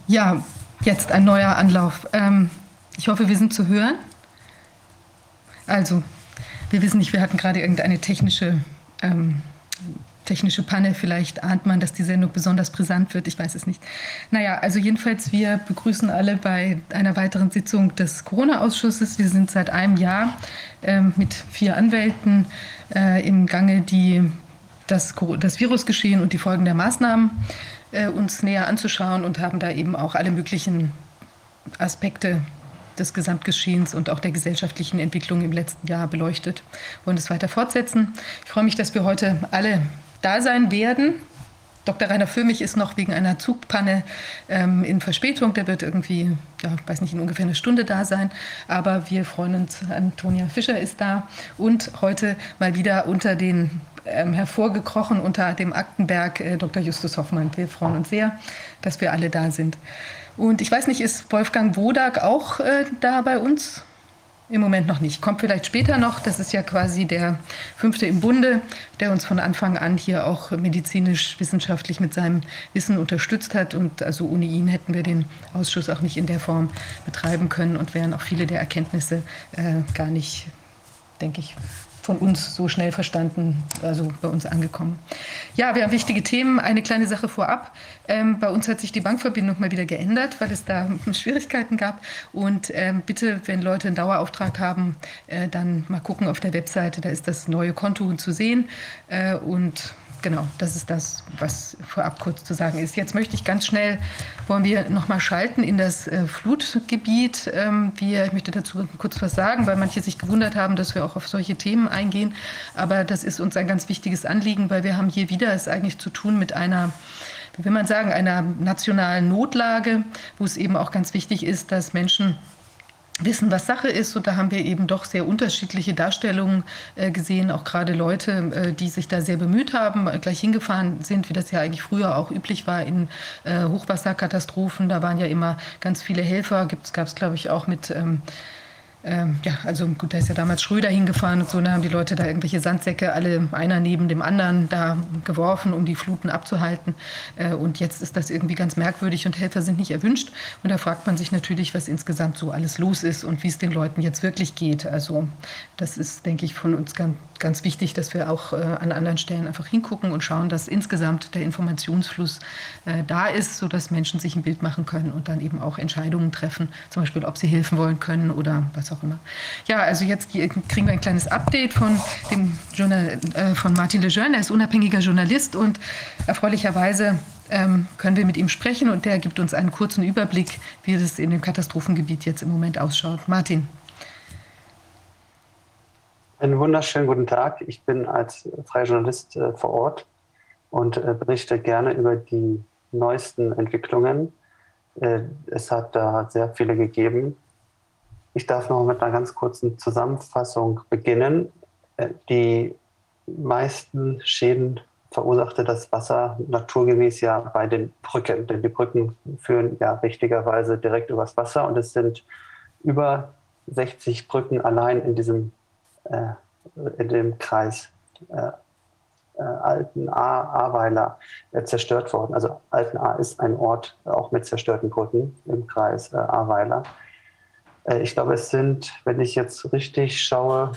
Ja, jetzt ein neuer Anlauf. Ich hoffe, wir sind zu hören. Also, wir wissen nicht, wir hatten gerade irgendeine technische Panne. Vielleicht ahnt man, dass die Sendung besonders brisant wird. Ich weiß es nicht. Naja, also jedenfalls, wir begrüßen alle bei einer weiteren Sitzung des Corona-Ausschusses. Wir sind seit einem Jahr mit 4 Anwälten im Gange, die das Virusgeschehen und die Folgen der Maßnahmen uns näher anzuschauen und haben da eben auch alle möglichen Aspekte des Gesamtgeschehens und auch der gesellschaftlichen Entwicklung im letzten Jahr beleuchtet. Wir wollen es weiter fortsetzen. Ich freue mich, dass wir heute alle da sein werden. Dr. Rainer Füllmich ist noch wegen einer Zugpanne in Verspätung. Der wird irgendwie, ja, ich weiß nicht, in ungefähr eine Stunde da sein. Aber wir freuen uns, Antonia Fischer ist da. Und heute mal wieder unter den hervorgekrochen unter dem Aktenberg Dr. Justus Hoffmann. Wir freuen uns sehr, dass wir alle da sind. Und ich weiß nicht, ist Wolfgang Wodak auch da bei uns? Im Moment noch nicht. Kommt vielleicht später noch. Das ist ja quasi der 5. im Bunde, der uns von Anfang an hier auch medizinisch, wissenschaftlich mit seinem Wissen unterstützt hat. Und also ohne ihn hätten wir den Ausschuss auch nicht in der Form betreiben können und wären auch viele der Erkenntnisse gar nicht, denke ich, von uns so schnell verstanden, also bei uns angekommen. Ja, wir haben wichtige Themen. Eine kleine Sache vorab. Bei uns hat sich die Bankverbindung mal wieder geändert, weil es da Schwierigkeiten gab. Und bitte, wenn Leute einen Dauerauftrag haben, dann mal gucken auf der Webseite, da ist das neue Konto zu sehen. Und genau, das ist das, was vorab kurz zu sagen ist. Jetzt möchte ich ganz schnell, wollen wir nochmal schalten in das Flutgebiet. Ich möchte dazu kurz was sagen, weil manche sich gewundert haben, dass wir auch auf solche Themen eingehen. Aber das ist uns ein ganz wichtiges Anliegen, weil wir haben hier wieder es eigentlich zu tun mit einer, wie will man sagen, einer nationalen Notlage, wo es eben auch ganz wichtig ist, dass Menschen wissen, was Sache ist. Und da haben wir eben doch sehr unterschiedliche Darstellungen gesehen, auch gerade Leute, die sich da sehr bemüht haben, gleich hingefahren sind, wie das ja eigentlich früher auch üblich war in Hochwasserkatastrophen. Da waren ja immer ganz viele Helfer, gab es, glaube ich, auch mit ja, also gut, da ist ja damals Schröder hingefahren und so, da haben die Leute da irgendwelche Sandsäcke, alle einer neben dem anderen, da geworfen, um die Fluten abzuhalten. Und jetzt ist das irgendwie ganz merkwürdig und Helfer sind nicht erwünscht. Und da fragt man sich natürlich, was insgesamt so alles los ist und wie es den Leuten jetzt wirklich geht. Also das ist, denke ich, von uns ganz wichtig, dass wir auch an anderen Stellen einfach hingucken und schauen, dass insgesamt der Informationsfluss da ist, sodass Menschen sich ein Bild machen können und dann eben auch Entscheidungen treffen, zum Beispiel, ob sie helfen wollen können oder was auch immer. Ja, also jetzt kriegen wir ein kleines Update von von Martin Lejeune. Er ist unabhängiger Journalist und erfreulicherweise können wir mit ihm sprechen und der gibt uns einen kurzen Überblick, wie es in dem Katastrophengebiet jetzt im Moment ausschaut. Martin. Einen wunderschönen guten Tag. Ich bin als freier Journalist vor Ort und berichte gerne über die neuesten Entwicklungen. Es hat da sehr viele gegeben. Ich darf noch mit einer ganz kurzen Zusammenfassung beginnen. Die meisten Schäden verursachte das Wasser naturgemäß ja bei den Brücken, denn die Brücken führen ja richtigerweise direkt übers Wasser und es sind über 60 Brücken allein in dem Kreis Altenahr-Ahrweiler zerstört worden. Also Altenahr ist ein Ort auch mit zerstörten Brücken im Kreis Ahrweiler. Ich glaube, es sind, wenn ich jetzt richtig schaue,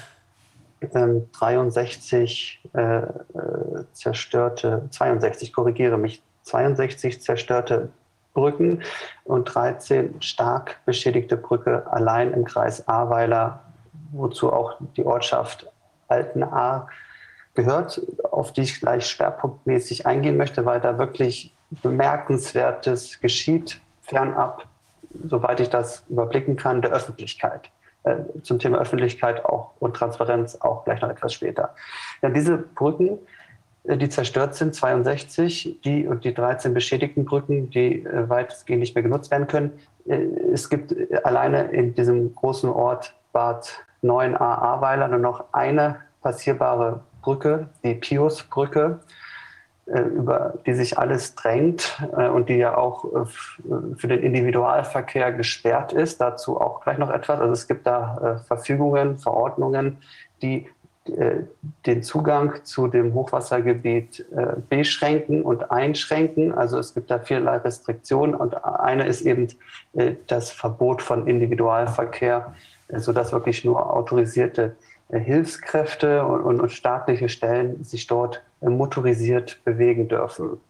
62, korrigiere mich, 62 zerstörte Brücken und 13 stark beschädigte Brücke allein im Kreis Ahrweiler, wozu auch die Ortschaft Altenahr gehört, auf die ich gleich schwerpunktmäßig eingehen möchte, weil da wirklich Bemerkenswertes geschieht, fernab, soweit ich das überblicken kann, der Öffentlichkeit. Zum Thema Öffentlichkeit auch und Transparenz auch gleich noch etwas später. Ja, diese Brücken, die zerstört sind, 62, und die 13 beschädigten Brücken, die weitestgehend nicht mehr genutzt werden können. Es gibt alleine in diesem großen Ort Bad Neuenahr-Ahrweiler nur noch eine passierbare Brücke, die Piusbrücke, über die sich alles drängt und die ja auch für den Individualverkehr gesperrt ist. Dazu auch gleich noch etwas. Also es gibt da Verfügungen, Verordnungen, die den Zugang zu dem Hochwassergebiet beschränken und einschränken. Also es gibt da vielerlei Restriktionen und eine ist eben das Verbot von Individualverkehr, sodass wirklich nur autorisierte Hilfskräfte und staatliche Stellen sich dort motorisiert bewegen dürfen.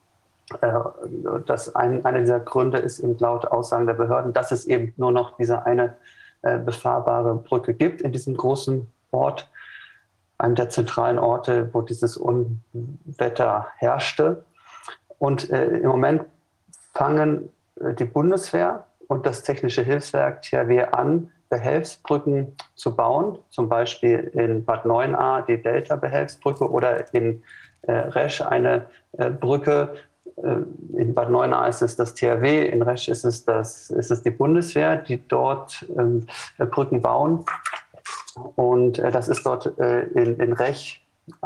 Einer dieser Gründe ist eben laut Aussagen der Behörden, dass es eben nur noch diese eine befahrbare Brücke gibt in diesem großen Ort, einem der zentralen Orte, wo dieses Unwetter herrschte. Und im Moment fangen die Bundeswehr und das Technische Hilfswerk THW an, Behelfsbrücken zu bauen, zum Beispiel in Bad Neuenahr die Delta-Behelfsbrücke oder in Resch eine Brücke. In Bad Neuenahr ist es das THW, in Resch ist es die Bundeswehr, die dort Brücken bauen. Und das ist dort in Rech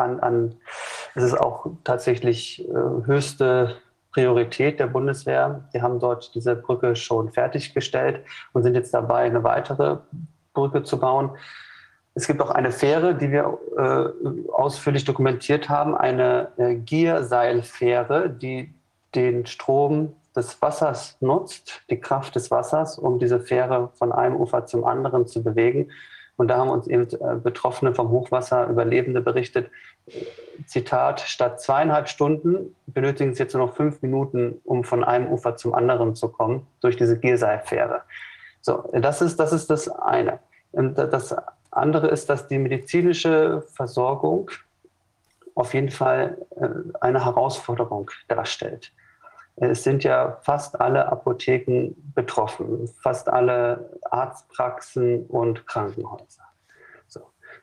es ist auch tatsächlich höchste Priorität der Bundeswehr. Die haben dort diese Brücke schon fertiggestellt und sind jetzt dabei, eine weitere Brücke zu bauen. Es gibt auch eine Fähre, die wir ausführlich dokumentiert haben, eine Gierseilfähre, die den Strom des Wassers nutzt, die Kraft des Wassers, um diese Fähre von einem Ufer zum anderen zu bewegen. Und da haben uns eben Betroffene vom Hochwasser, Überlebende berichtet, Zitat, statt 2,5 Stunden benötigen sie jetzt nur noch 5 Minuten, um von einem Ufer zum anderen zu kommen, durch diese Gierseilfähre. So, das ist das eine. Und das andere ist, dass die medizinische Versorgung auf jeden Fall eine Herausforderung darstellt. Es sind ja fast alle Apotheken betroffen, fast alle Arztpraxen und Krankenhäuser. So.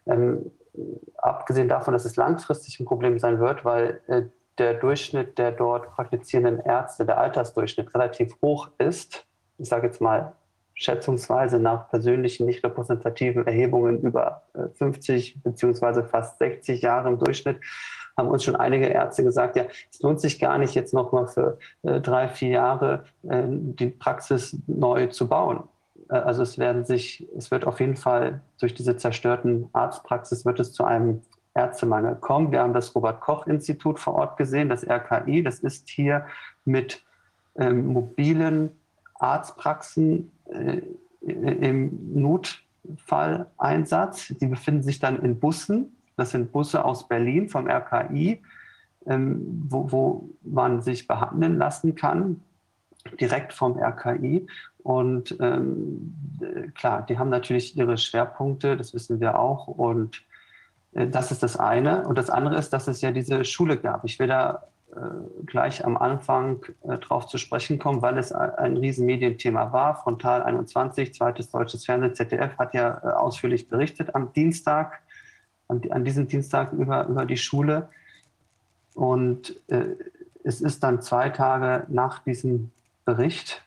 Abgesehen davon, dass es langfristig ein Problem sein wird, weil der Durchschnitt der dort praktizierenden Ärzte, der Altersdurchschnitt relativ hoch ist. Ich sage jetzt mal schätzungsweise nach persönlichen, nicht repräsentativen Erhebungen über 50 beziehungsweise fast 60 Jahre im Durchschnitt, haben uns schon einige Ärzte gesagt, ja, es lohnt sich gar nicht jetzt noch mal für 3-4 Jahre die Praxis neu zu bauen. Also es wird auf jeden Fall durch diese zerstörten Arztpraxis wird es zu einem Ärztemangel kommen. Wir haben das Robert-Koch-Institut vor Ort gesehen, das RKI, das ist hier mit mobilen Arztpraxen im Notfalleinsatz. Die befinden sich dann in Bussen. Das sind Busse aus Berlin vom RKI, wo man sich behandeln lassen kann, direkt vom RKI. Und klar, die haben natürlich ihre Schwerpunkte, das wissen wir auch. Und das ist das eine. Und das andere ist, dass es ja diese Schule gab. Ich will da gleich am Anfang drauf zu sprechen kommen, weil es ein Riesenmedienthema war. Frontal 21, zweites deutsches Fernsehen, ZDF hat ja ausführlich berichtet am Dienstag, an diesem Dienstag über die Schule. Und es ist dann 2 Tage nach diesem Bericht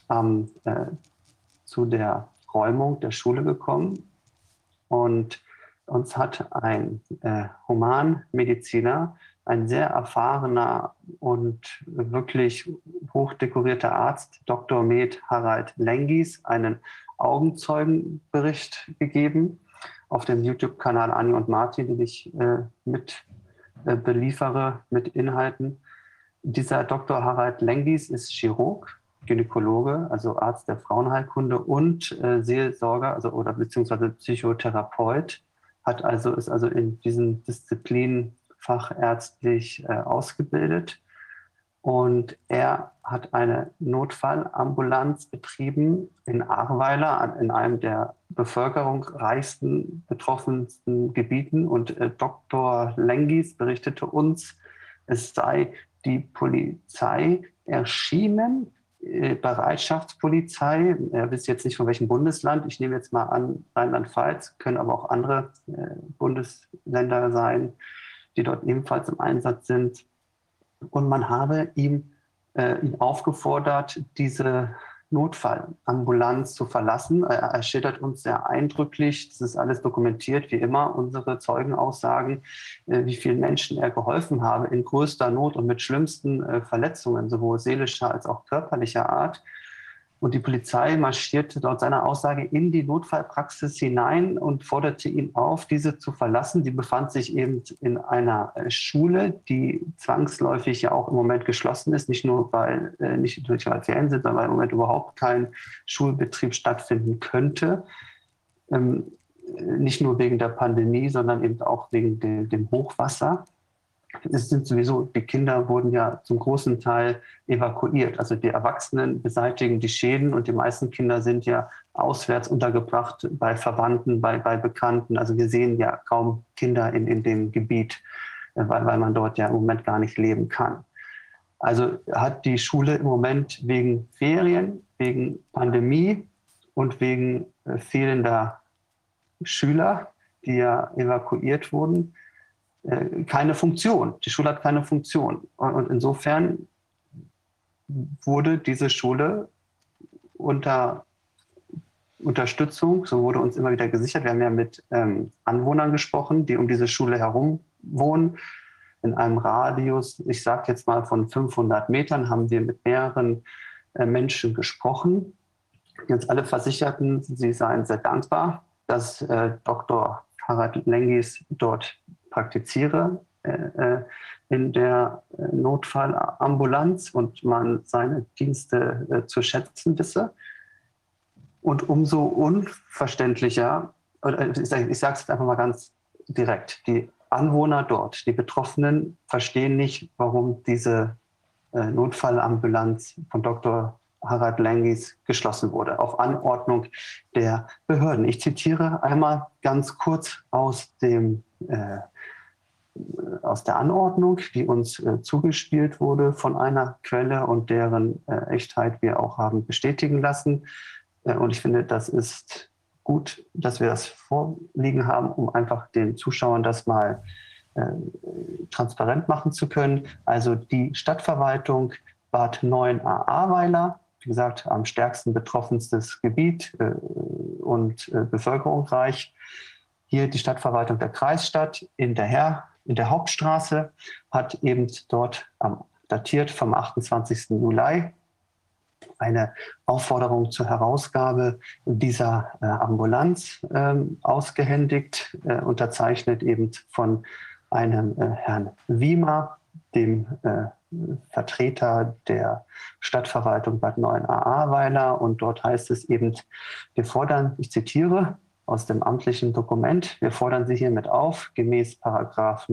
zu der Räumung der Schule gekommen. Und uns hat ein Humanmediziner, ein sehr erfahrener und wirklich hochdekorierter Arzt, Dr. Med Harald Lengis, einen Augenzeugenbericht gegeben auf dem YouTube-Kanal Anni und Martin, den ich mit beliefere mit Inhalten. Dieser Dr. Harald Lengis ist Chirurg, Gynäkologe, also Arzt der Frauenheilkunde und Seelsorger, oder beziehungsweise Psychotherapeut, ist also in diesen Disziplinen fachärztlich ausgebildet. Und er hat eine Notfallambulanz betrieben in Ahrweiler, in einem der bevölkerungsreichsten, betroffensten Gebieten. Und Dr. Lengis berichtete uns, es sei die Polizei erschienen, Bereitschaftspolizei. Er wisst jetzt nicht von welchem Bundesland. Ich nehme jetzt mal an Rheinland-Pfalz, können aber auch andere Bundesländer sein, die dort ebenfalls im Einsatz sind. Und man habe ihn aufgefordert, diese Notfallambulanz zu verlassen. Er schildert uns sehr eindrücklich, das ist alles dokumentiert, wie immer, unsere Zeugenaussagen, wie vielen Menschen er geholfen habe in größter Not und mit schlimmsten Verletzungen, sowohl seelischer als auch körperlicher Art. Und die Polizei marschierte laut seiner Aussage in die Notfallpraxis hinein und forderte ihn auf, diese zu verlassen. Die befand sich eben in einer Schule, die zwangsläufig ja auch im Moment geschlossen ist, nicht nur weil Ferien sind, sondern weil im Moment überhaupt kein Schulbetrieb stattfinden könnte. Nicht nur wegen der Pandemie, sondern eben auch wegen dem Hochwasser. Es sind sowieso, die Kinder wurden ja zum großen Teil evakuiert. Also die Erwachsenen beseitigen die Schäden und die meisten Kinder sind ja auswärts untergebracht bei Verwandten, bei Bekannten. Also wir sehen ja kaum Kinder in dem Gebiet, weil man dort ja im Moment gar nicht leben kann. Also hat die Schule im Moment wegen Ferien, wegen Pandemie und wegen fehlender Schüler, die ja evakuiert wurden, keine Funktion. Die Schule hat keine Funktion. Und insofern wurde diese Schule unter Unterstützung, so wurde uns immer wieder gesichert. Wir haben ja mit Anwohnern gesprochen, die um diese Schule herum wohnen. In einem Radius, ich sage jetzt mal von 500 Metern, haben wir mit mehreren Menschen gesprochen, die uns alle versicherten, sie seien sehr dankbar, dass Dr. Harald Lengis dort praktiziere in der Notfallambulanz und man seine Dienste zu schätzen wisse. Und umso unverständlicher, ich sage es jetzt einfach mal ganz direkt, die Anwohner dort, die Betroffenen, verstehen nicht, warum diese Notfallambulanz von Dr. Harald Lengis geschlossen wurde, auf Anordnung der Behörden. Ich zitiere einmal ganz kurz aus der Anordnung, die uns zugespielt wurde von einer Quelle und deren Echtheit wir auch haben bestätigen lassen. Und ich finde, das ist gut, dass wir das vorliegen haben, um einfach den Zuschauern das mal transparent machen zu können. Also die Stadtverwaltung Bad 9a-Ahrweiler, wie gesagt, am stärksten betroffenstes Gebiet und bevölkerungsreich. Hier die Stadtverwaltung der Kreisstadt in der Hauptstraße hat eben dort datiert vom 28. Juli eine Aufforderung zur Herausgabe dieser Ambulanz ausgehändigt, unterzeichnet eben von einem Herrn Wiemer, dem Vertreter der Stadtverwaltung Bad 9a-Ahrweiler. Und dort heißt es eben, wir fordern, ich zitiere aus dem amtlichen Dokument, wir fordern Sie hiermit auf, gemäß Paragraph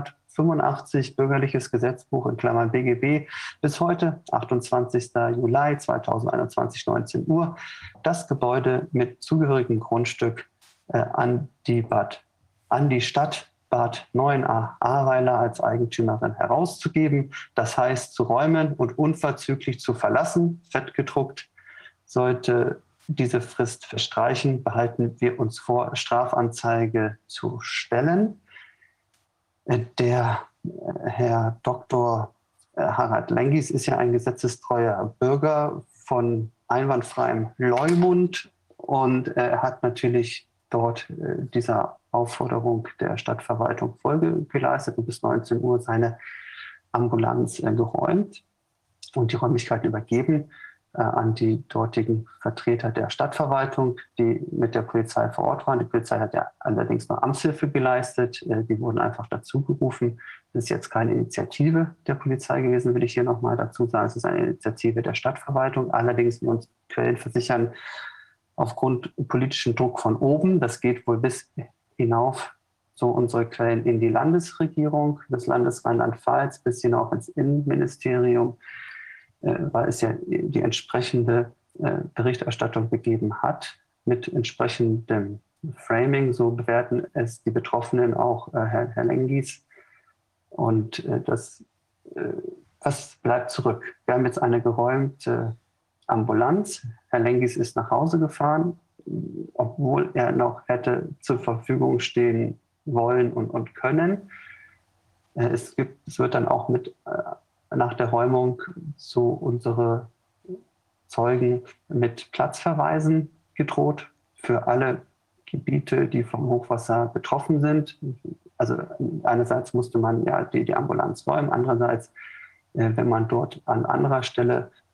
985 Bürgerliches Gesetzbuch in Klammern BGB bis heute, 28. Juli 2021, 19 Uhr, das Gebäude mit zugehörigem Grundstück an die Stadt Bad 9a-Ahrweiler als Eigentümerin herauszugeben. Das heißt, zu räumen und unverzüglich zu verlassen, fettgedruckt. Sollte diese Frist verstreichen, behalten wir uns vor, Strafanzeige zu stellen. Der Herr Dr. Harald Lengis ist ja ein gesetzestreuer Bürger von einwandfreiem Leumund und er hat natürlich dort dieser Aufforderung der Stadtverwaltung Folge geleistet und bis 19 Uhr seine Ambulanz geräumt und die Räumlichkeiten übergeben an die dortigen Vertreter der Stadtverwaltung, die mit der Polizei vor Ort waren. Die Polizei hat ja allerdings noch Amtshilfe geleistet. Die wurden einfach dazu gerufen. Das ist jetzt keine Initiative der Polizei gewesen, will ich hier nochmal dazu sagen. Es ist eine Initiative der Stadtverwaltung. Allerdings, wie uns Quellen versichern, aufgrund politischen Druck von oben, das geht wohl bis hinauf, so unsere Quellen, in die Landesregierung des Landes Rheinland-Pfalz, bis hinauf ins Innenministerium, weil es ja die entsprechende Berichterstattung gegeben hat mit entsprechendem Framing. So bewerten es die Betroffenen auch Herr Lengis. Und was bleibt zurück? Wir haben jetzt eine geräumte Ambulanz. Herr Lengis ist nach Hause gefahren, obwohl er noch hätte zur Verfügung stehen wollen und können. Es wird dann auch nach der Räumung so unsere Zeugen mit Platzverweisen gedroht für alle Gebiete, die vom Hochwasser betroffen sind. Also einerseits musste man ja die Ambulanz räumen, andererseits, wenn man dort an anderer Stelle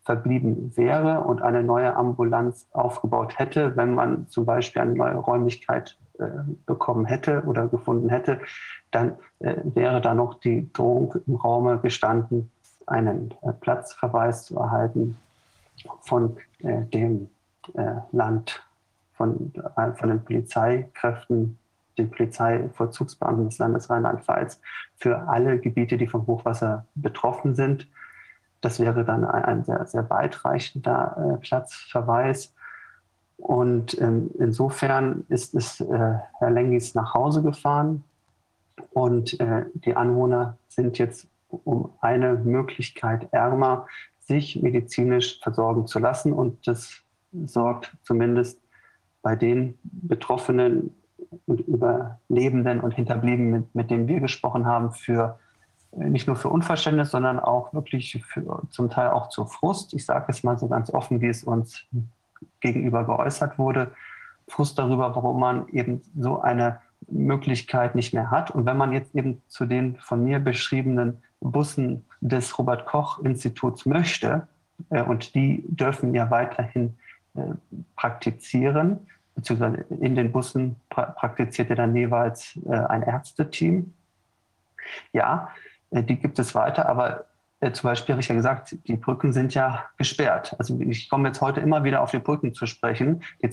verblieben wäre und eine neue Ambulanz aufgebaut hätte, wenn man zum Beispiel eine neue Räumlichkeit bekommen hätte oder gefunden hätte, dann wäre da noch die Drohung im Raume gestanden, einen Platzverweis zu erhalten von dem Land, von den Polizeikräften, den Polizeivollzugsbeamten des Landes Rheinland-Pfalz für alle Gebiete, die vom Hochwasser betroffen sind. Das wäre dann ein sehr, sehr weitreichender Platzverweis. Und insofern ist Herr Lengis nach Hause gefahren und die Anwohner sind jetzt um eine Möglichkeit ärmer, sich medizinisch versorgen zu lassen. Und das sorgt zumindest bei den Betroffenen und Überlebenden und Hinterbliebenen, mit denen wir gesprochen haben, für nicht nur für Unverständnis, sondern auch wirklich zum Teil auch zu Frust. Ich sage es mal so ganz offen, wie es uns gegenüber geäußert wurde. Frust darüber, warum man eben so eine Möglichkeit nicht mehr hat. Und wenn man jetzt eben zu den von mir beschriebenen Bussen des Robert-Koch-Instituts möchte, und die dürfen ja weiterhin praktizieren, beziehungsweise in den Bussen praktiziert ja dann jeweils ein Ärzteteam. Ja, die gibt es weiter, aber zum Beispiel habe ich ja gesagt, die Brücken sind ja gesperrt. Also ich komme jetzt heute immer wieder auf die Brücken zu sprechen. Die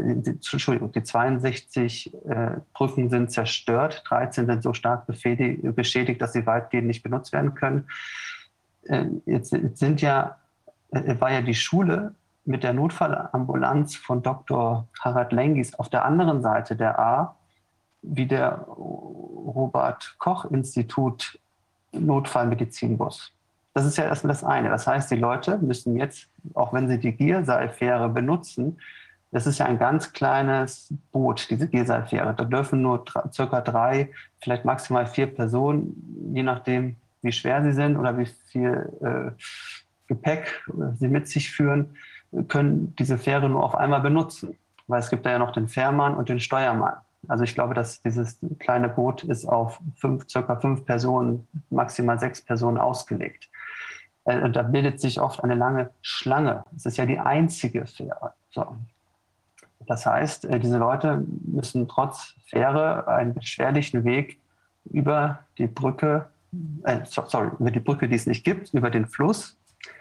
62 Brücken sind zerstört, 13 sind so stark beschädigt, dass sie weitgehend nicht benutzt werden können. Jetzt war ja die Schule mit der Notfallambulanz von Dr. Harald Lengis auf der anderen Seite der A, wie der Robert-Koch-Institut Notfallmedizinbus. Das ist ja erstmal das eine. Das heißt, die Leute müssen jetzt, auch wenn sie die Gierseilfähre benutzen, das ist ja ein ganz kleines Boot, diese Gierseilfähre. Da dürfen nur circa 3, vielleicht maximal 4 Personen, je nachdem, wie schwer sie sind oder wie viel Gepäck sie mit sich führen, können diese Fähre nur auf einmal benutzen. Weil es gibt da ja noch den Fährmann und den Steuermann. Also ich glaube, dass dieses kleine Boot ist auf circa 5 Personen, maximal 6 Personen ausgelegt. Und da bildet sich oft eine lange Schlange. Es ist ja die einzige Fähre. So. Das heißt, diese Leute müssen trotz Fähre einen beschwerlichen Weg über die Brücke, über die Brücke, die es nicht gibt, über den Fluss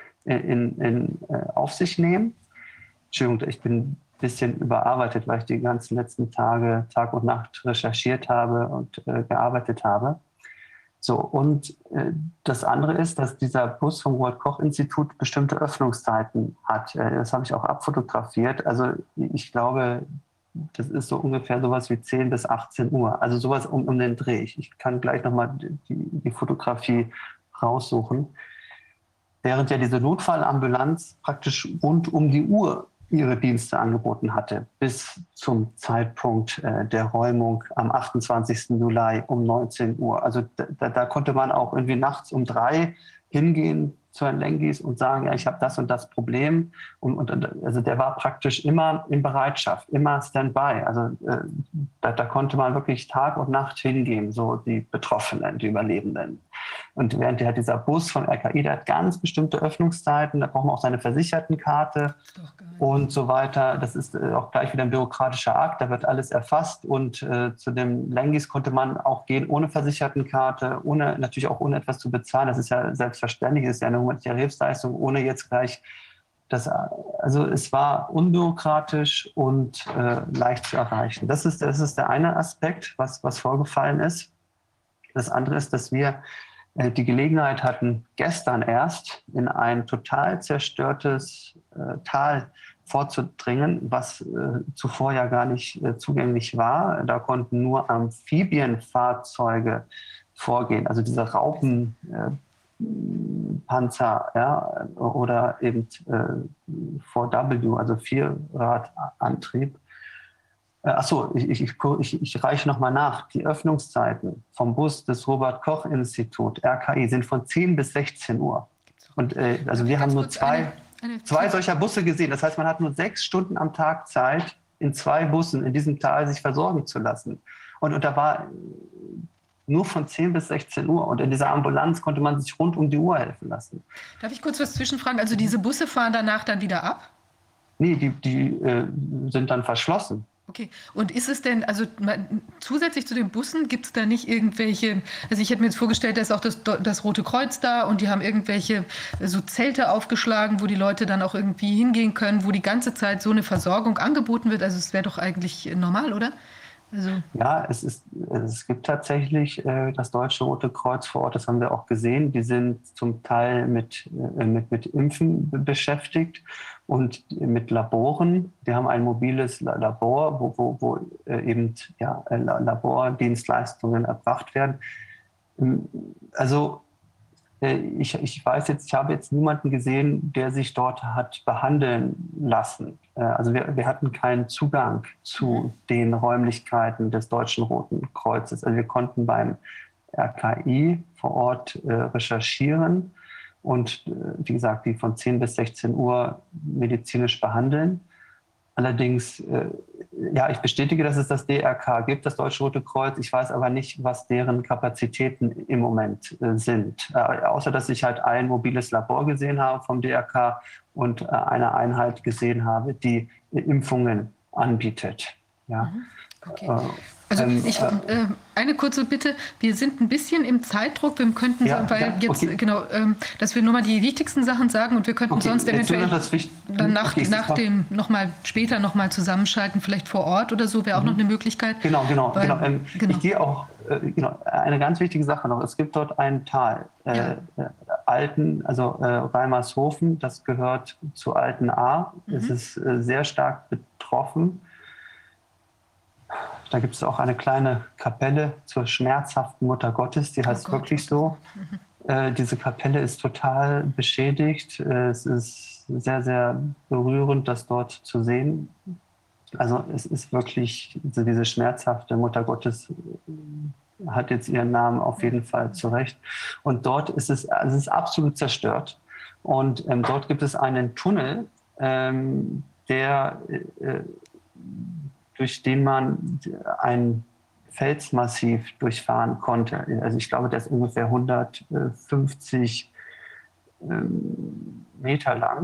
auf sich nehmen. Entschuldigung, ich bin ein bisschen überarbeitet, weil ich die ganzen letzten Tage Tag und Nacht recherchiert habe und gearbeitet habe. So, und das andere ist, dass dieser Bus vom Robert-Koch-Institut bestimmte Öffnungszeiten hat. Das habe ich auch abfotografiert. Also ich glaube, das ist so ungefähr sowas wie 10 bis 18 Uhr. Also sowas um den Dreh. Ich kann gleich nochmal die Fotografie raussuchen. Während ja diese Notfallambulanz praktisch rund um die Uhr ihre Dienste angeboten hatte, bis zum Zeitpunkt der Räumung am 28. Juli um 19 Uhr. Also da konnte man auch irgendwie nachts um 3 hingehen zu Herrn Lengis und sagen, ja, ich habe das und das Problem. Also der war praktisch immer in Bereitschaft, immer Standby. Also da konnte man wirklich Tag und Nacht hingehen, so die Betroffenen, die Überlebenden. Und während dieser Bus vom RKI, der hat ganz bestimmte Öffnungszeiten, da braucht man auch seine Versichertenkarte und so weiter. Das ist auch gleich wieder ein bürokratischer Akt, da wird alles erfasst. Und zu dem Lengis konnte man auch gehen ohne Versichertenkarte, natürlich auch ohne etwas zu bezahlen. Das ist ja selbstverständlich, das ist ja eine humanitäre Hilfsleistung, ohne jetzt gleich also es war unbürokratisch und leicht zu erreichen. Das ist der eine Aspekt, was vorgefallen ist. Das andere ist, dass wir die Gelegenheit hatten, gestern erst in ein total zerstörtes Tal vorzudringen, was zuvor ja gar nicht zugänglich war. Da konnten nur Amphibienfahrzeuge vorgehen, also diese Raupenpanzer, ja, oder eben 4W, also Vierradantrieb. Achso, ich reiche nochmal nach. Die Öffnungszeiten vom Bus des Robert-Koch-Institut, RKI, sind von 10 bis 16 Uhr. Und also wir haben nur zwei solcher Busse gesehen. Das heißt, man hat nur 6 Stunden am Tag Zeit, in 2 Bussen in diesem Tal sich versorgen zu lassen. Und da war nur von 10 bis 16 Uhr. Und in dieser Ambulanz konnte man sich rund um die Uhr helfen lassen. Darf ich kurz was zwischenfragen? Also diese Busse fahren danach dann wieder ab? Nee, die sind dann verschlossen. Okay, und ist es denn, also zusätzlich zu den Bussen, gibt es da nicht irgendwelche, also ich hätte mir jetzt vorgestellt, da ist auch das Rote Kreuz da und die haben irgendwelche so Zelte aufgeschlagen, wo die Leute dann auch irgendwie hingehen können, wo die ganze Zeit so eine Versorgung angeboten wird. Also es wäre doch eigentlich normal, oder? Also Ja, es gibt tatsächlich das Deutsche Rote Kreuz vor Ort, das haben wir auch gesehen. Die sind zum Teil mit Impfen beschäftigt und mit Laboren. Die haben ein mobiles Labor, wo eben Labordienstleistungen erbracht werden. Also ich weiß jetzt, ich habe jetzt niemanden gesehen, der sich dort hat behandeln lassen. Also wir hatten keinen Zugang zu den Räumlichkeiten des Deutschen Roten Kreuzes. Also wir konnten beim RKI vor Ort recherchieren und wie gesagt, die von 10 bis 16 Uhr medizinisch behandeln. Allerdings, ja, ich bestätige, dass es das DRK gibt, das Deutsche Rote Kreuz. Ich weiß aber nicht, was deren Kapazitäten im Moment sind. Außer, dass ich halt ein mobiles Labor gesehen habe vom DRK und eine Einheit gesehen habe, die Impfungen anbietet. Ja. okay. Also eine kurze Bitte, wir sind ein bisschen im Zeitdruck, wir könnten, ja, weil ja, jetzt, okay. genau, dass wir nur mal die wichtigsten Sachen sagen und wir könnten sonst eventuell dann später nochmal zusammenschalten, vielleicht vor Ort oder so, wäre auch noch eine Möglichkeit. Genau. Ich gehe auch, eine ganz wichtige Sache noch, es gibt dort ein Tal, Reimershofen, das gehört zu Altenahr, es ist sehr stark betroffen. Da gibt es auch eine kleine Kapelle zur schmerzhaften Mutter Gottes, die heißt wirklich so. Diese Kapelle ist total beschädigt. Es ist sehr, sehr berührend, das dort zu sehen. Also es ist wirklich, diese schmerzhafte Mutter Gottes hat jetzt ihren Namen auf jeden Fall zurecht. Und dort ist es ist absolut zerstört. Und dort gibt es einen Tunnel, durch den man ein Felsmassiv durchfahren konnte. Also ich glaube, der ist ungefähr 150 Meter lang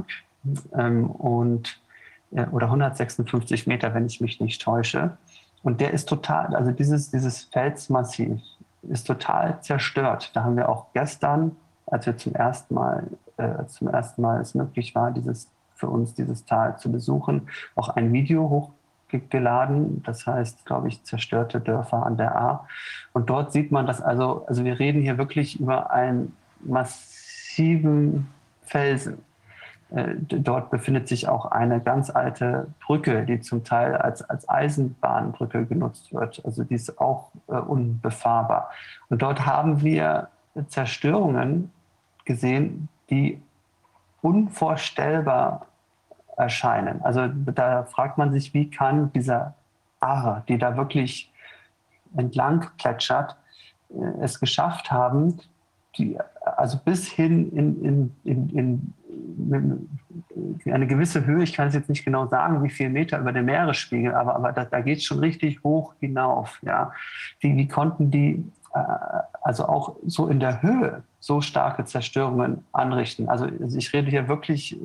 oder 156 Meter, wenn ich mich nicht täusche. Und der ist total, also dieses Felsmassiv ist total zerstört. Da haben wir auch gestern, als wir zum ersten Mal es möglich war, für uns dieses Tal zu besuchen, auch ein Video hochgeladen, das heißt, glaube ich, zerstörte Dörfer an der Ahr. Und dort sieht man das also wir reden hier wirklich über einen massiven Felsen. Dort befindet sich auch eine ganz alte Brücke, die zum Teil als Eisenbahnbrücke genutzt wird. Also die ist auch unbefahrbar. Und dort haben wir Zerstörungen gesehen, die unvorstellbar erscheinen. Also da fragt man sich, wie kann diese Aare, die da wirklich entlang plätschert, es geschafft haben, also bis hin in eine gewisse Höhe, ich kann es jetzt nicht genau sagen, wie viel Meter über dem Meeresspiegel, aber da geht es schon richtig hoch hinauf. Ja. Wie konnten die also auch so in der Höhe so starke Zerstörungen anrichten? Also ich rede hier wirklich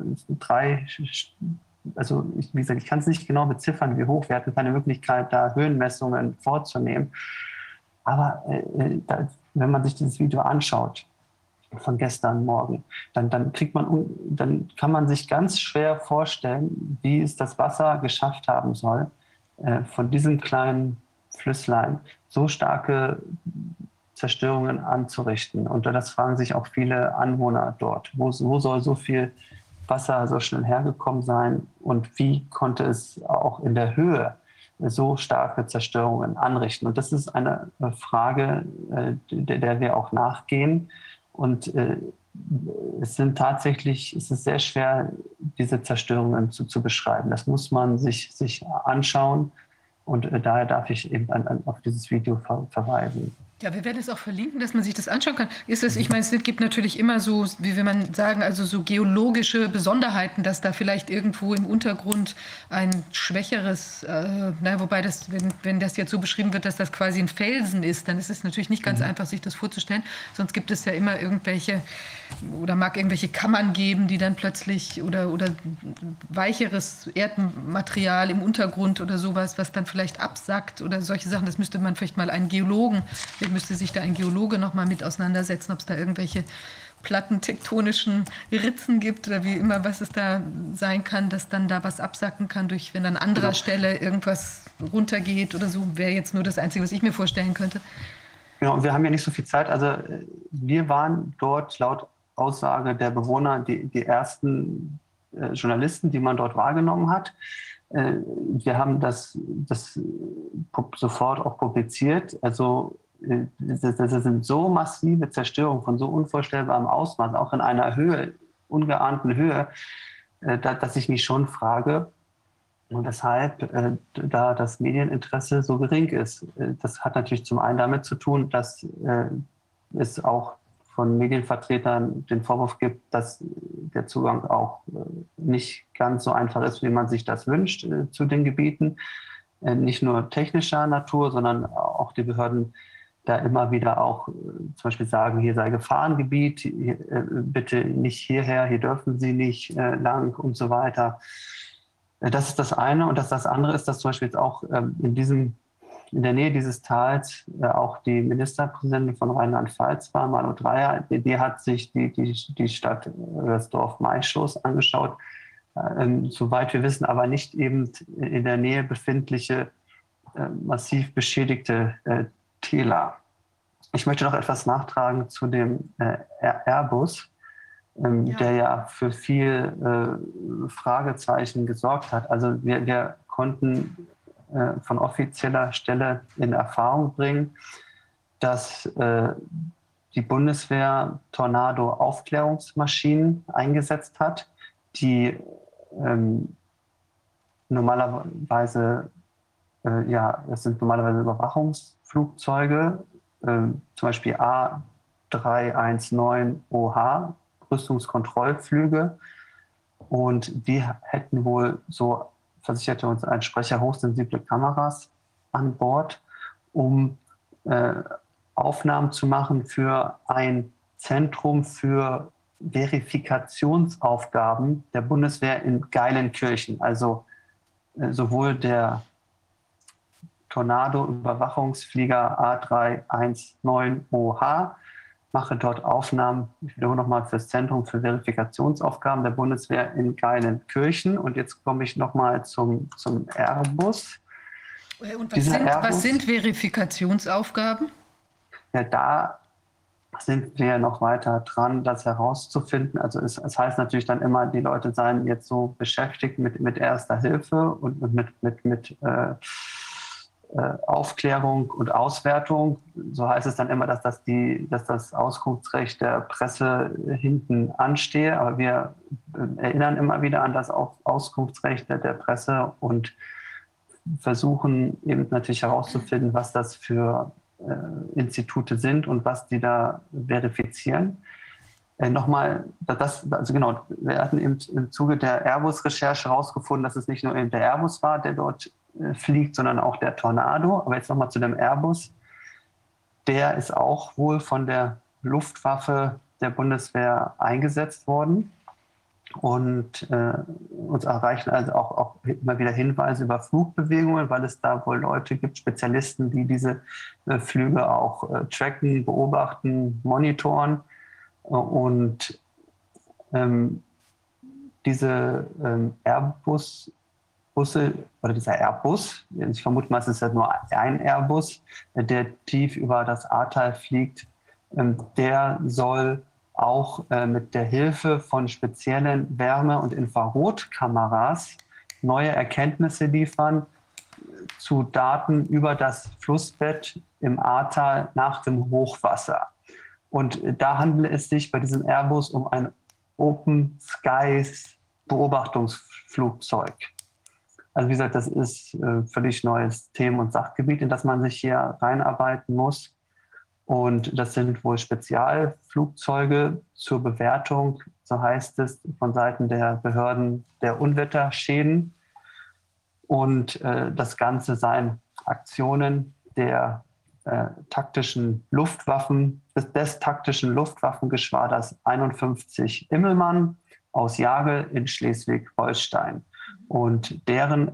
wie gesagt, ich kann es nicht genau beziffern, wie hoch. Wir hatten keine Möglichkeit, da Höhenmessungen vorzunehmen. Aber wenn man sich dieses Video anschaut von gestern Morgen, dann kann man sich ganz schwer vorstellen, wie es das Wasser geschafft haben soll, von diesem kleinen Flüsslein so starke Zerstörungen anzurichten. Und das fragen sich auch viele Anwohner dort. Wo soll so viel Wasser so schnell hergekommen sein und wie konnte es auch in der Höhe so starke Zerstörungen anrichten? Und das ist eine Frage, der wir auch nachgehen. Und es ist sehr schwer, diese Zerstörungen zu beschreiben. Das muss man sich anschauen. Und daher darf ich eben auf dieses Video verweisen. Ja, wir werden es auch verlinken, dass man sich das anschauen kann. Ich meine, es gibt natürlich immer so, wie will man sagen, also so geologische Besonderheiten, dass da vielleicht irgendwo im Untergrund ein schwächeres, wobei das, wenn das jetzt so beschrieben wird, dass das quasi ein Felsen ist, dann ist es natürlich nicht ganz einfach, sich das vorzustellen. Sonst gibt es ja immer irgendwelche Kammern geben, die dann plötzlich oder weicheres Erdmaterial im Untergrund oder sowas, was dann vielleicht absackt oder solche Sachen. Das müsste man vielleicht mal einen Geologen, müsste sich da ein Geologe noch mal mit auseinandersetzen, ob es da irgendwelche plattentektonischen Ritzen gibt oder wie immer, was es da sein kann, dass dann da was absacken kann, wenn an anderer Stelle irgendwas runtergeht oder so, wäre jetzt nur das Einzige, was ich mir vorstellen könnte. Genau, und wir haben ja nicht so viel Zeit. Also wir waren dort laut Aussage der Bewohner die ersten Journalisten, die man dort wahrgenommen hat. Wir haben das sofort auch publiziert. Also das sind so massive Zerstörungen von so unvorstellbarem Ausmaß, auch in einer Höhe, ungeahnten Höhe, dass ich mich schon frage, und weshalb da das Medieninteresse so gering ist. Das hat natürlich zum einen damit zu tun, dass es auch von Medienvertretern den Vorwurf gibt, dass der Zugang auch nicht ganz so einfach ist, wie man sich das wünscht zu den Gebieten. Nicht nur technischer Natur, sondern auch die Behörden da immer wieder auch zum Beispiel sagen, hier sei Gefahrengebiet, bitte nicht hierher, hier dürfen Sie nicht lang und so weiter. Das ist das eine. Und das andere ist, dass zum Beispiel jetzt auch in der Nähe dieses Tals auch die Ministerpräsidentin von Rheinland-Pfalz war, Malu Dreyer, die hat sich die Stadt, das Dorf Maischoß angeschaut. Soweit wir wissen, aber nicht eben in der Nähe befindliche massiv beschädigte Täler. Ich möchte noch etwas nachtragen zu dem Airbus, der ja für viel Fragezeichen gesorgt hat. Also wir konnten von offizieller Stelle in Erfahrung bringen, dass die Bundeswehr Tornado-Aufklärungsmaschinen eingesetzt hat, die normalerweise, das sind normalerweise Überwachungsflugzeuge, zum Beispiel A319OH, Rüstungskontrollflüge. Und die hätten wohl, so versicherte uns ein Sprecher, hochsensible Kameras an Bord, um Aufnahmen zu machen für ein Zentrum für Verifikationsaufgaben der Bundeswehr in Geilenkirchen. Also sowohl der Tornado-Überwachungsflieger A319OH mache dort Aufnahmen, ich wiederhole nochmal, für das Zentrum für Verifikationsaufgaben der Bundeswehr in Geilenkirchen. Und jetzt komme ich nochmal zum Airbus. Und was sind Verifikationsaufgaben? Ja, da sind wir noch weiter dran, das herauszufinden. Also es heißt natürlich dann immer, die Leute seien jetzt so beschäftigt mit Erster Hilfe und mit Aufklärung und Auswertung. So heißt es dann immer, dass das Auskunftsrecht der Presse hinten anstehe. Aber wir erinnern immer wieder an das Auskunftsrecht der Presse und versuchen eben natürlich herauszufinden, was das für Institute sind und was die da verifizieren. Nochmal, wir hatten im Zuge der Airbus-Recherche herausgefunden, dass es nicht nur eben der Airbus war, der dort fliegt, sondern auch der Tornado. Aber jetzt nochmal zu dem Airbus. Der ist auch wohl von der Luftwaffe der Bundeswehr eingesetzt worden. Und uns erreichen also auch immer wieder Hinweise über Flugbewegungen, weil es da wohl Leute gibt, Spezialisten, die diese Flüge auch tracken, beobachten, monitoren. Und diese Airbus-Busse oder dieser Airbus, ich vermute mal, es ist ja nur ein Airbus, der tief über das Ahrtal fliegt, der soll auch mit der Hilfe von speziellen Wärme- und Infrarotkameras neue Erkenntnisse liefern zu Daten über das Flussbett im Ahrtal nach dem Hochwasser. Und da handelt es sich bei diesem Airbus um ein Open Skies Beobachtungsflugzeug. Also wie gesagt, das ist völlig neues Themen- und Sachgebiet, in das man sich hier reinarbeiten muss. Und das sind wohl Spezialflugzeuge zur Bewertung, so heißt es, von Seiten der Behörden der Unwetterschäden. Und das Ganze seien Aktionen der taktischen Luftwaffen, des taktischen Luftwaffengeschwaders 51 Immelmann aus Jagel in Schleswig-Holstein. Und deren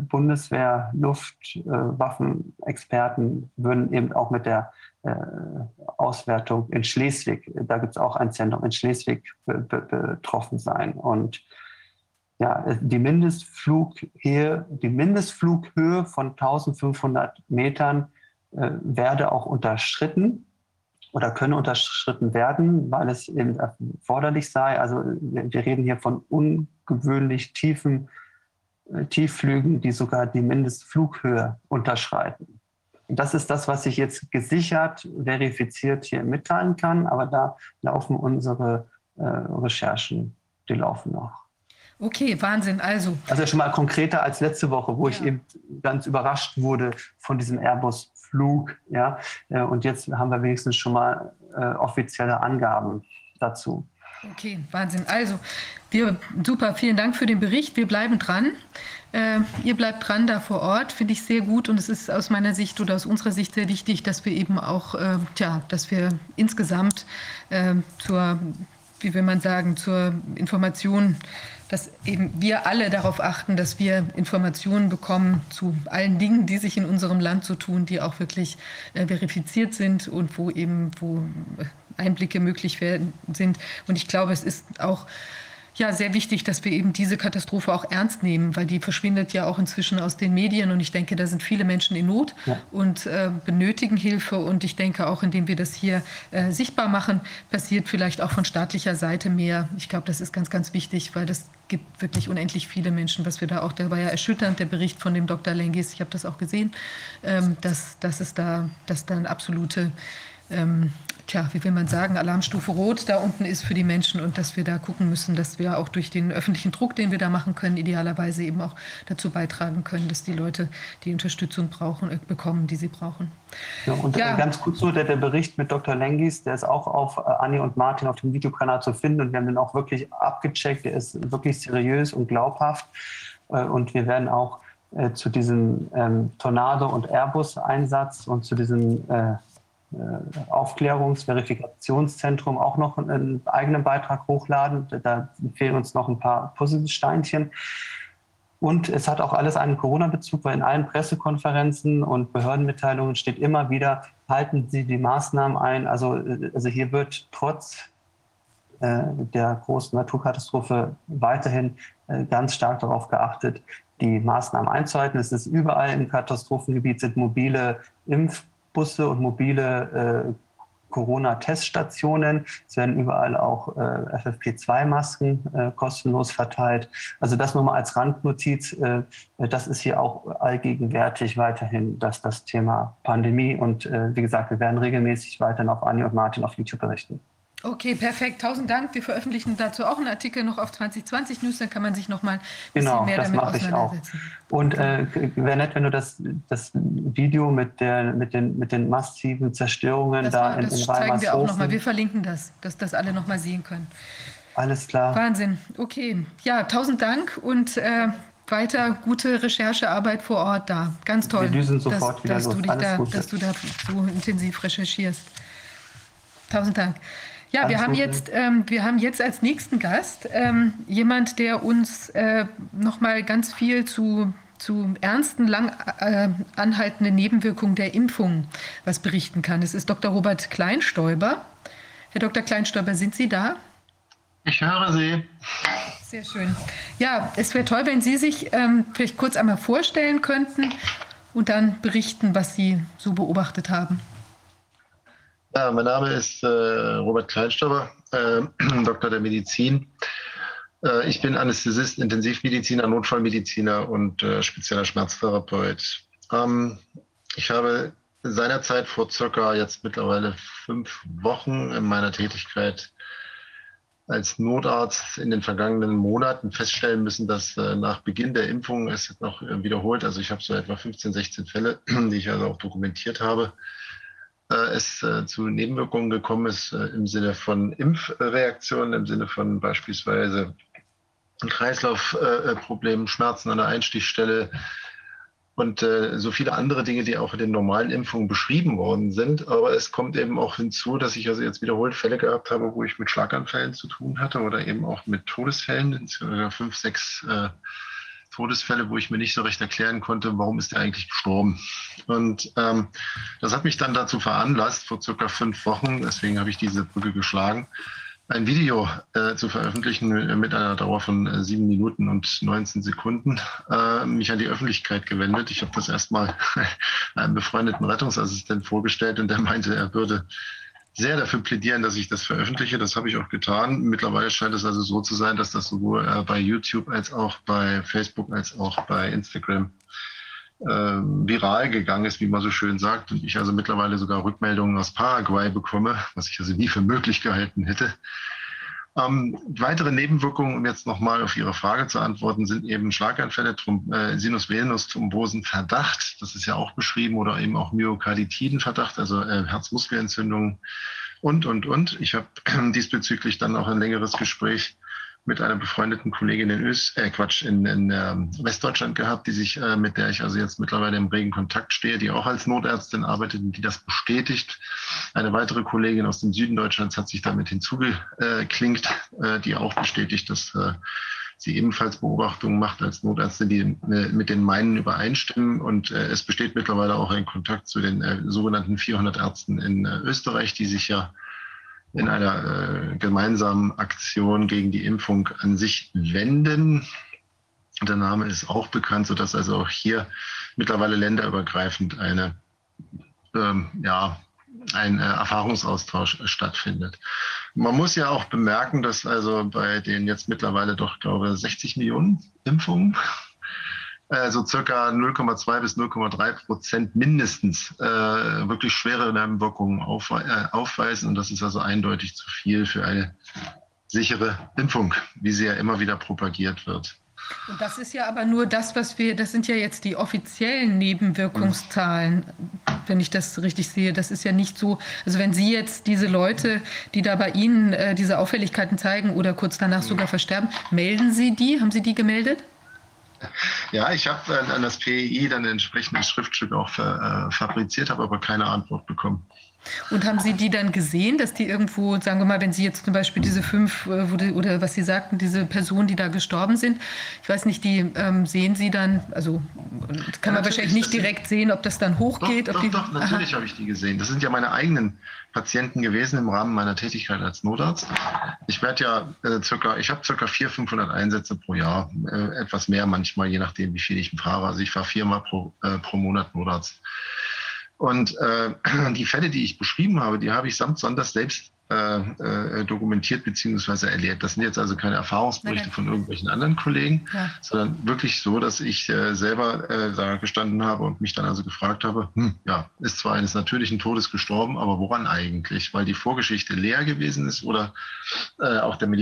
Bundeswehr-Luftwaffenexperten würden eben auch mit der Auswertung in Schleswig, da gibt es auch ein Zentrum in Schleswig, betroffen sein. Und ja, die Mindestflughöhe von 1500 Metern werde auch unterschritten oder könne unterschritten werden, weil es eben erforderlich sei. Also wir reden hier von ungewöhnlich tiefen Tiefflügen, die sogar die Mindestflughöhe unterschreiten. Und das ist das, was ich jetzt gesichert, verifiziert hier mitteilen kann. Aber da laufen unsere Recherchen, die laufen noch. Okay, Wahnsinn. Also schon mal konkreter als letzte Woche, wo ich eben ganz überrascht wurde von diesem Airbus-Flug. Ja? Und jetzt haben wir wenigstens schon mal offizielle Angaben dazu. Okay, Wahnsinn. Also, super, vielen Dank für den Bericht. Wir bleiben dran. Ihr bleibt dran da vor Ort, finde ich sehr gut. Und es ist aus meiner Sicht oder aus unserer Sicht sehr wichtig, dass wir eben auch, dass wir insgesamt zur Information, dass eben wir alle darauf achten, dass wir Informationen bekommen zu allen Dingen, die sich in unserem Land so tun, die auch wirklich verifiziert sind und wo Einblicke möglich sind. Und ich glaube, es ist auch sehr wichtig, dass wir eben diese Katastrophe auch ernst nehmen, weil die verschwindet ja auch inzwischen aus den Medien. Und ich denke, da sind viele Menschen in Not und benötigen Hilfe. Und ich denke auch, indem wir das hier sichtbar machen, passiert vielleicht auch von staatlicher Seite mehr. Ich glaube, das ist ganz, ganz wichtig, weil das gibt wirklich unendlich viele Menschen, was wir da auch, der war ja erschütternd, der Bericht von dem Dr. Lengis, ich habe das auch gesehen, dass da eine absolute wie will man sagen, Alarmstufe Rot da unten ist für die Menschen und dass wir da gucken müssen, dass wir auch durch den öffentlichen Druck, den wir da machen können, idealerweise eben auch dazu beitragen können, dass die Leute die Unterstützung bekommen, die sie brauchen. Ja, und ganz kurz so, der Bericht mit Dr. Lengis, der ist auch auf Anni und Martin auf dem Videokanal zu finden und wir haben den auch wirklich abgecheckt, der ist wirklich seriös und glaubhaft und wir werden auch zu diesem Tornado- und Airbus-Einsatz und zu diesem Aufklärungs-Verifikationszentrum auch noch einen eigenen Beitrag hochladen. Da fehlen uns noch ein paar Puzzlesteinchen. Und es hat auch alles einen Corona-Bezug, weil in allen Pressekonferenzen und Behördenmitteilungen steht immer wieder, halten Sie die Maßnahmen ein. Also hier wird trotz der großen Naturkatastrophe weiterhin ganz stark darauf geachtet, die Maßnahmen einzuhalten. Es ist überall im Katastrophengebiet sind mobile Impfbusse und mobile Corona-Teststationen. Es werden überall auch FFP2-Masken kostenlos verteilt. Also das nur mal als Randnotiz. Das ist hier auch allgegenwärtig weiterhin das Thema Pandemie. Und wie gesagt, wir werden regelmäßig weiterhin auf Anni und Martin auf YouTube berichten. Okay, perfekt. 1000 Dank. Wir veröffentlichen dazu auch einen Artikel noch auf 2020 News, dann kann man sich noch mal ein bisschen mehr damit auseinandersetzen. Und wäre nett, wenn du das Video mit den massiven Zerstörungen das in zeigen wir auch noch mal. Wir verlinken das, dass das alle noch mal sehen können. Alles klar. Wahnsinn. Okay. Ja, 1000 Dank und weiter gute Recherchearbeit vor Ort da. Ganz toll. Wir düsen sofort wieder los. Dass du da so intensiv recherchierst. 1000 Dank. Ja, wir haben jetzt als nächsten Gast jemand, der uns noch mal ganz viel zu ernsten, lang anhaltenden Nebenwirkungen der Impfung was berichten kann. Es ist Dr. Robert Kleinstäuber. Herr Dr. Kleinstäuber, sind Sie da? Ich höre Sie. Sehr schön. Ja, es wäre toll, wenn Sie sich vielleicht kurz einmal vorstellen könnten und dann berichten, was Sie so beobachtet haben. Ja, mein Name ist Robert Kleinstäuber, Doktor der Medizin. Ich bin Anästhesist, Intensivmediziner, Notfallmediziner und spezieller Schmerztherapeut. Ich habe seinerzeit vor circa jetzt mittlerweile 5 Wochen in meiner Tätigkeit als Notarzt in den vergangenen Monaten feststellen müssen, dass nach Beginn der Impfung, es noch wiederholt, also ich habe so etwa 15, 16 Fälle, die ich also auch dokumentiert habe, es zu Nebenwirkungen gekommen ist im Sinne von Impfreaktionen, im Sinne von beispielsweise Kreislaufproblemen, Schmerzen an der Einstichstelle und so viele andere Dinge, die auch in den normalen Impfungen beschrieben worden sind. Aber es kommt eben auch hinzu, dass ich also jetzt wiederholt Fälle gehabt habe, wo ich mit Schlaganfällen zu tun hatte oder eben auch mit Todesfällen, 5, 6 Todesfälle, wo ich mir nicht so recht erklären konnte, warum ist der eigentlich gestorben. Und das hat mich dann dazu veranlasst, vor circa 5 Wochen, deswegen habe ich diese Brücke geschlagen, ein Video zu veröffentlichen mit einer Dauer von 7 Minuten und 19 Sekunden, mich an die Öffentlichkeit gewendet. Ich habe das erstmal einem befreundeten Rettungsassistent vorgestellt und der meinte, er würde sehr dafür plädieren, dass ich das veröffentliche. Das habe ich auch getan. Mittlerweile scheint es also so zu sein, dass das sowohl bei YouTube als auch bei Facebook als auch bei Instagram viral gegangen ist, wie man so schön sagt. Und ich also mittlerweile sogar Rückmeldungen aus Paraguay bekomme, was ich also nie für möglich gehalten hätte. Weitere Nebenwirkungen, um jetzt nochmal auf Ihre Frage zu antworten, sind eben Schlaganfälle, Sinus-Venus-Thrombosen-Verdacht, das ist ja auch beschrieben, oder eben auch Myokarditiden-Verdacht, also Herzmuskelentzündungen und. Ich habe diesbezüglich dann auch ein längeres Gespräch mit einer befreundeten Kollegin in Westdeutschland gehabt, mit der ich also jetzt mittlerweile im regen Kontakt stehe, die auch als Notärztin arbeitet und die das bestätigt. Eine weitere Kollegin aus dem Süden Deutschlands hat sich damit hinzugeklinkt, die auch bestätigt, dass sie ebenfalls Beobachtungen macht als Notärztin, die mit den meinen übereinstimmen. Und es besteht mittlerweile auch ein Kontakt zu den sogenannten 400 Ärzten in Österreich, die sich ja in einer gemeinsamen Aktion gegen die Impfung an sich wenden. Der Name ist auch bekannt, sodass also auch hier mittlerweile länderübergreifend ein Erfahrungsaustausch stattfindet. Man muss ja auch bemerken, dass also bei den jetzt mittlerweile doch, glaube ich, 60 Millionen Impfungen so circa 0,2 bis 0,3% mindestens wirklich schwere Nebenwirkungen aufweisen. Und das ist also eindeutig zu viel für eine sichere Impfung, wie sie ja immer wieder propagiert wird. Und das ist ja aber nur das, das sind ja jetzt die offiziellen Nebenwirkungszahlen, wenn ich das richtig sehe. Das ist ja nicht so, also wenn Sie jetzt diese Leute, die da bei Ihnen diese Auffälligkeiten zeigen oder kurz danach sogar versterben, melden Sie die? Haben Sie die gemeldet? Ja, ich habe an das PEI dann ein entsprechendes Schriftstück auch fabriziert, habe aber keine Antwort bekommen. Und haben Sie die dann gesehen, dass die irgendwo, sagen wir mal, wenn Sie jetzt zum Beispiel diese 5, oder was Sie sagten, diese Personen, die da gestorben sind, ich weiß nicht, die sehen Sie dann, also kann man wahrscheinlich nicht direkt sehen, ob das dann hochgeht? Doch, natürlich habe ich die gesehen. Das sind ja meine eigenen Patienten gewesen im Rahmen meiner Tätigkeit als Notarzt. Ich werde ja ich habe circa 400, 500 Einsätze pro Jahr, etwas mehr manchmal, je nachdem, wie viel ich fahre. Also ich fahre 4-mal pro Monat Notarzt. Und die Fälle, die ich beschrieben habe, die habe ich samt Sonders selbst dokumentiert bzw. erlebt. Das sind jetzt also keine Erfahrungsberichte von irgendwelchen anderen Kollegen, sondern wirklich so, dass ich selber da gestanden habe und mich dann also gefragt habe, ist zwar eines natürlichen Todes gestorben, aber woran eigentlich? Weil die Vorgeschichte leer gewesen ist oder auch der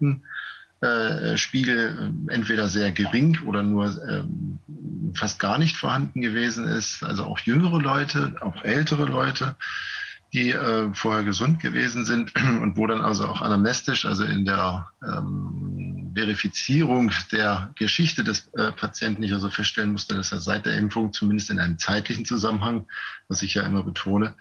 Medikamentenspiegel entweder sehr gering oder nur fast gar nicht vorhanden gewesen ist. Also auch jüngere Leute, auch ältere Leute, die vorher gesund gewesen sind und wo dann also auch anamnestisch, also in der Verifizierung der Geschichte des Patienten ich also feststellen musste, dass er seit der Impfung zumindest in einem zeitlichen Zusammenhang, was ich ja immer betone,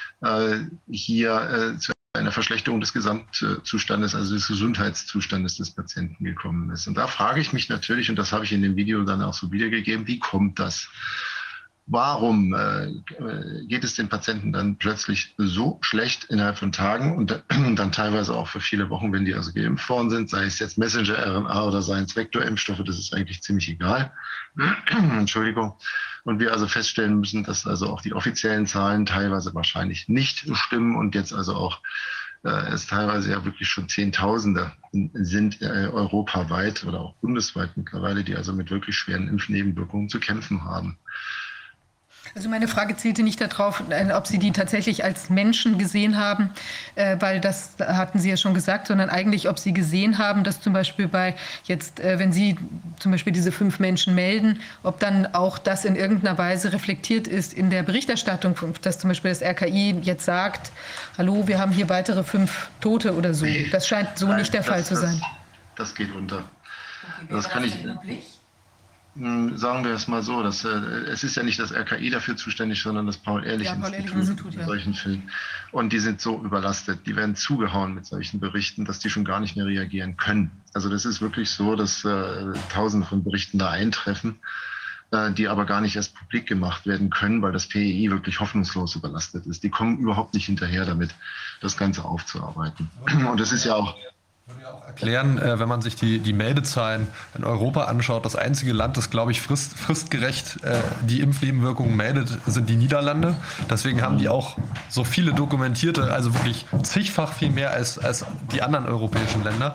hier zu einer Verschlechterung des Gesamtzustandes, also des Gesundheitszustandes des Patienten gekommen ist. Und da frage ich mich natürlich, und das habe ich in dem Video dann auch so wiedergegeben, wie kommt das? Warum geht es den Patienten dann plötzlich so schlecht innerhalb von Tagen und dann teilweise auch für viele Wochen, wenn die also geimpft worden sind, sei es jetzt Messenger-RNA oder seien es Vektorimpfstoffe, das ist eigentlich ziemlich egal. Entschuldigung. Und wir also feststellen müssen, dass also auch die offiziellen Zahlen teilweise wahrscheinlich nicht stimmen und jetzt also auch es teilweise ja wirklich schon Zehntausende sind europaweit oder auch bundesweit mittlerweile, die also mit wirklich schweren Impfnebenwirkungen zu kämpfen haben. Also meine Frage zielte nicht darauf, ob Sie die tatsächlich als Menschen gesehen haben, weil das hatten Sie ja schon gesagt, sondern eigentlich, ob Sie gesehen haben, dass zum Beispiel bei jetzt, wenn Sie zum Beispiel diese 5 Menschen melden, ob dann auch das in irgendeiner Weise reflektiert ist in der Berichterstattung, dass zum Beispiel das RKI jetzt sagt, hallo, wir haben hier weitere 5 Tote oder so. Das scheint so nicht der Fall zu sein. Das geht unter. Okay, Das kann ich. Sagen wir es mal so, es ist ja nicht das RKI dafür zuständig, sondern das Paul-Ehrlich-Institut in solchen Fällen. Und die sind so überlastet, die werden zugehauen mit solchen Berichten, dass die schon gar nicht mehr reagieren können. Also das ist wirklich so, dass Tausende von Berichten da eintreffen, die aber gar nicht erst publik gemacht werden können, weil das PEI wirklich hoffnungslos überlastet ist. Die kommen überhaupt nicht hinterher damit, das Ganze aufzuarbeiten. Und das ist ja auch... Würde ja auch erklären, wenn man sich die Meldezahlen in Europa anschaut, das einzige Land, das, glaube ich, fristgerecht die Impfnebenwirkungen meldet, sind die Niederlande. Deswegen haben die auch so viele dokumentierte, also wirklich zigfach viel mehr als die anderen europäischen Länder.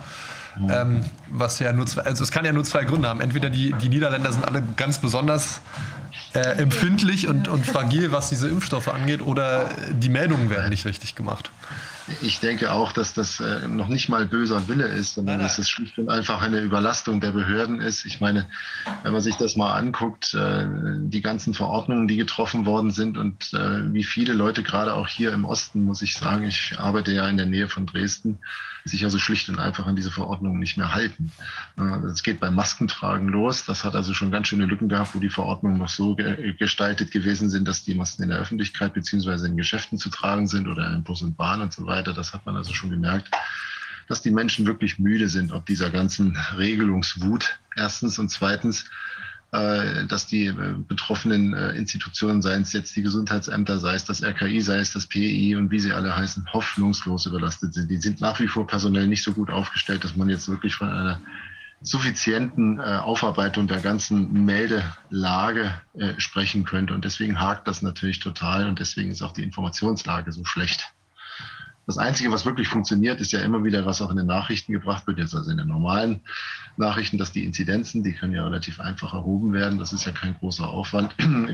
Was ja nur also es kann ja nur 2 Gründe haben. Entweder die Niederländer sind alle ganz besonders empfindlich und fragil, was diese Impfstoffe angeht, oder die Meldungen werden nicht richtig gemacht. Ich denke auch, dass das noch nicht mal böser Wille ist, sondern dass es schlicht und einfach eine Überlastung der Behörden ist. Ich meine, wenn man sich das mal anguckt, die ganzen Verordnungen, die getroffen worden sind und wie viele Leute, gerade auch hier im Osten, muss ich sagen, ich arbeite ja in der Nähe von Dresden, sich also schlicht und einfach an diese Verordnungen nicht mehr halten. Es geht beim Maskentragen los. Das hat also schon ganz schöne Lücken gehabt, wo die Verordnungen noch so gestaltet gewesen sind, dass die Masken in der Öffentlichkeit beziehungsweise in Geschäften zu tragen sind oder in Bus und Bahn und so weiter. Das hat man also schon gemerkt, dass die Menschen wirklich müde sind, ob dieser ganzen Regelungswut erstens und zweitens, dass die betroffenen Institutionen, seien es jetzt die Gesundheitsämter, sei es das RKI, sei es das PEI und wie sie alle heißen, hoffnungslos überlastet sind. Die sind nach wie vor personell nicht so gut aufgestellt, dass man jetzt wirklich von einer suffizienten Aufarbeitung der ganzen Meldelage sprechen könnte. Und deswegen hakt das natürlich total und deswegen ist auch die Informationslage so schlecht. Das Einzige, was wirklich funktioniert, ist ja immer wieder, was auch in den Nachrichten gebracht wird, jetzt also in den normalen Nachrichten, dass die Inzidenzen, die können ja relativ einfach erhoben werden, das ist ja kein großer Aufwand,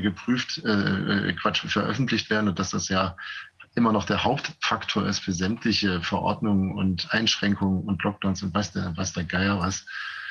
veröffentlicht werden und dass das ja immer noch der Hauptfaktor ist für sämtliche Verordnungen und Einschränkungen und Lockdowns und weiß der Geier was,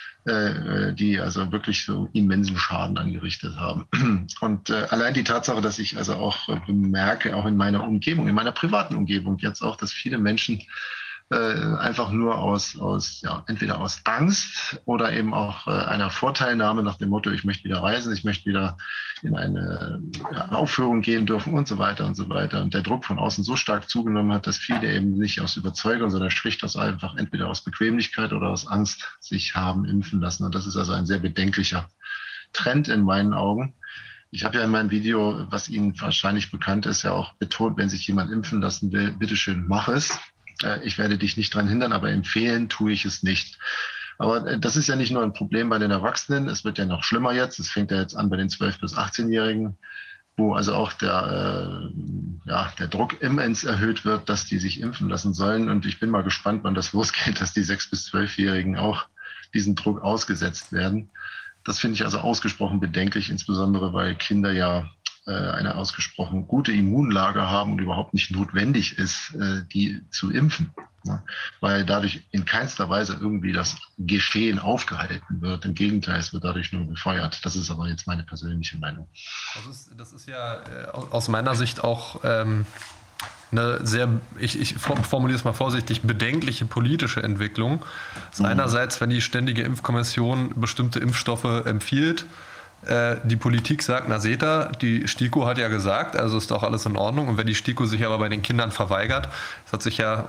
die also wirklich so immensen Schaden angerichtet haben. Und allein die Tatsache, dass ich also auch bemerke, auch in meiner Umgebung, in meiner privaten Umgebung jetzt auch, dass viele Menschen einfach nur entweder aus Angst oder eben auch einer Vorteilnahme nach dem Motto, ich möchte wieder reisen, ich möchte wieder in eine Aufführung gehen dürfen und so weiter und so weiter. Und der Druck von außen so stark zugenommen hat, dass viele eben nicht aus Überzeugung, sondern schlicht aus einfach entweder aus Bequemlichkeit oder aus Angst sich haben impfen lassen. Und das ist also ein sehr bedenklicher Trend in meinen Augen. Ich habe ja in meinem Video, was Ihnen wahrscheinlich bekannt ist, ja auch betont, wenn sich jemand impfen lassen will, bitteschön, mach es. Ich werde dich nicht daran hindern, aber empfehlen tue ich es nicht. Aber das ist ja nicht nur ein Problem bei den Erwachsenen, es wird ja noch schlimmer jetzt. Es fängt ja jetzt an bei den 12- bis 18-Jährigen, wo also auch der Druck immens erhöht wird, dass die sich impfen lassen sollen. Und ich bin mal gespannt, wann das losgeht, dass die 6- bis 12-Jährigen auch diesen Druck ausgesetzt werden. Das finde ich also ausgesprochen bedenklich, insbesondere weil Kinder ja eine ausgesprochen gute Immunlage haben und überhaupt nicht notwendig ist, die zu impfen. Ja, weil dadurch in keinster Weise irgendwie das Geschehen aufgehalten wird. Im Gegenteil, es wird dadurch nur befeuert. Das ist aber jetzt meine persönliche Meinung. Das ist ja aus meiner Sicht auch eine sehr, ich formuliere es mal vorsichtig, bedenkliche politische Entwicklung. Das ist einerseits, wenn die Ständige Impfkommission bestimmte Impfstoffe empfiehlt, die Politik sagt, na seht ihr, die STIKO hat ja gesagt, also ist doch alles in Ordnung. Und wenn die STIKO sich aber bei den Kindern verweigert, das hat sich ja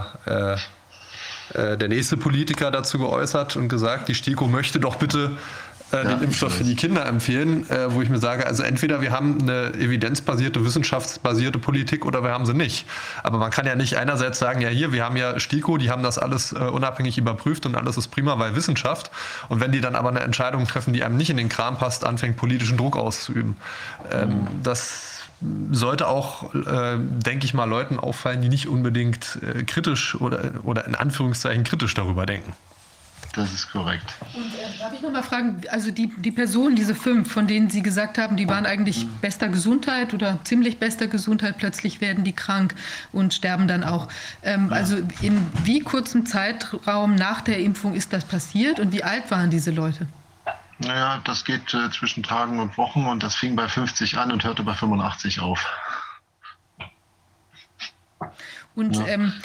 der nächste Politiker dazu geäußert und gesagt, die STIKO möchte doch bitte den Impfstoff für die Kinder empfehlen, wo ich mir sage, also entweder wir haben eine evidenzbasierte, wissenschaftsbasierte Politik oder wir haben sie nicht. Aber man kann ja nicht einerseits sagen, ja hier, wir haben ja STIKO, die haben das alles unabhängig überprüft und alles ist prima, weil Wissenschaft. Und wenn die dann aber eine Entscheidung treffen, die einem nicht in den Kram passt, anfängt politischen Druck auszuüben. Das sollte auch, denke ich mal, Leuten auffallen, die nicht unbedingt kritisch oder in Anführungszeichen kritisch darüber denken. Das ist korrekt. Und darf ich noch mal fragen, also die Personen, diese 5, von denen Sie gesagt haben, die waren eigentlich bester Gesundheit oder ziemlich bester Gesundheit, plötzlich werden die krank und sterben dann auch. Also in wie kurzem Zeitraum nach der Impfung ist das passiert und wie alt waren diese Leute? Naja, das geht zwischen Tagen und Wochen und das fing bei 50 an und hörte bei 85 auf. Und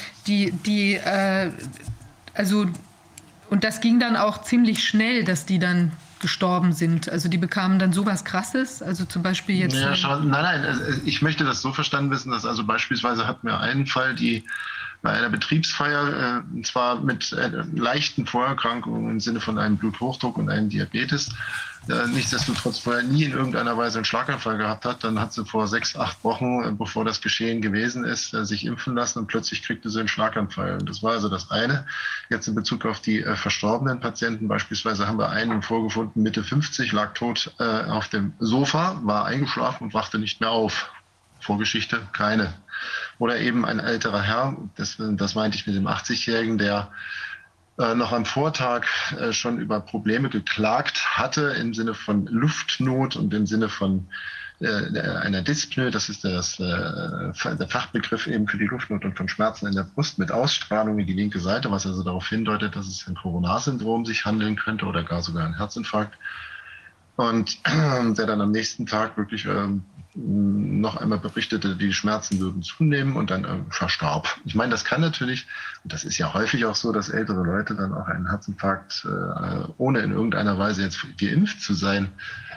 also und das ging dann auch ziemlich schnell, dass die dann gestorben sind. Also die bekamen dann sowas Krasses, also zum Beispiel jetzt... Ja, nein, ich möchte das so verstanden wissen, dass also beispielsweise hatten wir einen Fall, die bei einer Betriebsfeier, und zwar mit leichten Vorerkrankungen im Sinne von einem Bluthochdruck und einem Diabetes, nichtsdestotrotz vorher nie in irgendeiner Weise einen Schlaganfall gehabt hat. Dann hat sie vor 6, 8 Wochen, bevor das Geschehen gewesen ist, sich impfen lassen und plötzlich kriegte sie einen Schlaganfall. Und das war also das eine. Jetzt in Bezug auf die verstorbenen Patienten beispielsweise haben wir einen vorgefunden, Mitte 50, lag tot auf dem Sofa, war eingeschlafen und wachte nicht mehr auf. Vorgeschichte keine. Oder eben ein älterer Herr, das meinte ich mit dem 80-Jährigen, der noch am Vortag schon über Probleme geklagt hatte im Sinne von Luftnot und im Sinne von einer Dyspnoe, das ist der Fachbegriff eben für die Luftnot und von Schmerzen in der Brust mit Ausstrahlung in die linke Seite, was also darauf hindeutet, dass es ein Coronarsyndrom sich handeln könnte oder gar sogar ein Herzinfarkt. Und der dann am nächsten Tag wirklich noch einmal berichtete, die Schmerzen würden zunehmen und dann verstarb. Ich meine, das kann natürlich, und das ist ja häufig auch so, dass ältere Leute dann auch einen Herzinfarkt, ohne in irgendeiner Weise jetzt geimpft zu sein,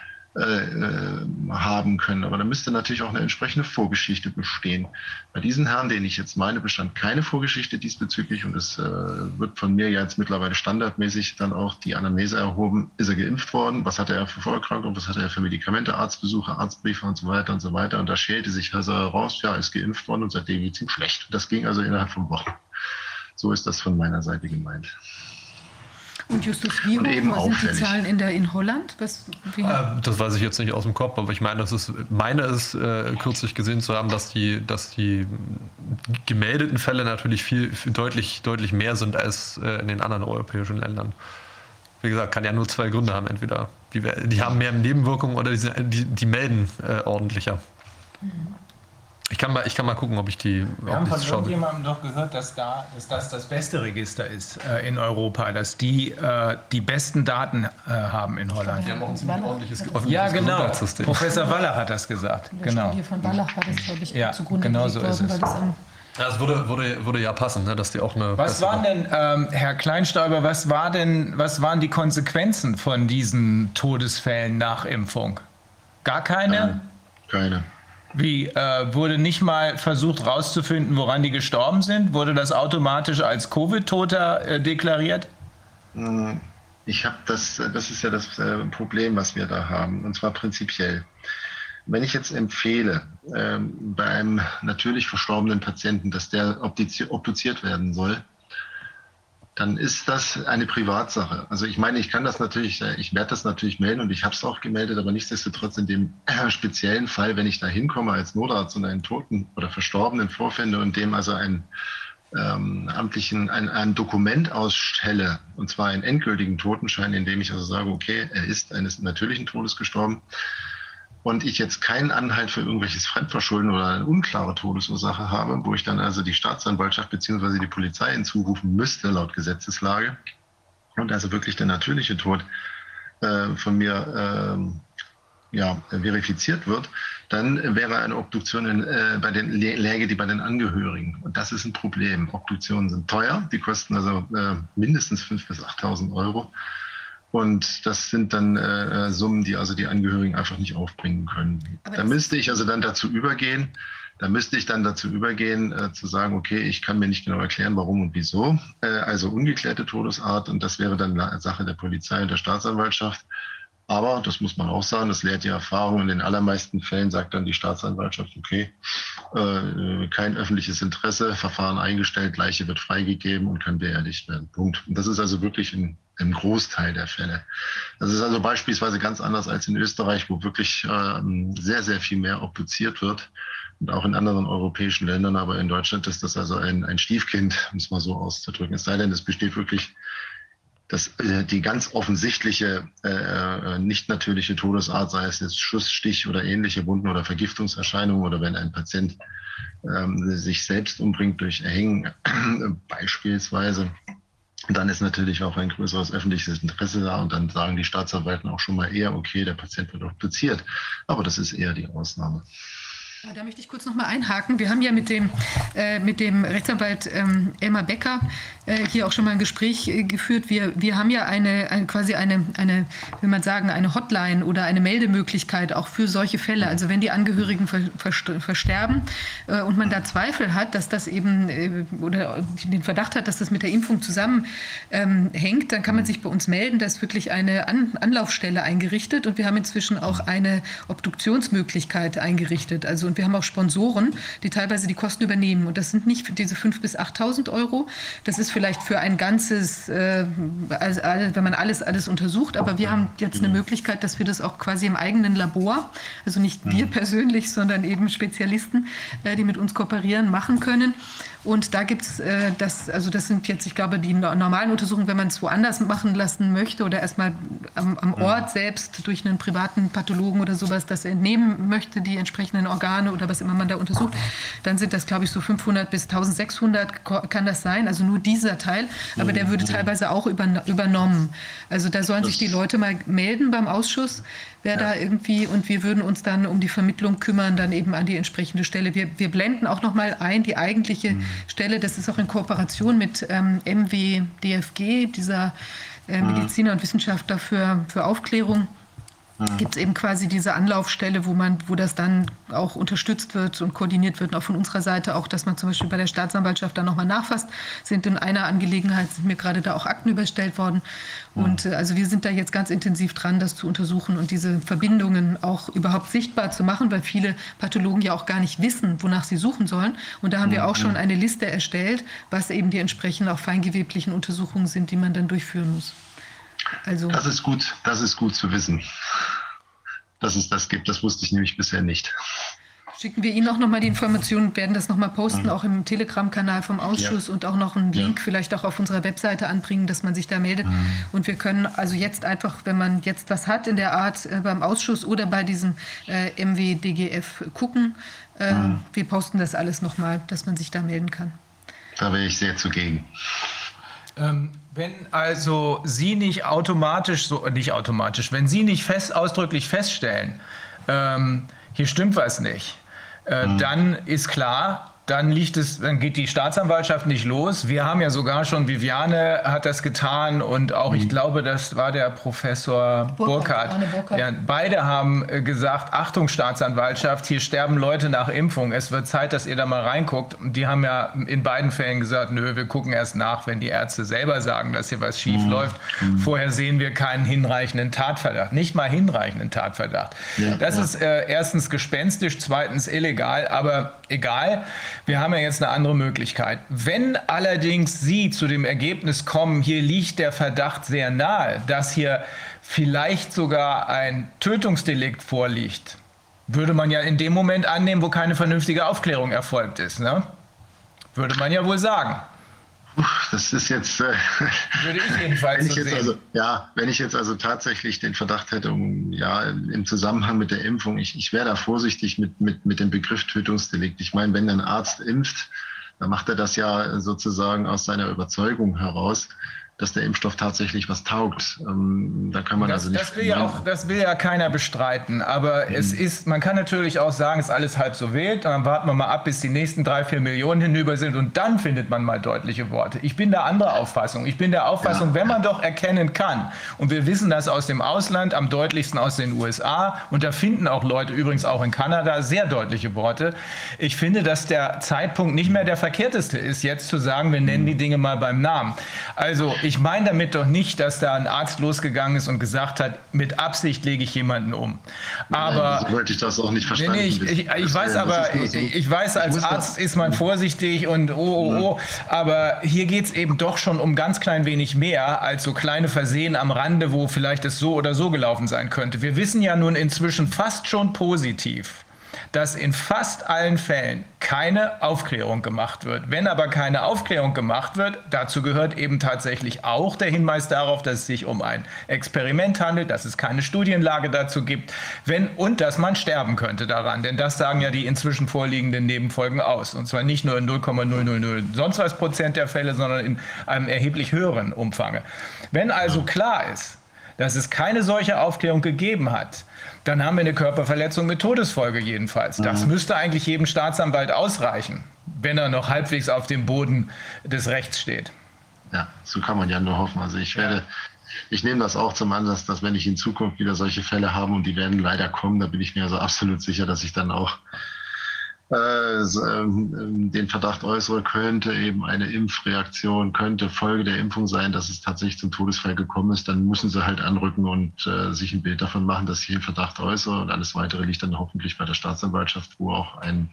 haben können. Aber da müsste natürlich auch eine entsprechende Vorgeschichte bestehen. Bei diesen Herren, den ich jetzt meine, bestand keine Vorgeschichte diesbezüglich und es wird von mir ja jetzt mittlerweile standardmäßig dann auch die Anamnese erhoben. Ist er geimpft worden? Was hatte er für Vorerkrankungen? Was hatte er für Medikamente, Arztbesuche, Arztbriefe und so weiter und so weiter? Und da schälte sich also heraus, ja, ist geimpft worden und seitdem geht es ihm schlecht. Das ging also innerhalb von Wochen. So ist das von meiner Seite gemeint. Und Justus, wie hoch sind die Zahlen in Holland? Das weiß ich jetzt nicht aus dem Kopf, aber ich meine, es kürzlich gesehen zu haben, dass die gemeldeten Fälle natürlich viel deutlich mehr sind als in den anderen europäischen Ländern. Wie gesagt, kann ja nur 2 Gründe haben. Entweder die haben mehr Nebenwirkungen oder die melden ordentlicher. Ich kann mal gucken, ob ich die. Wir haben von irgendjemandem doch gehört, dass das beste Register ist in Europa, dass die besten Daten haben in Holland. Die haben auch ein ziemlich ordentliches Gesundheitssystem. Professor Wallach hat das gesagt. Genau. Studie von Wallach war das, glaube ich, zugrunde genau so ist es. Das würde ja passen, ne, dass die auch eine. Was waren denn, Herr Kleinstauber, was waren die Konsequenzen von diesen Todesfällen nach Impfung? Gar keine? Keine. Wie, wurde nicht mal versucht rauszufinden, woran die gestorben sind? Wurde das automatisch als Covid-Toter deklariert? Ich habe das ist ja das Problem, was wir da haben, und zwar prinzipiell. Wenn ich jetzt empfehle, bei einem natürlich verstorbenen Patienten, dass der obduziert werden soll, dann ist das eine Privatsache. Also ich meine, ich werde das natürlich melden und ich habe es auch gemeldet, aber nichtsdestotrotz in dem speziellen Fall, wenn ich da hinkomme als Notarzt und einen Toten oder Verstorbenen vorfinde und dem also ein Dokument ausstelle, und zwar einen endgültigen Totenschein, in dem ich also sage, okay, er ist eines natürlichen Todes gestorben, und ich jetzt keinen Anhalt für irgendwelches Fremdverschulden oder eine unklare Todesursache habe, wo ich dann also die Staatsanwaltschaft bzw. die Polizei hinzurufen müsste, laut Gesetzeslage, und also wirklich der natürliche Tod von mir verifiziert wird, dann wäre eine Obduktion läge die bei den Angehörigen. Und das ist ein Problem. Obduktionen sind teuer, die kosten also mindestens 5.000 bis 8.000 Euro. Und das sind dann Summen, die also die Angehörigen einfach nicht aufbringen können. Da müsste ich also dann dazu übergehen, zu sagen, okay, ich kann mir nicht genau erklären, warum und wieso. Also ungeklärte Todesart, und das wäre dann Sache der Polizei und der Staatsanwaltschaft. Aber, das muss man auch sagen, das lehrt die Erfahrung, in den allermeisten Fällen sagt dann die Staatsanwaltschaft, okay, kein öffentliches Interesse, Verfahren eingestellt, Leiche wird freigegeben und kann beerdigt werden. Punkt. Und das ist also wirklich ein Großteil der Fälle. Das ist also beispielsweise ganz anders als in Österreich, wo wirklich sehr, sehr viel mehr obduziert wird. Und auch in anderen europäischen Ländern, aber in Deutschland ist das also ein Stiefkind, um es mal so auszudrücken. Es sei denn, es besteht wirklich die ganz offensichtliche, nicht natürliche Todesart, sei es jetzt Schuss, Stich oder ähnliche Wunden oder Vergiftungserscheinungen oder wenn ein Patient sich selbst umbringt durch Erhängen beispielsweise, dann ist natürlich auch ein größeres öffentliches Interesse da und dann sagen die Staatsanwälten auch schon mal eher, okay, der Patient wird obduziert. Aber das ist eher die Ausnahme. Da möchte ich kurz noch mal einhaken. Wir haben ja mit dem Rechtsanwalt Elmar Becker hier auch schon mal ein Gespräch geführt. Wir haben ja quasi eine, will man sagen, eine Hotline oder eine Meldemöglichkeit auch für solche Fälle. Also wenn die Angehörigen versterben und man da Zweifel hat, dass das eben oder den Verdacht hat, dass das mit der Impfung zusammenhängt, dann kann man sich bei uns melden. Da ist wirklich eine Anlaufstelle eingerichtet und wir haben inzwischen auch eine Obduktionsmöglichkeit eingerichtet. Also und wir haben auch Sponsoren, die teilweise die Kosten übernehmen. Und das sind nicht für diese 5.000 bis 8.000 Euro. Das ist vielleicht für ein ganzes, wenn man alles untersucht. Aber wir haben jetzt eine Möglichkeit, dass wir das auch quasi im eigenen Labor, also nicht wir persönlich, sondern eben Spezialisten, die mit uns kooperieren, machen können. Und da gibt es das sind jetzt, ich glaube, die normalen Untersuchungen, wenn man es woanders machen lassen möchte oder erstmal am Ort selbst durch einen privaten Pathologen oder sowas das entnehmen möchte, die entsprechenden Organe oder was immer man da untersucht, dann sind das, glaube ich, so 500 bis 1.600 kann das sein, also nur dieser Teil, aber der würde teilweise auch übernommen. Also da sollen sich die Leute mal melden beim Ausschuss, wer da irgendwie, und wir würden uns dann um die Vermittlung kümmern, dann eben an die entsprechende Stelle. Wir blenden auch noch mal ein, die eigentliche Stelle, das ist auch in Kooperation mit MWDFG, dieser Mediziner und Wissenschaftler für Aufklärung. Gibt es eben quasi diese Anlaufstelle, wo das dann auch unterstützt wird und koordiniert wird, und auch von unserer Seite auch, dass man zum Beispiel bei der Staatsanwaltschaft dann nochmal nachfasst. Sind in einer Angelegenheit, sind mir gerade da auch Akten überstellt worden. Und also wir sind da jetzt ganz intensiv dran, das zu untersuchen und diese Verbindungen auch überhaupt sichtbar zu machen, weil viele Pathologen ja auch gar nicht wissen, wonach sie suchen sollen. Und da haben wir auch schon eine Liste erstellt, was eben die entsprechenden auch feingeweblichen Untersuchungen sind, die man dann durchführen muss. Also das ist gut zu wissen, dass es das gibt. Das wusste ich nämlich bisher nicht. Schicken wir Ihnen auch nochmal die Informationen, werden das nochmal posten, auch im Telegram-Kanal vom Ausschuss und auch noch einen Link vielleicht auch auf unserer Webseite anbringen, dass man sich da meldet. Und wir können also jetzt einfach, wenn man jetzt was hat in der Art beim Ausschuss oder bei diesem MWDGF gucken, wir posten das alles nochmal, dass man sich da melden kann. Da wäre ich sehr zugegen. Wenn also Sie nicht wenn Sie nicht ausdrücklich feststellen, hier stimmt was nicht, dann ist klar, dann geht die Staatsanwaltschaft nicht los. Wir haben ja sogar schon, Viviane hat das getan und auch, ich glaube, das war der Professor Burkhardt. Ja, beide haben gesagt, Achtung Staatsanwaltschaft, hier sterben Leute nach Impfung. Es wird Zeit, dass ihr da mal reinguckt. Und die haben ja in beiden Fällen gesagt, nö, wir gucken erst nach, wenn die Ärzte selber sagen, dass hier was schief läuft. Vorher sehen wir keinen hinreichenden Tatverdacht. Nicht mal hinreichenden Tatverdacht. Das ist erstens gespenstisch, zweitens illegal, aber egal. Wir haben ja jetzt eine andere Möglichkeit. Wenn allerdings Sie zu dem Ergebnis kommen, hier liegt der Verdacht sehr nahe, dass hier vielleicht sogar ein Tötungsdelikt vorliegt, würde man ja in dem Moment annehmen, wo keine vernünftige Aufklärung erfolgt ist, ne? Würde man ja wohl sagen. Das ist jetzt, würde ich jedenfalls so sehen. Wenn ich jetzt also tatsächlich den Verdacht hätte, im Zusammenhang mit der Impfung, ich wäre da vorsichtig mit dem Begriff Tötungsdelikt. Ich meine, wenn ein Arzt impft, dann macht er das ja sozusagen aus seiner Überzeugung heraus, dass der Impfstoff tatsächlich was taugt. Da kann man das will ja keiner bestreiten, aber man kann natürlich auch sagen, es ist alles halb so wild, dann warten wir mal ab, bis die nächsten 3-4 Millionen hinüber sind und dann findet man mal deutliche Worte. Ich bin der anderer Auffassung. Ich bin der Auffassung, wenn man doch erkennen kann, und wir wissen das aus dem Ausland, am deutlichsten aus den USA, und da finden auch Leute, übrigens auch in Kanada, sehr deutliche Worte. Ich finde, dass der Zeitpunkt nicht mehr der verkehrteste ist, jetzt zu sagen, wir nennen die Dinge mal beim Namen. Also ich meine damit doch nicht, dass da ein Arzt losgegangen ist und gesagt hat, mit Absicht lege ich jemanden um. Aber so wollte ich das auch nicht verstanden. Ich weiß, als Arzt ist man vorsichtig und aber hier geht es eben doch schon um ganz klein wenig mehr als so kleine Versehen am Rande, wo vielleicht es so oder so gelaufen sein könnte. Wir wissen ja nun inzwischen fast schon positiv, dass in fast allen Fällen keine Aufklärung gemacht wird. Wenn aber keine Aufklärung gemacht wird, dazu gehört eben tatsächlich auch der Hinweis darauf, dass es sich um ein Experiment handelt, dass es keine Studienlage dazu gibt, und dass man sterben könnte daran. Denn das sagen ja die inzwischen vorliegenden Nebenfolgen aus. Und zwar nicht nur in 0,000 sonst was Prozent der Fälle, sondern in einem erheblich höheren Umfang. Wenn also klar ist, dass es keine solche Aufklärung gegeben hat, dann haben wir eine Körperverletzung mit Todesfolge jedenfalls. Das müsste eigentlich jedem Staatsanwalt ausreichen, wenn er noch halbwegs auf dem Boden des Rechts steht. Ja, so kann man ja nur hoffen. Also ich nehme das auch zum Anlass, dass wenn ich in Zukunft wieder solche Fälle habe, und die werden leider kommen, da bin ich mir also absolut sicher, dass ich dann auch den Verdacht äußere, könnte eben eine Impfreaktion, könnte Folge der Impfung sein, dass es tatsächlich zum Todesfall gekommen ist, dann müssen sie halt anrücken und sich ein Bild davon machen, dass ich den Verdacht äußere, und alles Weitere liegt dann hoffentlich bei der Staatsanwaltschaft, wo auch ein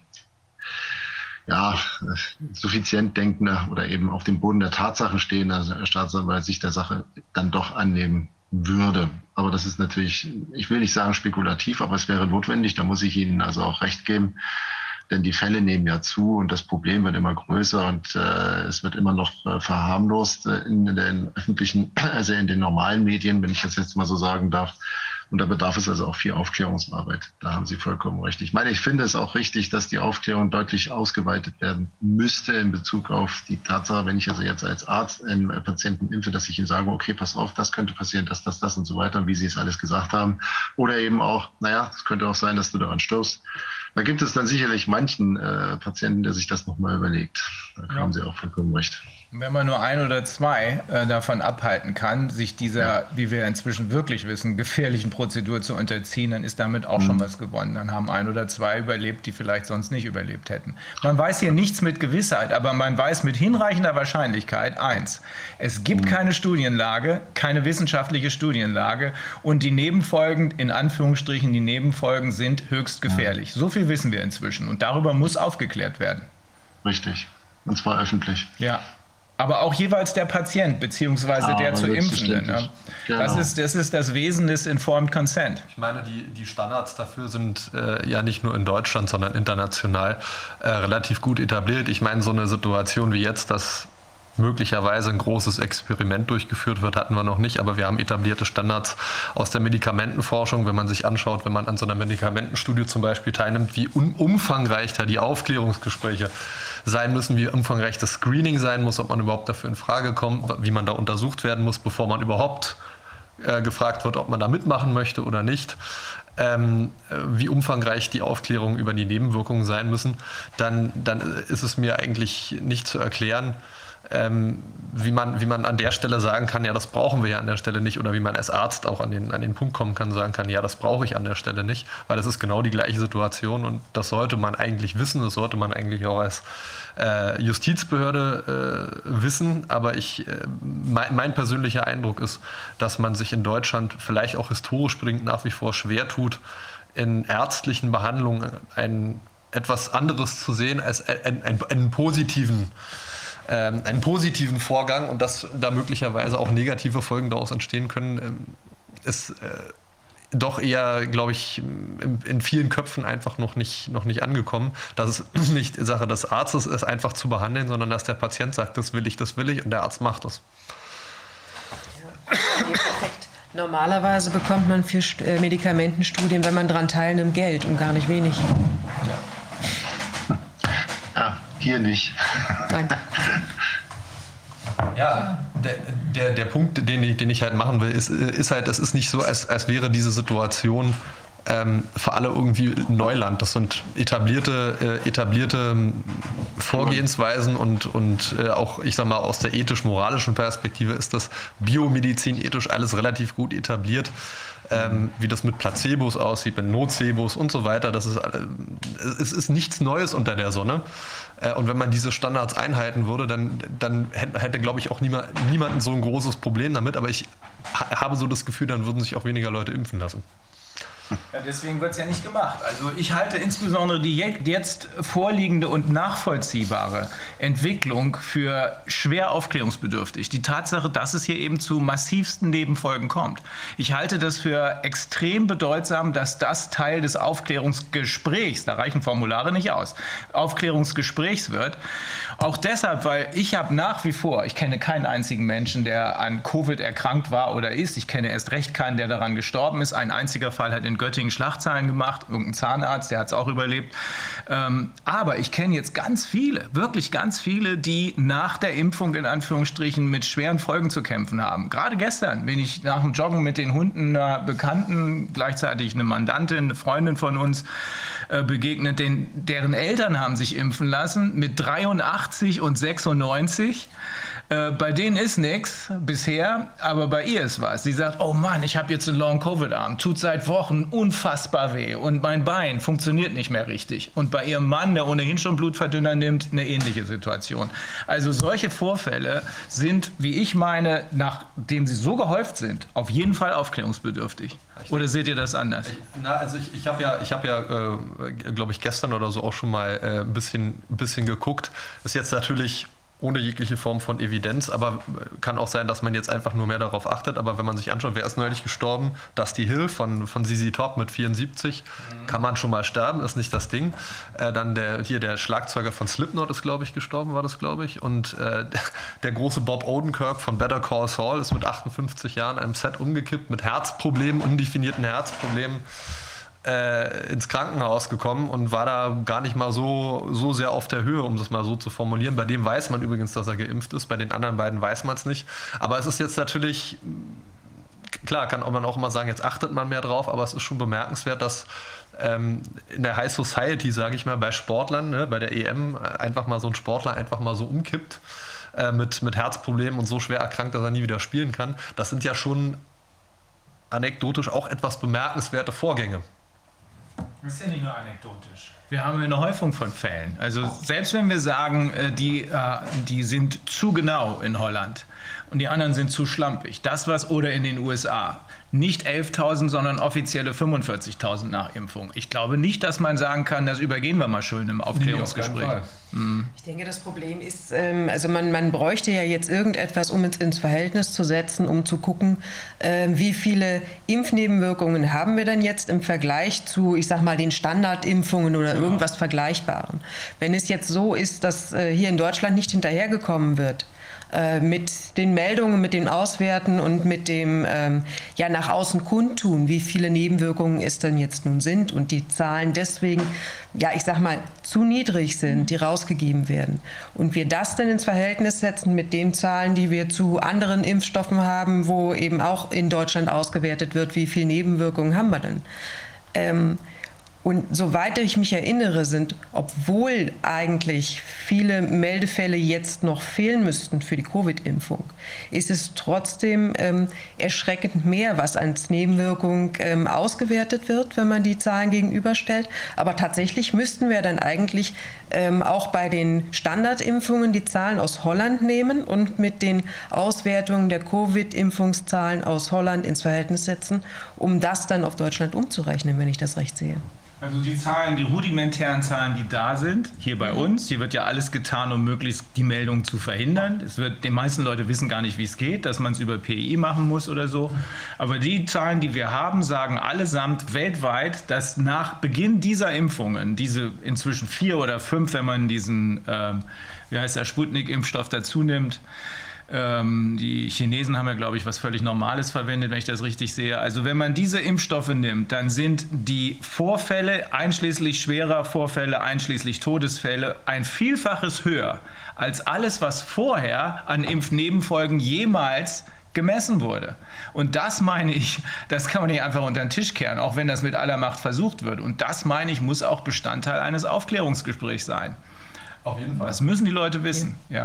suffizient denkender oder eben auf dem Boden der Tatsachen stehender Staatsanwalt sich der Sache dann doch annehmen würde. Aber das ist natürlich, ich will nicht sagen spekulativ, aber es wäre notwendig, da muss ich Ihnen also auch recht geben. Denn die Fälle nehmen ja zu und das Problem wird immer größer und es wird immer noch verharmlost in den öffentlichen, also in den normalen Medien, wenn ich das jetzt mal so sagen darf. Und da bedarf es also auch viel Aufklärungsarbeit. Da haben Sie vollkommen recht. Ich meine, ich finde es auch richtig, dass die Aufklärung deutlich ausgeweitet werden müsste in Bezug auf die Tatsache, wenn ich also jetzt als Arzt einen Patienten impfe, dass ich ihm sage, okay, pass auf, das könnte passieren, das und so weiter, wie Sie es alles gesagt haben. Oder eben auch, es könnte auch sein, dass du daran stirbst. Da gibt es dann sicherlich manchen Patienten, der sich das nochmal überlegt. Da haben Sie auch vollkommen recht. Wenn man nur ein oder zwei davon abhalten kann, sich dieser, wie wir inzwischen wirklich wissen, gefährlichen Prozedur zu unterziehen, dann ist damit auch schon was gewonnen. Dann haben ein oder zwei überlebt, die vielleicht sonst nicht überlebt hätten. Man weiß hier nichts mit Gewissheit, aber man weiß mit hinreichender Wahrscheinlichkeit eins: Es gibt keine Studienlage, keine wissenschaftliche Studienlage, und die Nebenfolgen, in Anführungsstrichen, die Nebenfolgen sind höchst gefährlich. So viel wissen wir inzwischen, und darüber muss aufgeklärt werden. Richtig, und zwar öffentlich. Ja. Aber auch jeweils der Patient bzw. der zu Impfende. Ne? Genau. Das ist das Wesen des Informed Consent. Ich meine, die Standards dafür sind ja nicht nur in Deutschland, sondern international relativ gut etabliert. Ich meine, so eine Situation wie jetzt, dass möglicherweise ein großes Experiment durchgeführt wird, hatten wir noch nicht, aber wir haben etablierte Standards aus der Medikamentenforschung. Wenn man sich anschaut, wenn man an so einer Medikamentenstudie zum Beispiel teilnimmt, wie umfangreich da die Aufklärungsgespräche sein müssen, wie umfangreich das Screening sein muss, ob man überhaupt dafür in Frage kommt, wie man da untersucht werden muss, bevor man überhaupt gefragt wird, ob man da mitmachen möchte oder nicht, wie umfangreich die Aufklärungen über die Nebenwirkungen sein müssen, dann ist es mir eigentlich nicht zu erklären, wie man an der Stelle sagen kann, ja, das brauchen wir ja an der Stelle nicht, oder wie man als Arzt auch an den Punkt kommen kann, sagen kann, ja, das brauche ich an der Stelle nicht, weil das ist genau die gleiche Situation, und das sollte man eigentlich wissen, das sollte man eigentlich auch als Justizbehörde wissen, aber mein persönlicher Eindruck ist, dass man sich in Deutschland vielleicht auch historisch bedingt nach wie vor schwer tut, in ärztlichen Behandlungen etwas anderes zu sehen als einen positiven Vorgang, und dass da möglicherweise auch negative Folgen daraus entstehen können, ist doch eher, glaube ich, in vielen Köpfen einfach noch nicht angekommen. Dass es nicht Sache des Arztes ist, einfach zu behandeln, sondern dass der Patient sagt, das will ich, und der Arzt macht das. Ja, perfekt. Normalerweise bekommt man für Medikamentenstudien, wenn man daran teilnimmt, Geld, und gar nicht wenig. Ja, hier nicht. Nein. Ja, der Punkt, den ich halt machen will, ist halt, es ist nicht so, als wäre diese Situation für alle irgendwie Neuland. Das sind etablierte Vorgehensweisen, und auch, ich sag mal, aus der ethisch-moralischen Perspektive ist das biomedizinethisch alles relativ gut etabliert. Wie das mit Placebos aussieht, mit Nocebos und so weiter. Es ist nichts Neues unter der Sonne. Und wenn man diese Standards einhalten würde, dann hätte, glaube ich, auch niemanden so ein großes Problem damit. Aber ich habe so das Gefühl, dann würden sich auch weniger Leute impfen lassen. Ja, deswegen wird es ja nicht gemacht. Also ich halte insbesondere die jetzt vorliegende und nachvollziehbare Entwicklung für schwer aufklärungsbedürftig. Die Tatsache, dass es hier eben zu massivsten Nebenfolgen kommt. Ich halte das für extrem bedeutsam, dass das Teil des Aufklärungsgesprächs, da reichen Formulare nicht aus, Aufklärungsgesprächs wird. Auch deshalb, weil ich habe nach wie vor, ich kenne keinen einzigen Menschen, der an Covid erkrankt war oder ist. Ich kenne erst recht keinen, der daran gestorben ist. Ein einziger Fall hat in Göttingen Schlagzeilen gemacht, irgendein Zahnarzt, der hat es auch überlebt. Aber ich kenne jetzt ganz viele, wirklich ganz viele, die nach der Impfung in Anführungsstrichen mit schweren Folgen zu kämpfen haben. Gerade gestern bin ich nach dem Joggen mit den Hunden einer Bekannten, gleichzeitig eine Mandantin, eine Freundin von uns, begegnet, deren Eltern haben sich impfen lassen mit 83 und 96. Bei denen ist nichts bisher, aber bei ihr ist was. Sie sagt, oh Mann, ich habe jetzt einen Long-Covid-Arm, tut seit Wochen unfassbar weh und mein Bein funktioniert nicht mehr richtig. Und bei ihrem Mann, der ohnehin schon Blutverdünner nimmt, eine ähnliche Situation. Also solche Vorfälle sind, wie ich meine, nachdem sie so gehäuft sind, auf jeden Fall aufklärungsbedürftig. Oder seht ihr das anders? Also ich habe ja, glaube ich, gestern oder so auch schon mal ein bisschen geguckt. Ist jetzt natürlich ohne jegliche Form von Evidenz, aber kann auch sein, dass man jetzt einfach nur mehr darauf achtet. Aber wenn man sich anschaut, wer ist neulich gestorben? Dusty Hill von ZZ Top mit 74. Kann man schon mal sterben, ist nicht das Ding. Dann der Schlagzeuger von Slipknot ist, glaube ich, gestorben, war das, glaube ich. Und der große Bob Odenkirk von Better Call Saul ist mit 58 Jahren einem Set umgekippt mit Herzproblemen, undefinierten Herzproblemen, ins Krankenhaus gekommen und war da gar nicht mal so sehr auf der Höhe, um das mal so zu formulieren. Bei dem weiß man übrigens, dass er geimpft ist, bei den anderen beiden weiß man es nicht. Aber es ist jetzt natürlich, klar, kann man auch immer sagen, jetzt achtet man mehr drauf, aber es ist schon bemerkenswert, dass in der High Society, sage ich mal, bei Sportlern, ne, bei der EM, einfach mal so ein Sportler einfach mal so umkippt mit Herzproblemen und so schwer erkrankt, dass er nie wieder spielen kann. Das sind ja schon anekdotisch auch etwas bemerkenswerte Vorgänge. Das ist ja nicht nur anekdotisch. Wir haben eine Häufung von Fällen. Also selbst wenn wir sagen, die sind zu genau in Holland und die anderen sind zu schlampig, oder in den USA, nicht 11.000, sondern offizielle 45.000 nach Impfung. Ich glaube nicht, dass man sagen kann, das übergehen wir mal schön im Aufklärungsgespräch. Ich denke, das Problem ist, also man bräuchte ja jetzt irgendetwas, um es ins Verhältnis zu setzen, um zu gucken, wie viele Impfnebenwirkungen haben wir denn jetzt im Vergleich zu, ich sag mal, den Standardimpfungen oder irgendwas Vergleichbarem. Wenn es jetzt so ist, dass hier in Deutschland nicht hinterhergekommen wird, mit den Meldungen, mit dem Auswerten und mit dem nach außen kundtun, wie viele Nebenwirkungen es denn jetzt nun sind und die Zahlen deswegen, ich sag mal, zu niedrig sind, die rausgegeben werden. Und wir das dann ins Verhältnis setzen mit den Zahlen, die wir zu anderen Impfstoffen haben, wo eben auch in Deutschland ausgewertet wird, wie viele Nebenwirkungen haben wir denn. Und soweit ich mich erinnere, sind, obwohl eigentlich viele Meldefälle jetzt noch fehlen müssten für die Covid-Impfung, ist es trotzdem erschreckend mehr, was als Nebenwirkung ausgewertet wird, wenn man die Zahlen gegenüberstellt. Aber tatsächlich müssten wir dann eigentlich auch bei den Standardimpfungen die Zahlen aus Holland nehmen und mit den Auswertungen der Covid-Impfungszahlen aus Holland ins Verhältnis setzen, um das dann auf Deutschland umzurechnen, wenn ich das recht sehe. Also die rudimentären Zahlen, die da sind, hier bei uns, hier wird ja alles getan, um möglichst die Meldung zu verhindern. Die meisten Leute wissen gar nicht, wie es geht, dass man es über PI machen muss oder so. Aber die Zahlen, die wir haben, sagen allesamt weltweit, dass nach Beginn dieser Impfungen, diese inzwischen 4 oder 5, wenn man diesen, Sputnik-Impfstoff dazu nimmt, die Chinesen haben ja, glaube ich, was völlig Normales verwendet, wenn ich das richtig sehe. Also wenn man diese Impfstoffe nimmt, dann sind die Vorfälle, einschließlich schwerer Vorfälle, einschließlich Todesfälle, ein Vielfaches höher als alles, was vorher an Impfnebenfolgen jemals gemessen wurde. Und das meine ich, das kann man nicht einfach unter den Tisch kehren, auch wenn das mit aller Macht versucht wird. Und das meine ich, muss auch Bestandteil eines Aufklärungsgesprächs sein. Auf jeden Fall. Das müssen die Leute wissen, ja.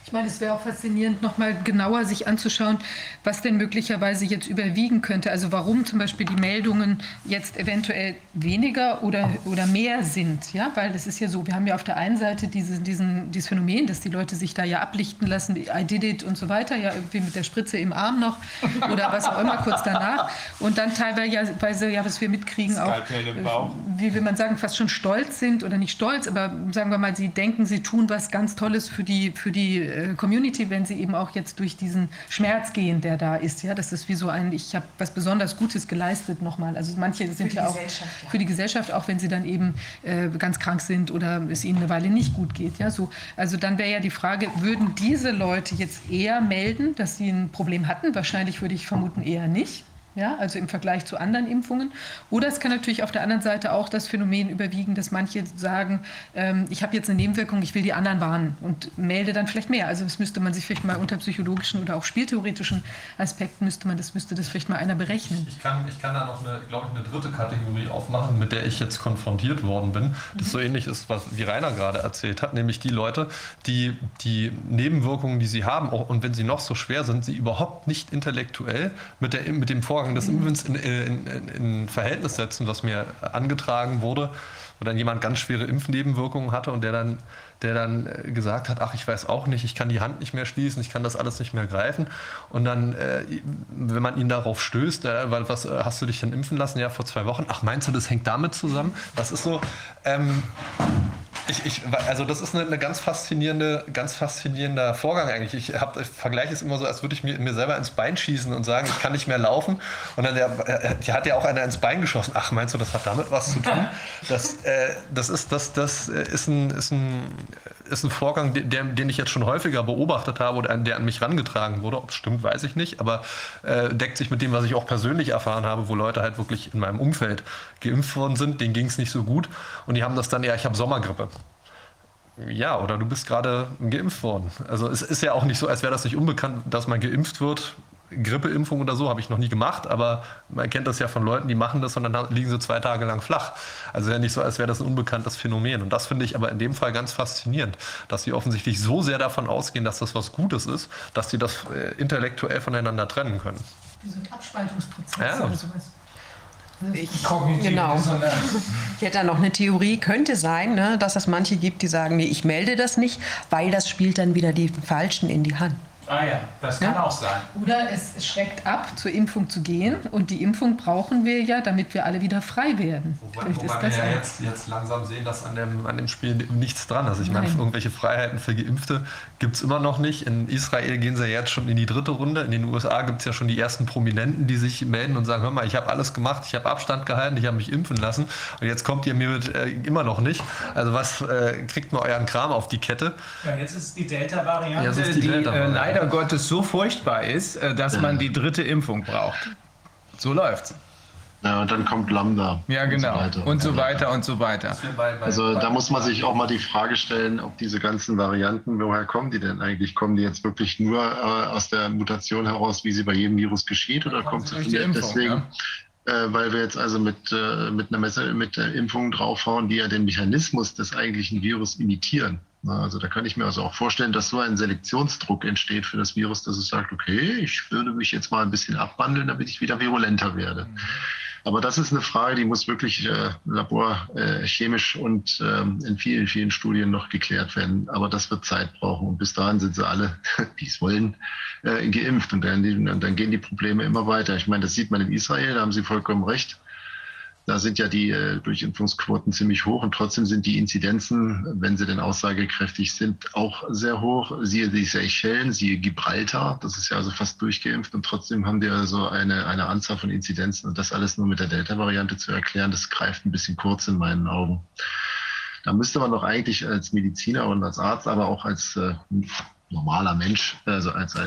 Ich meine, es wäre auch faszinierend, nochmal genauer sich anzuschauen, was denn möglicherweise jetzt überwiegen könnte. Also warum zum Beispiel die Meldungen jetzt eventuell weniger oder mehr sind. Ja? Weil es ist ja so, wir haben ja auf der einen Seite dieses Phänomen, dass die Leute sich da ja ablichten lassen, I did it und so weiter, ja irgendwie mit der Spritze im Arm noch oder was auch immer kurz danach. Und dann teilweise, ja, was wir mitkriegen, auch, wie will man sagen, fast schon stolz sind oder nicht stolz, aber sagen wir mal, sie denken, sie tun was ganz Tolles für die Community, wenn sie eben auch jetzt durch diesen Schmerz gehen, der da ist. Ja, das ist wie so ich habe was besonders Gutes geleistet nochmal. Also manche sind ja auch für die Gesellschaft, auch wenn sie dann eben ganz krank sind oder es ihnen eine Weile nicht gut geht. Ja, so. Also dann wäre ja die Frage, würden diese Leute jetzt eher melden, dass sie ein Problem hatten? Wahrscheinlich würde ich vermuten eher nicht. Ja, also im Vergleich zu anderen Impfungen. Oder es kann natürlich auf der anderen Seite auch das Phänomen überwiegen, dass manche sagen, ich habe jetzt eine Nebenwirkung, ich will die anderen warnen und melde dann vielleicht mehr. Also das müsste man sich vielleicht mal unter psychologischen oder auch spieltheoretischen Aspekten müsste das vielleicht mal einer berechnen. Ich kann da noch eine dritte Kategorie aufmachen, mit der ich jetzt konfrontiert worden bin. Das so ähnlich ist, wie Rainer gerade erzählt hat, nämlich die Leute, die Nebenwirkungen, die sie haben, auch, und wenn sie noch so schwer sind, sie überhaupt nicht intellektuell mit dem Vorgang des Impfens in Verhältnis setzen, was mir angetragen wurde, wo dann jemand ganz schwere Impfnebenwirkungen hatte und der dann gesagt hat, ach, ich weiß auch nicht, ich kann die Hand nicht mehr schließen, ich kann das alles nicht mehr greifen. Und dann, wenn man ihn darauf stößt, weil was hast du dich denn impfen lassen? Ja, vor 2 Wochen. Ach, meinst du, das hängt damit zusammen? Das ist so... Also das ist ein ganz faszinierender Vorgang eigentlich. Ich vergleiche es immer so, als würde ich mir selber ins Bein schießen und sagen, ich kann nicht mehr laufen. Und dann hat ja auch einer ins Bein geschossen. Ach, meinst du, das hat damit was zu tun? Das ist ein Vorgang, den ich jetzt schon häufiger beobachtet habe oder der an mich herangetragen wurde. Ob es stimmt, weiß ich nicht. Aber deckt sich mit dem, was ich auch persönlich erfahren habe, wo Leute halt wirklich in meinem Umfeld geimpft worden sind. Denen ging es nicht so gut. Und die haben das dann, ja, ich habe Sommergrippe. Ja, oder du bist gerade geimpft worden. Also es ist ja auch nicht so, als wäre das nicht unbekannt, dass man geimpft wird. Grippeimpfung oder so habe ich noch nie gemacht, aber man kennt das ja von Leuten, die machen das und dann liegen sie 2 Tage lang flach. Also ja nicht so, als wäre das ein unbekanntes Phänomen. Und das finde ich aber in dem Fall ganz faszinierend, dass sie offensichtlich so sehr davon ausgehen, dass das was Gutes ist, dass sie das intellektuell voneinander trennen können. Wie so ein Abspaltungsprozess oder sowas. Genau. Ich hätte da noch eine Theorie, könnte sein, ne, dass es manche gibt, die sagen, nee, ich melde das nicht, weil das spielt dann wieder die Falschen in die Hand. Ah ja, das kann auch sein. Oder es schreckt ab, zur Impfung zu gehen. Und die Impfung brauchen wir ja, damit wir alle wieder frei werden. Wobei wir ja jetzt langsam sehen, dass an dem Spiel nichts dran ist. Ich meine, irgendwelche Freiheiten für Geimpfte gibt es immer noch nicht. In Israel gehen sie ja jetzt schon in die 3. Runde. In den USA gibt es ja schon die ersten Prominenten, die sich melden und sagen, hör mal, ich habe alles gemacht, ich habe Abstand gehalten, ich habe mich impfen lassen. Und jetzt kommt ihr mir mit immer noch nicht. Also was kriegt man euren Kram auf die Kette? Ja, jetzt ist die Delta-Variante, die leider Gottes so furchtbar ist, dass man die 3. Impfung braucht. So läuft's. Ja, und dann kommt Lambda. Ja, genau. Und so weiter und so weiter. Also da muss man sich auch mal die Frage stellen, ob diese ganzen Varianten, woher kommen die denn eigentlich? Kommen die jetzt wirklich nur aus der Mutation heraus, wie sie bei jedem Virus geschieht? Oder kommt sie vielleicht deswegen, weil wir jetzt also mit einer Messe, mit Impfungen draufhauen, die ja den Mechanismus des eigentlichen Virus imitieren? Also da kann ich mir also auch vorstellen, dass so ein Selektionsdruck entsteht für das Virus, dass es sagt, okay, ich würde mich jetzt mal ein bisschen abwandeln, damit ich wieder virulenter werde. Aber das ist eine Frage, die muss wirklich laborchemisch und in vielen, vielen Studien noch geklärt werden. Aber das wird Zeit brauchen. Und bis dahin sind sie alle, die es wollen, geimpft. Und dann gehen die Probleme immer weiter. Ich meine, das sieht man in Israel, da haben Sie vollkommen recht. Da sind ja die Durchimpfungsquoten ziemlich hoch und trotzdem sind die Inzidenzen, wenn sie denn aussagekräftig sind, auch sehr hoch. Siehe die Seychellen, siehe Gibraltar, das ist ja also fast durchgeimpft und trotzdem haben die also eine Anzahl von Inzidenzen und das alles nur mit der Delta-Variante zu erklären, das greift ein bisschen kurz in meinen Augen. Da müsste man doch eigentlich als Mediziner und als Arzt, aber auch als normaler Mensch, also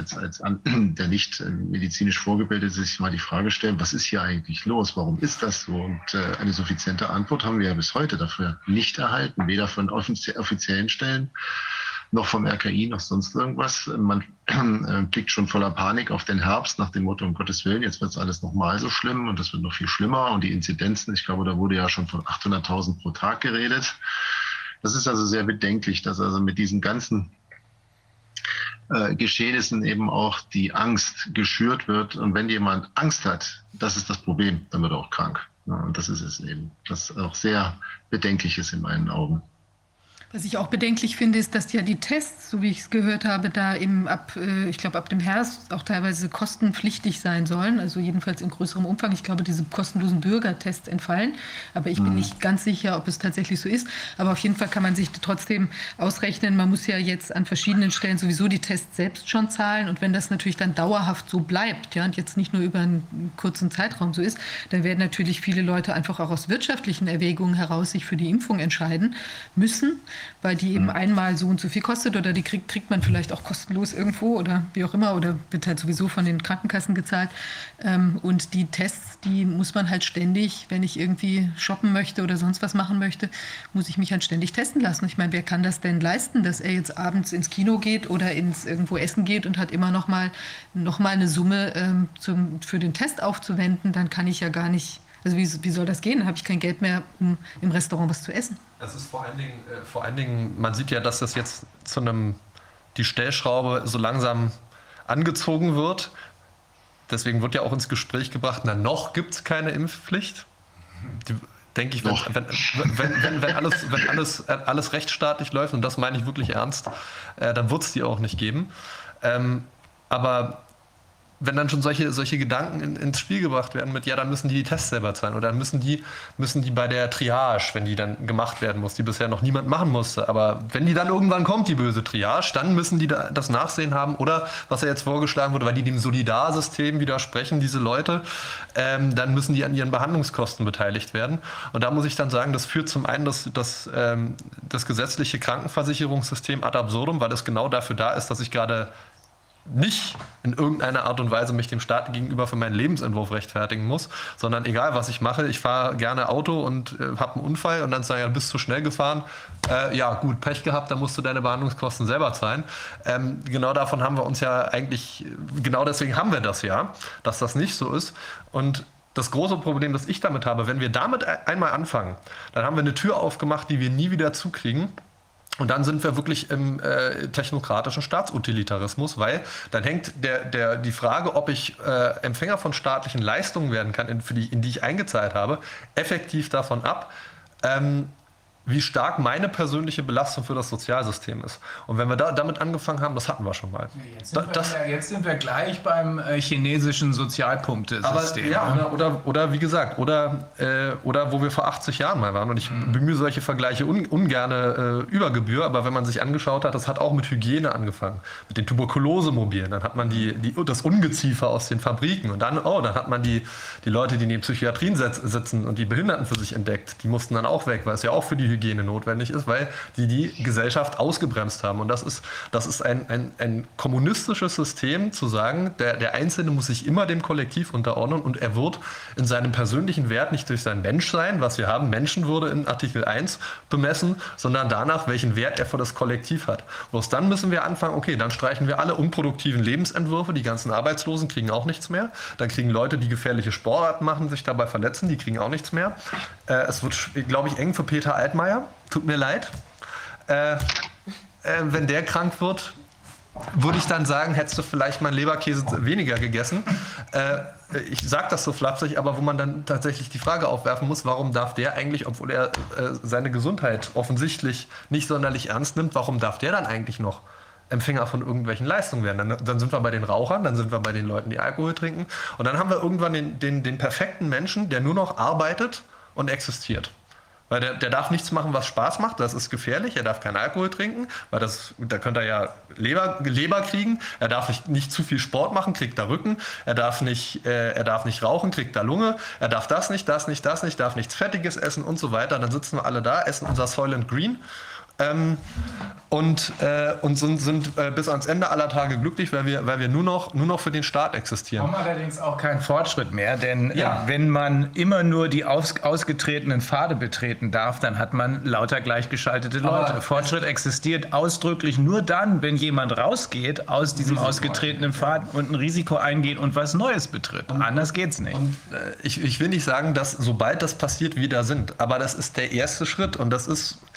der nicht medizinisch vorgebildet ist, sich mal die Frage stellen, was ist hier eigentlich los? Warum ist das so? Und eine suffiziente Antwort haben wir ja bis heute dafür nicht erhalten, weder von offiziellen Stellen noch vom RKI, noch sonst irgendwas. Man blickt schon voller Panik auf den Herbst nach dem Motto, um Gottes Willen, jetzt wird es alles nochmal so schlimm und es wird noch viel schlimmer. Und die Inzidenzen, ich glaube, da wurde ja schon von 800.000 pro Tag geredet. Das ist also sehr bedenklich, dass also mit diesen ganzen Geschehnissen eben auch die Angst geschürt wird. Und wenn jemand Angst hat, das ist das Problem, dann wird er auch krank. Ja, und das ist es eben, das auch sehr bedenklich ist in meinen Augen. Was ich auch bedenklich finde, ist, dass ja die Tests, so wie ich es gehört habe, da eben ich glaube, ab dem Herbst auch teilweise kostenpflichtig sein sollen. Also jedenfalls in größerem Umfang. Ich glaube, diese kostenlosen Bürgertests entfallen. Aber ich bin nicht ganz sicher, ob es tatsächlich so ist. Aber auf jeden Fall kann man sich trotzdem ausrechnen. Man muss ja jetzt an verschiedenen Stellen sowieso die Tests selbst schon zahlen. Und wenn das natürlich dann dauerhaft so bleibt, ja, und jetzt nicht nur über einen kurzen Zeitraum so ist, dann werden natürlich viele Leute einfach auch aus wirtschaftlichen Erwägungen heraus sich für die Impfung entscheiden müssen, weil die eben einmal so und so viel kostet oder die kriegt man vielleicht auch kostenlos irgendwo oder wie auch immer oder wird halt sowieso von den Krankenkassen gezahlt. Und die Tests, die muss man halt ständig, wenn ich irgendwie shoppen möchte oder sonst was machen möchte, muss ich mich halt ständig testen lassen. Ich meine, wer kann das denn leisten, dass er jetzt abends ins Kino geht oder irgendwo essen geht und hat immer noch mal eine Summe für den Test aufzuwenden, dann kann ich ja gar nicht. Also wie soll das gehen? Dann habe ich kein Geld mehr, um im Restaurant was zu essen. Es ist vor allen Dingen, man sieht ja, dass das jetzt die Stellschraube so langsam angezogen wird. Deswegen wird ja auch ins Gespräch gebracht, na noch gibt es keine Impfpflicht. Denke ich, wenn alles rechtsstaatlich läuft, und das meine ich wirklich ernst, dann wird es die auch nicht geben. Aber wenn dann schon solche Gedanken ins Spiel gebracht werden mit, ja, dann müssen die Tests selber zahlen oder dann müssen die bei der Triage, wenn die dann gemacht werden muss, die bisher noch niemand machen musste, aber wenn die dann irgendwann kommt, die böse Triage, dann müssen die das Nachsehen haben oder, was ja jetzt vorgeschlagen wurde, weil die dem Solidarsystem widersprechen, diese Leute, dann müssen die an ihren Behandlungskosten beteiligt werden. Und da muss ich dann sagen, das führt zum einen das gesetzliche Krankenversicherungssystem ad absurdum, weil es genau dafür da ist, dass ich gerade nicht in irgendeiner Art und Weise mich dem Staat gegenüber für meinen Lebensentwurf rechtfertigen muss, sondern egal, was ich mache, ich fahre gerne Auto und habe einen Unfall und dann sagen, ja, du bist zu schnell gefahren, ja gut, Pech gehabt, dann musst du deine Behandlungskosten selber zahlen. Genau davon haben wir uns ja eigentlich, genau deswegen haben wir das ja, dass das nicht so ist. Und das große Problem, das ich damit habe, wenn wir damit einmal anfangen, dann haben wir eine Tür aufgemacht, die wir nie wieder zukriegen. Und dann sind wir wirklich im technokratischen Staatsutilitarismus, weil dann hängt die Frage, ob ich Empfänger von staatlichen Leistungen werden kann, in die ich eingezahlt habe, effektiv davon ab, wie stark meine persönliche Belastung für das Sozialsystem ist. Und wenn wir damit angefangen haben, das hatten wir schon mal. Jetzt sind wir gleich beim chinesischen Sozialpunktesystem. Ja, oder wie gesagt, oder wo wir vor 80 Jahren mal waren. Und ich bemühe solche Vergleiche ungerne über Gebühr, aber wenn man sich angeschaut hat, das hat auch mit Hygiene angefangen, mit den Tuberkulosemobilen. Dann hat man das Ungeziefer aus den Fabriken und dann hat man die Leute, die in den Psychiatrien sitzen und die Behinderten für sich entdeckt. Die mussten dann auch weg, weil es ja auch für die Hygiene notwendig ist, weil die Gesellschaft ausgebremst haben. Und das ist ein kommunistisches System, zu sagen, der Einzelne muss sich immer dem Kollektiv unterordnen und er wird in seinem persönlichen Wert nicht durch sein Menschsein, was wir haben, Menschenwürde in Artikel 1 bemessen, sondern danach, welchen Wert er für das Kollektiv hat. Bloß dann müssen wir anfangen, okay, dann streichen wir alle unproduktiven Lebensentwürfe, die ganzen Arbeitslosen kriegen auch nichts mehr, dann kriegen Leute, die gefährliche Sportarten machen, sich dabei verletzen, die kriegen auch nichts mehr. Es wird, glaube ich, eng für Peter Altmaier. Tut mir leid. Wenn der krank wird, würde ich dann sagen, hättest du vielleicht mal Leberkäse weniger gegessen. Ich sage das so flapsig, aber wo man dann tatsächlich die Frage aufwerfen muss, warum darf der eigentlich, obwohl er seine Gesundheit offensichtlich nicht sonderlich ernst nimmt, warum darf der dann eigentlich noch Empfänger von irgendwelchen Leistungen werden? Dann sind wir bei den Rauchern, dann sind wir bei den Leuten, die Alkohol trinken. Und dann haben wir irgendwann den perfekten Menschen, der nur noch arbeitet und existiert. Weil der darf nichts machen, was Spaß macht, das ist gefährlich. Er darf keinen Alkohol trinken, weil da könnte er ja Leber kriegen. Er darf nicht zu viel Sport machen, kriegt da Rücken. Er darf nicht rauchen, kriegt da Lunge. Er darf das nicht, darf nichts Fettiges essen und so weiter. Dann sitzen wir alle da, essen unser Soylent Green und sind bis ans Ende aller Tage glücklich, weil wir nur noch für den Staat existieren. Haben allerdings auch keinen Fortschritt mehr, denn wenn man immer nur die ausgetretenen Pfade betreten darf, dann hat man lauter gleichgeschaltete Leute. Aber Fortschritt existiert ausdrücklich nur dann, wenn jemand rausgeht aus diesem ausgetretenen Pfad und ein Risiko eingeht und was Neues betritt. Anders geht's nicht. Und, ich will nicht sagen, dass sobald das passiert, wir da sind, aber das ist der erste Schritt und das ist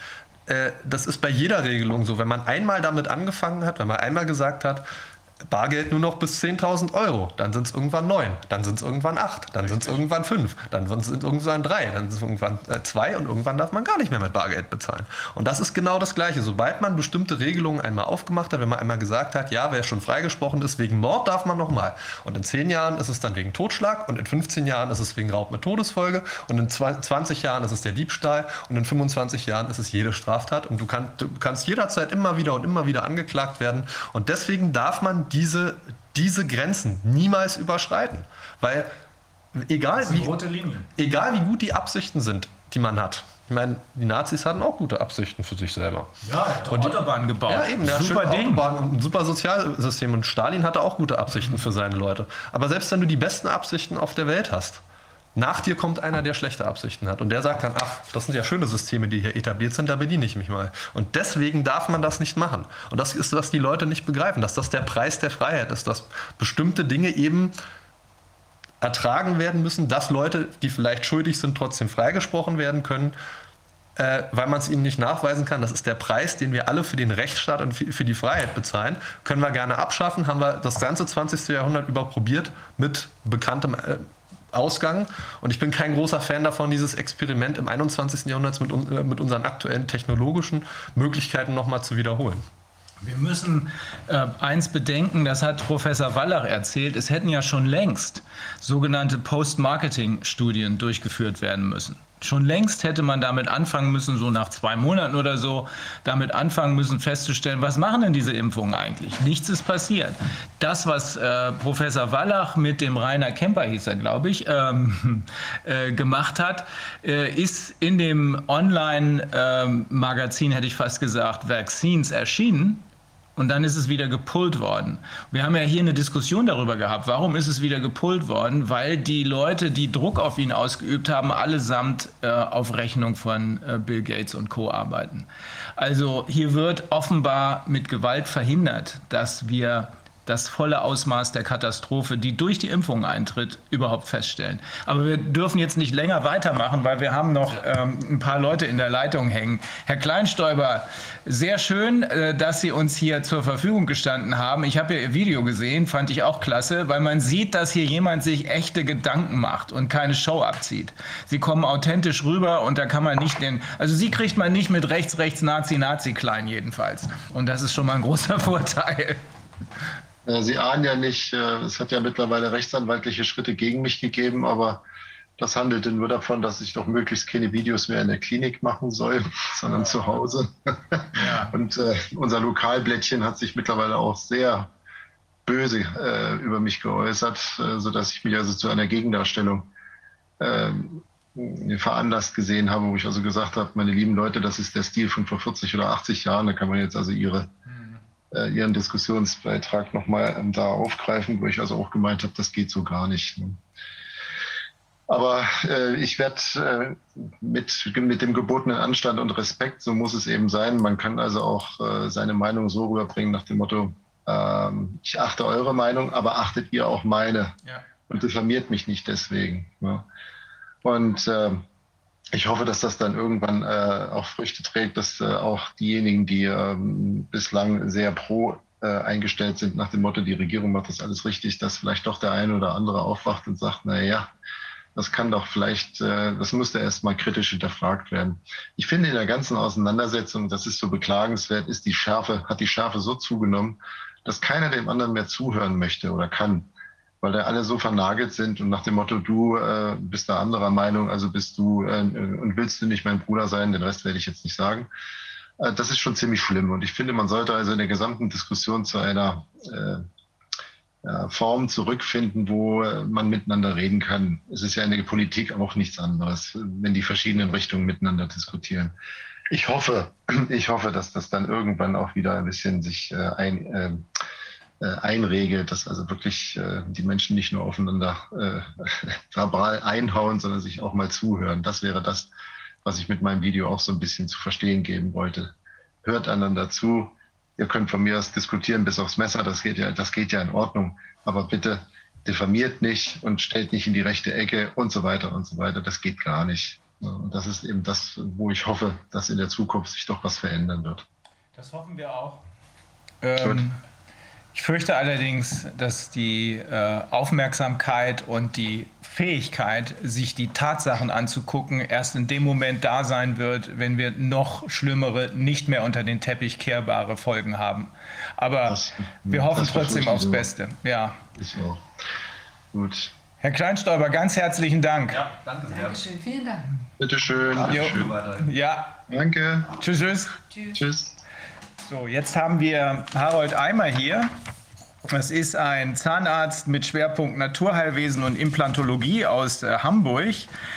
das ist bei jeder Regelung so. Wenn man einmal damit angefangen hat, wenn man einmal gesagt hat, Bargeld nur noch bis 10.000 Euro, dann sind es irgendwann 9, dann sind es irgendwann 8, dann sind es irgendwann 5, dann sind es irgendwann 3, dann sind es irgendwann 2 und irgendwann darf man gar nicht mehr mit Bargeld bezahlen. Und das ist genau das Gleiche. Sobald man bestimmte Regelungen einmal aufgemacht hat, wenn man einmal gesagt hat, ja, wer schon freigesprochen ist, wegen Mord darf man nochmal. Und in 10 Jahren ist es dann wegen Totschlag und in 15 Jahren ist es wegen Raub mit Todesfolge und in 20 Jahren ist es der Diebstahl und in 25 Jahren ist es jede Straftat und du kannst jederzeit immer wieder angeklagt werden. Und deswegen darf man diese Grenzen niemals überschreiten. Weil egal wie gut die Absichten sind, die man hat. Ich meine, die Nazis hatten auch gute Absichten für sich selber. Ja, er hat Autobahnen gebaut. Ja, eben, super Ding. Autobahn und ein super Sozialsystem. Und Stalin hatte auch gute Absichten für seine Leute. Aber selbst wenn du die besten Absichten auf der Welt hast, nach dir kommt einer, der schlechte Absichten hat. Und der sagt dann, ach, das sind ja schöne Systeme, die hier etabliert sind, da bediene ich mich mal. Und deswegen darf man das nicht machen. Und das ist, was die Leute nicht begreifen, dass das der Preis der Freiheit ist, dass bestimmte Dinge eben ertragen werden müssen, dass Leute, die vielleicht schuldig sind, trotzdem freigesprochen werden können, weil man es ihnen nicht nachweisen kann. Das ist der Preis, den wir alle für den Rechtsstaat und für die Freiheit bezahlen. Können wir gerne abschaffen, haben wir das ganze 20. Jahrhundert über probiert mit bekanntem Ausgang. Und ich bin kein großer Fan davon, dieses Experiment im 21. Jahrhundert mit unseren aktuellen technologischen Möglichkeiten nochmal zu wiederholen. Wir müssen eins bedenken, das hat Professor Wallach erzählt, es hätten ja schon längst sogenannte Post-Marketing-Studien durchgeführt werden müssen. Schon längst hätte man damit anfangen müssen, so nach 2 Monaten oder so, damit anfangen müssen festzustellen, was machen denn diese Impfungen eigentlich? Nichts ist passiert. Das, was Professor Wallach mit dem Rainer Kemper, hieß er, glaube ich, gemacht hat, ist in dem Online-Magazin, hätte ich fast gesagt, Vaccines erschienen. Und dann ist es wieder gepullt worden. Wir haben ja hier eine Diskussion darüber gehabt. Warum ist es wieder gepullt worden? Weil die Leute, die Druck auf ihn ausgeübt haben, allesamt auf Rechnung von Bill Gates und Co. arbeiten. Also hier wird offenbar mit Gewalt verhindert, dass wir das volle Ausmaß der Katastrophe, die durch die Impfung eintritt, überhaupt feststellen. Aber wir dürfen jetzt nicht länger weitermachen, weil wir haben noch ein paar Leute in der Leitung hängen. Herr Kleinstäuber, sehr schön, dass Sie uns hier zur Verfügung gestanden haben. Ich habe ja Ihr Video gesehen, fand ich auch klasse, weil man sieht, dass hier jemand sich echte Gedanken macht und keine Show abzieht. Sie kommen authentisch rüber und da kann man nicht also Sie kriegt man nicht mit rechts, Nazi klein jedenfalls. Und das ist schon mal ein großer Vorteil. Sie ahnen ja nicht, es hat ja mittlerweile rechtsanwaltliche Schritte gegen mich gegeben, aber das handelte nur davon, dass ich doch möglichst keine Videos mehr in der Klinik machen soll, sondern zu Hause. Ja. Und unser Lokalblättchen hat sich mittlerweile auch sehr böse über mich geäußert, sodass ich mich also zu einer Gegendarstellung veranlasst gesehen habe, wo ich also gesagt habe, meine lieben Leute, das ist der Stil von vor 40 oder 80 Jahren, da kann man jetzt also Ihren Diskussionsbeitrag nochmal da aufgreifen, wo ich also auch gemeint habe, das geht so gar nicht. Aber ich werde mit dem gebotenen Anstand und Respekt, so muss es eben sein. Man kann also auch seine Meinung so rüberbringen nach dem Motto, ich achte eure Meinung, aber achtet ihr auch meine und diffamiert mich nicht deswegen. Ja. Und ich hoffe, dass das dann irgendwann auch Früchte trägt, dass auch diejenigen, die bislang sehr pro eingestellt sind, nach dem Motto, die Regierung macht das alles richtig, dass vielleicht doch der eine oder andere aufwacht und sagt, na ja, das kann doch vielleicht, das müsste erst mal kritisch hinterfragt werden. Ich finde in der ganzen Auseinandersetzung, das ist so beklagenswert, hat die Schärfe so zugenommen, dass keiner dem anderen mehr zuhören möchte oder kann, weil da alle so vernagelt sind und nach dem Motto, du bist da anderer Meinung, also bist du und willst du nicht mein Bruder sein, den Rest werde ich jetzt nicht sagen. Das ist schon ziemlich schlimm und ich finde, man sollte also in der gesamten Diskussion zu einer Form zurückfinden, wo man miteinander reden kann. Es ist ja in der Politik auch nichts anderes, wenn die verschiedenen Richtungen miteinander diskutieren. Ich hoffe, dass das dann irgendwann auch wieder ein bisschen sich einregelt, dass also wirklich die Menschen nicht nur aufeinander verbal einhauen, sondern sich auch mal zuhören. Das wäre das, was ich mit meinem Video auch so ein bisschen zu verstehen geben wollte. Hört einander zu. Ihr könnt von mir aus diskutieren bis aufs Messer, das geht ja in Ordnung. Aber bitte diffamiert nicht und stellt nicht in die rechte Ecke und so weiter und so weiter. Das geht gar nicht. Und das ist eben das, wo ich hoffe, dass in der Zukunft sich doch was verändern wird. Das hoffen wir auch. Gut. Ich fürchte allerdings, dass die Aufmerksamkeit und die Fähigkeit, sich die Tatsachen anzugucken, erst in dem Moment da sein wird, wenn wir noch schlimmere, nicht mehr unter den Teppich kehrbare Folgen haben. Aber wir hoffen trotzdem aufs Beste. Ja. Ich auch. Gut. Herr Kleinstäuber, ganz herzlichen Dank. Ja, danke sehr. Dankeschön, vielen Dank. Bitteschön. Ja. Danke. Tschüss, tschüss. Tschüss. So, jetzt haben wir Harold Eimer hier. Das ist ein Zahnarzt mit Schwerpunkt Naturheilwesen und Implantologie aus Hamburg.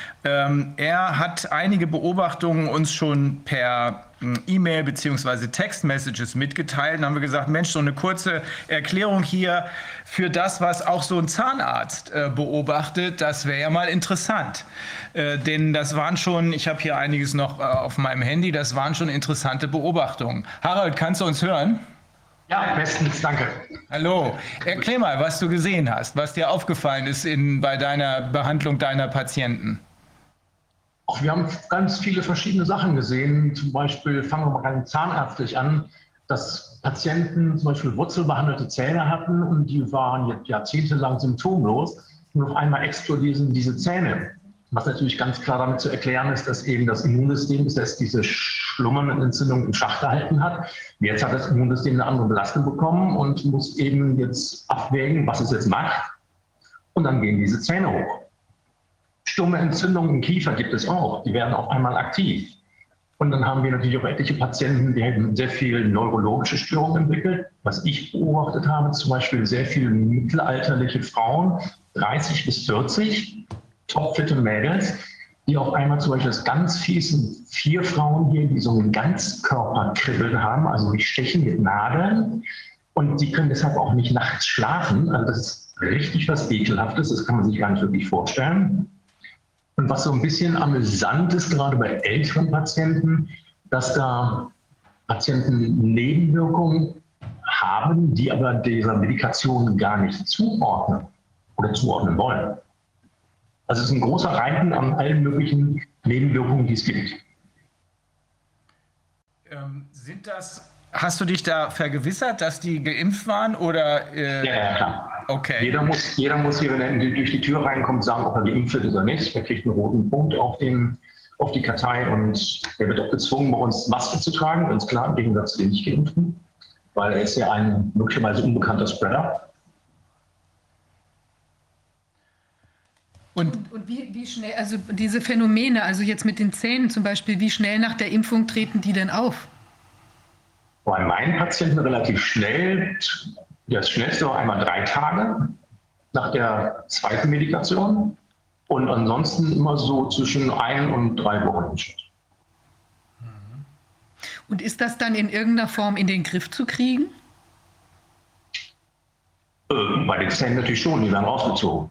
Er hat einige Beobachtungen uns schon per E-Mail bzw. Textmessages mitgeteilt. Dann haben wir gesagt, Mensch, so eine kurze Erklärung hier für das, was auch so ein Zahnarzt beobachtet, das wäre ja mal interessant. Denn das waren schon, ich habe hier einiges noch auf meinem Handy, das waren schon interessante Beobachtungen. Harald, kannst du uns hören? Ja, bestens, danke. Hallo, erklär mal, was du gesehen hast, was dir aufgefallen ist bei deiner Behandlung deiner Patienten. Wir haben ganz viele verschiedene Sachen gesehen. Zum Beispiel fangen wir mal ganz zahnärztlich an, dass Patienten zum Beispiel wurzelbehandelte Zähne hatten und die waren jetzt jahrzehntelang symptomlos und auf einmal explodieren diese Zähne. Was natürlich ganz klar damit zu erklären ist, dass eben das Immunsystem bis jetzt diese schlummernden Entzündungen im Schach gehalten hat. Jetzt hat das Immunsystem eine andere Belastung bekommen und muss eben jetzt abwägen, was es jetzt macht. Und dann gehen diese Zähne hoch. Stumme Entzündungen im Kiefer gibt es auch, die werden auf einmal aktiv. Und dann haben wir natürlich auch etliche Patienten, die haben sehr viele neurologische Störungen entwickelt. Was ich beobachtet habe, zum Beispiel sehr viele mittelalterliche Frauen, 30 bis 40, topfitte Mädels, die auf einmal zum Beispiel das ganz fiesen 4 Frauen hier, die so einen Ganzkörperkribbeln haben, also die stechen mit Nadeln und die können deshalb auch nicht nachts schlafen. Also das ist richtig was Ekelhaftes, das kann man sich gar nicht wirklich vorstellen. Und was so ein bisschen amüsant ist, gerade bei älteren Patienten, dass da Patienten Nebenwirkungen haben, die aber dieser Medikation gar nicht zuordnen oder zuordnen wollen. Also es ist ein großer Reihen an allen möglichen Nebenwirkungen, die es gibt. Hast du dich da vergewissert, dass die geimpft waren? Oder, Ja, klar. Okay. Jeder muss hier, wenn er durch die Tür reinkommt, sagen, ob er geimpft ist oder nicht. Er kriegt einen roten Punkt auf die Kartei und er wird auch gezwungen, bei uns Maske zu tragen, ganz klar, im Gegensatz zu den Nicht-Geimpften, weil er ist ja ein möglicherweise unbekannter Spreader. Und wie schnell, also diese Phänomene, also jetzt mit den Zähnen zum Beispiel, wie schnell nach der Impfung treten die denn auf? Bei meinen Patienten relativ schnell. Das schnellste war einmal 3 Tage nach der zweiten Medikation und ansonsten immer so zwischen 1 und 3 Wochen im Schnitt. Und ist das dann in irgendeiner Form in den Griff zu kriegen? Bei den Zähnen natürlich schon, die werden rausgezogen.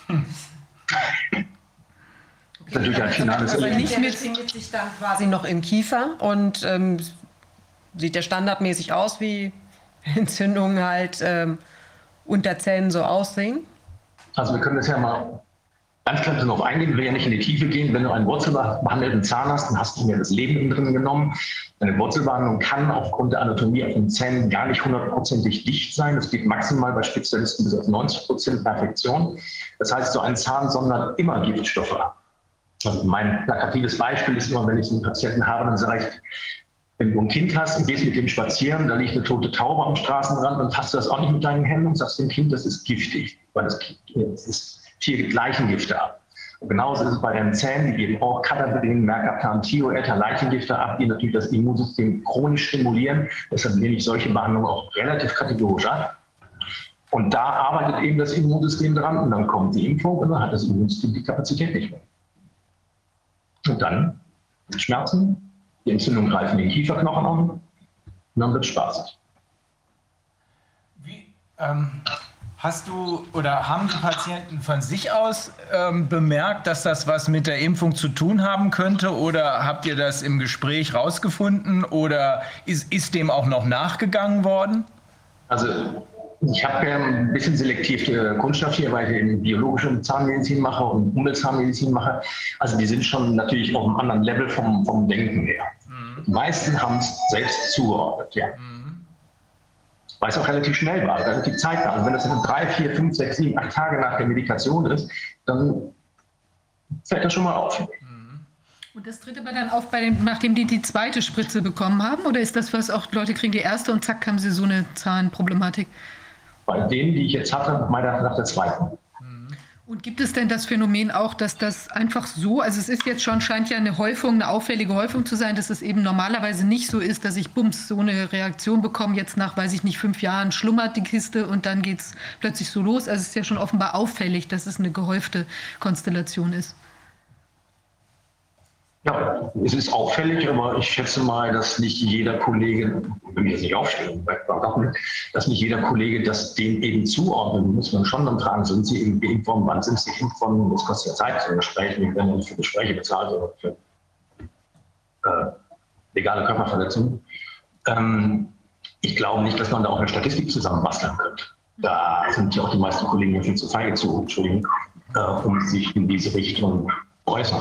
Das ist natürlich ein finales Erlebnis. Der befindet sich dann quasi noch im Kiefer und sieht der standardmäßig aus, wie Entzündungen halt unter Zähnen so aussehen? Also wir können das ja mal ganz klar darauf eingehen, wir will ja nicht in die Tiefe gehen. Wenn du einen wurzelbehandelten Zahn hast, dann hast du mir das Leben innen drin genommen. Eine Wurzelbehandlung kann aufgrund der Anatomie auf den Zähnen gar nicht 100%ig dicht sein. Das geht maximal bei Spezialisten bis auf 90% Perfektion. Das heißt, so ein Zahn sondert immer Giftstoffe ab. Also mein plakatives Beispiel ist immer, wenn ich einen Patienten habe, dann sage ich, wenn du ein Kind hast und gehst mit dem spazieren, da liegt eine tote Taube am Straßenrand und fasst du das auch nicht mit deinen Händen und sagst dem Kind, das ist giftig, weil das Tier gibt Leichengifte ab. Und genauso ist es bei den Zähnen, die geben auch Cataverin, Mercaptan, Thioether, Leichengifte ab, die natürlich das Immunsystem chronisch stimulieren. Deshalb lehne ich solche Behandlungen auch relativ kategorisch ab. Und da arbeitet eben das Immunsystem dran und dann kommt die Impfung und dann hat das Immunsystem die Kapazität nicht mehr. Und dann Schmerzen. Die Entzündungen greifen den Kieferknochen an und dann wird es spaßig. Hast du oder haben die Patienten von sich aus bemerkt, dass das was mit der Impfung zu tun haben könnte? Oder habt ihr das im Gespräch rausgefunden? Oder ist dem auch noch nachgegangen worden? Also Ich habe ja ein bisschen selektiv Kunststoff hier, weil ich eben biologische Zahnmedizin mache und Umweltzahnmedizin mache. Also die sind schon natürlich auf einem anderen Level vom Denken her. Die meisten haben es selbst zugeordnet, ja. Weil es auch relativ schnell war, relativ zeitnah. Und wenn das 3, 4, 5, 6, 7, 8 Tage nach der Medikation ist, dann fällt das schon mal auf. Und das tritt aber dann auf, nachdem die zweite Spritze bekommen haben? Oder ist das, was auch Leute kriegen, die erste und zack, haben sie so eine Zahnproblematik? Bei denen, die ich jetzt hatte, meiner nach der zweiten. Und gibt es denn das Phänomen auch, dass das einfach so, also es ist jetzt schon, scheint ja eine Häufung, eine auffällige Häufung zu sein, dass es eben normalerweise nicht so ist, dass ich bums so eine Reaktion bekomme, jetzt nach, weiß ich nicht, 5 Jahren schlummert die Kiste und dann geht es plötzlich so los. Also es ist ja schon offenbar auffällig, dass es eine gehäufte Konstellation ist. Ja, es ist auffällig, aber ich schätze mal, dass nicht jeder Kollege, wenn wir jetzt nicht aufstellen, dass nicht jeder Kollege das dem eben zuordnet. Muss man schon dann fragen, sind Sie eben geimpft worden, wann sind Sie geimpft worden? Das kostet ja Zeit, so ein Gespräch. Wir werden ja nicht für Gespräche bezahlt, sondern für legale Körperverletzungen. Ich glaube nicht, dass man da auch eine Statistik zusammenbasteln könnte. Da sind ja auch die meisten Kollegen viel zu feige zu, Entschuldigung, um sich in diese Richtung zu äußern.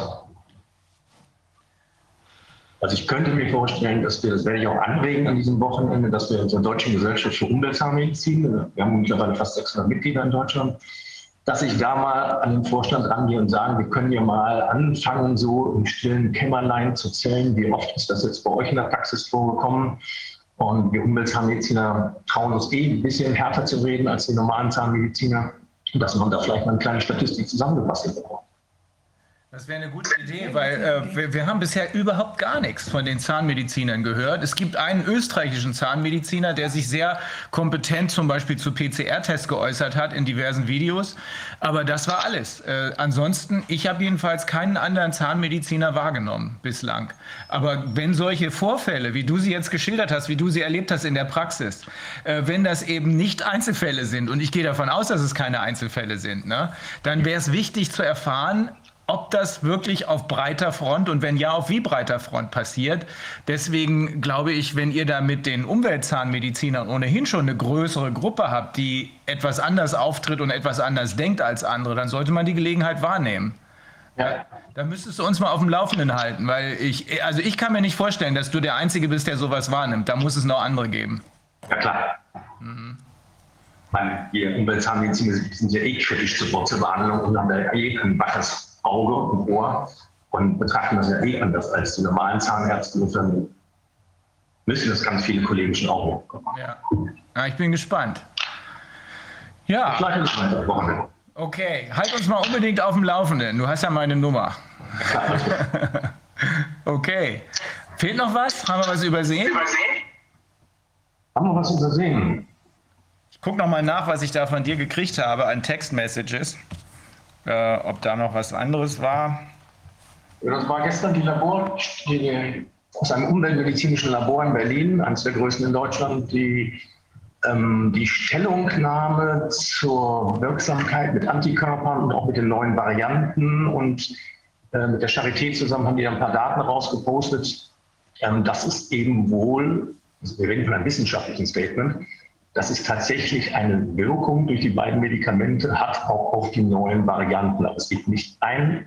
Also ich könnte mir vorstellen, dass wir, das werde ich auch anregen an diesem Wochenende, dass wir unserer Deutschen Gesellschaft für Umweltzahnmedizin, wir haben mittlerweile fast 600 Mitglieder in Deutschland, dass ich da mal an den Vorstand rangehe und sage, wir können ja mal anfangen, so im stillen Kämmerlein zu zählen, wie oft ist das jetzt bei euch in der Praxis vorgekommen. Und wir Umweltzahnmediziner trauen uns ein bisschen härter zu reden als die normalen Zahnmediziner, dass man da vielleicht mal eine kleine Statistik zusammengefasst bekommt. Das wäre eine gute Idee, weil wir haben bisher überhaupt gar nichts von den Zahnmedizinern gehört. Es gibt einen österreichischen Zahnmediziner, der sich sehr kompetent zum Beispiel zu PCR-Tests geäußert hat in diversen Videos. Aber das war alles. Ansonsten, ich habe jedenfalls keinen anderen Zahnmediziner wahrgenommen bislang. Aber wenn solche Vorfälle, wie du sie jetzt geschildert hast, wie du sie erlebt hast in der Praxis, wenn das eben nicht Einzelfälle sind, und ich gehe davon aus, dass es keine Einzelfälle sind, ne, dann wäre es wichtig zu erfahren, ob das wirklich auf breiter Front und wenn ja, auf wie breiter Front passiert. Deswegen glaube ich, wenn ihr da mit den Umweltzahnmedizinern ohnehin schon eine größere Gruppe habt, die etwas anders auftritt und etwas anders denkt als andere, dann sollte man die Gelegenheit wahrnehmen. Ja. Da müsstest du uns mal auf dem Laufenden halten, weil ich kann mir nicht vorstellen, dass du der Einzige bist, der sowas wahrnimmt. Da muss es noch andere geben. Ja, klar. Wir Umweltzahnmediziner sind ja kritisch zur Wurzelbehandlung und haben da ein waches Auge und Ohr und betrachten das ja anders als die normalen Zahnärzte. Insofern müssen das ganz viele Kollegen schon auch machen. Ja, ich bin gespannt. Ja. Okay, halt uns mal unbedingt auf dem Laufenden. Du hast ja meine Nummer. Okay. Fehlt noch was? Haben wir was übersehen? Haben wir was übersehen? Ich gucke noch mal nach, was ich da von dir gekriegt habe an Textmessages. Ob da noch was anderes war? Das war gestern die aus einem umweltmedizinischen Labor in Berlin, eines der größten in Deutschland, die Stellungnahme zur Wirksamkeit mit Antikörpern und auch mit den neuen Varianten und mit der Charité zusammen haben die ein paar Daten rausgepostet. Das ist eben wohl, also wir reden von einem wissenschaftlichen Statement, dass es tatsächlich eine Wirkung durch die beiden Medikamente hat, auch auf die neuen Varianten. Aber es gibt nicht eine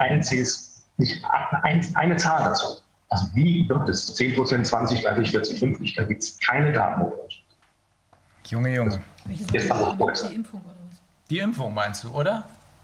Zahl dazu. Also wie wird es? 10%, 20, 30, 40, 50, da gibt es keine Daten. Junge. Die Impfung oder was? Die Impfung meinst du, oder?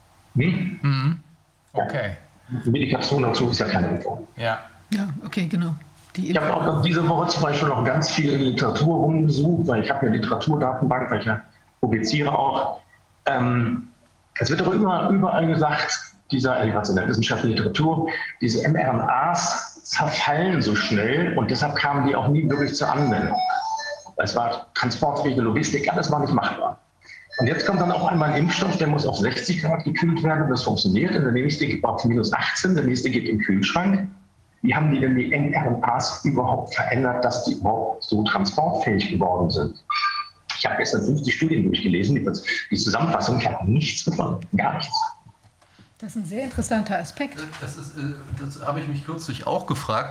Okay. Die Medikation dazu ist ja keine Impfung. Ja, okay, genau. Ich habe auch diese Woche zum Beispiel noch ganz viel in Literatur rumgesucht, weil ich habe ja Literaturdatenbank, weil ich ja publiziere auch. Es wird aber überall gesagt, in der wissenschaftlichen Literatur, diese mRNAs zerfallen so schnell und deshalb kamen die auch nie wirklich zur Anwendung. Es war transportfähige Logistik, alles war nicht machbar. Und jetzt kommt dann auch einmal ein Impfstoff, der muss auf 60 Grad gekühlt werden, das funktioniert. Und der nächste geht auf minus 18, der nächste geht im Kühlschrank. Wie haben die denn die mRNAs überhaupt verändert, dass die überhaupt so transportfähig geworden sind? Ich habe gestern 50 Studien durchgelesen, die Zusammenfassung, ich habe nichts gefunden, gar nichts. Das ist ein sehr interessanter Aspekt. Das habe ich mich kürzlich auch gefragt.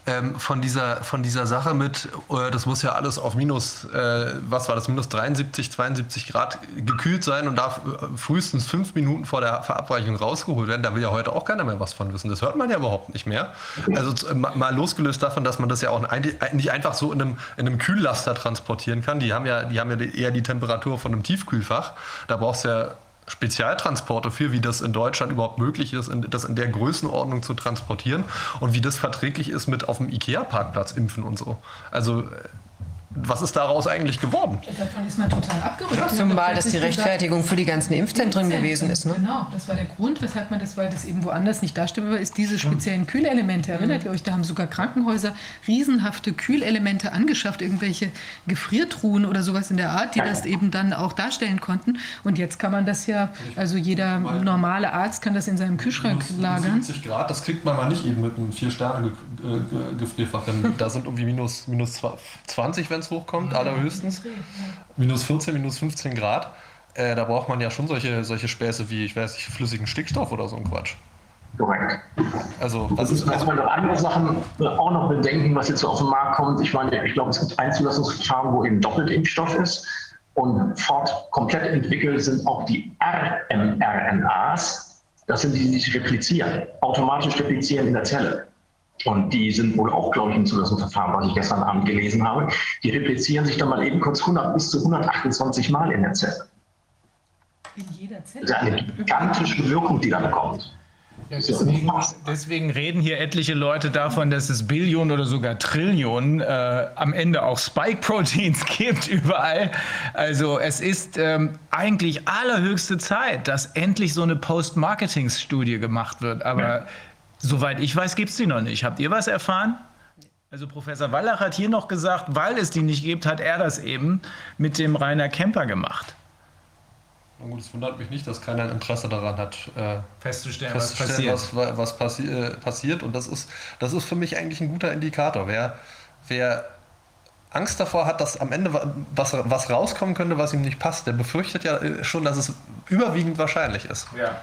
von dieser Sache mit, das muss ja alles auf was war das, minus 73, 72 Grad gekühlt sein und darf frühestens 5 Minuten vor der Verabreichung rausgeholt werden. Da will ja heute auch keiner mehr was von wissen. Das hört man ja überhaupt nicht mehr. Also mal losgelöst davon, dass man das ja auch nicht einfach so in einem Kühllaster transportieren kann. Die haben ja eher die Temperatur von einem Tiefkühlfach. Da brauchst du ja Spezialtransporte für, wie das in Deutschland überhaupt möglich ist, das in der Größenordnung zu transportieren und wie das verträglich ist mit auf dem IKEA-Parkplatz impfen und so. Also was ist daraus eigentlich geworden? Davon ist man total abgerückt. Zumal das die Rechtfertigung für die ganzen Impfzentren gewesen ist. Ne? Genau, das war der Grund, weshalb man das, weil das eben woanders nicht darstellbar ist, diese speziellen Kühlelemente. Erinnert ihr euch, da haben sogar Krankenhäuser riesenhafte Kühlelemente angeschafft, irgendwelche Gefriertruhen oder sowas in der Art, die das eben dann auch darstellen konnten. Und jetzt kann man das ja, also jeder normale Arzt kann das in seinem Kühlschrank lagern. 70 Grad, das kriegt man mal nicht eben mit einem 4-Sterne-Gefrierfach. Da sind irgendwie minus 20, wenn es hochkommt, allerhöchstens. Minus 14, minus 15 Grad. Da braucht man ja schon solche Späße wie, ich weiß nicht, flüssigen Stickstoff oder so ein Quatsch. Korrekt. Also, das ist noch andere Sachen auch noch bedenken, was jetzt so auf den Markt kommt. Ich meine, ich glaube, es gibt ein Zulassungsverfahren, wo eben Doppeltimpfstoff ist. Und komplett entwickelt sind auch die mRNAs. Das sind die sich replizieren, automatisch replizieren in der Zelle. Und die sind wohl auch, glaube ich, im Zulassungsverfahren, was ich gestern Abend gelesen habe. Die replizieren sich dann mal eben kurz 100 bis zu 128 Mal in der Zelle. In jeder Zelle? Das ist eine gigantische Wirkung, die dann kommt. Ja, deswegen reden hier etliche Leute davon, dass es Billionen oder sogar Trillionen am Ende auch Spike-Proteins gibt überall. Also es ist eigentlich allerhöchste Zeit, dass endlich so eine Post-Marketing-Studie gemacht wird. Aber soweit ich weiß, gibt es die noch nicht. Habt ihr was erfahren? Also Professor Wallach hat hier noch gesagt, weil es die nicht gibt, hat er das eben mit dem Rainer Kemper gemacht. Na gut, es wundert mich nicht, dass keiner ein Interesse daran hat, festzustellen, was passiert. Und das ist für mich eigentlich ein guter Indikator. Wer Angst davor hat, dass am Ende was rauskommen könnte, was ihm nicht passt, der befürchtet ja schon, dass es überwiegend wahrscheinlich ist. Ja.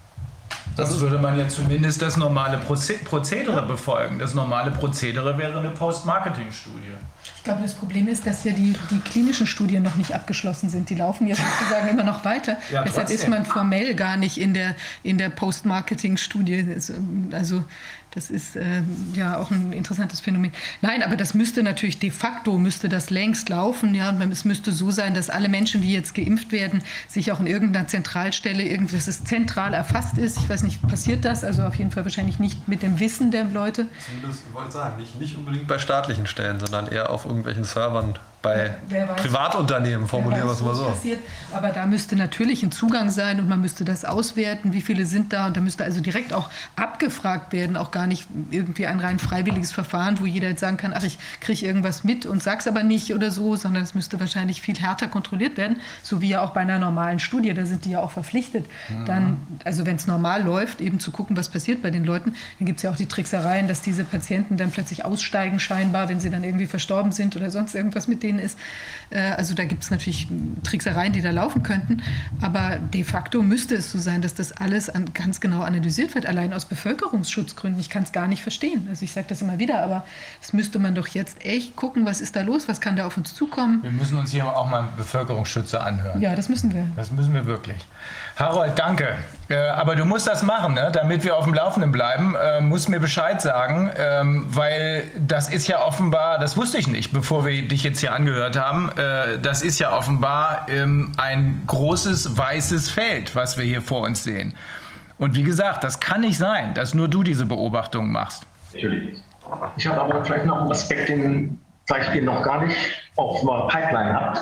Das würde man ja zumindest das normale Prozedere befolgen. Das normale Prozedere wäre eine Post-Marketing-Studie. Ich glaube, das Problem ist, dass ja die klinischen Studien noch nicht abgeschlossen sind. Die laufen jetzt sozusagen immer noch weiter. Ja, deshalb ist man formell gar nicht in der Post-Marketing-Studie. Also das ist ja auch ein interessantes Phänomen. Nein, aber das müsste natürlich de facto, müsste das längst laufen. Ja? Und es müsste so sein, dass alle Menschen, die jetzt geimpft werden, sich auch in irgendeiner Zentralstelle, dass es zentral erfasst ist. Ich weiß nicht, passiert das? Also auf jeden Fall wahrscheinlich nicht mit dem Wissen der Leute. Ich wollte sagen, nicht unbedingt bei staatlichen Stellen, sondern eher auf irgendwelchen Servern bei Privatunternehmen, formulieren wir es mal so. Passiert. Aber da müsste natürlich ein Zugang sein und man müsste das auswerten, wie viele sind da. Und da müsste also direkt auch abgefragt werden, auch gar nicht irgendwie ein rein freiwilliges Verfahren, wo jeder jetzt sagen kann, ach, ich kriege irgendwas mit und sag's aber nicht oder so, sondern es müsste wahrscheinlich viel härter kontrolliert werden, so wie ja auch bei einer normalen Studie, da sind die ja auch verpflichtet, dann, also wenn es normal läuft, eben zu gucken, was passiert bei den Leuten. Dann gibt es ja auch die Tricksereien, dass diese Patienten dann plötzlich aussteigen scheinbar, wenn sie dann irgendwie verstorben sind oder sonst irgendwas mit denen ist. Also da gibt es natürlich Tricksereien, die da laufen könnten, aber de facto müsste es so sein, dass das alles ganz genau analysiert wird, allein aus Bevölkerungsschutzgründen. Ich kann es gar nicht verstehen. Also ich sage das immer wieder, aber das müsste man doch jetzt echt gucken, was ist da los, was kann da auf uns zukommen. Wir müssen uns hier auch mal Bevölkerungsschützer anhören. Ja, das müssen wir. Das müssen wir wirklich. Harold, danke. Aber du musst das machen, ne? Damit wir auf dem Laufenden bleiben. Musst mir Bescheid sagen, weil das ist ja offenbar, das wusste ich nicht, bevor wir dich jetzt hier angehört haben, das ist ja offenbar ein großes weißes Feld, was wir hier vor uns sehen. Und wie gesagt, das kann nicht sein, dass nur du diese Beobachtungen machst. Natürlich. Ich habe aber vielleicht noch einen Aspekt, den vielleicht ihr noch gar nicht auf der Pipeline habt.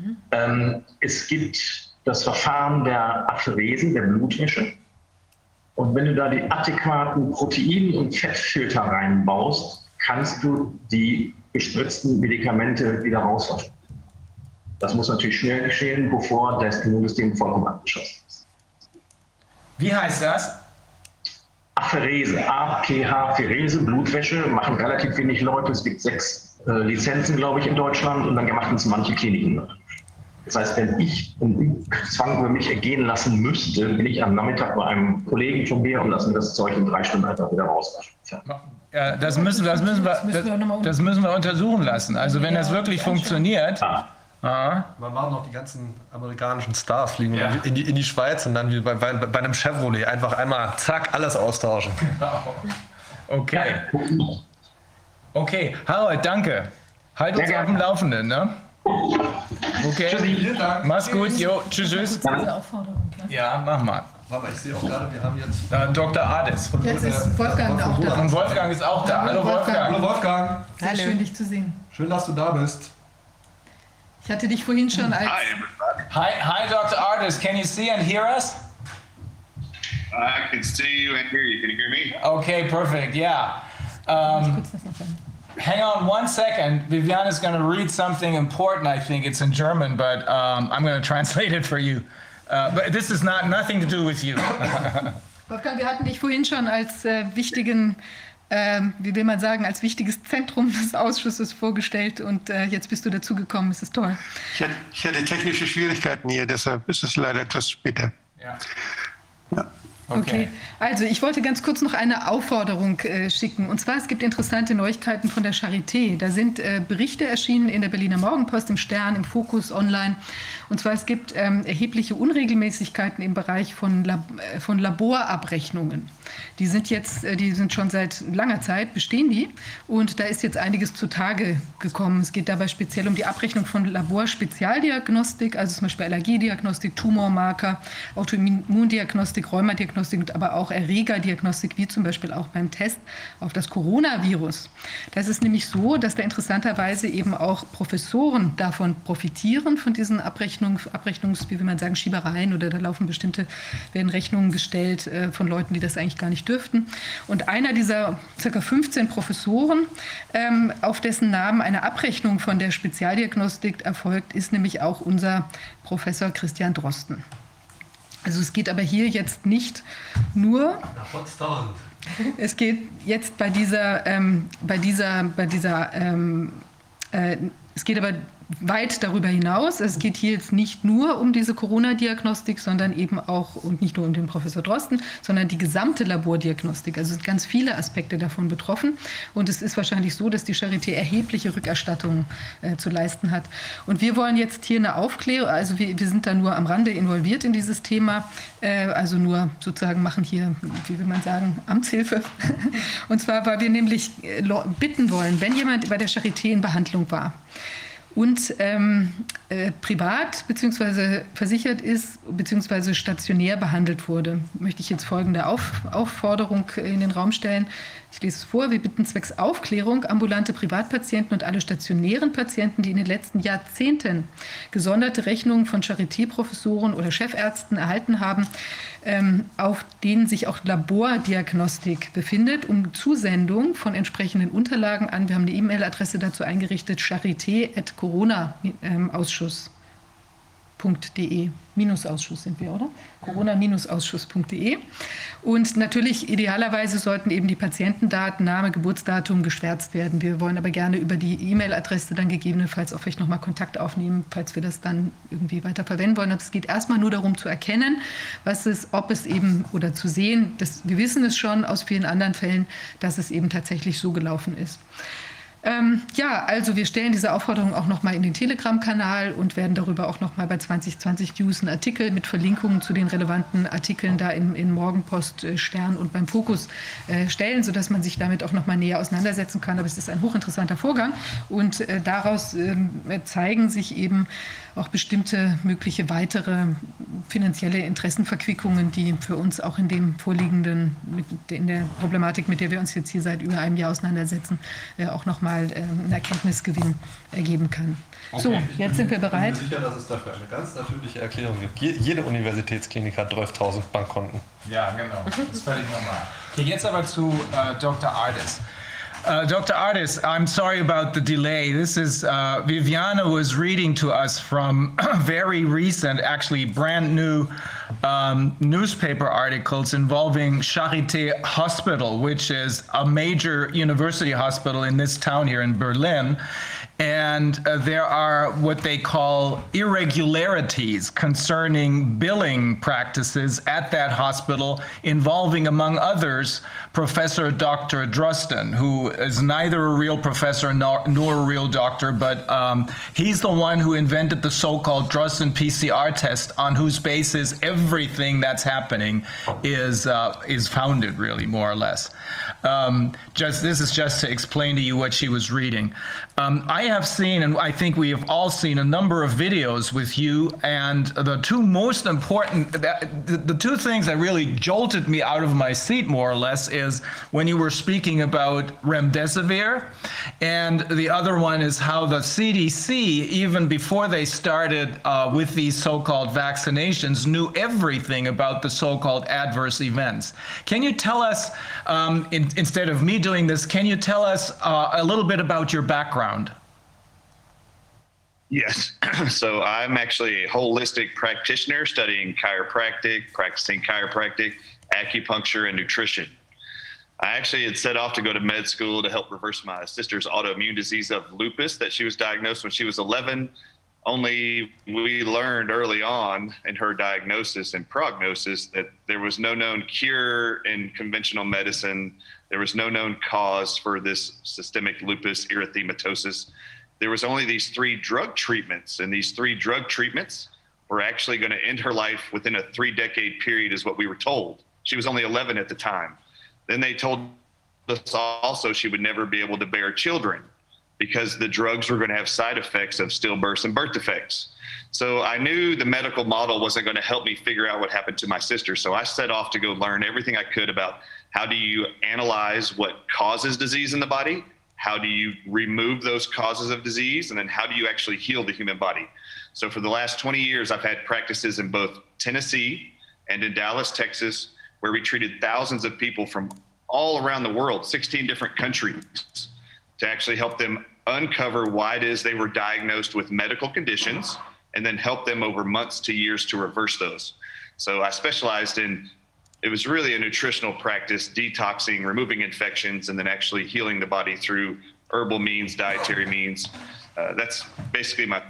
Es gibt das Verfahren der Apherese, der Blutwäsche. Und wenn du da die adäquaten Protein- und Fettfilter reinbaust, kannst du die gespritzten Medikamente wieder rauswaschen. Das muss natürlich schnell geschehen, bevor das Immunsystem vollkommen abgeschossen ist. Wie heißt das? Apherese, APH-Ferese, Blutwäsche, machen relativ wenig Leute. Es gibt 6 Lizenzen, glaube ich, in Deutschland und dann machen es manche Kliniken. Das heißt, wenn ich einen Zwang über mich ergehen lassen müsste, bin ich am Nachmittag bei einem Kollegen von mir und lasse mir das Zeug in 3 Stunden einfach wieder rauswaschen. Ja, das müssen wir untersuchen lassen. Also wenn das wirklich funktioniert. Man machen noch die ganzen amerikanischen Stars, fliegen in die Schweiz und dann wie bei einem Chevrolet einfach einmal zack, alles austauschen. Okay. Okay, Harald, danke. Halt uns auf dem Laufenden, ne? Okay, mach's gut, jo, tschüss. Ja, mach mal. Aber ich sehe auch gerade, wir haben jetzt Dr. Ades. Jetzt ist Wolfgang auch da. Und Wolfgang ist auch da. Hallo Wolfgang. Hallo Wolfgang. Sehr schön, dich zu sehen. Schön, dass du da bist. Ich hatte dich vorhin schon als... Hi, Dr. Ades. Can you see and hear us? I can see you and hear you. Can you hear me? Okay, perfect. Yeah. Hang on one second. Viviane is going to read something important. I think it's in German, but I'm going to translate it for you. But this is nothing to do with you. Wolfgang, wir hatten dich vorhin schon als wichtigen, wie will man sagen, als wichtiges Zentrum des Ausschusses vorgestellt und jetzt bist du dazugekommen. Es ist toll. Ich hatte technische Schwierigkeiten hier, deshalb ist es leider etwas später. Ja. Ja. Okay, also ich wollte ganz kurz noch eine Aufforderung schicken. Und zwar, es gibt interessante Neuigkeiten von der Charité. Da sind Berichte erschienen in der Berliner Morgenpost, im Stern, im Fokus, online. Und zwar, es gibt erhebliche Unregelmäßigkeiten im Bereich von Laborabrechnungen. Die sind schon seit langer Zeit, bestehen die. Und da ist jetzt einiges zutage gekommen. Es geht dabei speziell um die Abrechnung von Laborspezialdiagnostik, also zum Beispiel Allergiediagnostik, Tumormarker, Autoimmundiagnostik, Rheumadiagnostik, aber auch Erregerdiagnostik, wie zum Beispiel auch beim Test auf das Coronavirus. Das ist nämlich so, dass da interessanterweise eben auch Professoren davon profitieren, von diesen wie will man sagen, Schiebereien, oder da werden Rechnungen gestellt von Leuten, die das eigentlich gar nicht dürften. Und einer dieser ca. 15 Professoren, auf dessen Namen eine Abrechnung von der Spezialdiagnostik erfolgt, ist nämlich auch unser Professor Christian Drosten. Also es geht aber hier jetzt nicht nur... Es geht jetzt es geht aber weit darüber hinaus. Es geht hier jetzt nicht nur um diese Corona-Diagnostik, sondern eben auch, und nicht nur um den Professor Drosten, sondern die gesamte Labordiagnostik. Also sind ganz viele Aspekte davon betroffen. Und es ist wahrscheinlich so, dass die Charité erhebliche Rückerstattungen zu leisten hat. Und wir wollen jetzt hier eine Aufklärung, also wir sind da nur am Rande involviert in dieses Thema, also nur sozusagen machen hier, wie will man sagen, Amtshilfe. Und zwar, weil wir nämlich bitten wollen, wenn jemand bei der Charité in Behandlung war, und privat bzw. versichert ist bzw. stationär behandelt wurde, möchte ich jetzt folgende Aufforderung in den Raum stellen. Ich lese es vor. Wir bitten zwecks Aufklärung ambulante Privatpatienten und alle stationären Patienten, die in den letzten Jahrzehnten gesonderte Rechnungen von Charité-Professoren oder Chefärzten erhalten haben, auf denen sich auch Labordiagnostik befindet, um Zusendung von entsprechenden Unterlagen an. Wir haben eine E-Mail-Adresse dazu eingerichtet, charité@corona-ausschuss.de. Minusausschuss sind wir, oder? Corona-ausschuss.de. Und natürlich, idealerweise sollten eben die Patientendaten, Name, Geburtsdatum geschwärzt werden. Wir wollen aber gerne über die E-Mail-Adresse dann gegebenenfalls auch vielleicht nochmal Kontakt aufnehmen, falls wir das dann irgendwie weiter verwenden wollen. Es geht erstmal nur darum zu erkennen, ob es eben, oder zu sehen, wir wissen es schon aus vielen anderen Fällen, dass es eben tatsächlich so gelaufen ist. Ja, also wir stellen diese Aufforderung auch noch mal in den Telegram-Kanal und werden darüber auch noch mal bei 2020 News einen Artikel mit Verlinkungen zu den relevanten Artikeln da in Morgenpost, Stern und beim Fokus stellen, sodass man sich damit auch noch mal näher auseinandersetzen kann. Aber es ist ein hochinteressanter Vorgang und daraus zeigen sich eben auch bestimmte mögliche weitere finanzielle Interessenverquickungen, die für uns auch in dem vorliegenden, in der Problematik, mit der wir uns jetzt hier seit über einem Jahr auseinandersetzen, auch noch mal einen Erkenntnisgewinn ergeben kann. Okay. So, jetzt sind wir bereit. Ich bin mir sicher, dass es dafür eine ganz natürliche Erklärung gibt. Jede Universitätsklinik hat 12.000 Bankkonten. Ja, genau. Das ist völlig normal. Okay, jetzt aber zu Dr. Ades. Dr. Ades, I'm sorry about the delay. This is Viviana was reading to us from very recent, actually brand new newspaper articles involving Charité Hospital, which is a major university hospital in this town here in Berlin. And there are what they call irregularities concerning billing practices at that hospital involving, among others, Professor Dr. Drosten, who is neither a real professor nor a real doctor, but he's the one who invented the so-called Drosten PCR test, on whose basis everything that's happening is founded, really, more or less. This is just to explain to you what she was reading. I have seen, and I think we have all seen, a number of videos with you, and the two most important, the two things that really jolted me out of my seat, more or less, is when you were speaking about remdesivir, and the other one is how the CDC, even before they started with these so-called vaccinations, knew everything about the so-called adverse events. Can you tell us, instead of me doing this, can you tell us a little bit about your background? Yes. So I'm actually a holistic practitioner studying chiropractic, practicing chiropractic, acupuncture, and nutrition. I actually had set off to go to med school to help reverse my sister's autoimmune disease of lupus that she was diagnosed when she was 11. Only we learned early on in her diagnosis and prognosis that there was no known cure in conventional medicine. There was no known cause for this systemic lupus erythematosus. There was only these 3 drug treatments, and these 3 drug treatments were actually going to end her life within a 3-decade period, is what we were told. She was only 11 at the time. Then they told us also she would never be able to bear children because the drugs were going to have side effects of stillbirths and birth defects. So I knew the medical model wasn't going to help me figure out what happened to my sister. So I set off to go learn everything I could about how do you analyze what causes disease in the body, how do you remove those causes of disease, and then how do you actually heal the human body. So for the last 20 years, I've had practices in both Tennessee and in Dallas, Texas, where we treated thousands of people from all around the world, 16 different countries, to actually help them uncover why it is they were diagnosed with medical conditions and then help them over months to years to reverse those. So I specialized in, it was really a nutritional practice, detoxing, removing infections, and then actually healing the body through herbal means, dietary means. That's basically my...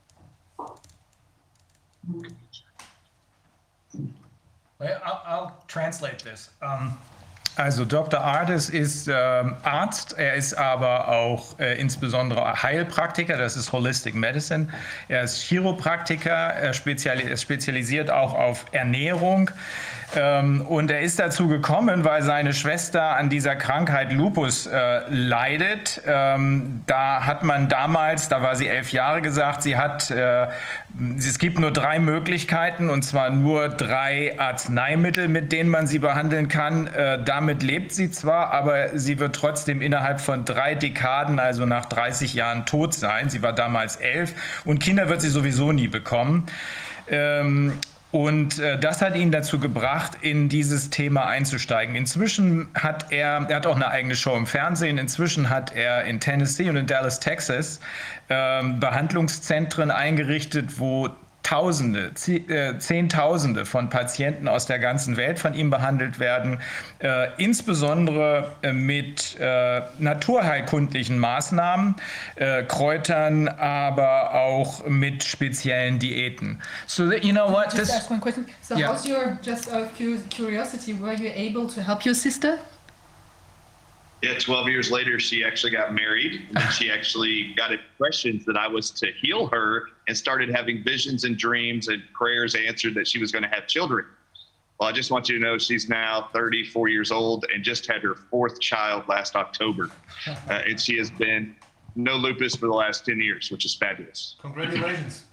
I'll translate this. Also Dr. Ardis ist Arzt, er ist aber auch insbesondere Heilpraktiker, das ist Holistic Medicine. Er ist Chiropraktiker, er spezialisiert auch auf Ernährung. Und er ist dazu gekommen, weil seine Schwester an dieser Krankheit Lupus leidet. Da hat man damals, da war sie 11 Jahre, gesagt, es gibt nur 3 Möglichkeiten, und zwar nur 3 Arzneimittel, mit denen man sie behandeln kann. Damit lebt sie zwar, aber sie wird trotzdem innerhalb von 3 Dekaden, also nach 30 Jahren, tot sein. Sie war damals 11 und Kinder wird sie sowieso nie bekommen. Und das hat ihn dazu gebracht, in dieses Thema einzusteigen. Inzwischen hat er hat auch eine eigene Show im Fernsehen, inzwischen hat er in Tennessee und in Dallas, Texas Behandlungszentren eingerichtet, wo Zehntausende von Patienten aus der ganzen Welt von ihm behandelt werden, insbesondere mit naturheilkundlichen Maßnahmen, Kräutern, aber auch mit speziellen Diäten. So that, you know what? Just ask one question. So Yeah. how's your, just out of curiosity, were you able to help your sister? Yeah, 12 years later, she actually got married. And then she actually got impressions that I was to heal her and started having visions and dreams and prayers answered that she was going to have children. Well, I just want you to know she's now 34 years old and just had her 4th child last October. And she has been no lupus for the last 10 years, which is fabulous. Congratulations.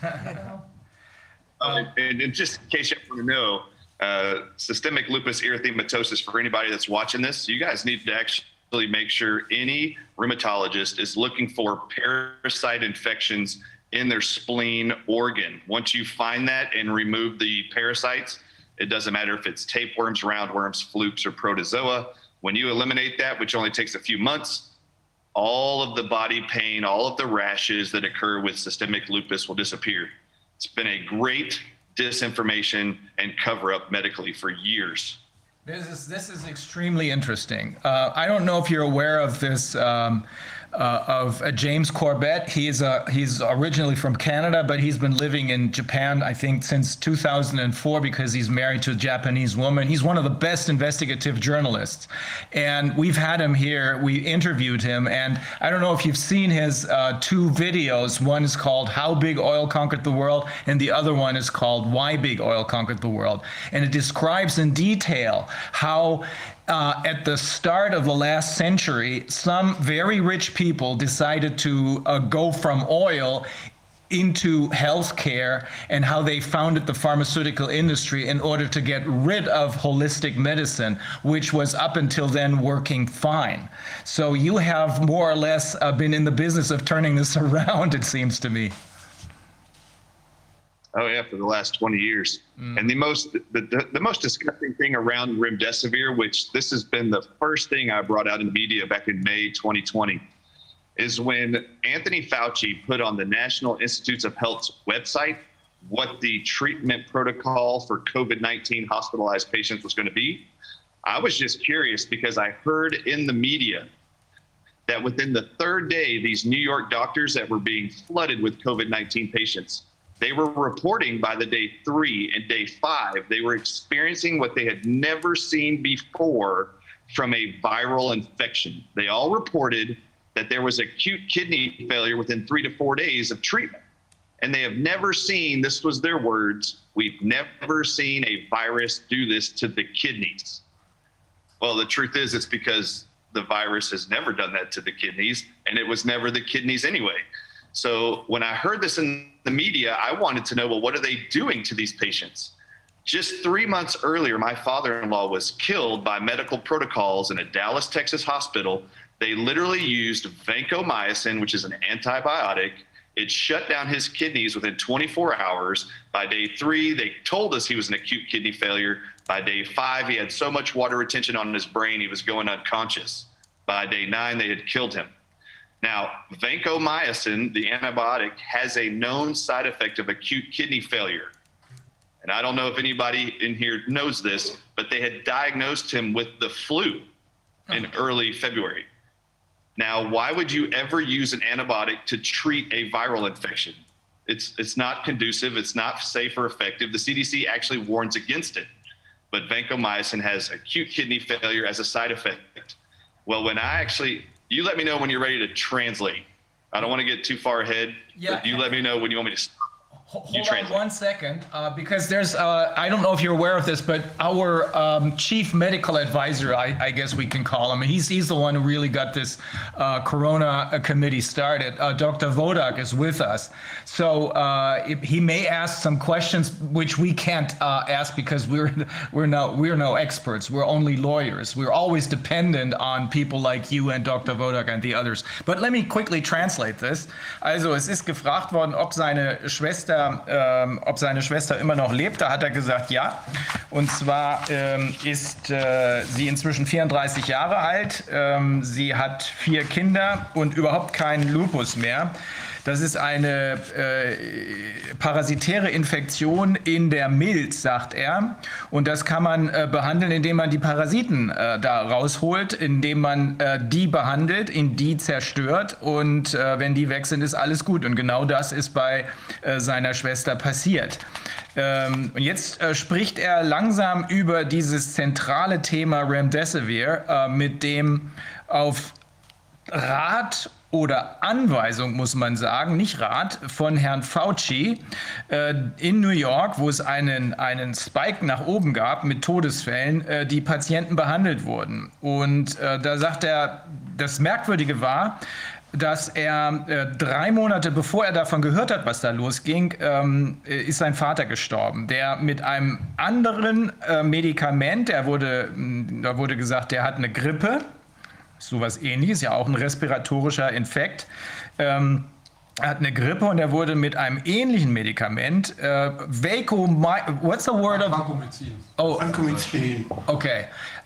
And just in case you want to know, systemic lupus erythematosus, for anybody that's watching this, you guys need to actually make sure any rheumatologist is looking for parasite infections in their spleen organ. Once you find that and remove the parasites, it doesn't matter if it's tapeworms, roundworms, flukes, or protozoa. When you eliminate that, which only takes a few months, all of the body pain, all of the rashes that occur with systemic lupus will disappear. It's been a great disinformation and cover-up medically for years. This is extremely interesting. I don't know if you're aware of this of James Corbett. He's originally from Canada, but he's been living in Japan, I think, since 2004 because he's married to a Japanese woman. He's one of the best investigative journalists, and we've had him here. We interviewed him, and I don't know if you've seen his two videos. One is called "How Big Oil Conquered the World," and the other one is called "Why Big Oil Conquered the World," and it describes in detail how at the start of the last century, some very rich people decided to go from oil into healthcare, and how they founded the pharmaceutical industry in order to get rid of holistic medicine, which was up until then working fine. So you have more or less been in the business of turning this around, it seems to me. Oh yeah, for the last 20 years. And the most disgusting thing around remdesivir, which this has been the first thing I brought out in media back in May 2020, is when Anthony Fauci put on the National Institutes of Health's website what the treatment protocol for COVID-19 hospitalized patients was going to be. I was just curious because I heard in the media that within the third day, these New York doctors that were being flooded with COVID-19 patients, they were reporting by the day 3 and day 5, they were experiencing what they had never seen before from a viral infection. They all reported that there was acute kidney failure within 3 to 4 days of treatment. And they have never seen, this was their words, we've never seen a virus do this to the kidneys. Well, the truth is it's because the virus has never done that to the kidneys, and it was never the kidneys anyway. So when I heard this in the media, I wanted to know, well, what are they doing to these patients? Just 3 months earlier, my father-in-law was killed by medical protocols in a Dallas, Texas hospital. They literally used vancomycin, which is an antibiotic. It shut down his kidneys within 24 hours. By day 3, they told us he was an acute kidney failure. By day 5, he had so much water retention on his brain, he was going unconscious. By day 9, they had killed him. Now, vancomycin, the antibiotic, has a known side effect of acute kidney failure. And I don't know if anybody in here knows this, but they had diagnosed him with the flu in early February. Now, why would you ever use an antibiotic to treat a viral infection? It's not conducive, it's not safe or effective. The CDC actually warns against it. But vancomycin has acute kidney failure as a side effect. Well, you let me know when you're ready to translate. I don't want to get too far ahead, but you let me know when you want me to stop. Hold on 1 second, because there's, I don't know if you're aware of this, but our chief medical advisor, I guess we can call him, he's the one who really got this Corona committee started. Dr. Wodak is with us. So he may ask some questions which we can't ask because we're no experts. We're only lawyers. We're always dependent on people like you and Dr. Wodak and the others. But let me quickly translate this. Also, es ist gefragt worden, ob seine Schwester immer noch lebt. Da hat er gesagt, ja. Und zwar ist sie inzwischen 34 Jahre alt. Sie hat 4 Kinder und überhaupt keinen Lupus mehr. Das ist eine parasitäre Infektion in der Milz, sagt er. Und das kann man behandeln, indem man die Parasiten da rausholt, indem man die behandelt, die zerstört. Und wenn die weg sind, ist alles gut. Und genau das ist bei seiner Schwester passiert. Und jetzt spricht er langsam über dieses zentrale Thema Remdesivir, mit dem auf Rat oder Anweisung, muss man sagen, nicht Rat, von Herrn Fauci in New York, wo es einen Spike nach oben gab mit Todesfällen, die Patienten behandelt wurden. Und da sagt er, das Merkwürdige war, dass er 3 Monate bevor er davon gehört hat, was da losging, ist sein Vater gestorben, der mit einem anderen Medikament, da wurde gesagt, der hat eine Grippe, sowas Ähnliches, ja auch ein respiratorischer Infekt. Er hat eine Grippe und er wurde mit einem ähnlichen Medikament, what's the word of? Vancomycin. Oh, Vancomycin. Okay.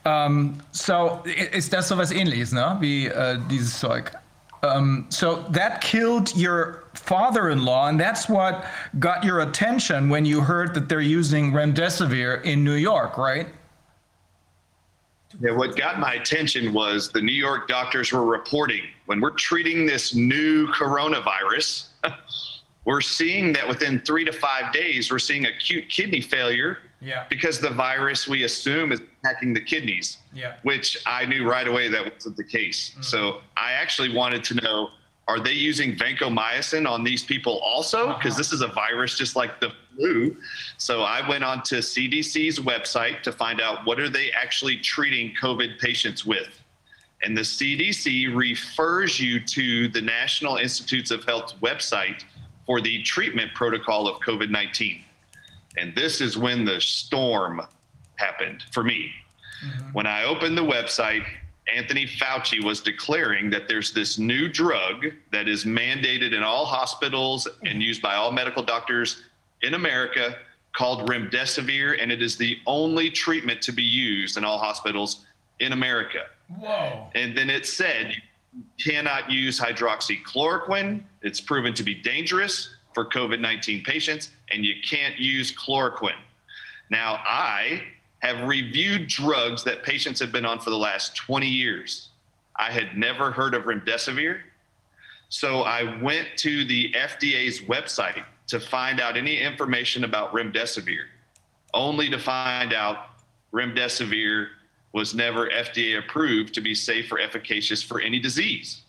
So ist das sowas Ähnliches, ne? Wie dieses Zeug. So that killed your father-in-law, and that's what got your attention when you heard that they're using remdesivir in New York, right? To Yeah, what got my attention was the New York doctors were reporting when we're treating this new coronavirus, we're seeing that within 3 to 5 days, we're seeing acute kidney failure because the virus we assume is attacking the kidneys, which I knew right away that wasn't the case. So I actually wanted to know, are they using vancomycin on these people also? Because this is a virus just like the flu. So I went on to CDC's website to find out what are they actually treating COVID patients with. And the CDC refers you to the National Institutes of Health website for the treatment protocol of COVID-19. And this is when the storm happened for me. When I opened the website, Anthony Fauci was declaring that there's this new drug that is mandated in all hospitals and used by all medical doctors in America called remdesivir, and it is the only treatment to be used in all hospitals in America. Whoa. And then it said you cannot use hydroxychloroquine. It's proven to be dangerous for COVID-19 patients, and you can't use chloroquine. Now, I have reviewed drugs that patients have been on for the last 20 years. I had never heard of remdesivir. So I went to the FDA's website to find out any information about remdesivir, only to find out remdesivir was never FDA approved to be safe or efficacious for any disease.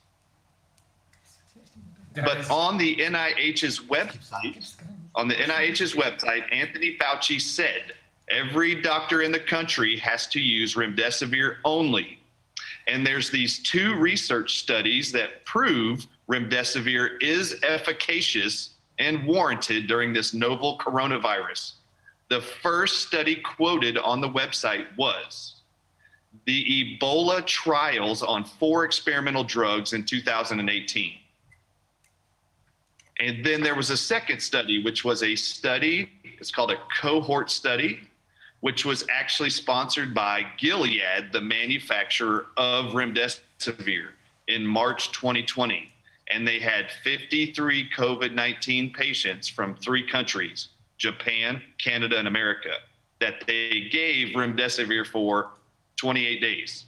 But on the NIH's website, Anthony Fauci said, every doctor in the country has to use remdesivir only. And there's these 2 research studies that prove remdesivir is efficacious and warranted during this novel coronavirus. The first study quoted on the website was the Ebola trials on 4 experimental drugs in 2018. And then there was a second study, which was a study, it's called a cohort study, which was actually sponsored by Gilead, the manufacturer of remdesivir, in March 2020. And they had 53 COVID-19 patients from 3 countries, Japan, Canada, and America, that they gave remdesivir for 28 days.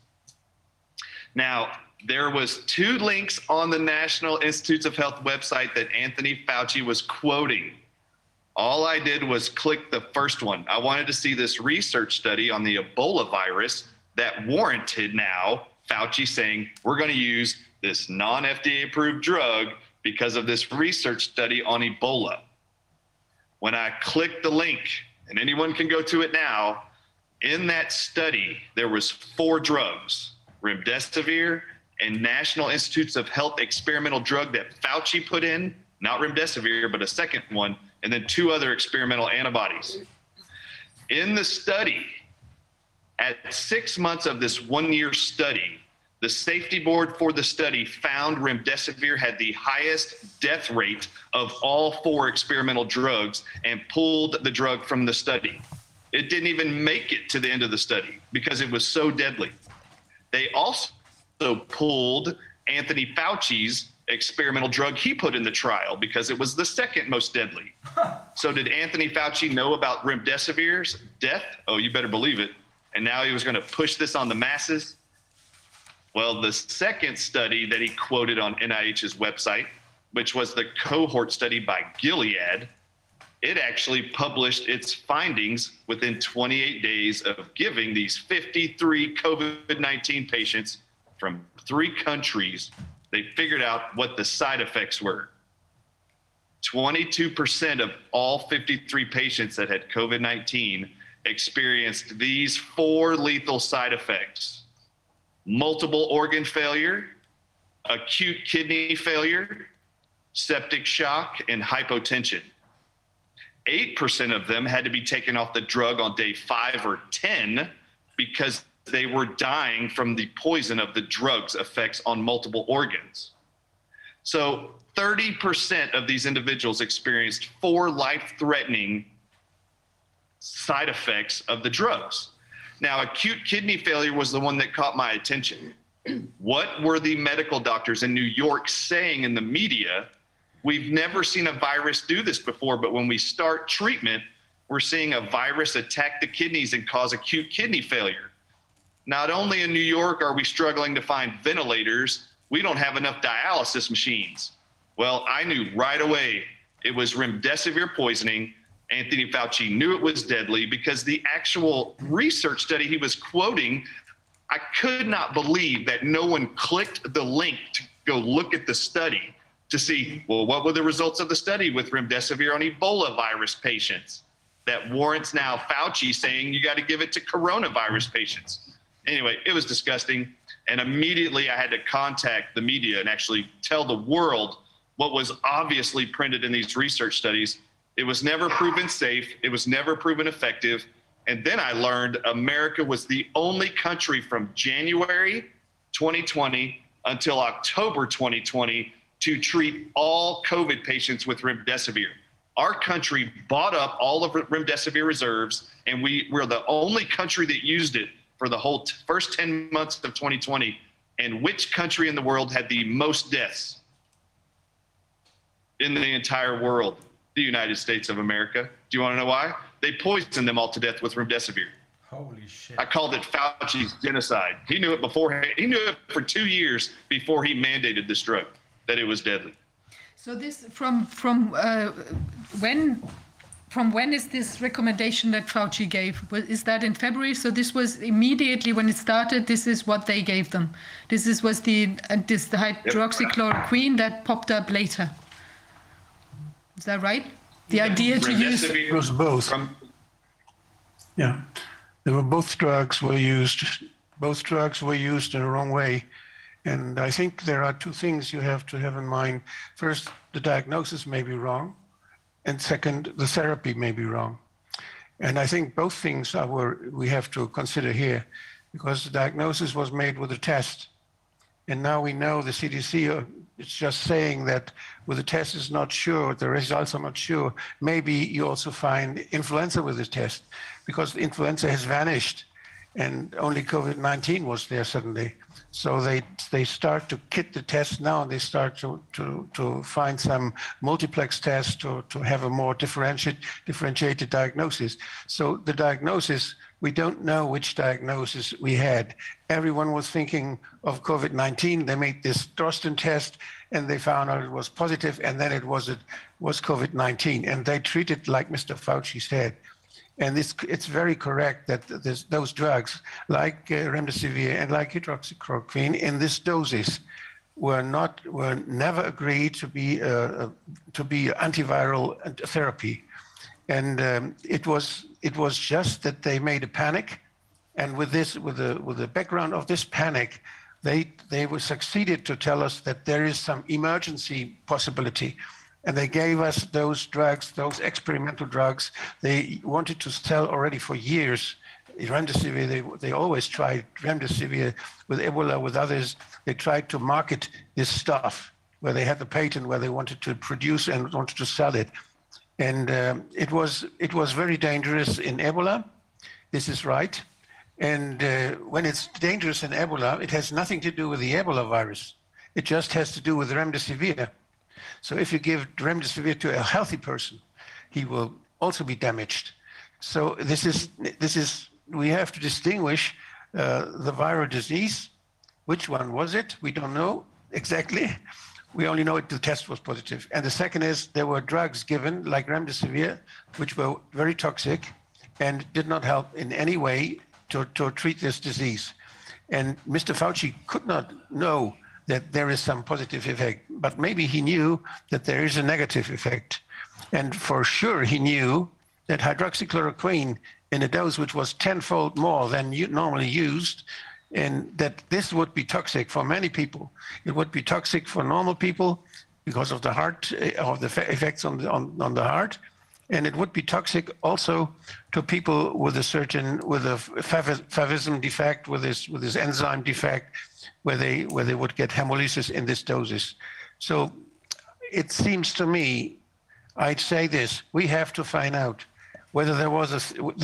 Now, there was 2 links on the National Institutes of Health website that Anthony Fauci was quoting. All I did was click the first one. I wanted to see this research study on the Ebola virus that warranted now Fauci saying, we're going to use this non-FDA approved drug because of this research study on Ebola. When I clicked the link, and anyone can go to it now, in that study, there was 4 drugs, remdesivir and National Institutes of Health experimental drug that Fauci put in, not remdesivir, but a second one, and then 2 other experimental antibodies. In the study, at 6 months of this 1-year study, the safety board for the study found remdesivir had the highest death rate of all 4 experimental drugs and pulled the drug from the study. It didn't even make it to the end of the study because it was so deadly. They also pulled Anthony Fauci's experimental drug he put in the trial because it was the second most deadly. So did Anthony Fauci know about remdesivir's death? Oh, you better believe it. And now he was going to push this on the masses. Well, the second study that he quoted on NIH's website, which was the cohort study by Gilead, it actually published its findings within 28 days of giving these 53 COVID-19 patients from 3 countries. They figured out what the side effects were. 22% of all 53 patients that had COVID-19 experienced these 4 lethal side effects: multiple organ failure, acute kidney failure, septic shock, and hypotension. 8% of them had to be taken off the drug on day 5 or 10 because they were dying from the poison of the drug's effects on multiple organs. So 30% of these individuals experienced 4 life-threatening side effects of the drugs. Now, acute kidney failure was the one that caught my attention. What were the medical doctors in New York saying in the media? We've never seen a virus do this before, but when we start treatment, we're seeing a virus attack the kidneys and cause acute kidney failure. not only in New York are we struggling to find ventilators, we don't have enough dialysis machines. Well, I knew right away it was remdesivir poisoning. Anthony Fauci knew it was deadly because the actual research study he was quoting, I could not believe that no one clicked the link to go look at the study to see, well, what were the results of the study with remdesivir on Ebola virus patients that warrants now Fauci saying you got to give it to coronavirus patients. Anyway, it was disgusting. And immediately I had to contact the media and actually tell the world what was obviously printed in these research studies. It was never proven safe. It was never proven effective. And then I learned America was the only country from January 2020 until October 2020 to treat all COVID patients with remdesivir. Our country bought up all of remdesivir reserves, and we're the only country that used it for the whole first 10 months of 2020. And which country in the world had the most deaths in the entire world? The United States of America. Do you want to know why? They poisoned them all to death with remdesivir. Holy shit. I called it Fauci's genocide. He knew it beforehand. He knew it for 2 years before he mandated this drug, that it was deadly. So this from when is this recommendation that Fauci gave? Is that in February? So this was immediately when it started. This is what they gave them. Was the hydroxychloroquine that popped up later. Is that right? The idea to use it was both. Yeah, there were both drugs were used. Both drugs were used in the wrong way. And I think there are two things you have to have in mind. First, the diagnosis may be wrong. And second, the therapy may be wrong. And I think both things we have to consider here, because the diagnosis was made with a test. And now we know the CDC is just saying that with the test is not sure, the results are not sure. Maybe you also find influenza with the test, because influenza has vanished and only COVID-19 was there suddenly. So they start to kit the test now, and they start to find some multiplex tests to have a more differentiated diagnosis. So the diagnosis, we don't know which diagnosis we had. Everyone was thinking of COVID-19. They made this Drosten test, and they found out it was positive, and then it was COVID-19. And they treated like Mr. Fauci said. And it's very correct that those drugs, like remdesivir and like hydroxychloroquine, in this doses, were never agreed to be antiviral therapy, and it was just that they made a panic, and with the background of this panic, they succeeded to tell us that there is some emergency possibility. And they gave us those drugs, those experimental drugs. They wanted to sell already for years. Remdesivir, they always tried remdesivir with Ebola, with others. They tried to market this stuff where they had the patent, where they wanted to produce and wanted to sell it. And it was very dangerous in Ebola. This is right. And when it's dangerous in Ebola, it has nothing to do with the Ebola virus. It just has to do with remdesivir. So if you give remdesivir to a healthy person, he will also be damaged. So this is we have to distinguish the viral disease. Which one was it? We don't know exactly. We only know the test was positive. And the second is there were drugs given like remdesivir, which were very toxic and did not help in any way to treat this disease. And Mr. Fauci could not know that there is some positive effect, but maybe he knew that there is a negative effect. And for sure he knew that hydroxychloroquine in a dose which was 10-fold more than you normally used, and that this would be toxic for many people. It would be toxic for normal people because of the heart, of the effects on the heart, and it would be toxic also to people with a favism defect, with this enzyme defect, where they would get hemolysis in this doses. So it seems to me, I'd say this: we have to find out whether there was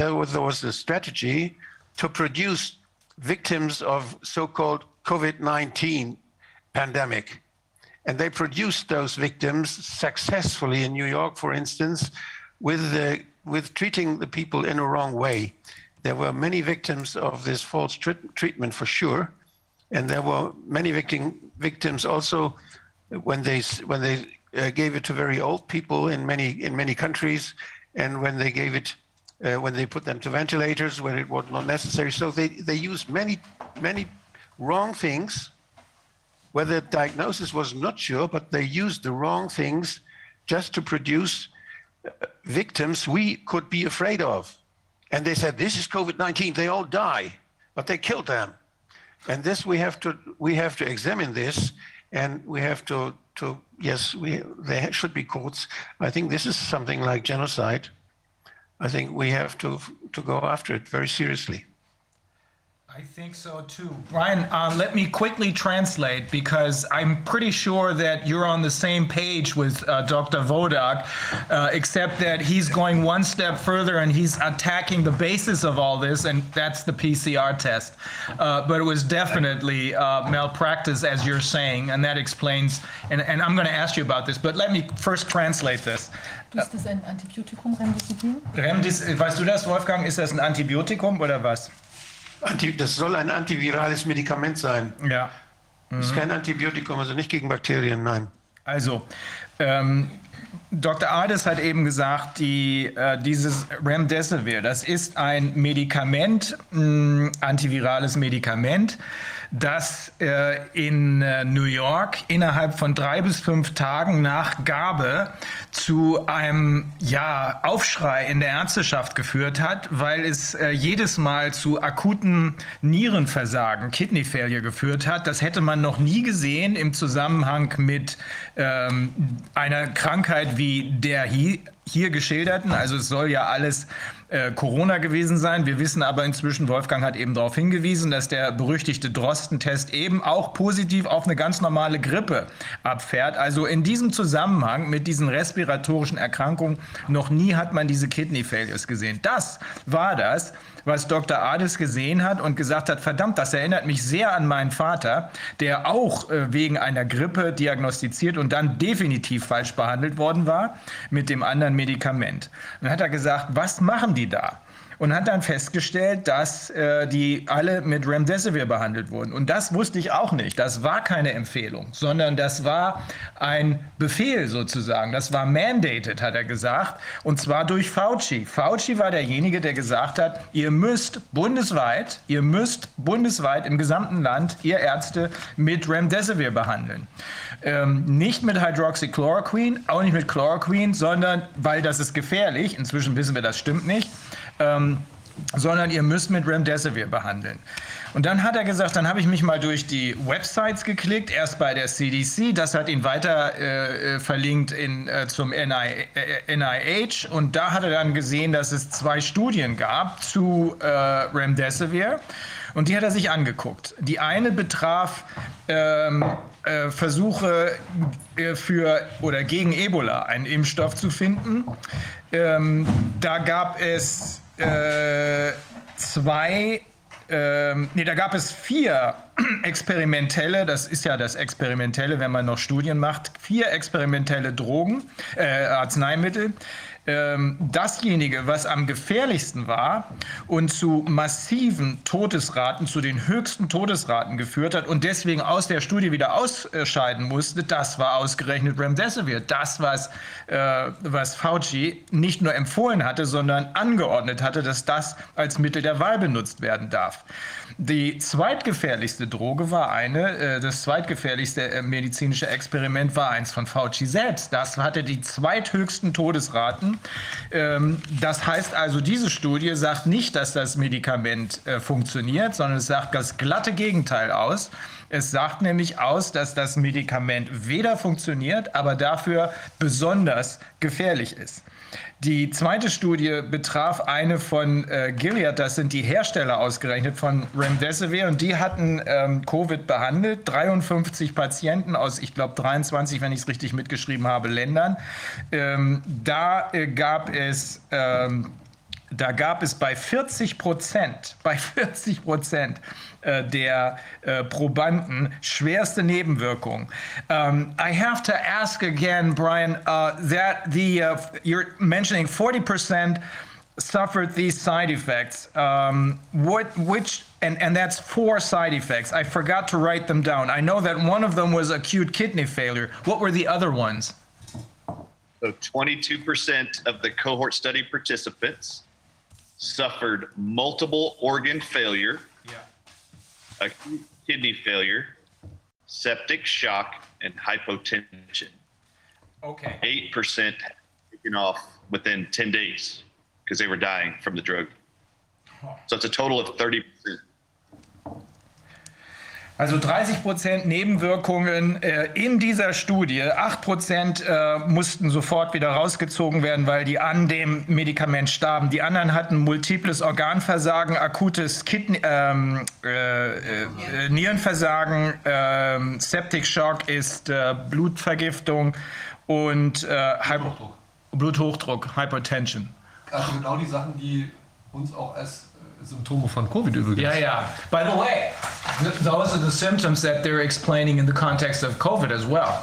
a strategy to produce victims of so-called COVID-19 pandemic, and they produced those victims successfully in New York, for instance, with treating the people in a wrong way. there were many victims of this false treatment for sure, and there were many victims also when they gave it to very old people in many countries, and when they gave it when they put them to ventilators when it was not necessary. So they used many wrong things, where the diagnosis was not sure, but they used the wrong things just to produce victims we could be afraid of. And they said, this is COVID-19, they all die, but they killed them. And this we have to examine this, and we have to yes, there should be courts. I think this is something like genocide. I think we have to go after it very seriously. I think so too. Brian, let me quickly translate, because I'm pretty sure that you're on the same page with Dr. Wodak, except that he's going one step further and he's attacking the basis of all this, and that's the PCR test. But it was definitely malpractice, as you're saying, and that explains, and I'm going to ask you about this, but let me first translate this. Ist das ein Antibiotikum, Remdesivir? Weißt du das, Wolfgang? Ist das ein Antibiotikum oder was? Das soll ein antivirales Medikament sein. Ja. Das ist kein Antibiotikum, also nicht gegen Bakterien, nein. Also, Dr. Ades hat eben gesagt, dieses Remdesivir, das ist ein Medikament, antivirales Medikament, das in New York innerhalb von 3 bis 5 Tagen nach Gabe zu einem Aufschrei in der Ärzteschaft geführt hat, weil es jedes Mal zu akuten Nierenversagen, Kidney Failure geführt hat. Das hätte man noch nie gesehen im Zusammenhang mit einer Krankheit wie der hier geschilderten. Also es soll ja alles Corona gewesen sein. Wir wissen aber inzwischen, Wolfgang hat eben darauf hingewiesen, dass der berüchtigte Drosten-Test eben auch positiv auf eine ganz normale Grippe abfährt. Also in diesem Zusammenhang mit diesen respiratorischen Erkrankungen, noch nie hat man diese Kidney Failures gesehen. Das war das, was Dr. Ades gesehen hat und gesagt hat, verdammt, das erinnert mich sehr an meinen Vater, der auch wegen einer Grippe diagnostiziert und dann definitiv falsch behandelt worden war mit dem anderen Medikament. Und dann hat er gesagt, was machen die da? Und hat dann festgestellt, dass die alle mit Remdesivir behandelt wurden. Und das wusste ich auch nicht. Das war keine Empfehlung, sondern das war ein Befehl sozusagen. Das war mandated, hat er gesagt, und zwar durch Fauci. Fauci war derjenige, der gesagt hat, ihr müsst bundesweit im gesamten Land, ihr Ärzte, mit Remdesivir behandeln. Nicht mit Hydroxychloroquine, auch nicht mit Chloroquine, sondern, weil das ist gefährlich, inzwischen wissen wir, das stimmt nicht, sondern ihr müsst mit Remdesivir behandeln. Und dann hat er gesagt, dann habe ich mich mal durch die Websites geklickt, erst bei der CDC, das hat ihn weiter verlinkt zum NIH, und da hat er dann gesehen, dass es 2 Studien gab zu Remdesivir, und die hat er sich angeguckt. Die eine betraf Versuche für oder gegen Ebola einen Impfstoff zu finden. Da gab es da gab es 4 experimentelle, das ist ja das Experimentelle, wenn man noch Studien macht, 4 experimentelle Arzneimittel. Dasjenige, was am gefährlichsten war und zu massiven Todesraten, zu den höchsten Todesraten geführt hat und deswegen aus der Studie wieder ausscheiden musste, das war ausgerechnet Remdesivir. Das, was Fauci nicht nur empfohlen hatte, sondern angeordnet hatte, dass das als Mittel der Wahl benutzt werden darf. Die zweitgefährlichste Droge war das zweitgefährlichste medizinische Experiment war eins von Fauci selbst. Das hatte die zweithöchsten Todesraten. Das heißt also, diese Studie sagt nicht, dass das Medikament funktioniert, sondern es sagt das glatte Gegenteil aus. Es sagt nämlich aus, dass das Medikament weder funktioniert, aber dafür besonders gefährlich ist. Die zweite Studie betraf eine von Gilead, das sind die Hersteller ausgerechnet von Remdesivir, und die hatten Covid behandelt, 53 Patienten aus, ich glaube 23, wenn ich es richtig mitgeschrieben habe, Ländern. Da gab es bei 40% der Probanden schwerste Nebenwirkungen. I have to ask again, Brian, that you're mentioning 40% suffered these side effects. And that's 4 side effects. I forgot to write them down. I know that one of them was acute kidney failure. What were the other ones? So 22% of the cohort study participants suffered multiple organ failure, acute kidney failure, septic shock, and hypotension. Okay. 8% taken off within 10 days because they were dying from the drug. So it's a total of 30%. Also 30% Nebenwirkungen in dieser Studie. 8% mussten sofort wieder rausgezogen werden, weil die an dem Medikament starben. Die anderen hatten multiples Organversagen, akutes Nierenversagen, Septic Shock ist Blutvergiftung und Bluthochdruck, Hypertension. Also genau die Sachen, die uns auch als Symptome von Covid übrigens. Yeah. By the way, those are the symptoms that they're explaining in the context of COVID as well.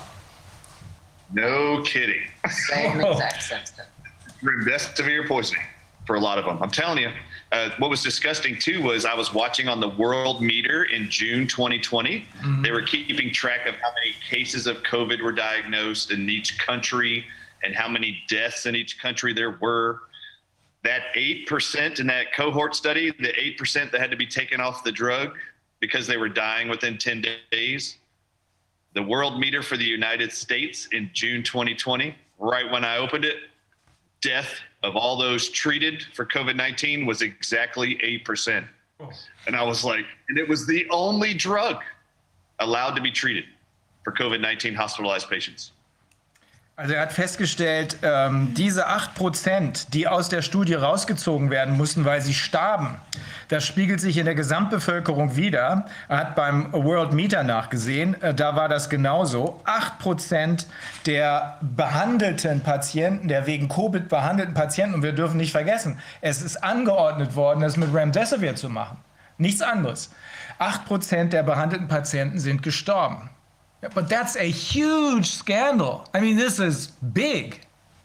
No kidding. Same exact symptom. Remdesivir poisoning for a lot of them. I'm telling you, what was disgusting too was I was watching on the World Meter in June 2020. Mm-hmm. They were keeping track of how many cases of COVID were diagnosed in each country and how many deaths in each country there were. That 8% in that cohort study, the 8% that had to be taken off the drug because they were dying within 10 days, the World Meter for the United States in June 2020, right when I opened it, death of all those treated for COVID-19 was exactly 8%. Oh. And I was like, and it was the only drug allowed to be treated for COVID-19 hospitalized patients. Also er hat festgestellt, diese 8%, die aus der Studie rausgezogen werden mussten, weil sie starben, das spiegelt sich in der Gesamtbevölkerung wider. Er hat beim World Meter nachgesehen, da war das genauso. 8% der behandelten Patienten, der wegen Covid behandelten Patienten, und wir dürfen nicht vergessen, es ist angeordnet worden, das mit Remdesivir zu machen. Nichts anderes. 8% der behandelten Patienten sind gestorben. But that's a huge scandal. I mean, this is big.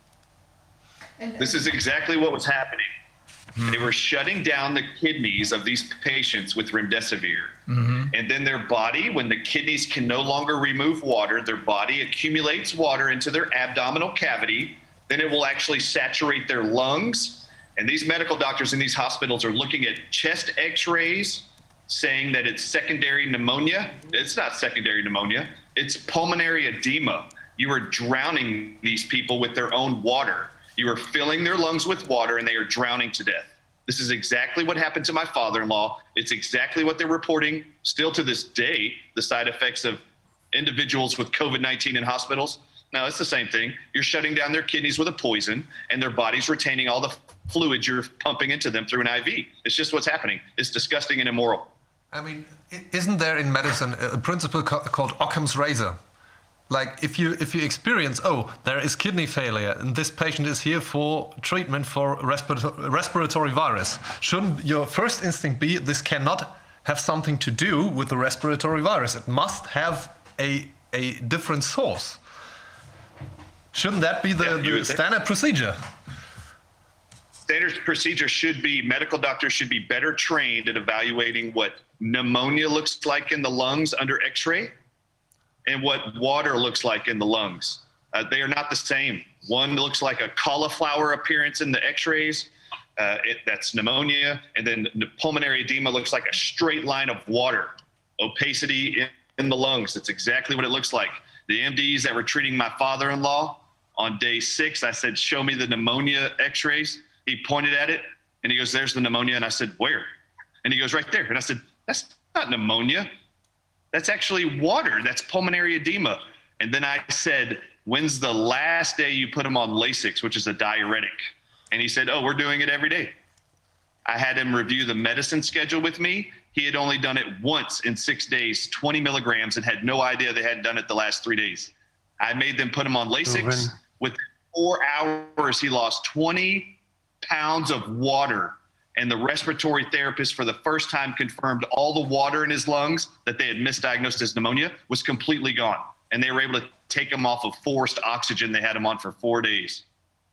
This is exactly what was happening. Mm-hmm. They were shutting down the kidneys of these patients with remdesivir. Mm-hmm. And then their body, when the kidneys can no longer remove water, their body accumulates water into their abdominal cavity. Then it will actually saturate their lungs. And these medical doctors in these hospitals are looking at chest x-rays, saying that it's secondary pneumonia. It's not secondary pneumonia. It's pulmonary edema. You are drowning these people with their own water. You are filling their lungs with water and they are drowning to death. This is exactly what happened to my father-in-law. It's exactly what they're reporting still to this day, the side effects of individuals with COVID-19 in hospitals. Now, it's the same thing. You're shutting down their kidneys with a poison and their body's retaining all the fluid you're pumping into them through an IV. It's just what's happening. It's disgusting and immoral. I mean, isn't there in medicine a principle called Occam's razor? Like if you experience, there is kidney failure and this patient is here for treatment for respiratory virus, shouldn't your first instinct be this cannot have something to do with the respiratory virus? It must have a different source. Shouldn't that be the standard procedure? Standard procedure should be, medical doctors should be better trained at evaluating what pneumonia looks like in the lungs under x-ray and what water looks like in the lungs. They are not the same. One looks like a cauliflower appearance in the x-rays. That's pneumonia. And then the pulmonary edema looks like a straight line of water, opacity in the lungs. That's exactly what it looks like. The MDs that were treating my father-in-law on day 6, I said, show me the pneumonia x-rays. He pointed at it and he goes, there's the pneumonia. And I said, where? And he goes, right there. And I said, that's not pneumonia. That's actually water. That's pulmonary edema. And then I said, when's the last day you put him on Lasix, which is a diuretic? And he said, we're doing it every day. I had him review the medicine schedule with me. He had only done it once in 6 days, 20 milligrams, and had no idea they hadn't done it the last 3 days. I made them put him on Lasix. Within 4 hours, he lost 20 pounds of water, and the respiratory therapist for the first time confirmed all the water in his lungs that they had misdiagnosed as pneumonia was completely gone, and they were able to take him off of forced oxygen they had him on for 4 days.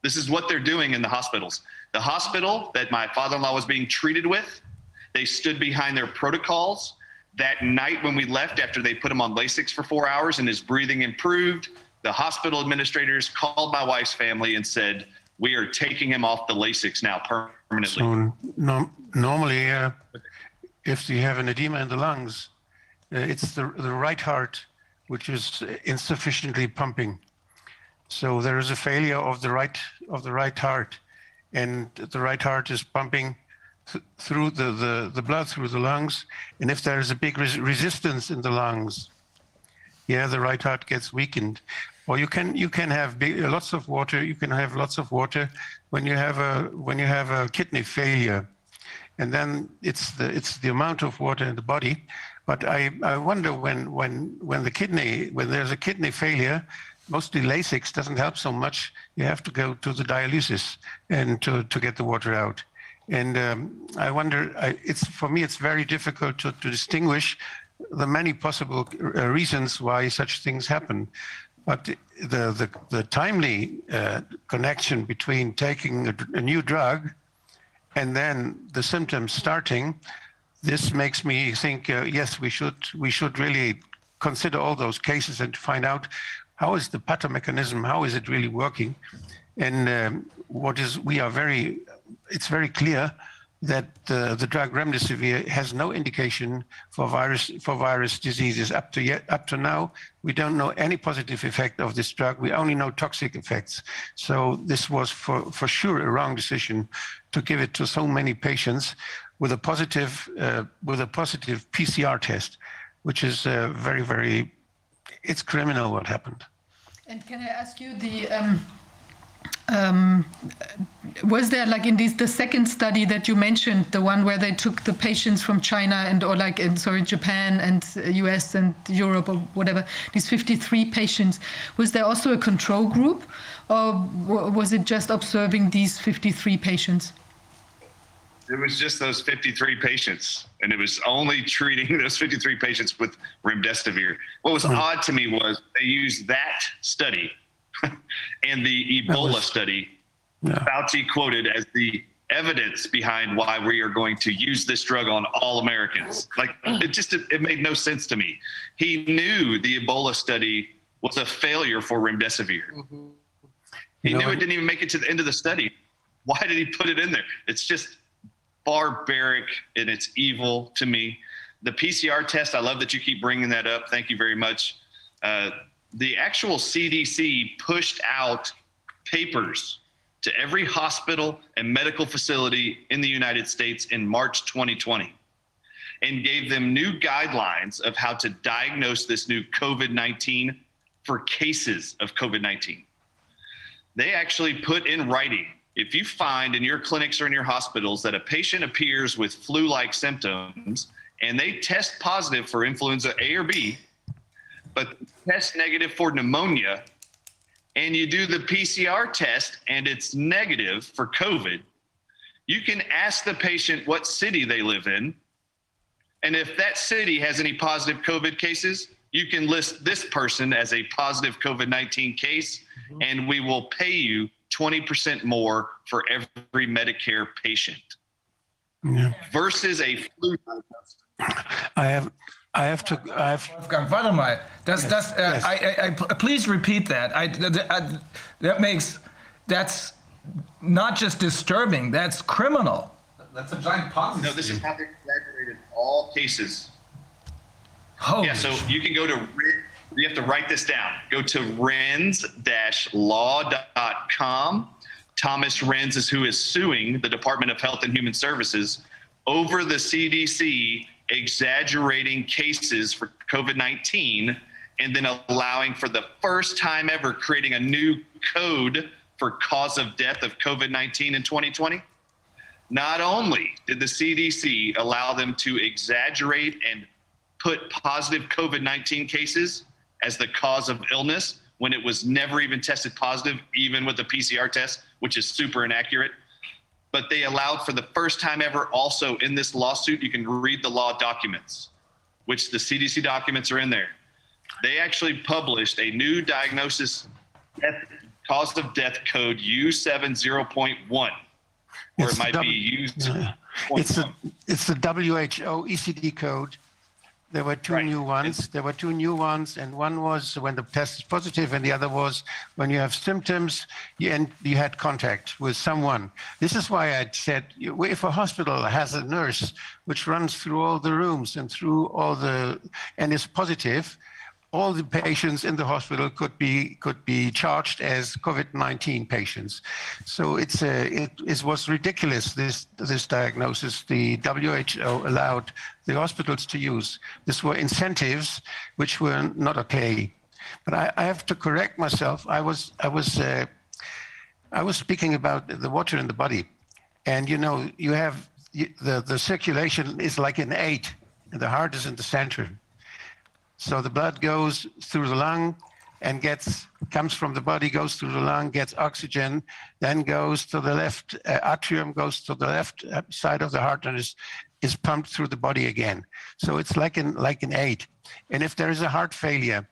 This is what they're doing in the hospitals. The hospital that my father-in-law was being treated with, they stood behind their protocols. That night when we left, after they put him on Lasix for 4 hours and his breathing improved, the hospital administrators called my wife's family and said, we are taking him off the Lasix now permanently. So normally, if you have an edema in the lungs, it's the right heart which is insufficiently pumping. So there is a failure of the right heart, and the right heart is pumping through the blood through the lungs. And if there is a big resistance in the lungs, the right heart gets weakened. Or you can have lots of water. You can have lots of water when you have a kidney failure, and then it's the amount of water in the body. But I wonder when there's a kidney failure, mostly Lasix doesn't help so much. You have to go to the dialysis and to get the water out. And I wonder. For me, it's very difficult to distinguish the many possible reasons why such things happen. But the timely connection between taking a new drug and then the symptoms starting, this makes me think, yes, we should really consider all those cases and find out how is the pathomechanism, how is it really working, and it's very clear that the drug remdesivir has no indication for virus diseases. Up to now, we don't know any positive effect of this drug. We only know toxic effects. So this was for sure a wrong decision to give it to so many patients with a positive PCR test, which is very, very, it's criminal what happened. And can I ask you was there, like in the second study that you mentioned, the one where they took the patients from China Japan and US and Europe or whatever, these 53 patients, was there also a control group, or was it just observing these 53 patients? It was just those 53 patients, and it was only treating those 53 patients with remdesivir. What was odd to me was they used that study and the Ebola study, Fauci quoted as the evidence behind why we are going to use this drug on all Americans. Like, it made no sense to me. He knew the Ebola study was a failure for remdesivir. Mm-hmm. He knew it didn't even make it to the end of the study. Why did he put it in there? It's just barbaric and it's evil to me. The PCR test, I love that you keep bringing that up. Thank you very much. The actual CDC pushed out papers to every hospital and medical facility in the United States in March 2020 and gave them new guidelines of how to diagnose this new COVID-19 for cases of COVID-19. They actually put in writing, if you find in your clinics or in your hospitals that a patient appears with flu-like symptoms and they test positive for influenza A or B, but test negative for pneumonia, and you do the PCR test and it's negative for COVID, you can ask the patient what city they live in. And if that city has any positive COVID cases, you can list this person as a positive COVID-19 case, and we will pay you 20% more for every Medicare patient versus a flu diagnosis. Wolfgang, warte mal. Please repeat that. That's not just disturbing. That's criminal. That's a giant Ponzi. No, this is how they exaggerated all cases. Holy so you can go to, you have to write this down. Go to renz-law.com. Thomas Renz is who is suing the Department of Health and Human Services over the CDC exaggerating cases for COVID-19 and then allowing for the first time ever creating a new code for cause of death of COVID-19 in 2020. Not only did the CDC allow them to exaggerate and put positive COVID-19 cases as the cause of illness when it was never even tested positive, even with the PCR test, which is super inaccurate. But they allowed for the first time ever also in this lawsuit, you can read the law documents, which the CDC documents are in there. They actually published a new diagnosis cause of death code U70.1, or it might be U0.1. It's the WHO ECD code. There were two new ones. There were two new ones, and one was when the test is positive, and the other was when you have symptoms and you had contact with someone. This is why I said, if a hospital has a nurse which runs through all the rooms and through all the, and is positive, all the patients in the hospital could be charged as COVID-19 patients. So it was ridiculous, this diagnosis the WHO allowed the hospitals to use. These were incentives which were not okay. But I have to correct myself. I was speaking about the water in the body, and you have the circulation is like an 8, and the heart is in the center. So the blood goes through the lung and comes from the body, goes through the lung, gets oxygen, then goes to the left atrium, goes to the left side of the heart, and is pumped through the body again. So it's like an 8. And if there is a heart failure,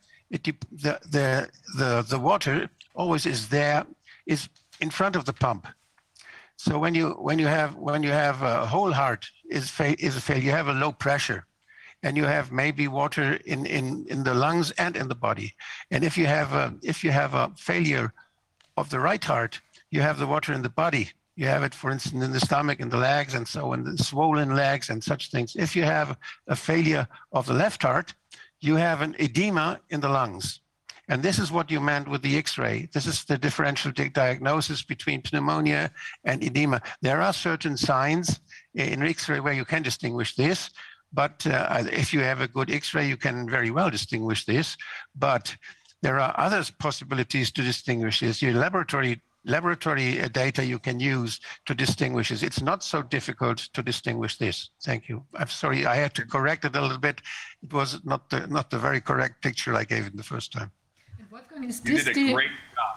the water always is in front of the pump. So when you have a whole heart is a failure, you have a low pressure. And you have maybe water in the lungs and in the body. And if you have a failure of the right heart, you have the water in the body. You have it, for instance, in the stomach, in the legs, and so on, the swollen legs and such things. If you have a failure of the left heart, you have an edema in the lungs. And this is what you meant with the X-ray. This is the differential diagnosis between pneumonia and edema. There are certain signs in X-ray where you can distinguish this. But if you have a good X-ray, you can very well distinguish this. But there are other possibilities to distinguish this. Your laboratory data you can use to distinguish this. It's not so difficult to distinguish this. Thank you. I'm sorry, I had to correct it a little bit. It was not the very correct picture I gave it the first time. Wolfgang, you did a great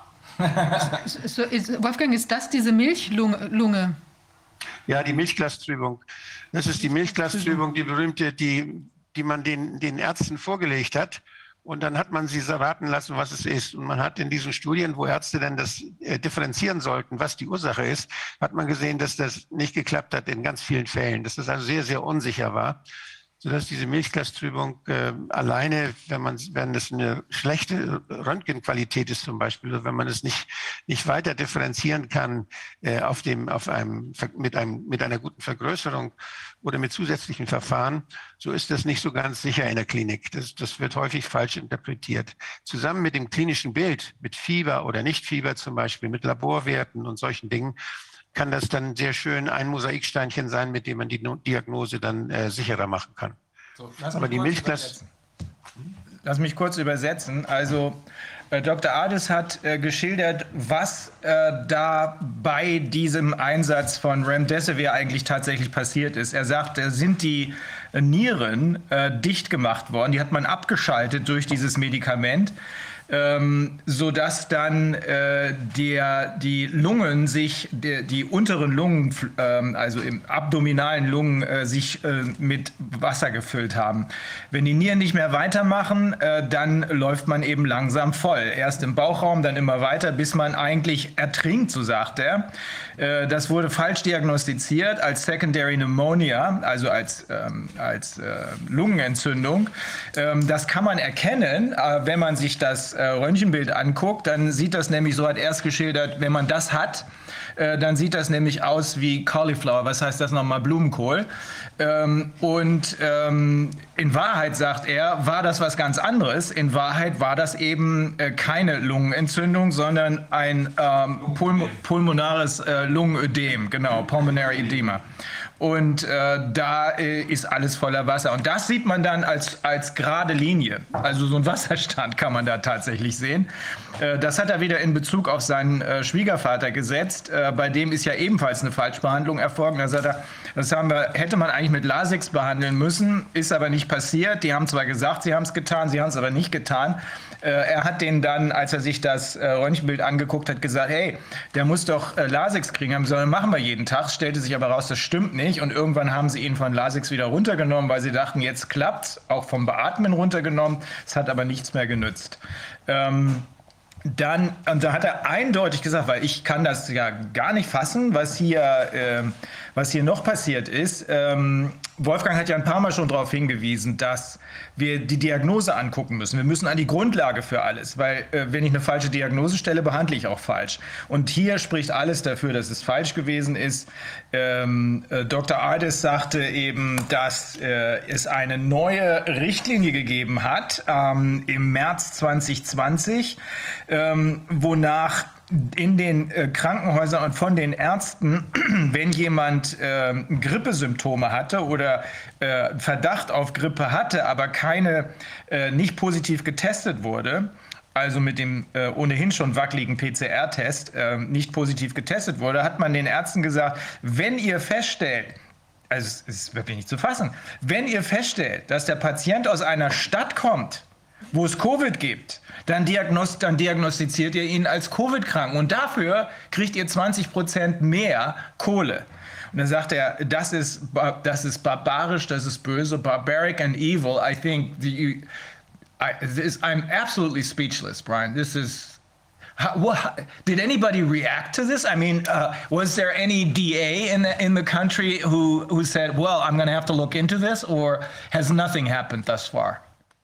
job. Wolfgang, ist das diese Milchlunge? Ja, die Milchglastrübung. Das ist die Milchglastrübung, die berühmte, die man den Ärzten vorgelegt hat. Und dann hat man sie raten lassen, was es ist. Und man hat in diesen Studien, wo Ärzte dann das differenzieren sollten, was die Ursache ist, hat man gesehen, dass das nicht geklappt hat in ganz vielen Fällen. Dass das also sehr, sehr unsicher war. Sodass diese Milchglastrübung alleine, wenn es eine schlechte Röntgenqualität ist zum Beispiel, oder wenn man es nicht weiter differenzieren kann mit einer guten Vergrößerung oder mit zusätzlichen Verfahren, so ist das nicht so ganz sicher in der Klinik. Das wird häufig falsch interpretiert. Zusammen mit dem klinischen Bild, mit Fieber oder Nicht-Fieber zum Beispiel, mit Laborwerten und solchen Dingen, kann das dann sehr schön ein Mosaiksteinchen sein, mit dem man die Diagnose dann sicherer machen kann. So, aber die Milchglas... Lass mich kurz übersetzen. Also Dr. Ades hat geschildert, was da bei diesem Einsatz von Remdesivir eigentlich tatsächlich passiert ist. Er sagt, sind die Nieren dicht gemacht worden, die hat man abgeschaltet durch dieses Medikament. Sodass dann die Lungen die unteren Lungen, also im abdominalen Lungen, sich mit Wasser gefüllt haben. Wenn die Nieren nicht mehr weitermachen, dann läuft man eben langsam voll. Erst im Bauchraum, dann immer weiter, bis man eigentlich ertrinkt, so sagt er. Das wurde falsch diagnostiziert als Secondary Pneumonia, also als Lungenentzündung. Das kann man erkennen, wenn man sich das Röntgenbild anguckt, dann sieht das nämlich, so hat er es geschildert, wenn man das hat, dann sieht das nämlich aus wie Cauliflower, was heißt das nochmal, Blumenkohl. Und in Wahrheit, sagt er, war das was ganz anderes. In Wahrheit war das eben keine Lungenentzündung, sondern ein pulmonares Lungenödem, genau, Pulmonary Edema. Und da ist alles voller Wasser. Und das sieht man dann als gerade Linie. Also so ein Wasserstand kann man da tatsächlich sehen. Das hat er wieder in Bezug auf seinen Schwiegervater gesetzt. Bei dem ist ja ebenfalls eine Falschbehandlung erfolgt. Da sagt er, hätte man eigentlich mit Lasix behandeln müssen, ist aber nicht passiert. Die haben zwar gesagt, sie haben es getan, sie haben es aber nicht getan. Er hat denen dann, als er sich das Röntgenbild angeguckt hat, gesagt, hey, der muss doch Lasix kriegen. Haben gesagt, machen wir jeden Tag. Stellte sich aber raus, das stimmt nicht. Und irgendwann haben sie ihn von Lasix wieder runtergenommen, weil sie dachten, jetzt klappt's. Auch vom Beatmen runtergenommen. Es hat aber nichts mehr genützt. und da hat er eindeutig gesagt, weil ich kann das ja gar nicht fassen, was hier noch passiert ist. Wolfgang hat ja ein paar Mal schon darauf hingewiesen, dass wir die Diagnose angucken müssen. Wir müssen an die Grundlage für alles, weil wenn ich eine falsche Diagnose stelle, behandle ich auch falsch. Und hier spricht alles dafür, dass es falsch gewesen ist. Dr. Ardis sagte eben, dass es eine neue Richtlinie gegeben hat im März 2020, wonach in den Krankenhäusern und von den Ärzten, wenn jemand Grippesymptome hatte oder Verdacht auf Grippe hatte, aber nicht positiv getestet wurde, also mit dem ohnehin schon wackeligen PCR-Test nicht positiv getestet wurde, hat man den Ärzten gesagt, wenn ihr feststellt, also es ist wirklich nicht zu fassen, wenn ihr feststellt, dass der Patient aus einer Stadt kommt, wo es Covid gibt, dann diagnostiziert ihr ihn als Covid-krank und dafür kriegt ihr 20% mehr Kohle. Und dann sagt er, das ist barbarisch, das ist böse, barbaric and evil. I think I'm absolutely speechless, Brian. This is did anybody react to this? I mean, was there any DA in the country who said, well, I'm going to have to look into this, or has nothing happened thus far?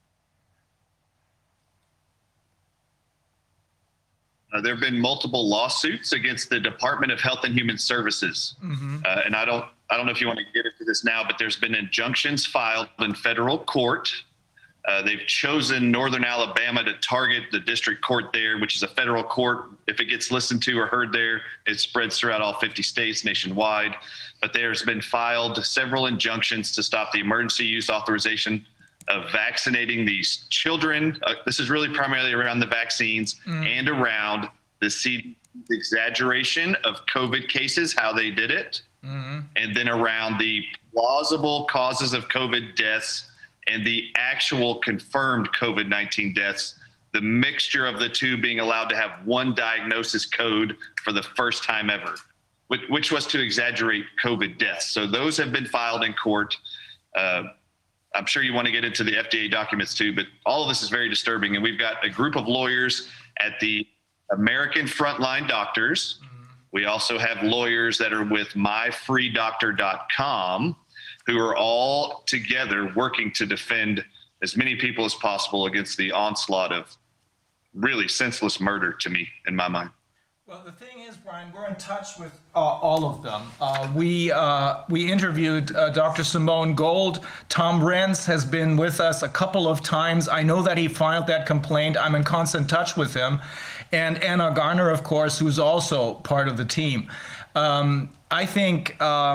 There have been multiple lawsuits against the Department of Health and Human Services. And I don't know if you want to get into this now, but there's been injunctions filed in federal court. They've chosen Northern Alabama to target the district court there, which is a federal court. If it gets listened to or heard there, it spreads throughout all 50 states nationwide. But there's been filed several injunctions to stop the emergency use authorization of vaccinating these children. This is really primarily around the vaccines and around the exaggeration of COVID cases, how they did it, and then around the plausible causes of COVID deaths and the actual confirmed COVID-19 deaths, the mixture of the two being allowed to have one diagnosis code for the first time ever, which was to exaggerate COVID deaths. So those have been filed in court. I'm sure you want to get into the FDA documents too, but all of this is very disturbing. And we've got a group of lawyers at the American Frontline Doctors. We also have lawyers that are with myfreedoctor.com who are all together working to defend as many people as possible against the onslaught of really senseless murder, to me, in my mind. Well, the thing is, Brian, we're in touch with all of them. We interviewed Dr. Simone Gold. Tom Renz has been with us a couple of times. I know that he filed that complaint. I'm in constant touch with him. And Anna Garner, of course, who's also part of the team. I think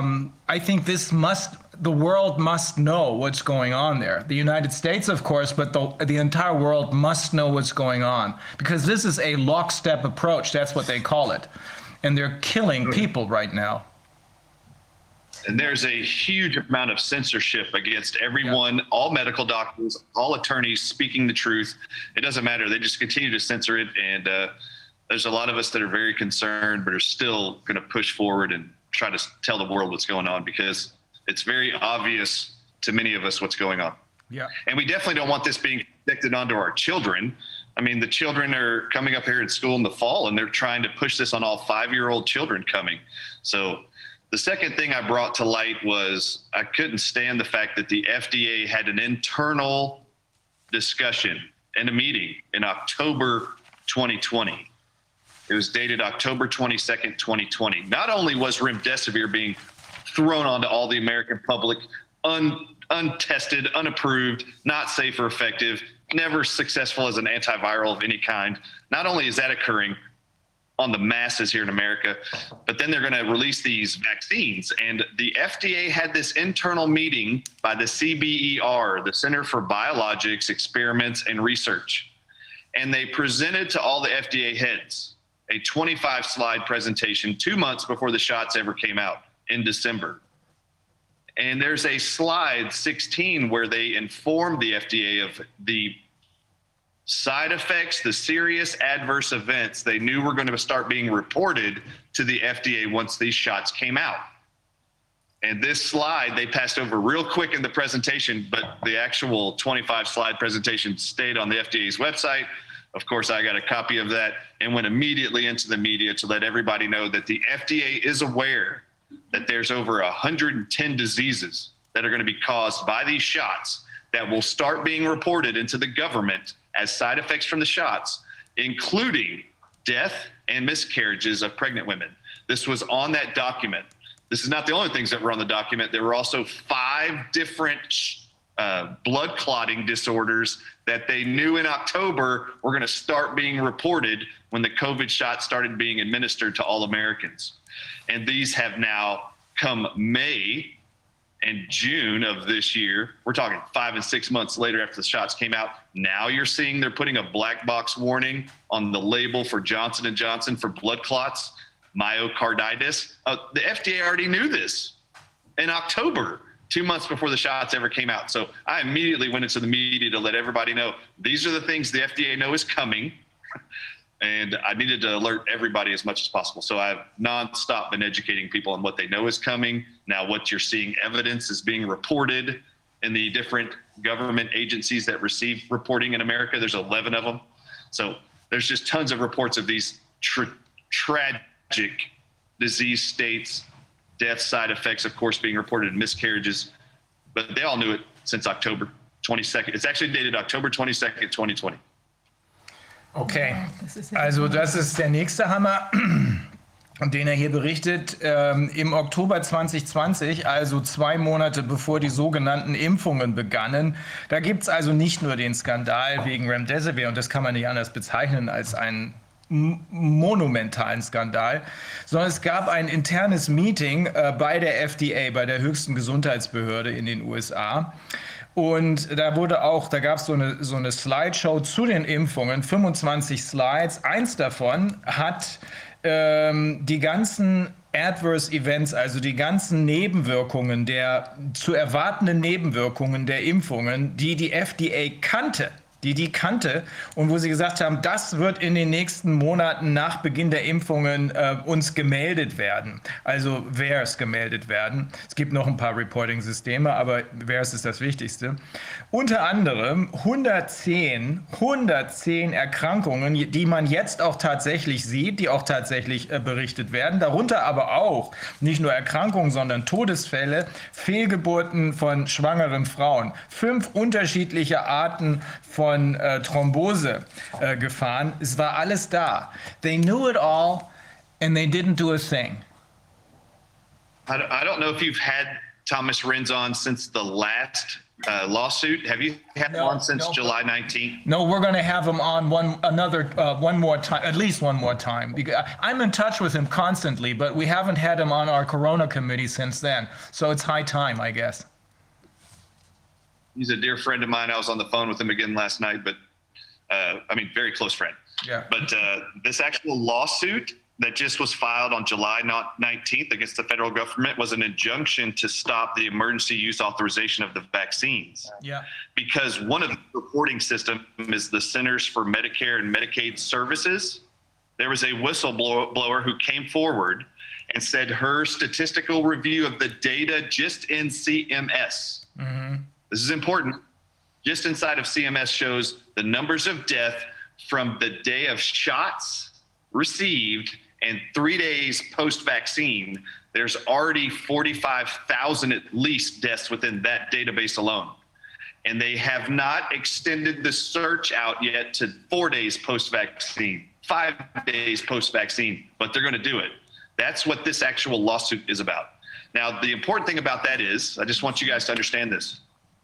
the world must know what's going on there. The United States, of course, but the entire world must know what's going on, because this is a lockstep approach. That's what they call it. And they're killing people right now. And there's a huge amount of censorship against everyone, all medical doctors, all attorneys speaking the truth. It doesn't matter. They just continue to censor it. And there's a lot of us that are very concerned, but are still going to push forward and try to tell the world what's going on, because it's very obvious to many of us what's going on. Yeah. And we definitely don't want this being projected onto our children. I mean, the children are coming up here in school in the fall, and they're trying to push this on all 5-year-old children coming. So the second thing I brought to light was I couldn't stand the fact that the FDA had an internal discussion in a meeting in October 2020. It was dated October 22nd, 2020. Not only was remdesivir being thrown onto all the American public, untested, unapproved, not safe or effective, never successful as an antiviral of any kind. Not only is that occurring on the masses here in America, but then they're going to release these vaccines. And the FDA had this internal meeting by the CBER, the Center for Biologics, Experiments, and Research. And they presented to all the FDA heads a 25-slide presentation 2 months before the shots ever came out in December. And there's a slide 16 where they informed the FDA of the side effects, the serious adverse events they knew were going to start being reported to the FDA once these shots came out. And this slide they passed over real quick in the presentation, but the actual 25-slide presentation stayed on the FDA's website Of course, I got a copy of that and went immediately into the media to let everybody know that the FDA is aware that there's over 110 diseases that are going to be caused by these shots that will start being reported into the government as side effects from the shots, including death and miscarriages of pregnant women. This was on that document. This is not the only things that were on the document. There were also 5 different blood clotting disorders that they knew in October were going to start being reported when the COVID shot started being administered to all Americans. And these have now come May and June of this year. We're talking 5 and 6 months later after the shots came out. Now you're seeing they're putting a black box warning on the label for Johnson & Johnson for blood clots, myocarditis. The FDA already knew this in October, 2 months before the shots ever came out. So I immediately went into the media to let everybody know these are the things the FDA know is coming. And I needed to alert everybody as much as possible. So I've nonstop been educating people on what they know is coming. Now what you're seeing evidence is being reported in the different government agencies that receive reporting in America. There's 11 of them. So there's just tons of reports of these tragic disease states, death side effects, of course, being reported in miscarriages. But they all knew it since October 22nd. It's actually dated October 22nd, 2020. Okay, also das ist der nächste Hammer, den er hier berichtet. Im Oktober 2020, also 2 Monate bevor die sogenannten Impfungen begannen, da gibt es also nicht nur den Skandal wegen Remdesivir, und das kann man nicht anders bezeichnen als einen monumentalen Skandal, sondern es gab ein internes Meeting bei der FDA, bei der höchsten Gesundheitsbehörde in den USA. Und da gab es so eine Slideshow zu den Impfungen, 25 Slides. Eins davon hat die ganzen Adverse Events, also die ganzen Nebenwirkungen, zu erwartenden Nebenwirkungen der Impfungen, die FDA kannte, die kannte und wo sie gesagt haben, das wird in den nächsten Monaten nach Beginn der Impfungen uns gemeldet werden. Also VAERS gemeldet werden. Es gibt noch ein paar Reporting-Systeme, aber VAERS ist das Wichtigste. Unter anderem 110 Erkrankungen, die man jetzt auch tatsächlich sieht, die auch tatsächlich berichtet werden. Darunter aber auch nicht nur Erkrankungen, sondern Todesfälle, Fehlgeburten von schwangeren Frauen. 5 unterschiedliche Arten von Thrombose gefahren. Es war alles da. They knew it all and they didn't do a thing. I don't know if you've had Thomas Renz on since the last lawsuit. Have you had him on since July 19th? No, we're going to have him on one more time, at least one more time. Because I'm in touch with him constantly, but we haven't had him on our Corona committee since then. So it's high time, I guess. He's a dear friend of mine. I was on the phone with him again last night, but very close friend. Yeah. But this actual lawsuit that just was filed on July 19th against the federal government was an injunction to stop the emergency use authorization of the vaccines. Yeah. Because one of the reporting systems is the Centers for Medicare and Medicaid Services. There was a whistleblower who came forward and said her statistical review of the data just in CMS. Mm-hmm. This is important. Just inside of CMS shows the numbers of death from the day of shots received and 3 days post-vaccine. There's already 45,000 at least deaths within that database alone. And they have not extended the search out yet to 4 days post-vaccine, 5 days post-vaccine, but they're going to do it. That's what this actual lawsuit is about. Now, the important thing about that is, I just want you guys to understand this.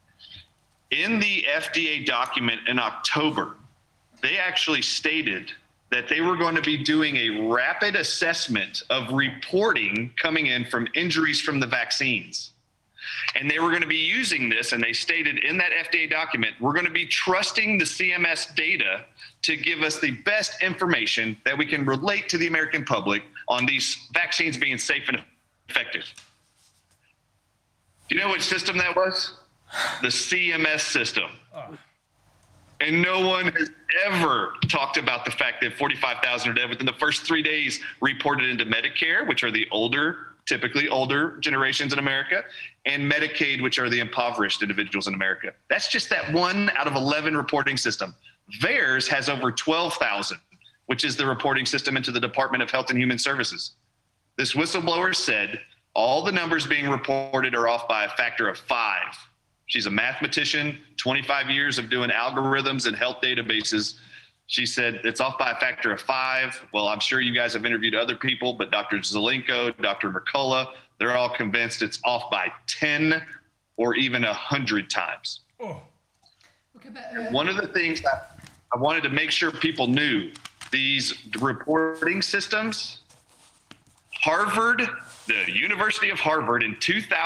In the FDA document in October, they actually stated that they were going to be doing a rapid assessment of reporting coming in from injuries from the vaccines. And they were going to be using this, and they stated in that FDA document, we're going to be trusting the CMS data to give us the best information that we can relate to the American public on these vaccines being safe and effective. Do you know which system that was? The CMS system. And no one has ever talked about the fact that 45,000 are dead within the first 3 days reported into Medicare, which are the typically older generations in America, and Medicaid, which are the impoverished individuals in America. That's just that 1 out of 11 reporting system. VAERS has over 12,000, which is the reporting system into the Department of Health and Human Services. This whistleblower said all the numbers being reported are off by a factor of 5. She's a mathematician, 25 years of doing algorithms and health databases. She said it's off by a factor of 5. Well, I'm sure you guys have interviewed other people, but Dr. Zelenko, Dr. Mercola, they're all convinced it's off by 10 or even 100 times. Oh. Okay, but, one of the things that I wanted to make sure people knew, these reporting systems, Harvard, the University of Harvard in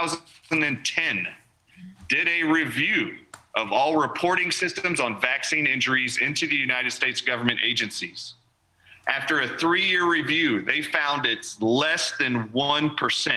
2010 did a review of all reporting systems on vaccine injuries into the United States government agencies. After a 3-year review, they found it's less than 1%.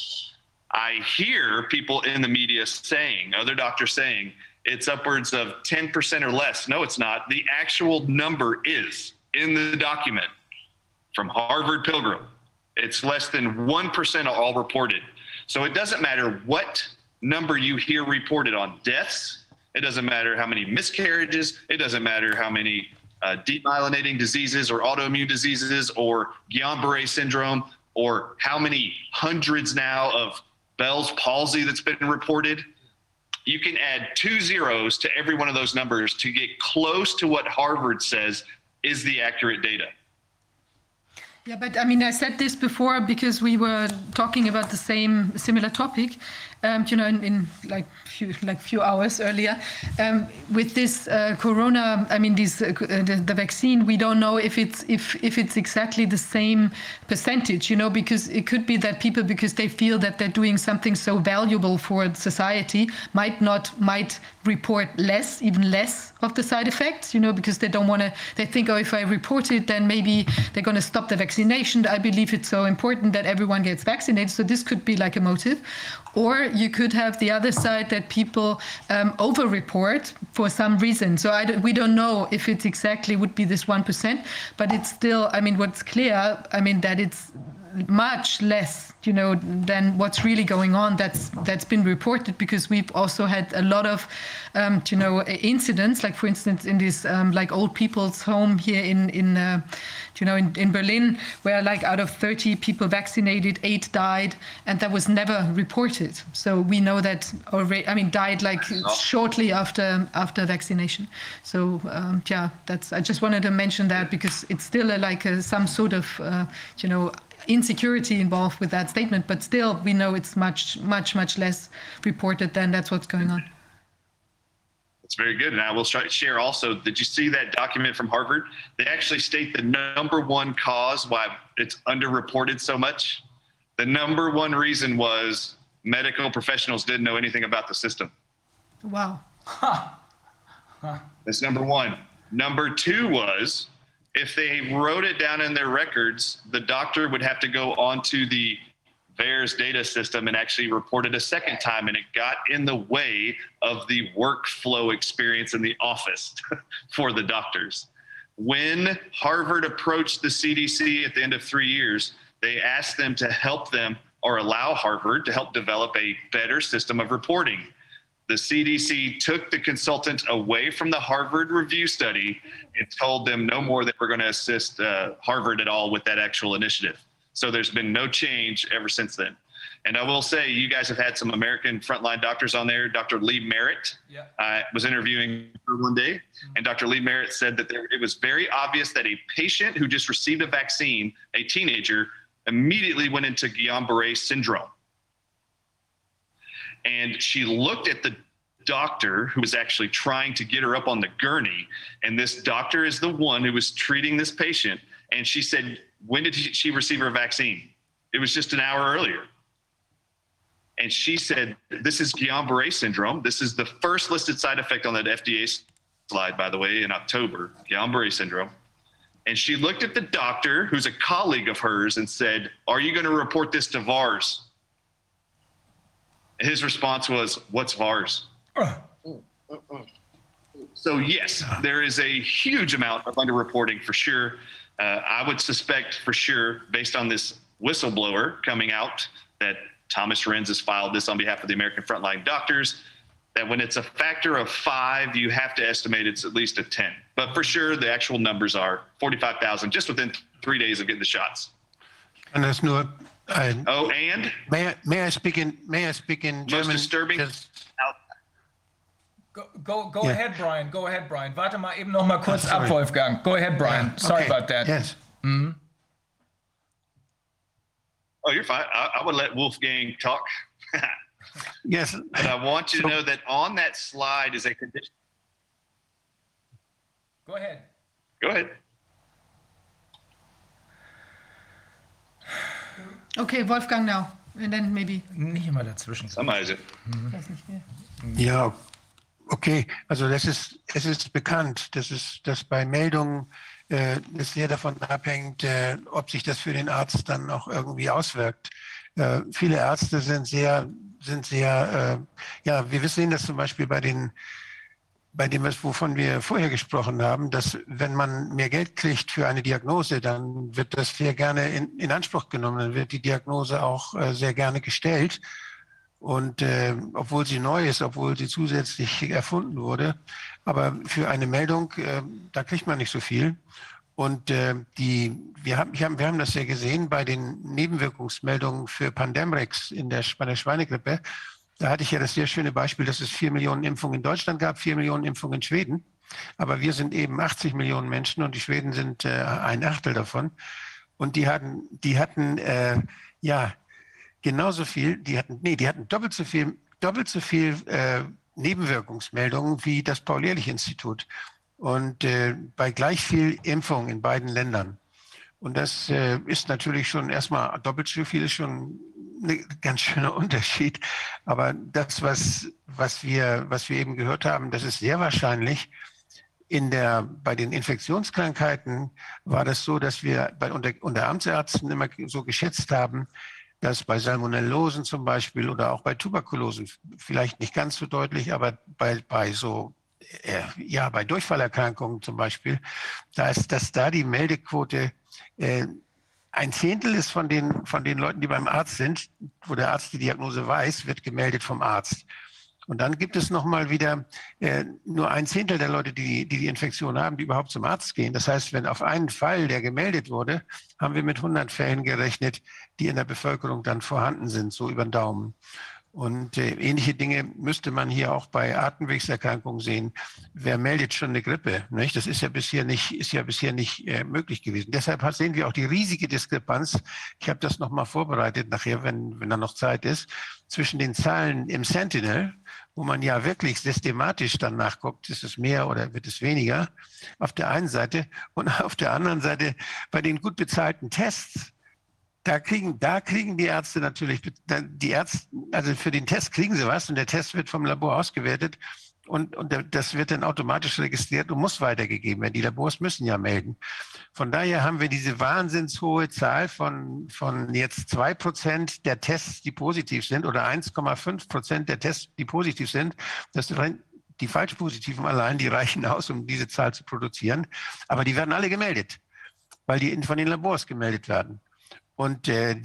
I hear people in the media saying, other doctors saying, it's upwards of 10% or less. No, it's not. The actual number is in the document from Harvard Pilgrim. It's less than 1% of all reported. So it doesn't matter what number you hear reported on deaths. It doesn't matter how many miscarriages. It doesn't matter how many demyelinating diseases or autoimmune diseases or Guillain-Barré syndrome, or how many hundreds now of Bell's palsy that's been reported. You can add 2 zeros to every one of those numbers to get close to what Harvard says is the accurate data. Yeah, but I mean, I said this before because we were talking about the similar topic, in few hours earlier. With this corona, I mean, the vaccine, we don't know if it's exactly the same percentage, because it could be that people, because they feel that they're doing something so valuable for society, might report even less of the side effects, because they don't want to, they think, oh, if I report it, then maybe they're going to stop the vaccination. I believe it's so important that everyone gets vaccinated. So this could be like a motive. Or you could have the other side that people over-report for some reason. So we don't know if it exactly would be this 1%, but it's still, I mean, what's clear, I mean, that it's much less, than what's really going on that's been reported, because we've also had a lot of, incidents, like for instance in this like old people's home here in Berlin, where like out of 30 people vaccinated, 8 died, and that was never reported. So we know that already. I mean, died like shortly after vaccination. So I just wanted to mention that because it's still some sort of insecurity involved with that statement, but still we know it's much less reported than that's what's going on. That's very good. And I will share also, did you see that document from Harvard? They actually state the number one cause why it's underreported so much. The number one reason was medical professionals didn't know anything about the system. Wow. That's number one. Number two was, if they wrote it down in their records, the doctor would have to go onto the VAERS data system and actually report it a second time, and it got in the way of the workflow experience in the office for the doctors. When Harvard approached the CDC at the end of 3 years, they asked them to help them, or allow Harvard to help develop a better system of reporting. The CDC took the consultant away from the Harvard review study and told them no more that we're going to assist Harvard at all with that actual initiative. So there's been no change ever since then. And I will say, you guys have had some American frontline doctors on there. Dr. Lee Merritt was interviewing her one day, and Dr. Lee Merritt said that it was very obvious that a patient who just received a vaccine, a teenager, immediately went into Guillain-Barré syndrome. And she looked at the doctor who was actually trying to get her up on the gurney. And this doctor is the one who was treating this patient. And she said, when did she receive her vaccine? It was just an hour earlier. And she said, this is Guillain-Barré syndrome. This is the first listed side effect on that FDA slide, by the way, in October, Guillain-Barré syndrome. And she looked at the doctor, who's a colleague of hers, and said, are you going to report this to VAERS? His response was, what's VAERS? So yes, there is a huge amount of underreporting for sure. I would suspect for sure, based on this whistleblower coming out, that Thomas Renz has filed this on behalf of the American Frontline Doctors. that when it's a factor of 5, you have to estimate it's at least a 10. But for sure, the actual numbers are 45,000 just within 3 days of getting the shots. And that's nur ein. Oh, and May I speak in German? most disturbing. Go ahead, Brian. Go ahead, Brian. Warte mal eben noch mal kurz ab, Wolfgang. Go ahead, Brian. Sorry about that. Yes. Mhm. Oh, you're fine. I would let Wolfgang talk. Yes. But I want you to know that on that slide is a condition. Go ahead. Go ahead. Okay, Wolfgang now, and then maybe. Nicht immer dazwischen. Somebody's it. Weiß nicht mehr. Ja, okay. Also es ist bekannt, dass bei Meldungen es sehr davon abhängt, ob sich das für den Arzt dann auch irgendwie auswirkt. Viele Ärzte sind sehr, wir sehen das zum Beispiel bei dem, wovon wir vorher gesprochen haben, dass wenn man mehr Geld kriegt für eine Diagnose, dann wird das sehr gerne in Anspruch genommen, dann wird die Diagnose auch sehr gerne gestellt. Und obwohl sie neu ist, obwohl sie zusätzlich erfunden wurde, aber für eine Meldung, da kriegt man nicht so viel. Und wir haben das ja gesehen bei den Nebenwirkungsmeldungen für Pandemrix bei der Schweinegrippe. Da hatte ich ja das sehr schöne Beispiel, dass es 4 Millionen Impfungen in Deutschland gab, 4 Millionen Impfungen in Schweden. Aber wir sind eben 80 Millionen Menschen und die Schweden sind 1/8 davon. Und die hatten genauso viel, die hatten doppelt so viel Nebenwirkungsmeldungen wie das Paul-Ehrlich-Institut. Und bei gleich viel Impfung in beiden Ländern. Und das ist natürlich schon erstmal doppelt so viel, ist schon ein ganz schöner Unterschied. Aber das, was wir eben gehört haben, das ist sehr wahrscheinlich. Bei den Infektionskrankheiten war das so, dass wir unter Amtsärzten immer so geschätzt haben, dass bei Salmonellosen zum Beispiel oder auch bei Tuberkulosen, vielleicht nicht ganz so deutlich, aber bei Durchfallerkrankungen zum Beispiel, dass da die Meldequote 1/10 ist von den Leuten, die beim Arzt sind, wo der Arzt die Diagnose weiß, wird gemeldet vom Arzt. Und dann gibt es nochmal wieder nur 1/10 der Leute, die Infektion haben, die überhaupt zum Arzt gehen. Das heißt, wenn auf einen Fall, der gemeldet wurde, haben wir mit 100 Fällen gerechnet, die in der Bevölkerung dann vorhanden sind, so über den Daumen. Und ähnliche Dinge müsste man hier auch bei Atemwegserkrankungen sehen. Wer meldet schon eine Grippe? Nicht? Das ist ja bisher nicht möglich gewesen. Deshalb sehen wir auch die riesige Diskrepanz. Ich habe das nochmal vorbereitet nachher, wenn da noch Zeit ist, zwischen den Zahlen im Sentinel, wo man ja wirklich systematisch dann nachguckt, ist es mehr oder wird es weniger, auf der einen Seite, und auf der anderen Seite bei den gut bezahlten Tests. Da kriegen die Ärzte natürlich, also für den Test kriegen sie was und der Test wird vom Labor ausgewertet und das wird dann automatisch registriert und muss weitergegeben werden. Die Labors müssen ja melden. Von daher haben wir diese wahnsinnshohe Zahl von jetzt 2% der Tests, die positiv sind oder 1,5% der Tests, die positiv sind. Die Falschpositiven allein, die reichen aus, um diese Zahl zu produzieren. Aber die werden alle gemeldet, weil die von den Labors gemeldet werden. Und von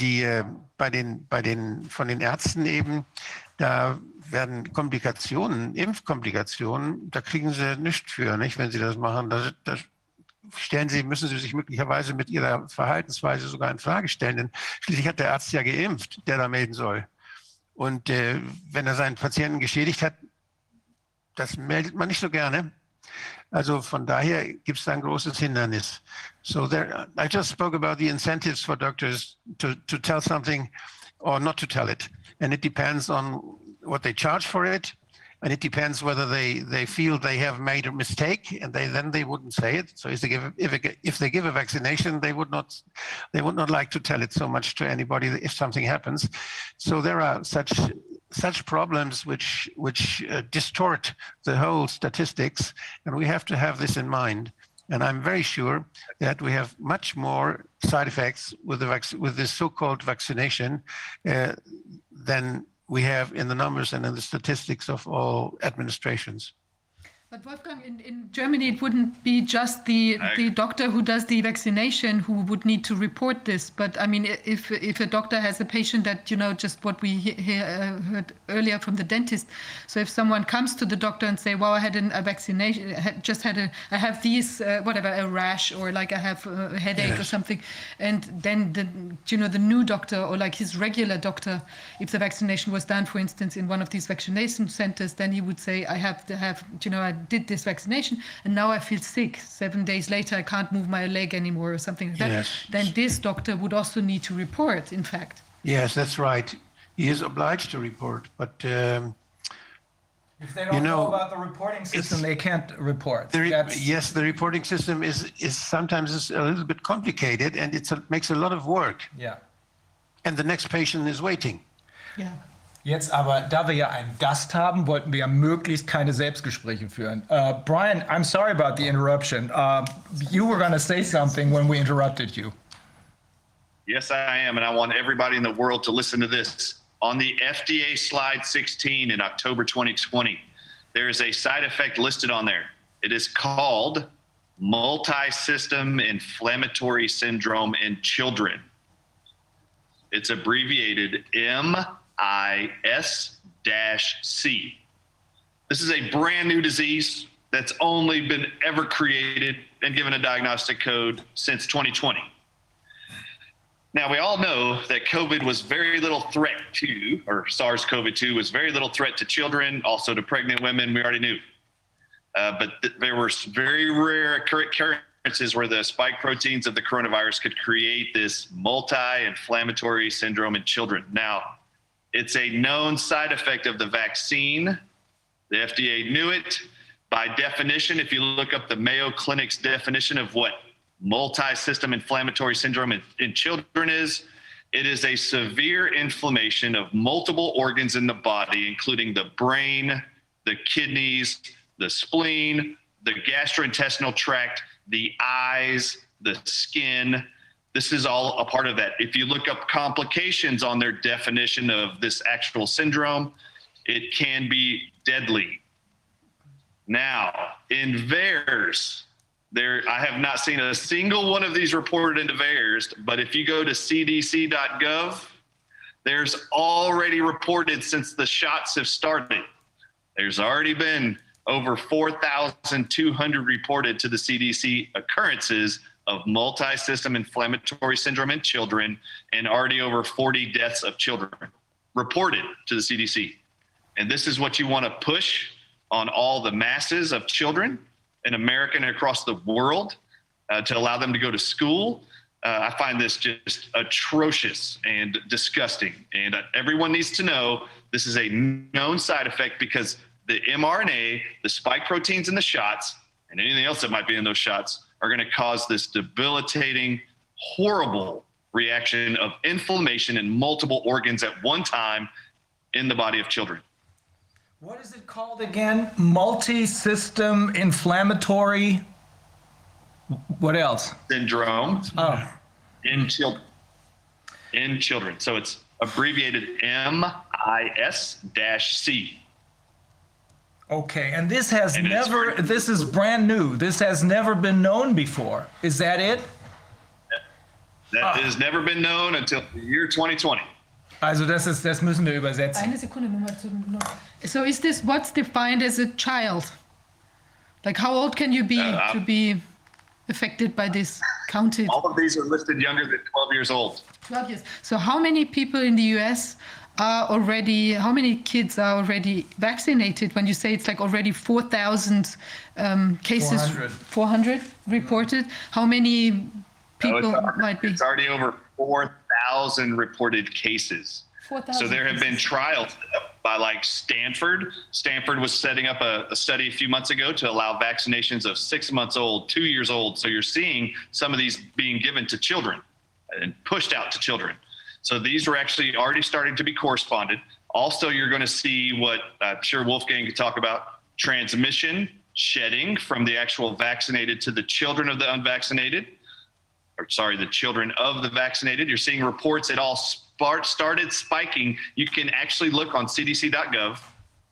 den Ärzten eben, da werden Impfkomplikationen, da kriegen sie nichts für, nicht, wenn sie das machen. Müssen sie sich möglicherweise mit ihrer Verhaltensweise sogar in Frage stellen. Denn schließlich hat der Arzt ja geimpft, der da melden soll. Und wenn er seinen Patienten geschädigt hat, das meldet man nicht so gerne. Also von daher gibt es da ein großes Hindernis. So I just spoke about the incentives for doctors to tell something or not to tell it. And it depends on what they charge for it. And it depends whether they feel they have made a mistake, and then they wouldn't say it. So if they give a vaccination, they would not like to tell it so much to anybody if something happens. So there are such problems which distort the whole statistics, and we have to have this in mind. And I'm very sure that we have much more side effects with this so-called vaccination than we have in the numbers and in the statistics of all administrations. But Wolfgang, in Germany, it wouldn't be just the doctor who does the vaccination who would need to report this. But I mean, if a doctor has a patient that, just what we heard earlier from the dentist. So if someone comes to the doctor and say, well, I had a vaccination, I have these, whatever, a rash, or like I have a headache or something. And then the new doctor, or like his regular doctor, if the vaccination was done, for instance, in one of these vaccination centers, then he would say, I did this vaccination and now I feel sick. 7 days later, I can't move my leg anymore or something like that. Yes. Then this doctor would also need to report, in fact. Yes, that's right. He is obliged to report, but if they don't know about the reporting system, they can't report. Yes, the reporting system is sometimes a little bit complicated, and it makes a lot of work. Yeah. And the next patient is waiting. Yeah. Jetzt aber, da wir ja einen Gast haben, wollten wir ja möglichst keine Selbstgespräche führen. Brian, I'm sorry about the interruption. You were going to say something when we interrupted you. Yes, I am, and I want everybody in the world to listen to this. On the FDA slide 16 in October 2020, there is a side effect listed on there. It is called multi-system inflammatory syndrome in children. It's abbreviated MIS-C. This is a brand new disease that's only been ever created and given a diagnostic code since 2020. Now, we all know that COVID was very little threat to, or SARS-CoV-2 was very little threat to children, also to pregnant women, we already knew. But there were very rare occurrences where the spike proteins of the coronavirus could create this multi-inflammatory syndrome in children. Now, it's a known side effect of the vaccine. The FDA knew it. By definition, if you look up the Mayo Clinic's definition of what multi-system inflammatory syndrome in children is, it is a severe inflammation of multiple organs in the body, including the brain, the kidneys, the spleen, the gastrointestinal tract, the eyes, the skin. This is all a part of that. If you look up complications on their definition of this actual syndrome, it can be deadly. Now, in VAERS, I have not seen a single one of these reported into VAERS, but if you go to cdc.gov, there's already reported since the shots have started. There's already been over 4,200 reported to the CDC occurrences of multi-system inflammatory syndrome in children, and already over 40 deaths of children reported to the CDC. And this is what you want to push on all the masses of children in America and across the world to allow them to go to school. I find this just atrocious and disgusting. And everyone needs to know this is a known side effect because the mRNA, the spike proteins in the shots, and anything else that might be in those shots are going to cause this debilitating, horrible reaction of inflammation in multiple organs at one time in the body of children. What is it called again? Multi-system inflammatory. What else? Syndrome. Oh. In children. In children. So it's abbreviated MIS-C. Okay, and this this is brand new. This has never been known before. Is that it? That has never been known until the year 2020. Also das müssen wir übersetzen. Eine Sekunde nochmal So is this what's defined as a child? Like how old can you be to be affected by this counted? All of these are listed younger than 12 years old. 12 years. So how many people in the US how many kids are already vaccinated? When you say it's like already 4,000 cases, 400 reported, how many people might be? It's already over 4,000 reported cases. 4,000 so there have been trials by like Stanford. Stanford was setting up a study a few months ago to allow vaccinations of 6 months old, 2 years old. So you're seeing some of these being given to children and pushed out to children. So these were actually already starting to be corresponded. Also, you're going to see what I'm sure Wolfgang could talk about, transmission, shedding from the actual vaccinated to the children of the unvaccinated, the children of the vaccinated. You're seeing reports it all started spiking. You can actually look on cdc.gov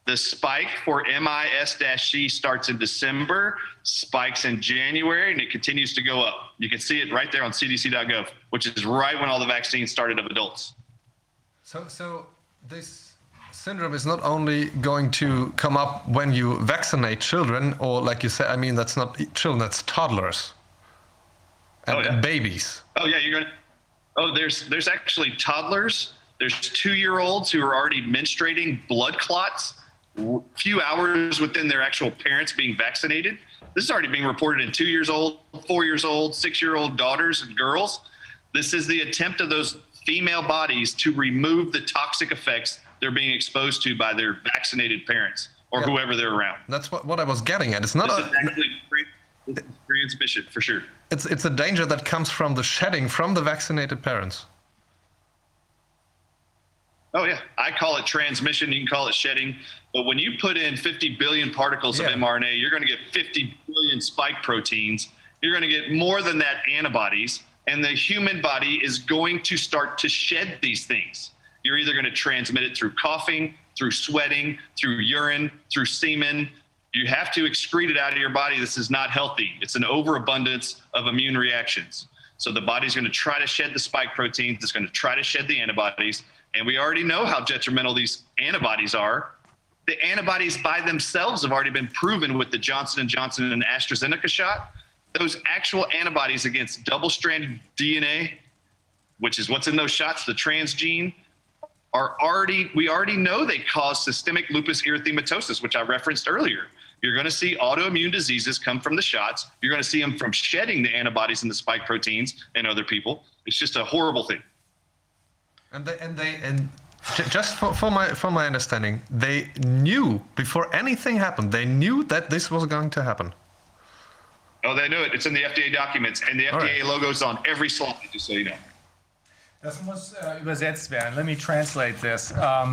The spike for MIS-C starts in December, spikes in January, and it continues to go up. You can see it right there on cdc.gov, which is right when all the vaccines started of adults. So this syndrome is not only going to come up when you vaccinate children, or like you said, I mean, that's not children, that's toddlers and babies. Oh yeah, there's actually toddlers. There's 2-year-olds who are already menstruating blood clots few hours within their actual parents being vaccinated. This is already being reported in 2 years old, 4 years old, 6-year-old daughters and girls. This is the attempt of those female bodies to remove the toxic effects they're being exposed to by their vaccinated parents or whoever they're around. That's what I was getting at. It's not transmission for sure. It's a danger that comes from the shedding from the vaccinated parents. Oh yeah, I call it transmission, you can call it shedding, but when you put in 50 billion particles of mRNA, you're gonna get 50 billion spike proteins, you're gonna get more than that antibodies, and the human body is going to start to shed these things. You're either gonna transmit it through coughing, through sweating, through urine, through semen. You have to excrete it out of your body. This is not healthy. It's an overabundance of immune reactions. So the body's gonna try to shed the spike proteins, it's gonna try to shed the antibodies, and we already know how detrimental these antibodies are. The antibodies by themselves have already been proven with the Johnson & Johnson and AstraZeneca shot. Those actual antibodies against double-stranded DNA, which is what's in those shots, the transgene, we already know they cause systemic lupus erythematosus, which I referenced earlier. You're gonna see autoimmune diseases come from the shots. You're gonna see them from shedding the antibodies and the spike proteins in other people. It's just a horrible thing. And just for my understanding, they knew before anything happened. They knew that this was going to happen. Oh, they knew it. It's in the FDA documents, and the FDA logos on every slide. Just so you know. Das muss übersetzt werden. Let me translate this.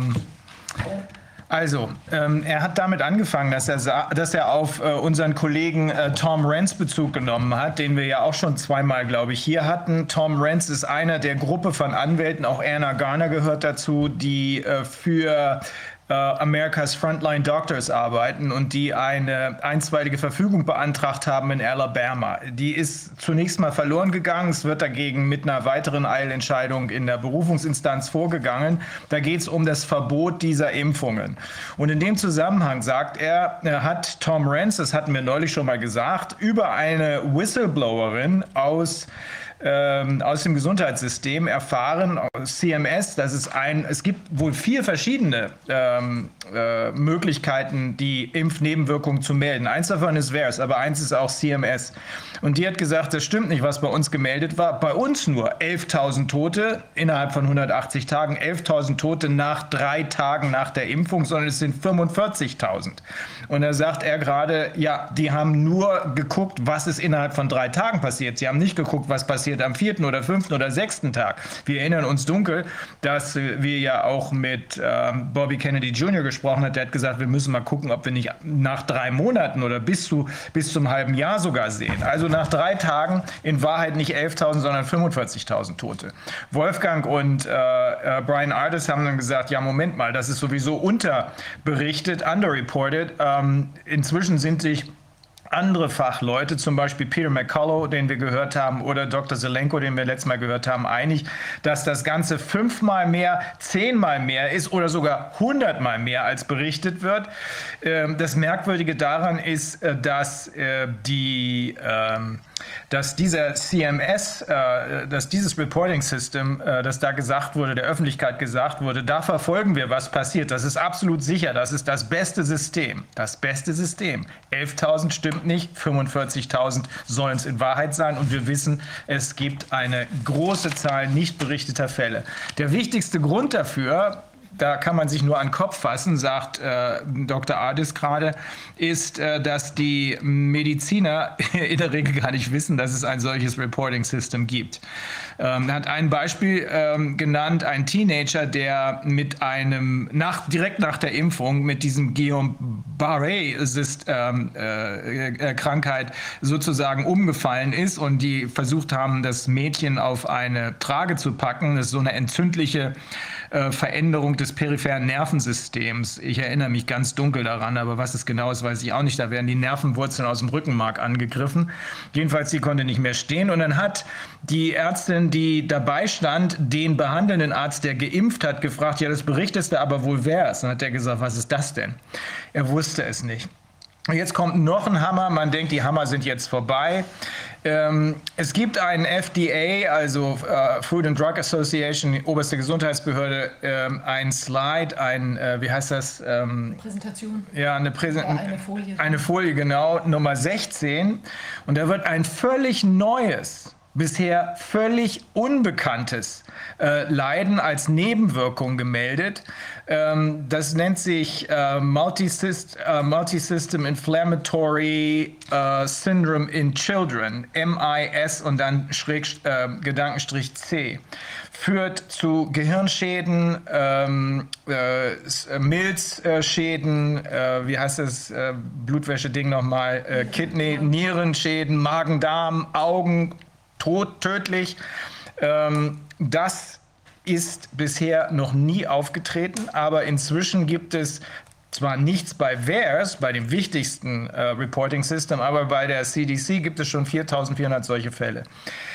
Also, er hat damit angefangen, dass er auf unseren Kollegen Tom Renz Bezug genommen hat, den wir ja auch schon zweimal, glaube ich, hier hatten. Tom Renz ist einer der Gruppe von Anwälten, auch Anna Garner gehört dazu, die für America's Frontline Doctors arbeiten und die eine einstweilige Verfügung beantragt haben in Alabama. Die ist zunächst mal verloren gegangen. Es wird dagegen mit einer weiteren Eilentscheidung in der Berufungsinstanz vorgegangen. Da geht es um das Verbot dieser Impfungen. Und in dem Zusammenhang sagt hat Tom Renz, das hatten wir neulich schon mal gesagt, über eine Whistleblowerin aus dem Gesundheitssystem erfahren, CMS, es gibt wohl 4 verschiedene Möglichkeiten, die Impfnebenwirkungen zu melden. Eins davon ist VAERS, aber eins ist auch CMS. Und die hat gesagt, das stimmt nicht, was bei uns gemeldet war. Bei uns nur 11.000 Tote innerhalb von 180 Tagen, 11.000 Tote nach 3 Tagen nach der Impfung, sondern es sind 45.000. Und da sagt er gerade, ja, die haben nur geguckt, was ist innerhalb von 3 Tagen passiert. Sie haben nicht geguckt, was passiert am 4. oder 5. oder 6. Tag. Wir erinnern uns dunkel, dass wir ja auch mit Bobby Kennedy Jr. gesprochen haben. Der hat gesagt, wir müssen mal gucken, ob wir nicht nach 3 Monaten oder bis zum halben Jahr sogar sehen. Also nach 3 Tagen in Wahrheit nicht 11.000, sondern 45.000 Tote. Wolfgang und Brian Ardis haben dann gesagt, ja, Moment mal, das ist sowieso unterberichtet, underreported. Inzwischen sind sich andere Fachleute, zum Beispiel Peter McCullough, den wir gehört haben, oder Dr. Zelenko, den wir letztes Mal gehört haben, einig, dass das Ganze 5-mal mehr, 10-mal mehr ist oder sogar 100-mal mehr als berichtet wird. Das Merkwürdige daran ist, dass dieser CMS, dass dieses Reporting System, das da gesagt wurde, der Öffentlichkeit gesagt wurde, da verfolgen wir, was passiert. Das ist absolut sicher. Das ist das beste System. Das beste System. 11.000 stimmt nicht, 45.000 sollen es in Wahrheit sein. Und wir wissen, es gibt eine große Zahl nicht berichteter Fälle. Der wichtigste Grund dafür, da kann man sich nur an den Kopf fassen, sagt Dr. Ardis gerade, ist, dass die Mediziner in der Regel gar nicht wissen, dass es ein solches Reporting-System gibt. Er hat ein Beispiel genannt, ein Teenager, der mit direkt nach der Impfung mit diesem Guillain-Barré-Krankheit sozusagen umgefallen ist und die versucht haben, das Mädchen auf eine Trage zu packen. Das ist so eine entzündliche Veränderung des peripheren Nervensystems. Ich erinnere mich ganz dunkel daran, aber was es genau ist, weiß ich auch nicht. Da werden die Nervenwurzeln aus dem Rückenmark angegriffen. Jedenfalls, sie konnte nicht mehr stehen. Und dann hat die Ärztin, die dabei stand, den behandelnden Arzt, der geimpft hat, gefragt, ja, das berichtest du aber wohl wer es. Dann hat er gesagt, was ist das denn? Er wusste es nicht. Jetzt kommt noch ein Hammer. Man denkt, die Hammer sind jetzt vorbei. Es gibt einen FDA, also Food and Drug Association, die oberste Gesundheitsbehörde, ein Slide, wie heißt das? Präsentation. Ja, eine Folie. Eine Folie, genau, Nummer 16. Und da wird ein völlig neues, bisher völlig unbekanntes Leiden als Nebenwirkung gemeldet. Das nennt sich Multisystem Inflammatory Syndrome in Children, MIS und dann Gedankenstrich C. Führt zu Gehirnschäden, Milzschäden, wie heißt das Blutwäsche-Ding nochmal, Kidney, Nierenschäden, Magen-Darm, Augen, tödlich. Das ist bisher noch nie aufgetreten, aber inzwischen gibt es zwar nichts bei VAERS, bei dem wichtigsten Reporting System, aber bei der CDC gibt es schon 4.400 solche Fälle.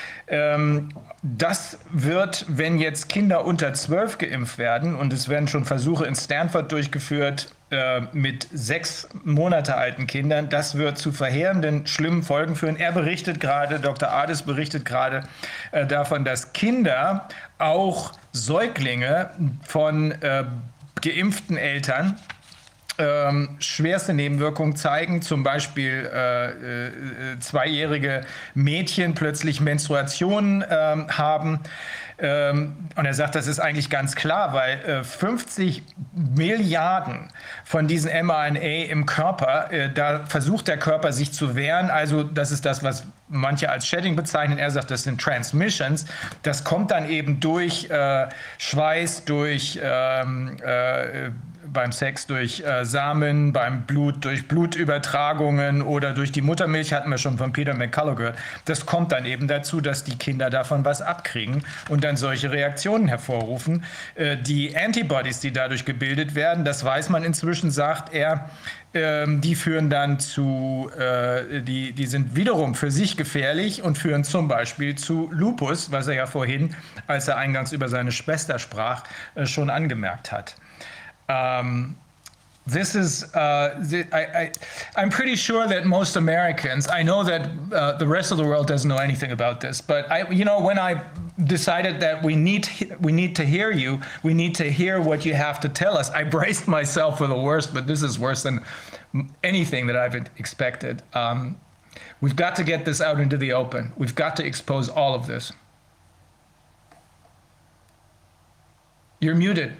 Das wird, wenn jetzt Kinder unter 12 geimpft werden, und es werden schon Versuche in Stanford durchgeführt mit 6 Monate alten Kindern, das wird zu verheerenden, schlimmen Folgen führen. Er berichtet gerade, Dr. Ades berichtet gerade davon, dass Kinder, auch Säuglinge von geimpften Eltern, schwerste Nebenwirkungen zeigen, zum Beispiel zweijährige Mädchen plötzlich Menstruationen haben. Und er sagt, das ist eigentlich ganz klar, weil 50 Milliarden von diesen mRNA im Körper, da versucht der Körper sich zu wehren. Also das ist das, was manche als Shedding bezeichnen. Er sagt, das sind Transmissions. Das kommt dann eben durch Schweiß, durch beim Sex durch Samen, beim Blut durch Blutübertragungen oder durch die Muttermilch, hatten wir schon von Peter McCullough gehört. Das kommt dann eben dazu, dass die Kinder davon was abkriegen und dann solche Reaktionen hervorrufen. Die Antibodies, die dadurch gebildet werden, das weiß man inzwischen, sagt er, die führen dann zu, die sind wiederum für sich gefährlich und führen zum Beispiel zu Lupus, was er ja vorhin, als er eingangs über seine Schwester sprach, schon angemerkt hat. This is, I'm pretty sure that most Americans, I know that the rest of the world doesn't know anything about this, but when I decided that we need to hear you, we need to hear what you have to tell us, I braced myself for the worst, but this is worse than anything that I've expected. We've got to get this out into the open. We've got to expose all of this. You're muted.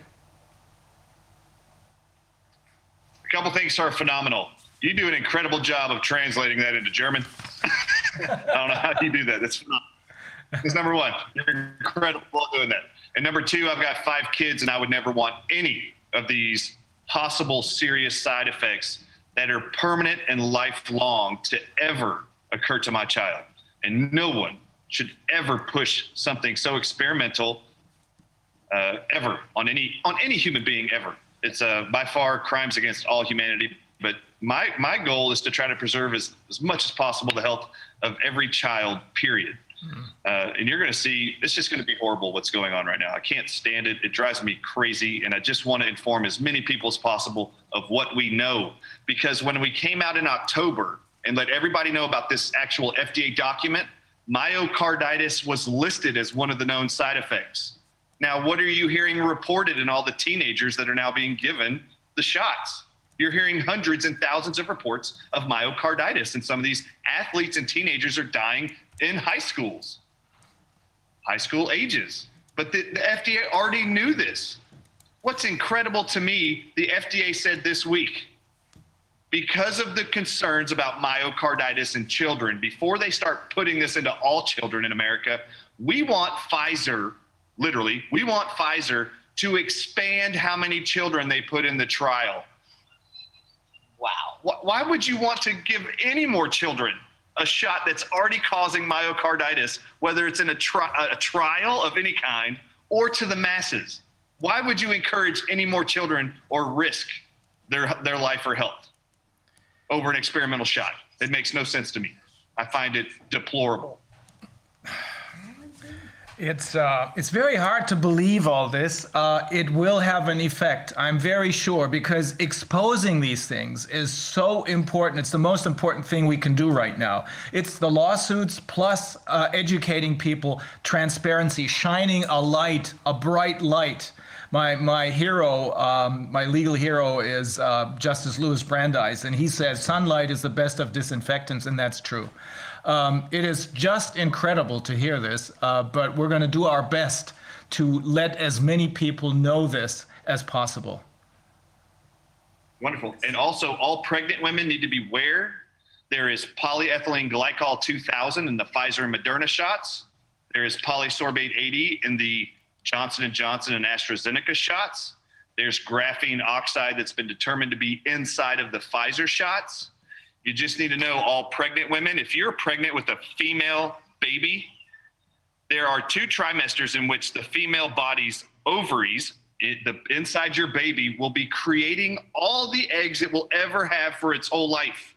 A couple things are phenomenal. You do an incredible job of translating that into German. I don't know how you do that. That's phenomenal. That's number one. You're incredible at doing that. And number two, I've got 5 kids, and I would never want any of these possible serious side effects that are permanent and lifelong to ever occur to my child. And no one should ever push something so experimental ever on any human being ever. It's by far crimes against all humanity. But my goal is to try to preserve as much as possible the health of every child, period. And you're going to see, it's just going to be horrible what's going on right now. I can't stand it. It drives me crazy. And I just want to inform as many people as possible of what we know. Because when we came out in October and let everybody know about this actual FDA document, myocarditis was listed as one of the known side effects. Now, what are you hearing reported in all the teenagers that are now being given the shots? You're hearing hundreds and thousands of reports of myocarditis, and some of these athletes and teenagers are dying in high school ages. But the FDA already knew this. What's incredible to me, the FDA said this week, because of the concerns about myocarditis in children, before they start putting this into all children in America, we want Pfizer, literally, we want Pfizer to expand how many children they put in the trial. Wow. Why would you want to give any more children a shot that's already causing myocarditis, whether it's in a trial of any kind or to the masses? Why would you encourage any more children or risk their life or health over an experimental shot? It makes no sense to me. I find it deplorable. It's very hard to believe all this. It will have an effect, I'm very sure, because exposing these things is so important. It's the most important thing we can do right now. It's the lawsuits plus educating people, transparency, shining a light, a bright light. My hero, my legal hero is Justice Louis Brandeis, and he says sunlight is the best of disinfectants, and that's true. It is just incredible to hear this, but we're going to do our best to let as many people know this as possible. Wonderful. And also, all pregnant women need to beware. There is polyethylene glycol 2000 in the Pfizer and Moderna shots. There is polysorbate 80 in the Johnson & Johnson and AstraZeneca shots. There's graphene oxide that's been determined to be inside of the Pfizer shots. You just need to know, all pregnant women, if you're pregnant with a female baby, there are 2 trimesters in which the female body's ovaries, inside your baby, will be creating all the eggs it will ever have for its whole life.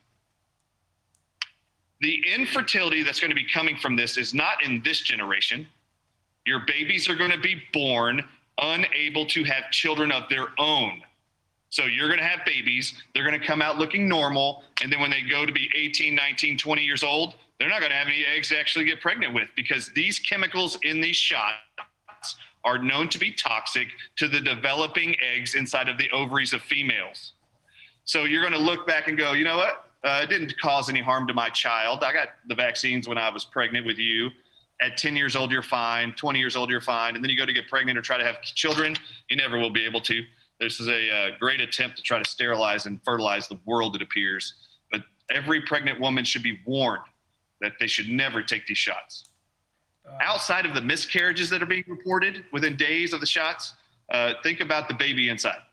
The infertility that's going to be coming from this is not in this generation. Your babies are going to be born unable to have children of their own. So you're going to have babies, they're going to come out looking normal, and then when they go to be 18, 19, 20 years old, they're not going to have any eggs to actually get pregnant with, because these chemicals in these shots are known to be toxic to the developing eggs inside of the ovaries of females. So you're going to look back and go, you know what? It didn't cause any harm to my child. I got the vaccines when I was pregnant with you. At 10 years old, you're fine. 20 years old, you're fine. And then you go to get pregnant or try to have children, you never will be able to. This is a great attempt to try to sterilize and fertilize the world, it appears. But every pregnant woman should be warned that they should never take these shots. Outside of the miscarriages that are being reported within days of the shots, think about the baby inside.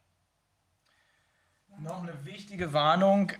Noch eine wichtige Warnung.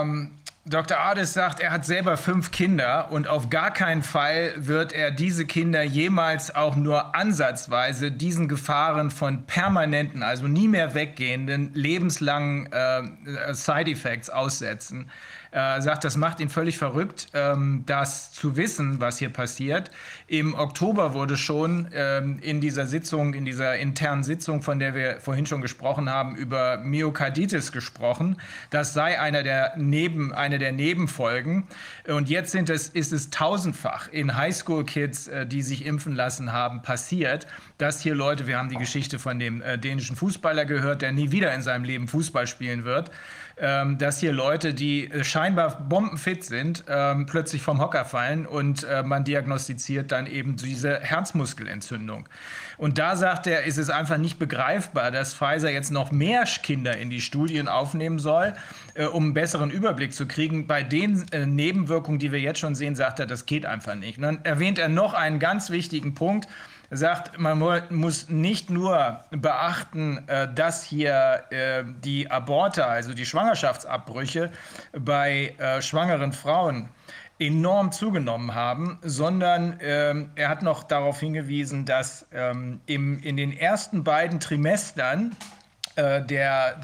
Dr. Ades sagt, er hat selber 5 Kinder und auf gar keinen Fall wird er diese Kinder jemals auch nur ansatzweise diesen Gefahren von permanenten, also nie mehr weggehenden, lebenslangen Side-Effects aussetzen. Er sagt, das macht ihn völlig verrückt, das zu wissen, was hier passiert. Im Oktober wurde schon in dieser Sitzung, in dieser internen Sitzung, von der wir vorhin schon gesprochen haben, über Myokarditis gesprochen. Das sei eine der Nebenfolgen. Und jetzt ist es tausendfach in Highschool-Kids, die sich impfen lassen haben, passiert, dass hier Leute, wir haben die Geschichte von dem dänischen Fußballer gehört, der nie wieder in seinem Leben Fußball spielen wird, dass hier Leute, die scheinbar bombenfit sind, plötzlich vom Hocker fallen und man diagnostiziert dann eben diese Herzmuskelentzündung. Und da sagt er, ist es einfach nicht begreifbar, dass Pfizer jetzt noch mehr Kinder in die Studien aufnehmen soll, um einen besseren Überblick zu kriegen. Bei den Nebenwirkungen, die wir jetzt schon sehen, sagt er, das geht einfach nicht. Und dann erwähnt er noch einen ganz wichtigen Punkt. Er sagt, man muss nicht nur beachten, dass hier die Aborte, also die Schwangerschaftsabbrüche bei schwangeren Frauen enorm zugenommen haben, sondern er hat noch darauf hingewiesen, dass in den ersten beiden Trimestern der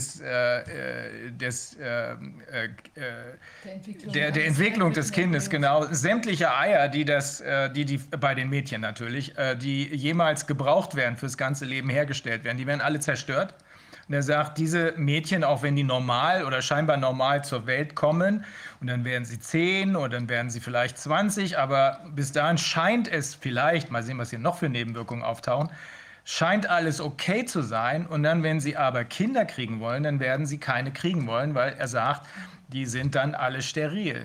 Entwicklung des Kindes, genau, sämtliche Eier, die bei den Mädchen natürlich, die jemals gebraucht werden fürs ganze Leben hergestellt werden, die werden alle zerstört. Und er sagt, diese Mädchen, auch wenn die normal oder scheinbar normal zur Welt kommen, und dann werden sie 10 oder dann werden sie vielleicht 20, aber bis dahin scheint es vielleicht, mal sehen, was hier noch für Nebenwirkungen auftauchen, scheint alles okay zu sein. Und dann, wenn sie aber Kinder kriegen wollen, dann werden sie keine kriegen wollen, weil er sagt, die sind dann alle steril.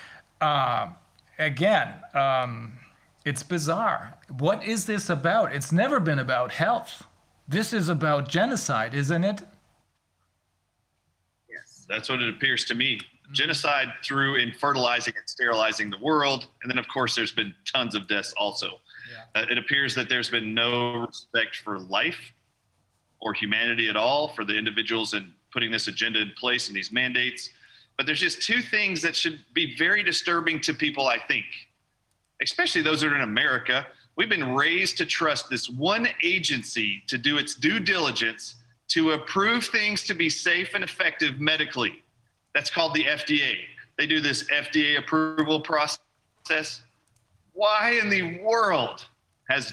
Again, it's bizarre. What is this about? It's never been about health. This is about genocide, isn't it? Yes, that's what it appears to me. Genocide through infertilizing and sterilizing the world. And then, of course, there's been tons of deaths also. Yeah. It appears that there's been no respect for life or humanity at all for the individuals in putting this agenda in place and these mandates. But there's just 2 things that should be very disturbing to people, I think, especially those that are in America, We've been raised to trust this one agency to do its due diligence to approve things to be safe and effective medically. That's called the FDA. They do this FDA approval process. Why in the world has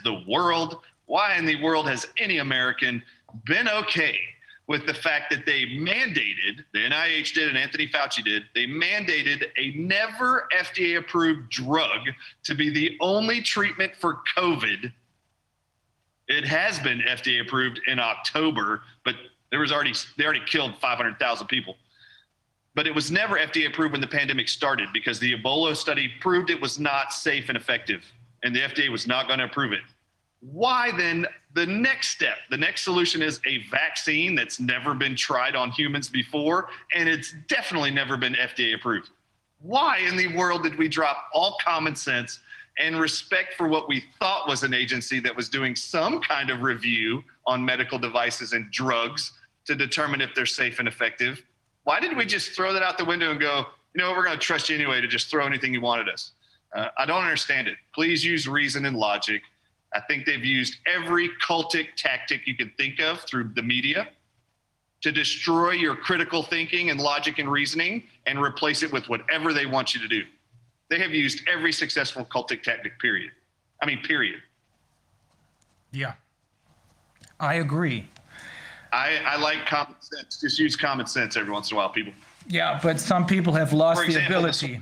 any American been okay with the fact that they mandated, the NIH did and Anthony Fauci did, they mandated a never FDA approved drug to be the only treatment for COVID. It has been FDA approved in October, but they already killed 500,000 people. But it was never FDA approved when the pandemic started because the Ebola study proved it was not safe and effective, and the FDA was not going to approve it. Why then the next step, the next solution is a vaccine that's never been tried on humans before, and it's definitely never been FDA approved. Why in the world did we drop all common sense and respect for what we thought was an agency that was doing some kind of review on medical devices and drugs to determine if they're safe and effective? Why didn't we just throw that out the window and go, you know, we're going to trust you anyway to just throw anything you wanted us? I don't understand it. Please use reason and logic. I think they've used every cultic tactic you can think of through the media to destroy your critical thinking and logic and reasoning and replace it with whatever they want you to do. They have used every successful cultic tactic, period. Yeah, I agree. I like common sense. Just use common sense every once in a while, people. Yeah, but some people have lost the ability.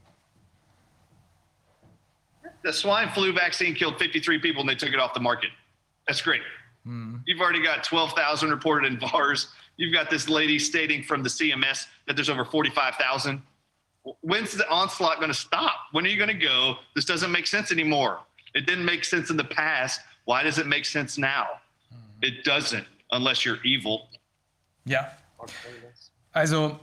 The swine flu vaccine killed 53 people and they took it off the market. That's great. You've already got 12,000 reported in VARs. You've got this lady stating from the CMS that there's over 45,000. When's the onslaught going to stop? When are you going to go, this doesn't make sense anymore? It didn't make sense in the past. Why does it make sense now? It doesn't, unless you're evil. Ja. Also,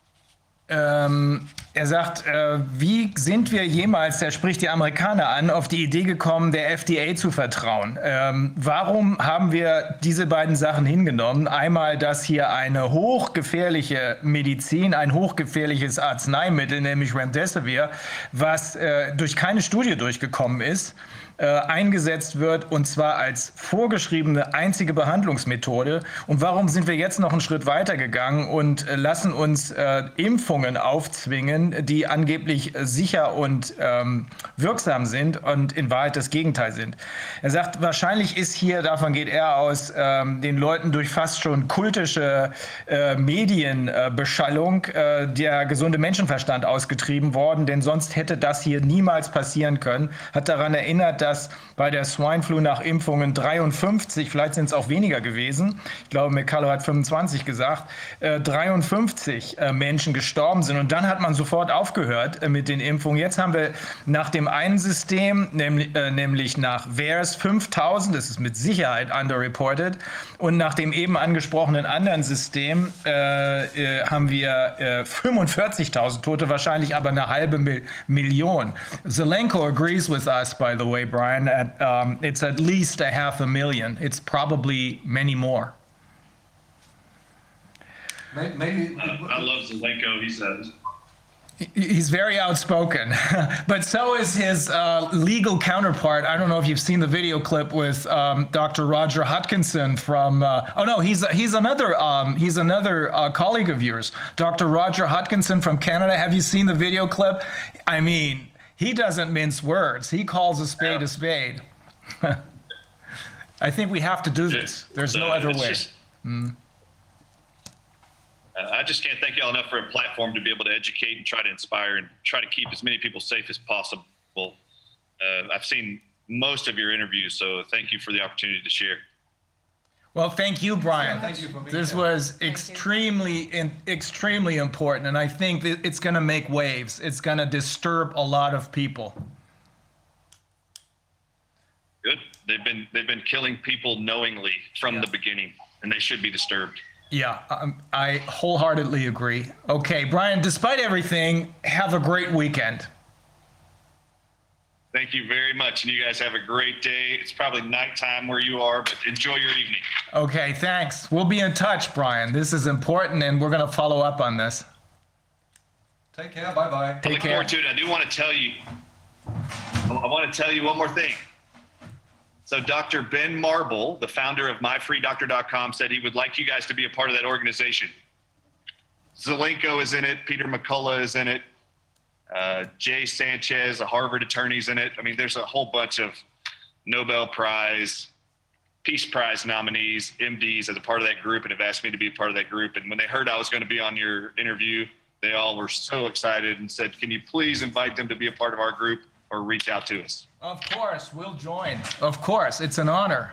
er sagt, wie sind wir jemals, er spricht die Amerikaner an, auf die Idee gekommen, der FDA zu vertrauen? Warum haben wir diese beiden Sachen hingenommen? Einmal, dass hier eine hochgefährliche Medizin, ein hochgefährliches Arzneimittel, nämlich Remdesivir, was durch keine Studie durchgekommen ist, eingesetzt wird, und zwar als vorgeschriebene einzige Behandlungsmethode. Und warum sind wir jetzt noch einen Schritt weiter gegangen und lassen uns Impfungen aufzwingen, die angeblich sicher und wirksam sind und in Wahrheit das Gegenteil sind? Er sagt, wahrscheinlich ist hier, davon geht er aus, den Leuten durch fast schon kultische Medienbeschallung der gesunde Menschenverstand ausgetrieben worden, denn sonst hätte das hier niemals passieren können. Hat daran erinnert, dass bei der Swine Flu nach Impfungen 53, vielleicht sind es auch weniger gewesen, ich glaube, McCullough hat 25 gesagt, 53 Menschen gestorben sind. Und dann hat man sofort aufgehört mit den Impfungen. Jetzt haben wir nach dem einen System, nämlich nach VAERS 5000, das ist mit Sicherheit underreported, und nach dem eben angesprochenen anderen System haben wir 45.000 Tote, wahrscheinlich aber eine halbe Million. Zelenko agrees with us, by the way, Brian. It's at least 500,000. It's probably many more. Maybe I love Zelenko, he says. He's very outspoken, but so is his legal counterpart. I don't know if you've seen the video clip with Dr. Roger Hodkinson from. Oh no, he's another colleague of yours, Dr. Roger Hodkinson from Canada. Have you seen the video clip? I mean, he doesn't mince words. He calls a spade a spade. I think we have to do this. There's no other way. I just can't thank y'all enough for a platform to be able to educate and try to inspire and try to keep as many people safe as possible. I've seen most of your interviews, so thank you for the opportunity to share. Well, thank you, Brian. Yeah, thank you for being This here. was extremely important, and I think that it's going to make waves. It's going to disturb a lot of people. Good. They've been killing people knowingly from the beginning, and they should be disturbed. Yeah, I wholeheartedly agree. Okay, Brian, despite everything, have a great weekend. Thank you very much, and you guys have a great day. It's probably nighttime where you are, but enjoy your evening. Okay, thanks. We'll be in touch, Brian. This is important, and we're going to follow up on this. Take care. Bye-bye. I look forward to it. I do want to tell you, I want to tell you one more thing. So Dr. Ben Marble, the founder of MyFreeDoctor.com, said he would like you guys to be a part of that organization. Zelenko is in it. Peter McCullough is in it. Jay Sanchez, a Harvard attorney, is in it. I mean, there's a whole bunch of Nobel Prize, Peace Prize nominees, MDs, as a part of that group, and have asked me to be a part of that group. And when they heard I was going to be on your interview, they all were so excited and said, can you please invite them to be a part of our group or reach out to us? Of course, we'll join. Of course, it's an honor.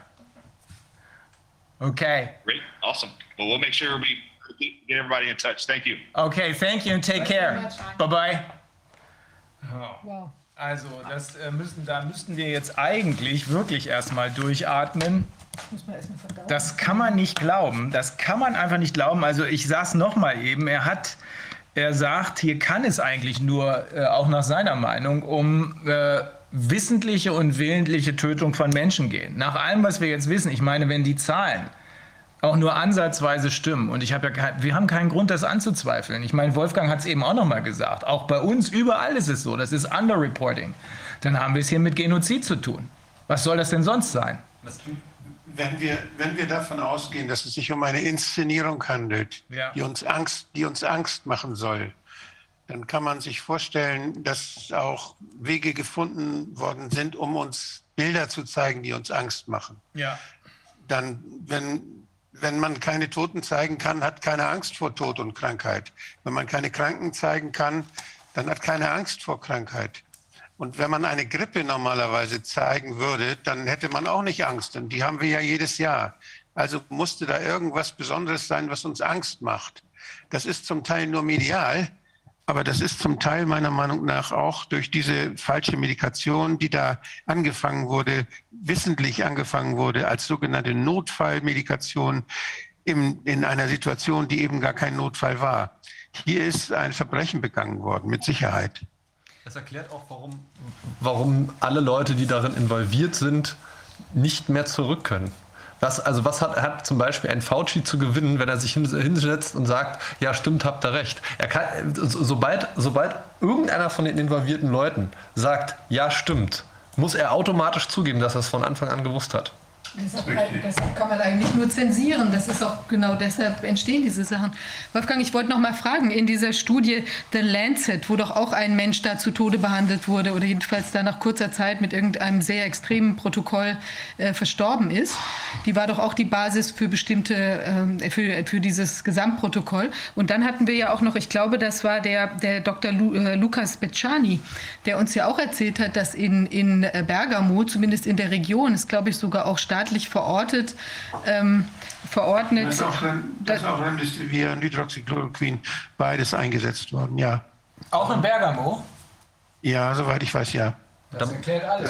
Okay. Great, awesome. Well, we'll make sure we get everybody in touch. Thank you. Okay, thank you and take care. Bye-bye. Oh. Wow. Also, da müssten wir jetzt eigentlich wirklich erstmal durchatmen. Das kann man nicht glauben. Das kann man einfach nicht glauben. Also ich sag's nochmal eben, er sagt, hier kann es eigentlich nur, auch nach seiner Meinung, um wissentliche und willentliche Tötung von Menschen gehen. Nach allem, was wir jetzt wissen, ich meine, wenn die Zahlen auch nur ansatzweise stimmen, und wir haben keinen Grund, das anzuzweifeln. Ich meine, Wolfgang hat es eben auch nochmal gesagt, auch bei uns, überall ist es so, das ist Underreporting. Dann haben wir es hier mit Genozid zu tun. Was soll das denn sonst sein? Wenn wir davon ausgehen, dass es sich um eine Inszenierung handelt, Ja. die uns Angst machen soll, dann kann man sich vorstellen, dass auch Wege gefunden worden sind, um uns Bilder zu zeigen, die uns Angst machen. Ja. Dann, wenn man keine Toten zeigen kann, hat keine Angst vor Tod und Krankheit. Wenn man keine Kranken zeigen kann, dann hat keine Angst vor Krankheit. Und wenn man eine Grippe normalerweise zeigen würde, dann hätte man auch nicht Angst. Und die haben wir ja jedes Jahr. Also musste da irgendwas Besonderes sein, was uns Angst macht. Das ist zum Teil nur medial, aber das ist zum Teil meiner Meinung nach auch durch diese falsche Medikation, die da wissentlich angefangen wurde als sogenannte Notfallmedikation in einer Situation, die eben gar kein Notfall war. Hier ist ein Verbrechen begangen worden, mit Sicherheit. Das erklärt auch, warum alle Leute, die darin involviert sind, nicht mehr zurück können. Was hat zum Beispiel ein Fauci zu gewinnen, wenn er sich hinsetzt und sagt, ja stimmt, habt ihr recht. Sobald irgendeiner von den involvierten Leuten sagt, ja stimmt, muss er automatisch zugeben, dass er es von Anfang an gewusst hat. Deshalb kann man eigentlich nur zensieren. Das ist auch genau deshalb entstehen diese Sachen. Wolfgang, ich wollte noch mal fragen, in dieser Studie The Lancet, wo doch auch ein Mensch da zu Tode behandelt wurde oder jedenfalls da nach kurzer Zeit mit irgendeinem sehr extremen Protokoll verstorben ist, die war doch auch die Basis für bestimmte, für dieses Gesamtprotokoll. Und dann hatten wir ja auch noch, ich glaube, das war der Dr. Lukas Becciani, der uns ja auch erzählt hat, dass in Bergamo, zumindest in der Region, ist glaube ich sogar auch staatlich verordnet. Das ist auch Remdesivir und Hydroxychloroquin, beides eingesetzt worden, ja. Auch in Bergamo? Ja, soweit ich weiß, ja. Das erklärt alles.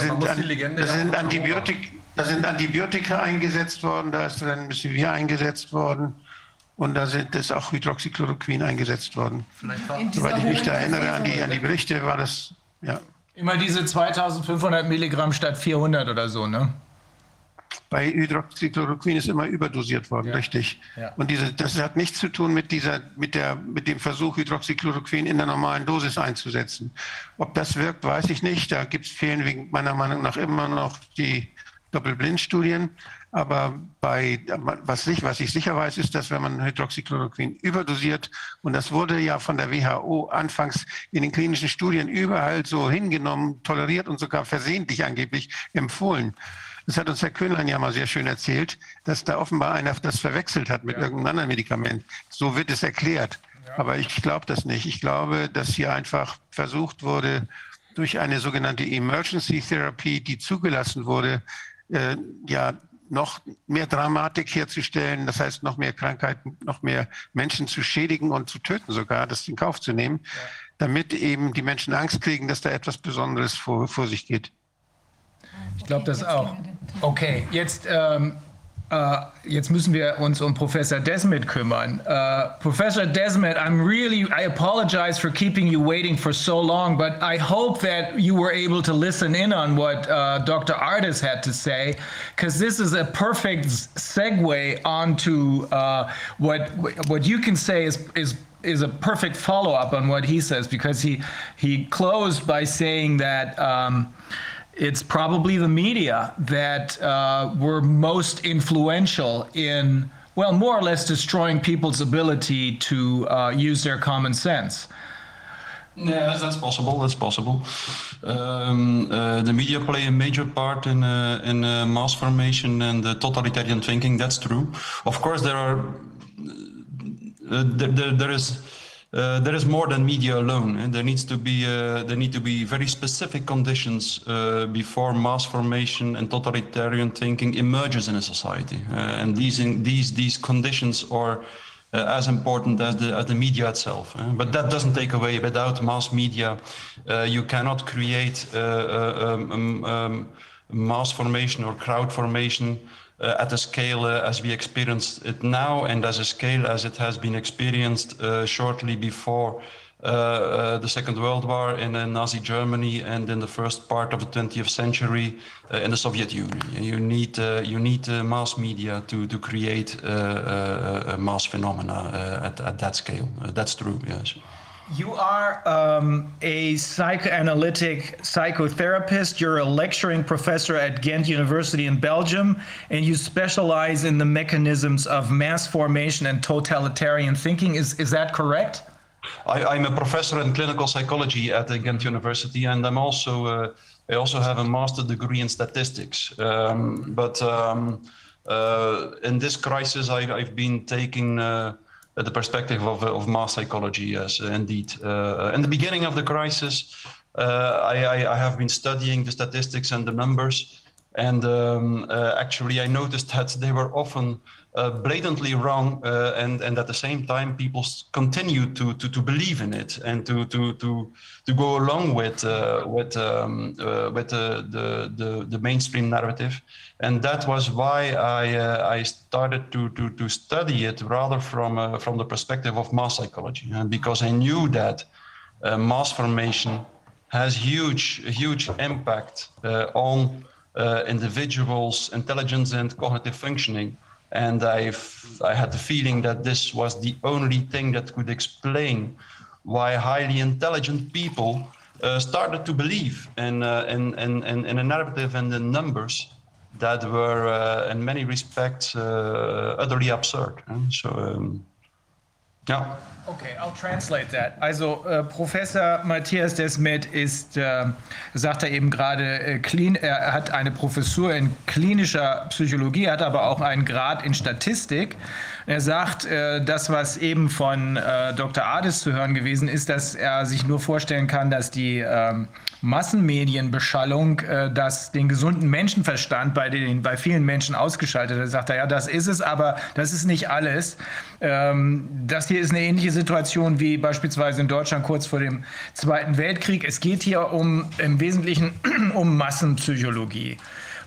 Da sind Antibiotika eingesetzt worden, da ist Remdesivir eingesetzt worden und da ist auch Hydroxychloroquin eingesetzt worden. Soweit ich mich da erinnere an die Berichte, war das, ja. Immer diese 2500 Milligramm statt 400 oder so, ne? Bei Hydroxychloroquin ist immer überdosiert worden, Ja. richtig. Ja. Und das hat nichts zu tun mit dem Versuch, Hydroxychloroquin in der normalen Dosis einzusetzen. Ob das wirkt, weiß ich nicht. Da fehlen meiner Meinung nach immer noch die Doppelblindstudien. Aber was ich sicher weiß, ist, dass wenn man Hydroxychloroquin überdosiert, und das wurde ja von der WHO anfangs in den klinischen Studien überall so hingenommen, toleriert und sogar versehentlich angeblich empfohlen. Das hat uns Herr Köhnlein ja mal sehr schön erzählt, dass da offenbar einer das verwechselt hat mit irgendeinem anderen Medikament. So wird es erklärt. Ja. Aber ich glaube das nicht. Ich glaube, dass hier einfach versucht wurde, durch eine sogenannte Emergency Therapy, die zugelassen wurde, noch mehr Dramatik herzustellen. Das heißt, noch mehr Krankheiten, noch mehr Menschen zu schädigen und zu töten sogar, das in Kauf zu nehmen, damit eben die Menschen Angst kriegen, dass da etwas Besonderes vor sich geht. Ich glaube das auch. Okay, jetzt müssen wir uns um Professor Desmet kümmern. Professor Desmet, I apologize for keeping you waiting for so long, but I hope that you were able to listen in on what Dr. Ardis had to say, because this is a perfect segue onto what you can say is a perfect follow-up on what he says, because he closed by saying that it's probably the media that were most influential in, well, more or less destroying people's ability to use their common sense. Yes, that's possible. That's possible. The media play a major part in mass formation and totalitarian thinking. That's true. Of course, there is more than media alone, and there need to be very specific conditions before mass formation and totalitarian thinking emerges in a society, and these conditions are as important as the media itself. But that doesn't take away, without mass media, you cannot create mass formation or crowd formation at a scale as we experience it now, and as a scale as it has been experienced shortly before the Second World War in Nazi Germany and in the first part of the 20th century in the Soviet Union. You need mass media to create mass phenomena at that scale. That's true, yes. You are a psychoanalytic psychotherapist. You're a lecturing professor at Ghent University in Belgium, and you specialize in the mechanisms of mass formation and totalitarian thinking. Is that correct? I'm a professor in clinical psychology at the Ghent University, and I also have a master's degree in statistics. But in this crisis, I've been taking the perspective of mass psychology. Yes, indeed. In the beginning of the crisis, I have been studying the statistics and the numbers, and actually I noticed that they were often blatantly wrong, and at the same time people continue to believe in it and to go along with the mainstream narrative, and that was why I started to study it rather from the perspective of mass psychology, and because I knew that mass formation has huge impact on individuals' intelligence and cognitive functioning. And I had the feeling that this was the only thing that could explain why highly intelligent people started to believe in a narrative and in numbers that were in many respects utterly absurd. Ja. Okay, I'll translate that. Also Professor Matthias Desmet ist, sagt er eben gerade, er hat eine Professur in klinischer Psychologie, hat aber auch einen Grad in Statistik. Er sagt, das, was eben von Dr. Ades zu hören gewesen ist, dass er sich nur vorstellen kann, dass die Massenmedienbeschallung den gesunden Menschenverstand bei vielen Menschen ausgeschaltet hat. Er sagt, ja, das ist es, aber das ist nicht alles. Das hier ist eine ähnliche Situation wie beispielsweise in Deutschland kurz vor dem Zweiten Weltkrieg. Es geht hier im Wesentlichen um Massenpsychologie.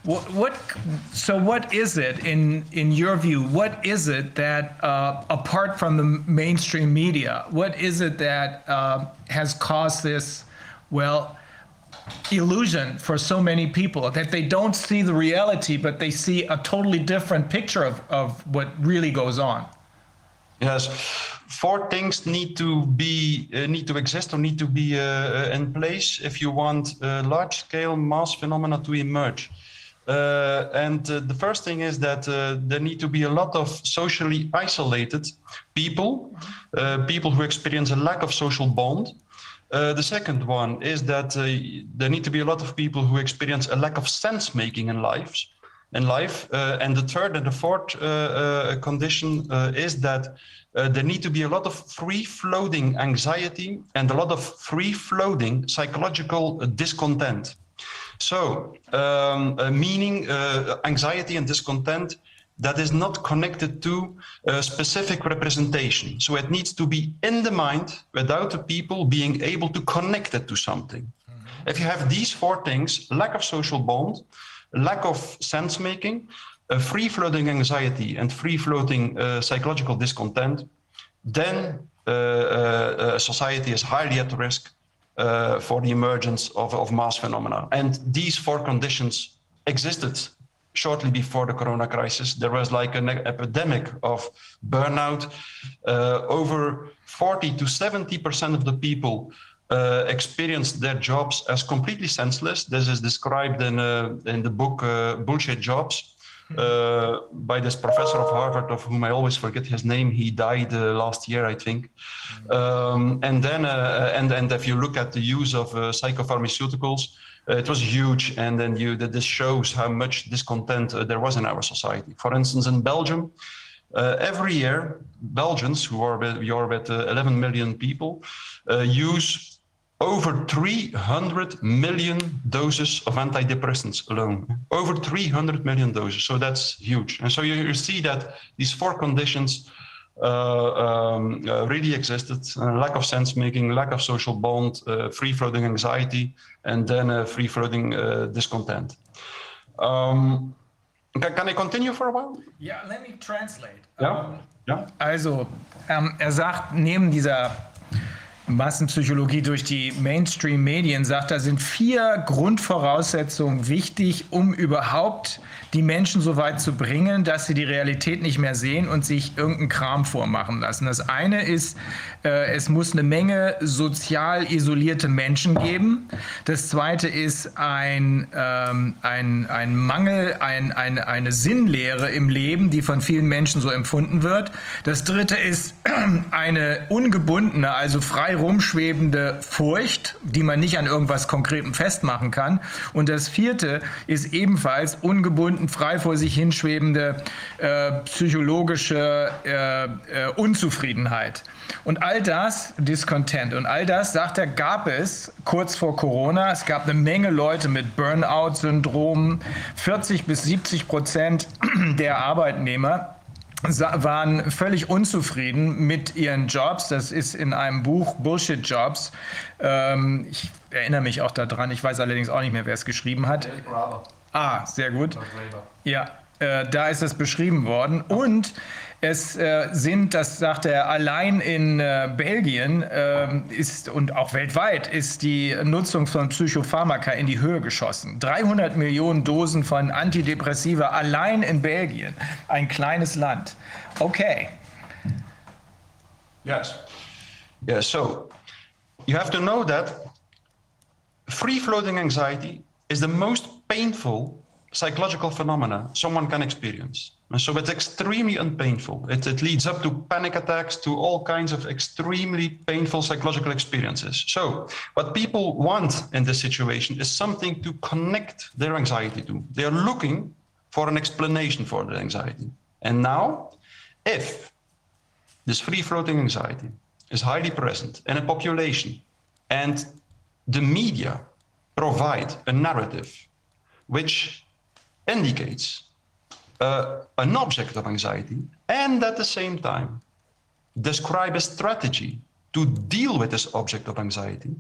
So what is it in your view? What is it that apart from the mainstream media, what is it that has caused this, well, illusion for so many people that they don't see the reality, but they see a totally different picture of what really goes on? Yes, four things need to exist or need to be in place if you want large-scale mass phenomena to emerge. The first thing is that there need to be a lot of socially isolated people, people who experience a lack of social bond. The second one is that there need to be a lot of people who experience a lack of sense-making in life. And the third and the fourth condition is that there need to be a lot of free-floating anxiety and a lot of free-floating psychological discontent. So, meaning anxiety and discontent that is not connected to a specific representation. So it needs to be in the mind without the people being able to connect it to something. Mm-hmm. If you have these four things, lack of social bond, lack of sense-making, free-floating anxiety and free-floating psychological discontent, then society is highly at risk for the emergence of mass phenomena. And these four conditions existed shortly before the corona crisis. There was like an epidemic of burnout. Over 40 to 70% of the people experienced their jobs as completely senseless. This is described in the book Bullshit Jobs by this professor of Harvard, of whom I always forget his name. He died last year, I think. And if you look at the use of psychopharmaceuticals, it was huge, and then this shows how much discontent there was in our society. For instance, in Belgium, every year, Belgians, who are with 11 million people, use over 300 million doses of antidepressants alone. Over 300 million doses, so that's huge. And so you see that these four conditions really existed: lack of sense-making, lack of social bond, free-floating anxiety, and then free-floating discontent. Can I continue for a while? Yeah, let me translate. Ja. Also, sagt, neben dieser Massenpsychologie durch die Mainstream-Medien, sagt, da sind 4 Grundvoraussetzungen wichtig, um überhaupt die Menschen so weit zu bringen, dass sie die Realität nicht mehr sehen und sich irgendeinen Kram vormachen lassen. Das eine ist, es muss eine Menge sozial isolierte Menschen geben. Das zweite ist ein Mangel, eine Sinnlehre im Leben, die von vielen Menschen so empfunden wird. Das dritte ist eine ungebundene, also frei rumschwebende Furcht, die man nicht an irgendwas Konkretem festmachen kann. Und das vierte ist ebenfalls ungebunden, frei vor sich hinschwebende psychologische Unzufriedenheit. Und all das, Discontent, und all das, sagt er, gab es kurz vor Corona. Es gab eine Menge Leute mit Burnout-Syndrom. 40-70% der Arbeitnehmer waren völlig unzufrieden mit ihren Jobs. Das ist in einem Buch Bullshit Jobs. Ich erinnere mich auch daran. Ich weiß allerdings auch nicht mehr, wer es geschrieben hat. Ah, sehr gut. Ja, da ist es beschrieben worden. Und es sind, das sagt er, allein in Belgien ist und auch weltweit ist die Nutzung von Psychopharmaka in die Höhe geschossen. 300 Millionen Dosen von Antidepressiva allein in Belgien. Ein kleines Land. Okay. Yes. Yeah, so you have to know that free-floating anxiety is the most painful psychological phenomena someone can experience. And so it's extremely unpainful. It leads up to panic attacks, to all kinds of extremely painful psychological experiences. So what people want in this situation is something to connect their anxiety to. They are looking for an explanation for their anxiety. And now, if this free-floating anxiety is highly present in a population and the media provide a narrative which indicates an object of anxiety, and at the same time describe a strategy to deal with this object of anxiety,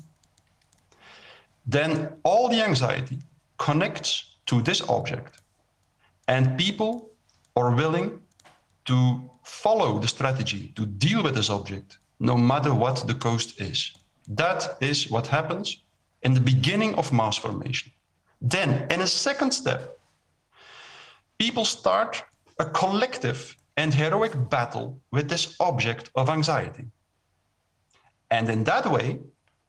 then all the anxiety connects to this object, and people are willing to follow the strategy to deal with this object, no matter what the cost is. That is what happens in the beginning of mass formation. Then, in a second step, people start a collective and heroic battle with this object of anxiety. And in that way,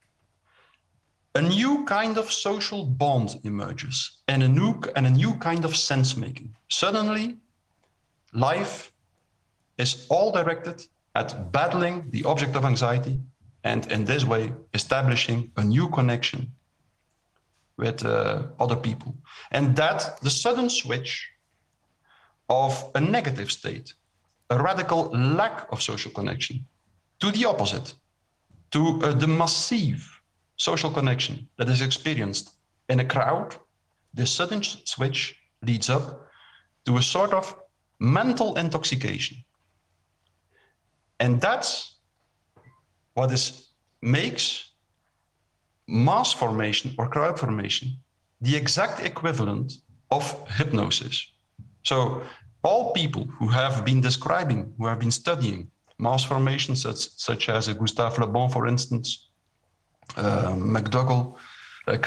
a new kind of social bond emerges and a new kind of sense-making. Suddenly, life is all directed at battling the object of anxiety and in this way establishing a new connection with other people. And that the sudden switch of a negative state, a radical lack of social connection, to the opposite, to the massive social connection that is experienced in a crowd, this sudden switch leads up to a sort of mental intoxication. And that's what makes mass formation or crowd formation the exact equivalent of hypnosis. So all people who have been describing, who have been studying mass formations, such as Gustave Le Bon, for instance, McDougall,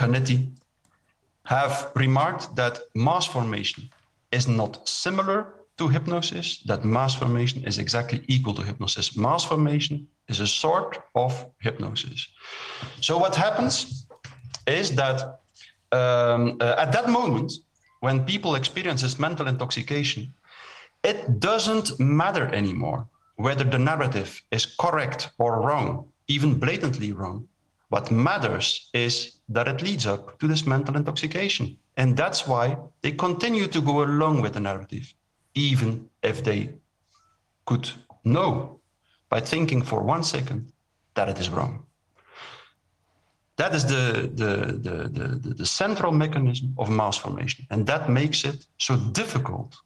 Canetti, have remarked that mass formation is not similar to hypnosis, that mass formation is exactly equal to hypnosis. Mass formation is a sort of hypnosis. So what happens is that at that moment, when people experience this mental intoxication, it doesn't matter anymore whether the narrative is correct or wrong, even blatantly wrong. What matters is that it leads up to this mental intoxication. And that's why they continue to go along with the narrative, even if they could know by thinking for 1 second that it is wrong. That is the central mechanism of mass formation. And that makes it so difficult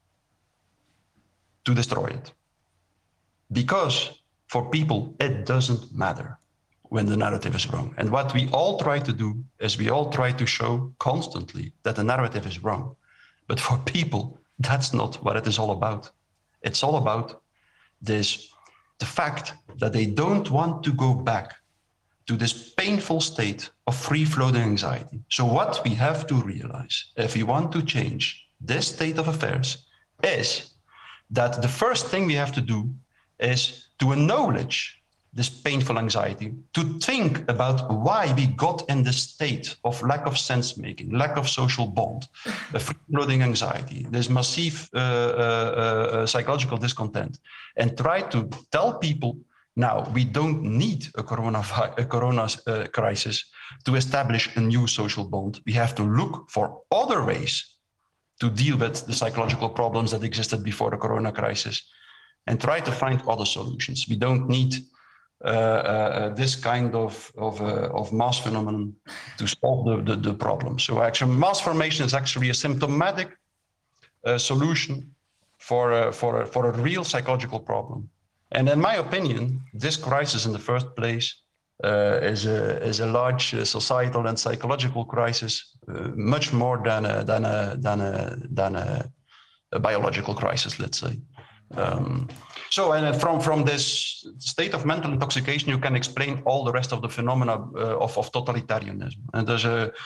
to destroy it. Because for people, it doesn't matter when the narrative is wrong. And what we all try to do is we all try to show constantly that the narrative is wrong. But for people, that's not what it is all about. It's all about the fact that they don't want to go back to this painful state of free-floating anxiety. So what we have to realize, if we want to change this state of affairs, is that the first thing we have to do is to acknowledge this painful anxiety, to think about why we got in this state of lack of sense-making, lack of social bond, free-floating anxiety, this massive psychological discontent, and try to tell people, now, we don't need a corona crisis to establish a new social bond. We have to look for other ways to deal with the psychological problems that existed before the corona crisis and try to find other solutions. We don't need this kind of mass phenomenon to solve the problem. So actually, mass formation is actually a symptomatic solution for a real psychological problem. And in my opinion, this crisis in the first place is a large societal and psychological crisis, much more than a biological crisis, let's say. So, and from this state of mental intoxication, you can explain all the rest of the phenomena of totalitarianism. And there's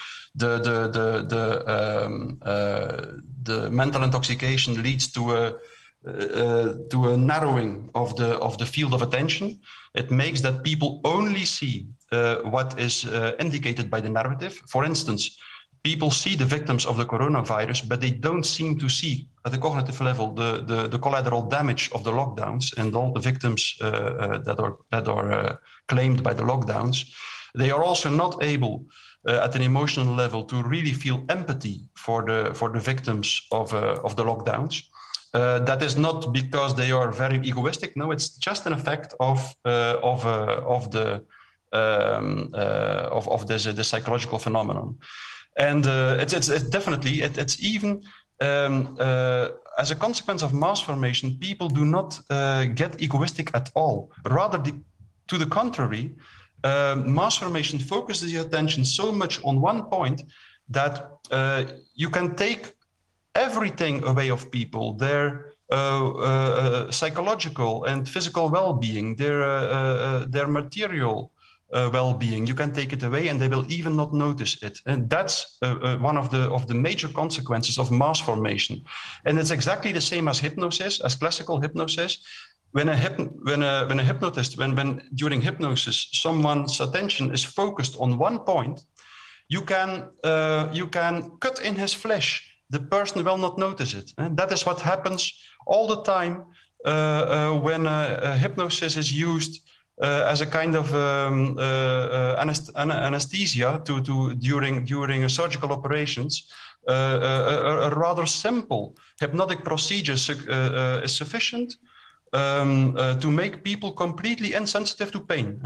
the mental intoxication leads to a narrowing of the field of attention. It makes that people only see what is indicated by the narrative. For instance, people see the victims of the coronavirus, but they don't seem to see at the cognitive level the collateral damage of the lockdowns and all the victims that are claimed by the lockdowns. They are also not able at an emotional level to really feel empathy for the victims of the lockdowns. That is not because they are very egoistic. No, it's just an effect of the psychological phenomenon, and it's definitely even as a consequence of mass formation, people do not get egoistic at all. Rather, to the contrary, mass formation focuses your attention so much on one point that you can take everything away of people, their psychological and physical well-being, their material well-being. You can take it away and they will even not notice it. And that's one of the major consequences of mass formation. And it's exactly the same as hypnosis, as classical hypnosis. When during hypnosis, someone's attention is focused on one point, you can cut in his flesh. The person will not notice it. And that is what happens all the time when hypnosis is used as a kind of anesthesia during surgical operations. A rather simple hypnotic procedure is sufficient to make people completely insensitive to pain.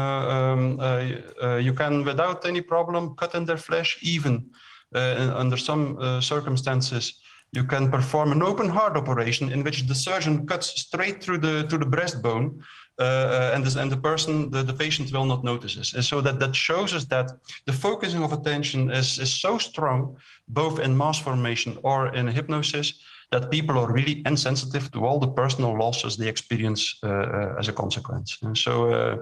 You can, without any problem, cut in their flesh. Even under some circumstances, you can perform an open heart operation in which the surgeon cuts straight through the breastbone, and the patient will not notice this. And so that shows us that the focusing of attention is so strong, both in mass formation or in hypnosis, that people are really insensitive to all the personal losses they experience as a consequence. And so,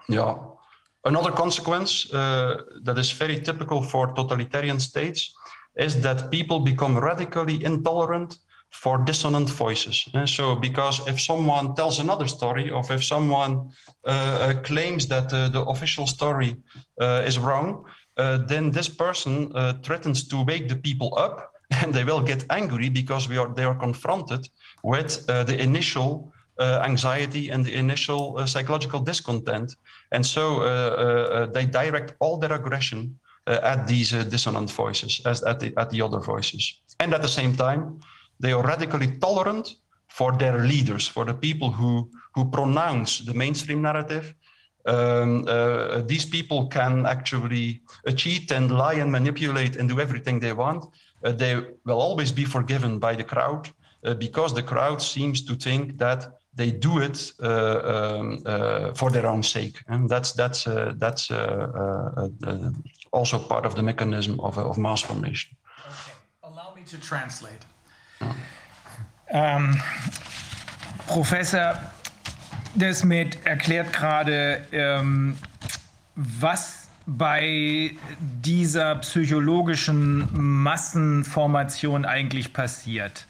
another consequence that is very typical for totalitarian states is that people become radically intolerant for dissonant voices. And so, because if someone tells another story, or if someone claims that the official story is wrong, then this person threatens to wake the people up, and they will get angry because they are confronted with the initial anxiety and the initial psychological discontent. And so they direct all their aggression at these dissonant voices, at the other voices. And at the same time, they are radically tolerant for their leaders, for the people who pronounce the mainstream narrative. These people can actually cheat and lie and manipulate and do everything they want. They will always be forgiven by the crowd because the crowd seems to think that they do it for their own sake, and that's also part of the mechanism of mass formation. Okay. Allow me to translate. Professor Desmet erklärt gerade, was bei dieser psychologischen Massenformation eigentlich passiert.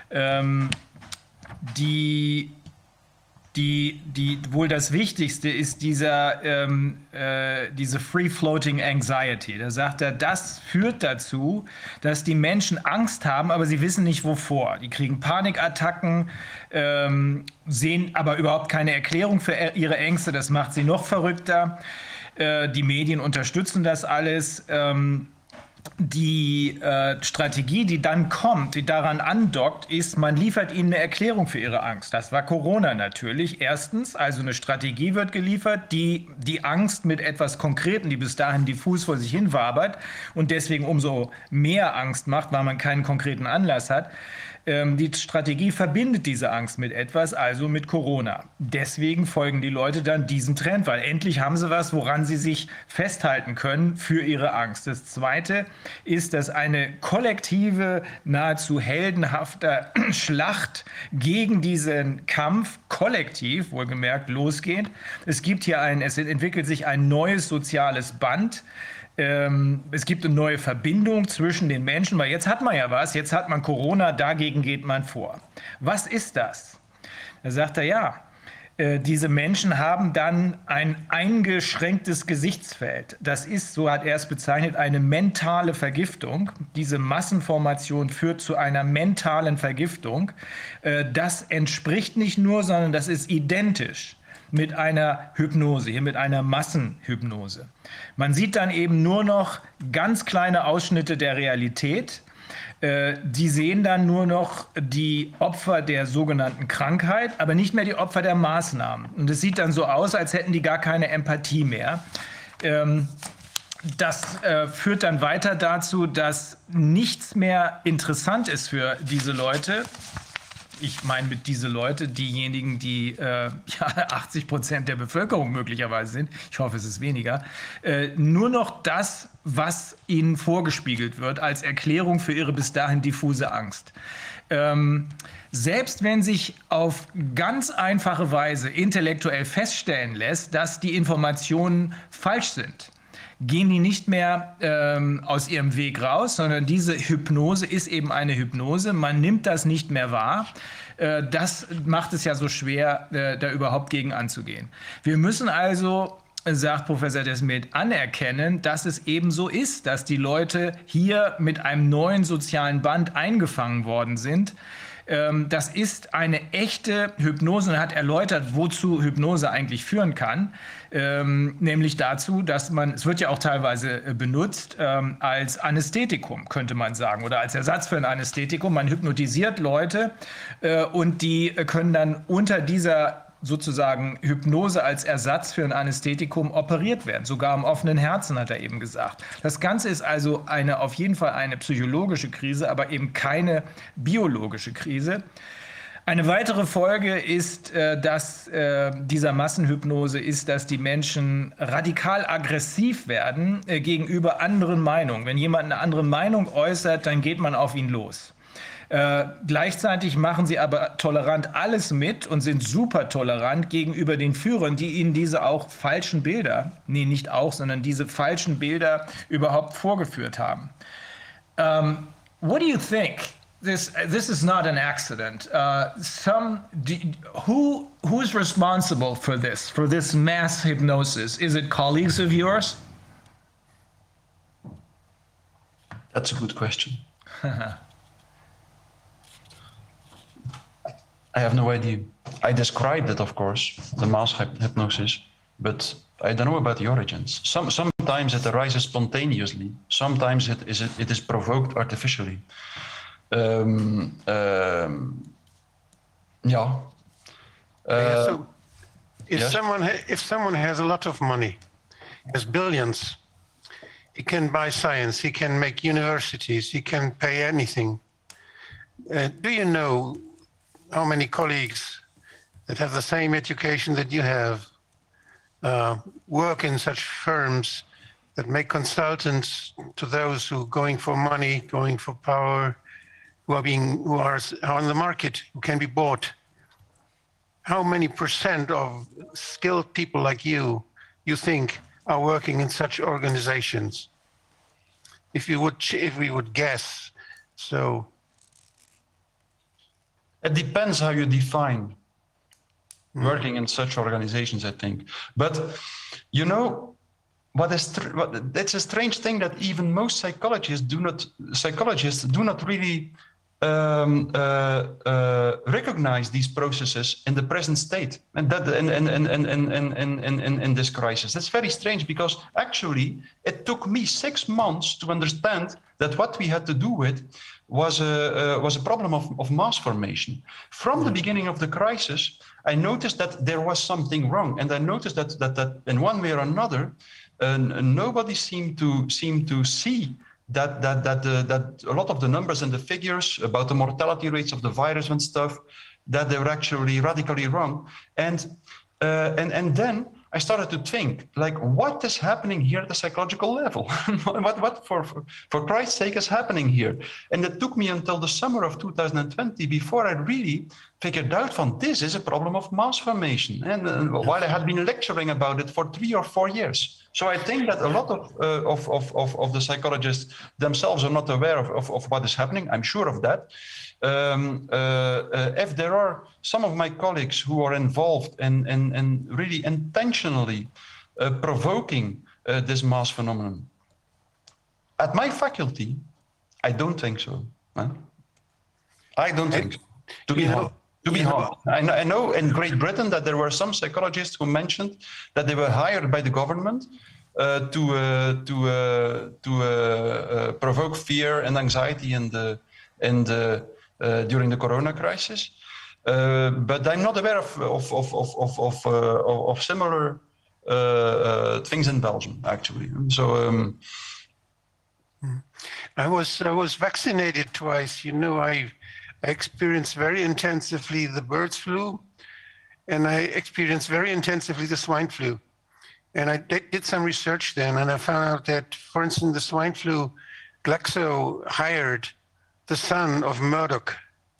Wohl das Wichtigste ist diese Free-Floating Anxiety. Da sagt er, das führt dazu, dass die Menschen Angst haben, aber sie wissen nicht wovor. Die kriegen Panikattacken, sehen aber überhaupt keine Erklärung für ihre Ängste. Das macht sie noch verrückter. Die Medien unterstützen das alles. Die Strategie, die dann kommt, die daran andockt, ist, man liefert ihnen eine Erklärung für ihre Angst. Das war Corona natürlich. Erstens, also eine Strategie wird geliefert, die die Angst mit etwas Konkreten, die bis dahin diffus vor sich hin wabert und deswegen umso mehr Angst macht, weil man keinen konkreten Anlass hat. Die Strategie verbindet diese Angst mit etwas, also mit Corona. Deswegen folgen die Leute dann diesem Trend, weil endlich haben sie was, woran sie sich festhalten können für ihre Angst. Das Zweite ist, dass eine kollektive, nahezu heldenhafte Schlacht gegen diesen Kampf kollektiv, wohlgemerkt, losgeht. Es entwickelt sich ein neues soziales Band. Es gibt eine neue Verbindung zwischen den Menschen, weil jetzt hat man ja was, jetzt hat man Corona, dagegen geht man vor. Was ist das? Da sagt er, ja, diese Menschen haben dann ein eingeschränktes Gesichtsfeld. Das ist, so hat er es bezeichnet, eine mentale Vergiftung. Diese Massenformation führt zu einer mentalen Vergiftung. Das entspricht nicht nur, sondern das ist identisch mit einer Hypnose, hier mit einer Massenhypnose. Man sieht dann eben nur noch ganz kleine Ausschnitte der Realität. Die sehen dann nur noch die Opfer der sogenannten Krankheit, aber nicht mehr die Opfer der Maßnahmen. Und es sieht dann so aus, als hätten die gar keine Empathie mehr. Das führt dann weiter dazu, dass nichts mehr interessant ist für diese Leute. Ich meine mit diese Leute, diejenigen, die 80% der Bevölkerung möglicherweise sind, ich hoffe, es ist weniger, nur noch das, was ihnen vorgespiegelt wird als Erklärung für ihre bis dahin diffuse Angst. Selbst wenn sich auf ganz einfache Weise intellektuell feststellen lässt, dass die Informationen falsch sind, gehen die nicht mehr aus ihrem Weg raus, sondern diese Hypnose ist eben eine Hypnose. Man nimmt das nicht mehr wahr. Das macht es ja so schwer, da überhaupt gegen anzugehen. Wir müssen also, sagt Professor Desmet, anerkennen, dass es eben so ist, dass die Leute hier mit einem neuen sozialen Band eingefangen worden sind. Das ist eine echte Hypnose und er hat erläutert, wozu Hypnose eigentlich führen kann. Nämlich dazu, dass es wird ja auch teilweise benutzt als Anästhetikum, könnte man sagen, oder als Ersatz für ein Anästhetikum. Man hypnotisiert Leute und die können dann unter dieser sozusagen Hypnose als Ersatz für ein Anästhetikum operiert werden, sogar am offenen Herzen, hat er eben gesagt. Das Ganze ist also auf jeden Fall eine psychologische Krise, aber eben keine biologische Krise. Eine weitere Folge ist, dieser Massenhypnose ist, dass die Menschen radikal aggressiv werden gegenüber anderen Meinungen. Wenn jemand eine andere Meinung äußert, dann geht man auf ihn los. Gleichzeitig machen sie aber tolerant alles mit und sind super tolerant gegenüber den Führern, die ihnen diese auch falschen Bilder, nee, nicht auch, sondern diese falschen Bilder überhaupt vorgeführt haben. What do you think? This is not an accident. Who's responsible for this mass hypnosis? Is it colleagues of yours? That's a good question. I have no idea. I described it, of course, the mass hypnosis, but I don't know about the origins. Sometimes it arises spontaneously. Sometimes it is provoked artificially. Yeah. So if yes? someone has a lot of money, has billions, he can buy science, he can make universities, he can pay anything. Do you know how many colleagues that have the same education that you have work in such firms that make consultants to those who are going for money, going for power, who are on the market, who can be bought? How many % of skilled people like you think are working in such organizations? If we would guess, so. It depends how you define working in such organizations, I think. But you know, that's a strange thing that even most psychologists do not really recognize these processes in the present state, and that in this crisis. That's very strange, because actually it took me 6 months to understand that what we had to do with was a problem of mass formation. From the beginning of the crisis, I noticed that there was something wrong, and I noticed that in one way or another, nobody seemed to see that a lot of the numbers and the figures about the mortality rates of the virus and stuff, that they were actually radically wrong. And then I started to think, like, what is happening here at the psychological level? what for Christ's sake is happening here? And it took me until the summer of 2020 before I really figured out from this is a problem of mass formation. And while I had been lecturing about it for 3 or 4 years. So I think that a lot of the psychologists themselves are not aware of what is happening. I'm sure of that. If there are some of my colleagues who are involved in really intentionally provoking this mass phenomenon, at my faculty, I don't think so. Huh? I don't think so. To be honest. I know in Great Britain that there were some psychologists who mentioned that they were hired by the government to provoke fear and anxiety during the corona crisis. But I'm not aware of similar things in Belgium, actually. So I was vaccinated twice. You know, I experienced very intensively the birds flu, and I experienced very intensively the swine flu. And I did some research then, and I found out that, for instance, the swine flu, Glaxo hired the son of Murdoch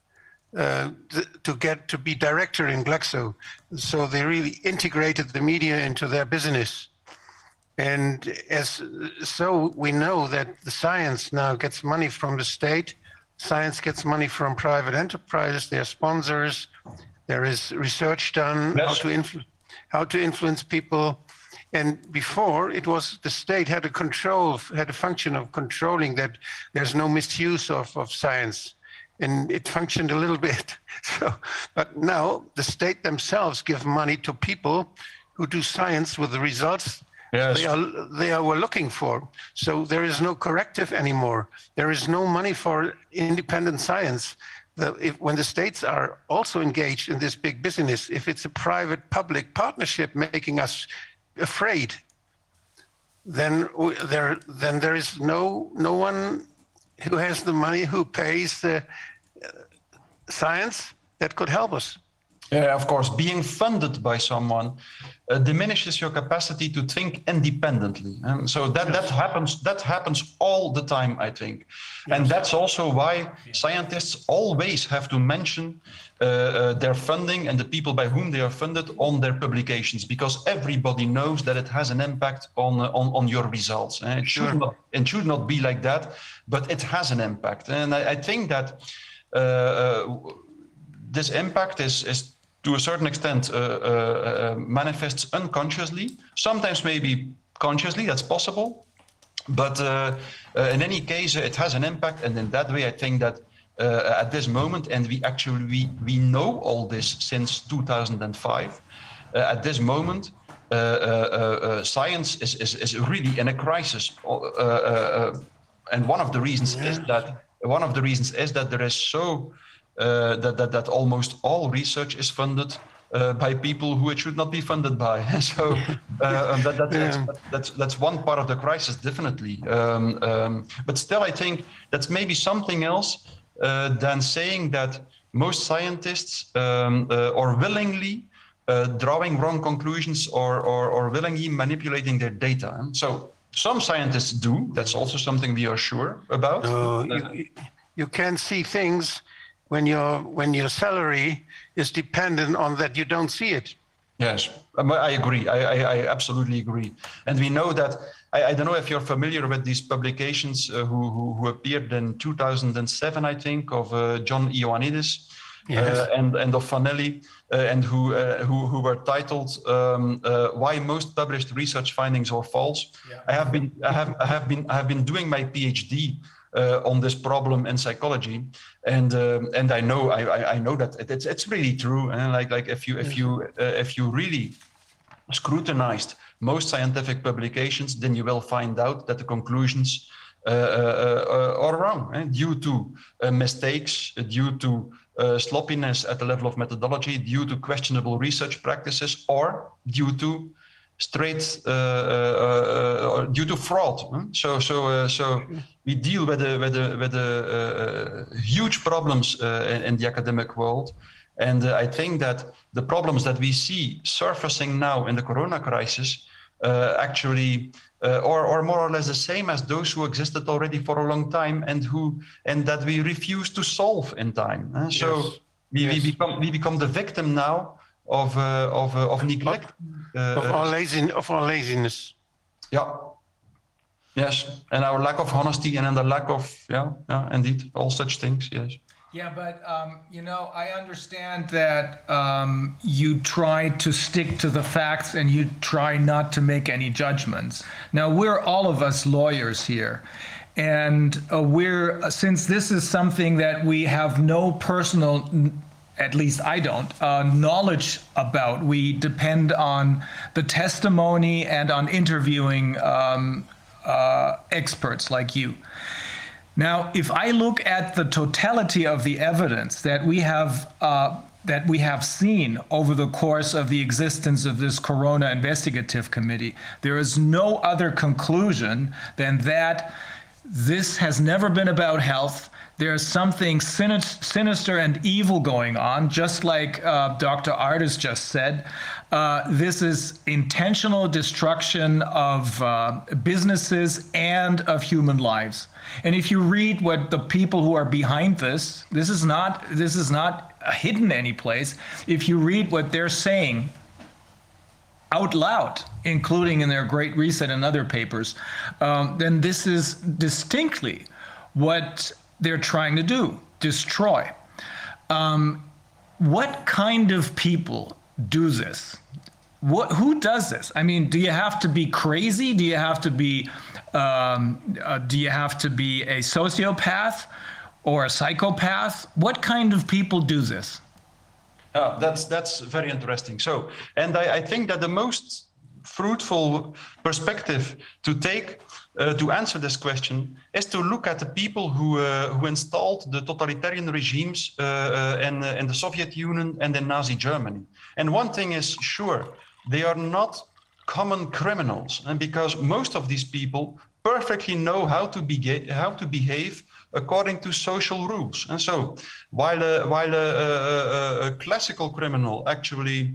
to be director in Glaxo. So they really integrated the media into their business. And so we know that the science now gets money from the state. Science gets money from private enterprises. There are sponsors. There is research done, yes, how to influence people. And before, it was the state had a function of controlling that there's no misuse of science. And it functioned a little bit. So, but now the state themselves give money to people who do science with the results, yes, they were looking for. So there is no corrective anymore. There is no money for independent science. When the states are also engaged in this big business, if it's a private-public partnership making us afraid, then there is no one who has the money, who pays the science that could help us. Yeah, of course, being funded by someone diminishes your capacity to think independently, and so that happens all the time, I think. And that's also why scientists always have to mention their funding and the people by whom they are funded on their publications, because everybody knows that it has an impact on your results. And it should not be like that, but it has an impact. And I think that this impact is to a certain extent manifests unconsciously, sometimes maybe consciously, that's possible. But in any case, it has an impact. And in that way, I think that at this moment, and we know all this since 2005, at this moment, science is really in a crisis. And one of the reasons is that there is so that almost all research is funded by people who it should not be funded by. So that's one part of the crisis, definitely. But still, I think that's maybe something else than saying that most scientists are willingly drawing wrong conclusions or willingly manipulating their data. So some scientists do. That's also something we are sure about. You can see things when your salary is dependent on that, you don't see it. Yes, I agree. I absolutely agree. And we know that, I don't know if you're familiar with these publications who appeared in 2007, I think, of John Ioannidis and of Fanelli, and who were titled "Why Most Published Research Findings Are False." Yeah. I have been doing my PhD on this problem in psychology, and I know that it's really true. And like if you really scrutinized most scientific publications, then you will find out that the conclusions are wrong, due to mistakes, due to sloppiness at the level of methodology, due to questionable research practices, or due to due to fraud. So we deal with huge problems in the academic world, and I think that the problems that we see surfacing now in the Corona crisis actually are more or less the same as those who existed already for a long time and that we refuse to solve in time. So we become the victim now of neglect, of our laziness. Yeah. Yes, and our lack of honesty, and the lack of indeed, all such things. Yes. Yeah, but I understand that you try to stick to the facts and you try not to make any judgments. Now, we're all of us lawyers here, and since this is something that we have no personal, at least I don't, knowledge about, we depend on the testimony and on interviewing experts like you. Now, if I look at the totality of the evidence that we have seen over the course of the existence of this Corona Investigative Committee, there is no other conclusion than that this has never been about health. There's something sinister and evil going on, just like Dr. Ardis just said. This is intentional destruction of businesses and of human lives. And if you read what the people who are behind this is not hidden any place. If you read what they're saying out loud, including in their Great Reset and other papers, then this is distinctly what they're trying to do, destroy. What kind of people do this? Who does this? I mean, do you have to be crazy? Do you have to be a sociopath or a psychopath? What kind of people do this? That's very interesting. So, and I think that the most fruitful perspective to take to answer this question is to look at the people who installed the totalitarian regimes in the Soviet Union and in Nazi Germany. And one thing is sure, they are not common criminals, and because most of these people perfectly know how to behave according to social rules. And so, while a classical criminal actually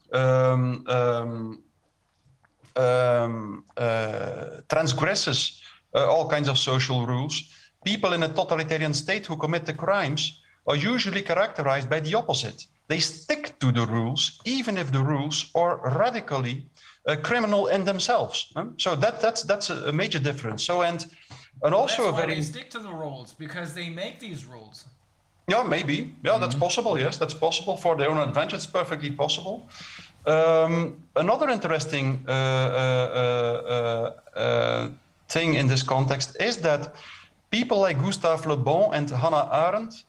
transgresses all kinds of social rules, people in a totalitarian state who commit the crimes are usually characterized by the opposite. They stick to the rules, even if the rules are radically criminal in themselves. So that's a major difference. So and also that's why they stick to the rules, because they make these rules. Yeah, maybe. Yeah, that's possible. Yes, that's possible for their own advantage. It's perfectly possible. Another interesting thing in this context is that people like Gustave Le Bon and Hannah Arendt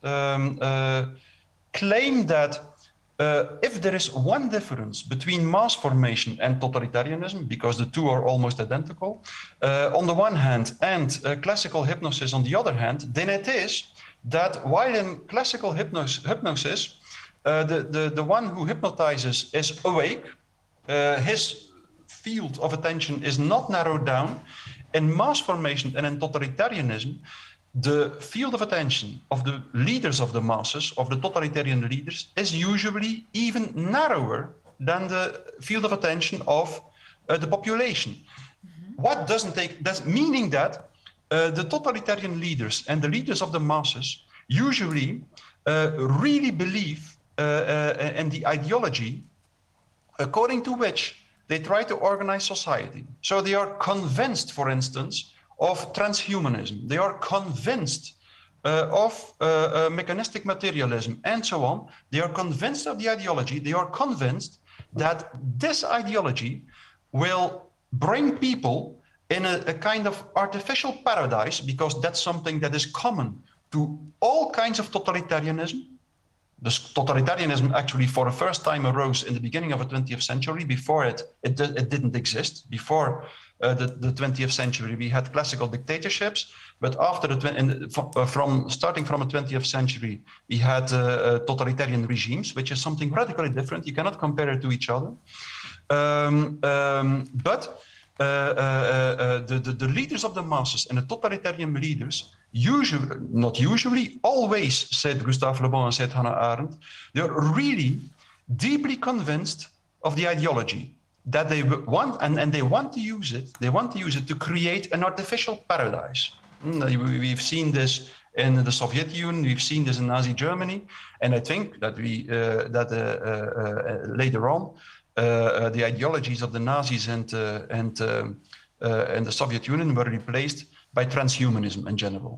claim that if there is one difference between mass formation and totalitarianism, because the two are almost identical, on the one hand, and classical hypnosis on the other hand, then it is that while in classical hypnosis, the one who hypnotizes is awake, his field of attention is not narrowed down. In mass formation and in totalitarianism, the field of attention of the leaders of the masses, of the totalitarian leaders, is usually even narrower than the field of attention of the population. What doesn't take, that's meaning that the totalitarian leaders and the leaders of the masses usually really believe in the ideology according to which they try to organize society. So they are convinced, for instance, of transhumanism. They are convinced of mechanistic materialism and so on. They are convinced of the ideology. They are convinced that this ideology will bring people in a kind of artificial paradise, because that's something that is common to all kinds of totalitarianism. This totalitarianism actually for the first time arose in the beginning of the 20th century. Before it didn't exist. Before the 20th century, we had classical dictatorships, but after starting from the 20th century, we had totalitarian regimes, which is something radically different. You cannot compare it to each other. But the leaders of the masses and the totalitarian leaders usually, not usually, always, said Gustave Le Bon and said Hannah Arendt, they're really deeply convinced of the ideology that they want, and they want to use it. They want to use it to create an artificial paradise. We've seen this in the Soviet Union. We've seen this in Nazi Germany, and I think that later on, the ideologies of the Nazis and the Soviet Union were replaced by transhumanism in general.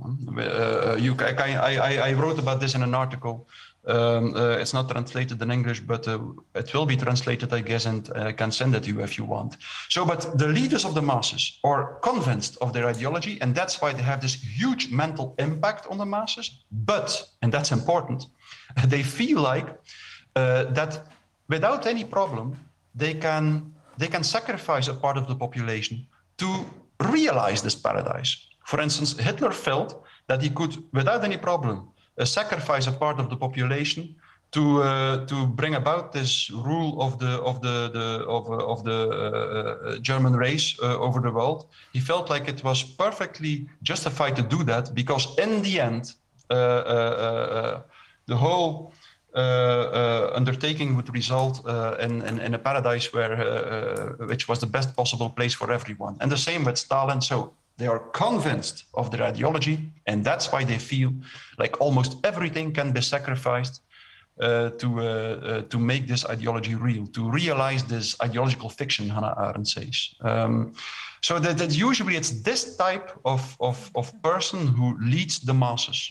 I wrote about this in an article. It's not translated in English, but it will be translated, I guess, and I can send it to you if you want. So, but the leaders of the masses are convinced of their ideology, and that's why they have this huge mental impact on the masses. But, and that's important, they feel like that without any problem, they can sacrifice a part of the population to realize this paradise. For instance, Hitler felt that he could, without any problem, sacrifice a part of the population to bring about this rule of the German race over the world. He felt like it was perfectly justified to do that, because in the end, the whole undertaking would result in a paradise which was the best possible place for everyone. And the same with Stalin. So they are convinced of their ideology, and that's why they feel like almost everything can be sacrificed to make this ideology real, to realize this ideological fiction, Hannah Arendt says. So that usually it's this type of person who leads the masses.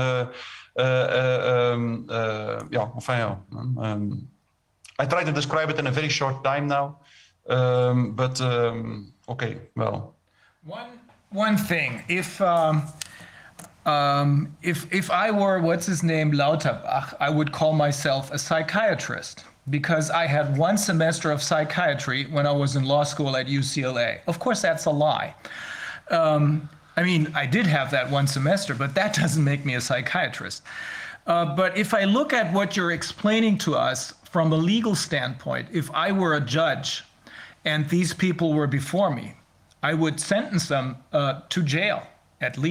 I try to describe it in a very short time now, but okay, well. One thing, if I were, what's his name, Lauterbach, I would call myself a psychiatrist, because I had one semester of psychiatry when I was in law school at UCLA. Of course, that's a lie. I mean, I did have that one semester, but that doesn't make me a psychiatrist. But if I look at what you're explaining to us from a legal standpoint, if I were a judge and these people were before me, I would sentence them to jail, at least.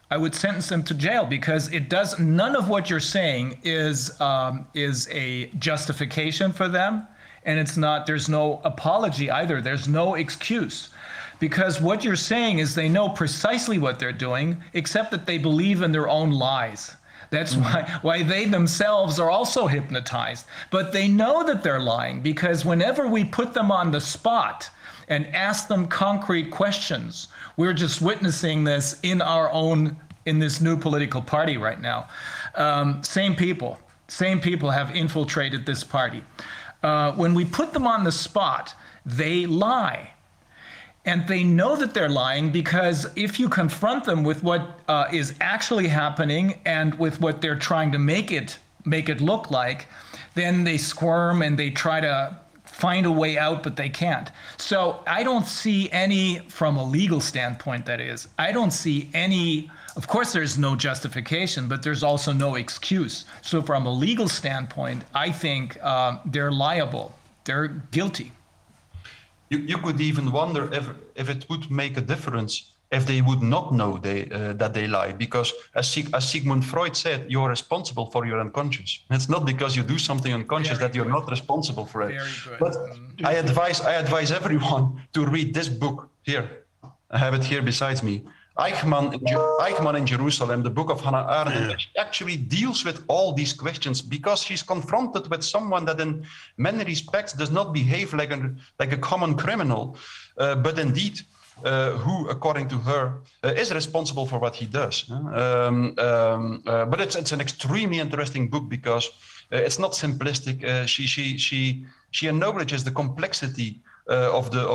I would sentence them to jail because it does none of what you're saying is a justification for them, and it's not. There's no apology either. There's no excuse, because what you're saying is they know precisely what they're doing, except that they believe in their own lies. That's why they themselves are also hypnotized. But they know that they're lying because whenever we put them on the spot and ask them concrete questions, we're just witnessing this in this new political party right now. Same people have infiltrated this party. When we put them on the spot, they lie. And they know that they're lying because if you confront them with what is actually happening and with what they're trying to make it look like, then they squirm and they try to find a way out, but they can't. So I don't see any, from a legal standpoint that is, I don't see any, of course there's no justification, but there's also no excuse. So from a legal standpoint, I think they're liable, they're guilty. You could even wonder if it would make a difference if they would not know that they lie, because as Sigmund Freud said, you're responsible for your unconscious. It's not because you do something unconscious that you're not responsible for it. But I advise everyone to read this book here. I have it here besides me. Eichmann in Jerusalem, the book of Hannah Arendt, she actually deals with all these questions because she's confronted with someone that in many respects does not behave like a common criminal, but indeed who, according to her, is responsible for what he does. But it's an extremely interesting book because it's not simplistic. She acknowledges the complexity of the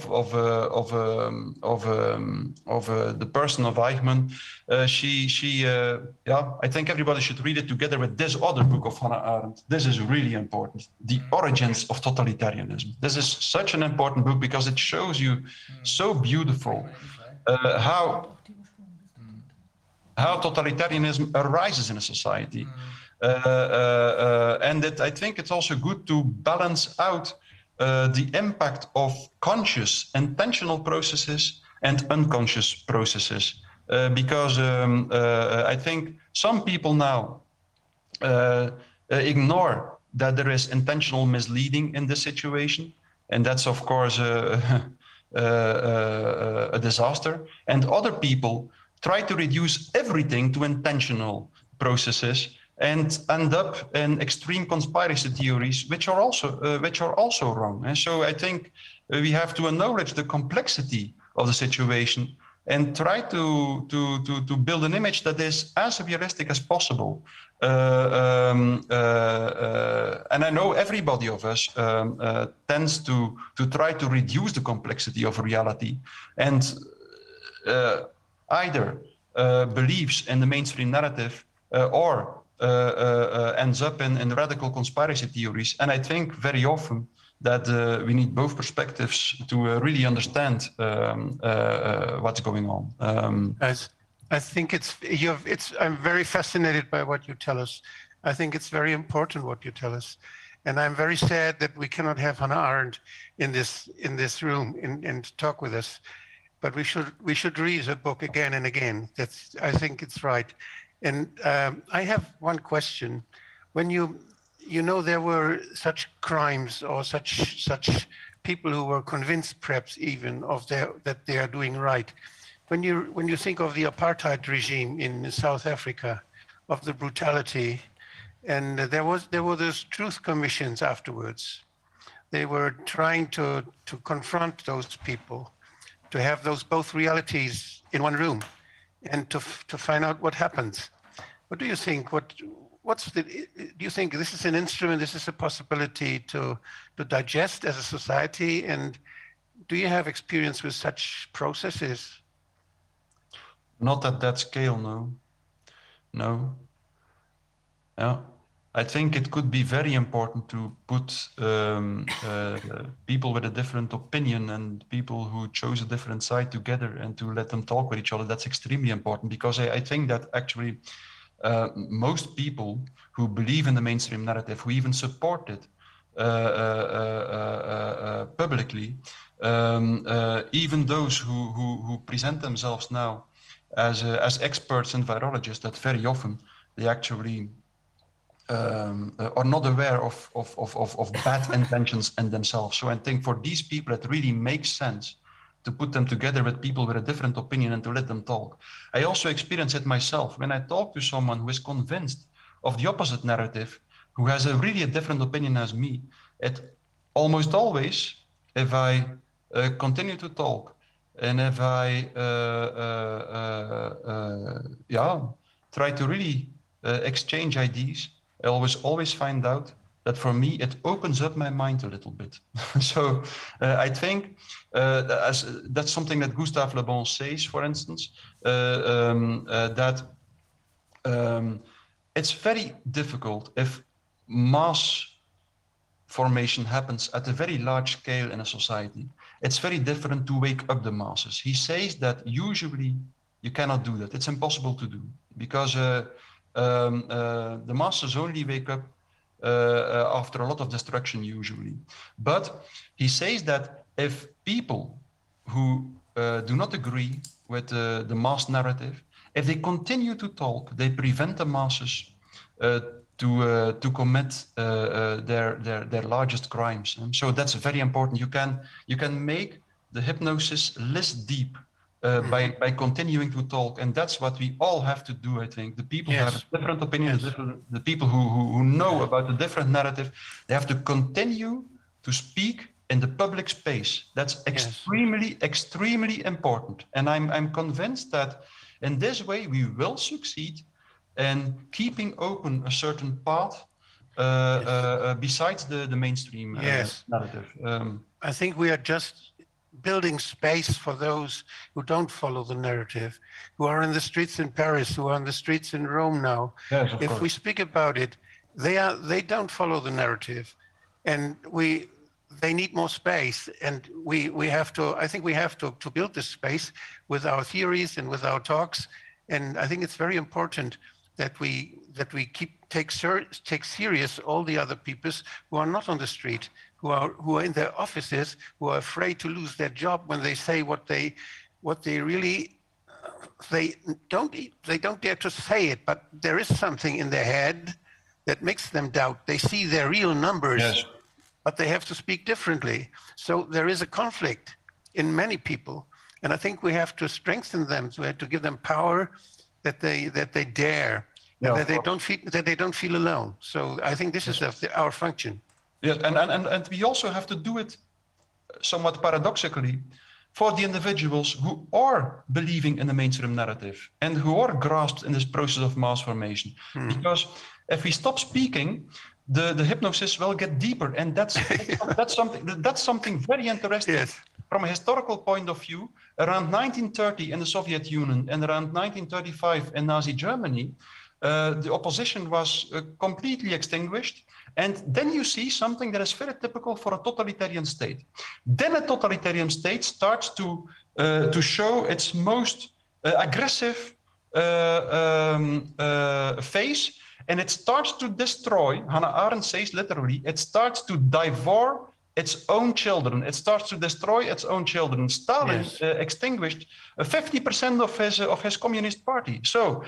person of Eichmann. I think everybody should read it together with this other book of Hannah Arendt. This is really important. The Origins of Totalitarianism. This is such an important book because it shows you so beautiful how totalitarianism arises in a society. And I think it's also good to balance out the impact of conscious, intentional processes and unconscious processes, because I think some people now ignore that there is intentional misleading in this situation, and that's of course a disaster. And other people try to reduce everything to intentional processes and end up in extreme conspiracy theories, which are also wrong. And so I think we have to acknowledge the complexity of the situation and try to build an image that is as realistic as possible. And I know everybody of us tends to try to reduce the complexity of reality and either believes in the mainstream narrative or ends up in radical conspiracy theories. And I think very often that we need both perspectives to really understand what's going on. I think I'm very fascinated by what you tell us. I think it's very important what you tell us. And I'm very sad that we cannot have Hannah Arendt in this room and talk with us. But we should read her book again and again. I think it's right. And I have one question. When there were such crimes or such people who were convinced, perhaps even, that they are doing right. When you think of the apartheid regime in South Africa, of the brutality, and there were those truth commissions afterwards. They were trying to confront those people, to have those both realities in one room, and to find out what happens. What do you think? Do you think this is an instrument? This is a possibility to digest as a society? And do you have experience with such processes? Not at that scale, no. Yeah. I think it could be very important to put people with a different opinion and people who chose a different side together and to let them talk with each other. That's extremely important because I think that actually most people who believe in the mainstream narrative, who even support it publicly, even those who present themselves now as experts and virologists that very often they actually are not aware of bad intentions in themselves. So I think for these people, it really makes sense to put them together with people with a different opinion and to let them talk. I also experience it myself. When I talk to someone who is convinced of the opposite narrative, who has a really a different opinion as me, it almost always, if I continue to talk and if I try to really exchange ideas, I always find out that for me, it opens up my mind a little bit. So I think that's something that Gustave Le Bon says, for instance, that it's very difficult if mass formation happens at a very large scale in a society. It's very different to wake up the masses. He says that usually you cannot do that. It's impossible to do because the masses only wake up after a lot of destruction usually. But he says that if people who do not agree with the mass narrative, if they continue to talk, they prevent the masses to commit their largest crimes. And so that's very important. You can make the hypnosis less deep by continuing to talk, and that's what we all have to do. I think the people who have a different opinion, the people who know about the different narrative, they have to continue to speak in the public space. That's extremely important. And I'm convinced that in this way we will succeed in keeping open a certain path besides the mainstream narrative. I think we are just building space for those who don't follow the narrative, who are in the streets in Paris, who are on the streets in Rome now. Yes, of if course. we speak about it, they don't follow the narrative, and they need more space, and we have to. I think we have to build this space with our theories and with our talks, and I think it's very important that we take serious all the other peoples who are not on the street, who are in their offices, who are afraid to lose their job when they say what they really they don't dare to say it, but there is something in their head that makes them doubt. They see their real numbers, but they have to speak differently. So there is a conflict in many people, and I think we have to strengthen them. So we have to give them power that they dare, and that they don't feel alone. So I think this is our function. Yes, and we also have to do it somewhat paradoxically for the individuals who are believing in the mainstream narrative and who are grasped in this process of mass formation. Because if we stop speaking, the hypnosis will get deeper, and that's something very interesting. Yes. From a historical point of view, around 1930 in the Soviet Union and around 1935 in Nazi Germany, the opposition was completely extinguished. And then you see something that is very typical for a totalitarian state. Then a totalitarian state starts to show its most aggressive phase, and it starts to destroy. Hannah Arendt says literally, it starts to devour its own children. It starts to destroy its own children. Stalin extinguished 50% of his communist party. So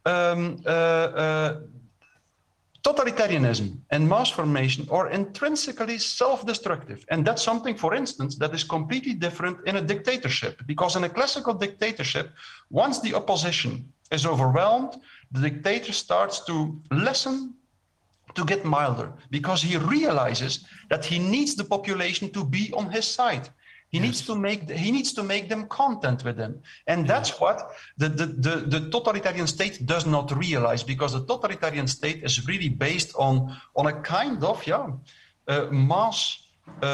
totalitarianism and mass formation are intrinsically self-destructive. And that's something, for instance, that is completely different in a dictatorship. Because in a classical dictatorship, once the opposition is overwhelmed, the dictator starts to listen, to get milder, because he realizes that he needs the population to be on his side. He needs to make them content with him, and that's what the totalitarian state does not realize, because the totalitarian state is really based on a kind of mass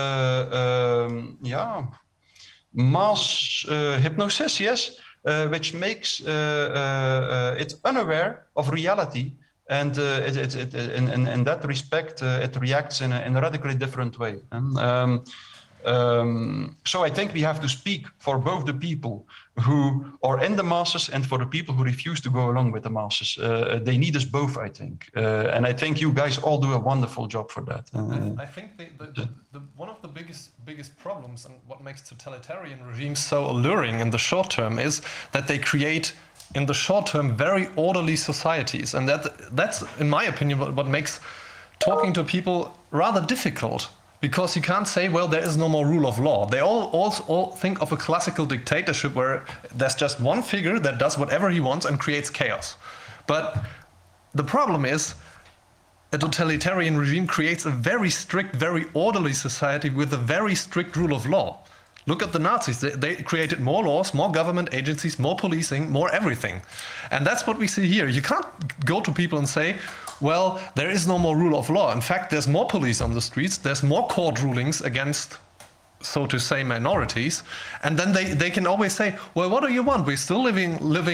hypnosis, which makes it unaware of reality. And in that respect, it reacts in a radically different way. So I think we have to speak for both the people who are in the masses and for the people who refuse to go along with the masses. They need us both, I think. And I think you guys all do a wonderful job for that. I think one of the biggest problems and what makes totalitarian regimes so alluring in the short term is that they create, in the short term, very orderly societies. And that's, in my opinion, what makes talking to people rather difficult. Because you can't say, well, there is no more rule of law. They all think of a classical dictatorship where there's just one figure that does whatever he wants and creates chaos. But the problem is, a totalitarian regime creates a very strict, very orderly society with a very strict rule of law. Look at the Nazis. They created more laws, more government agencies, more policing, more everything. And that's what we see here. You can't go to people and say, well, there is no more rule of law. In fact, there's more police on the streets. There's more court rulings against, so to say, minorities. And then they can always say, well, what do you want? We're still living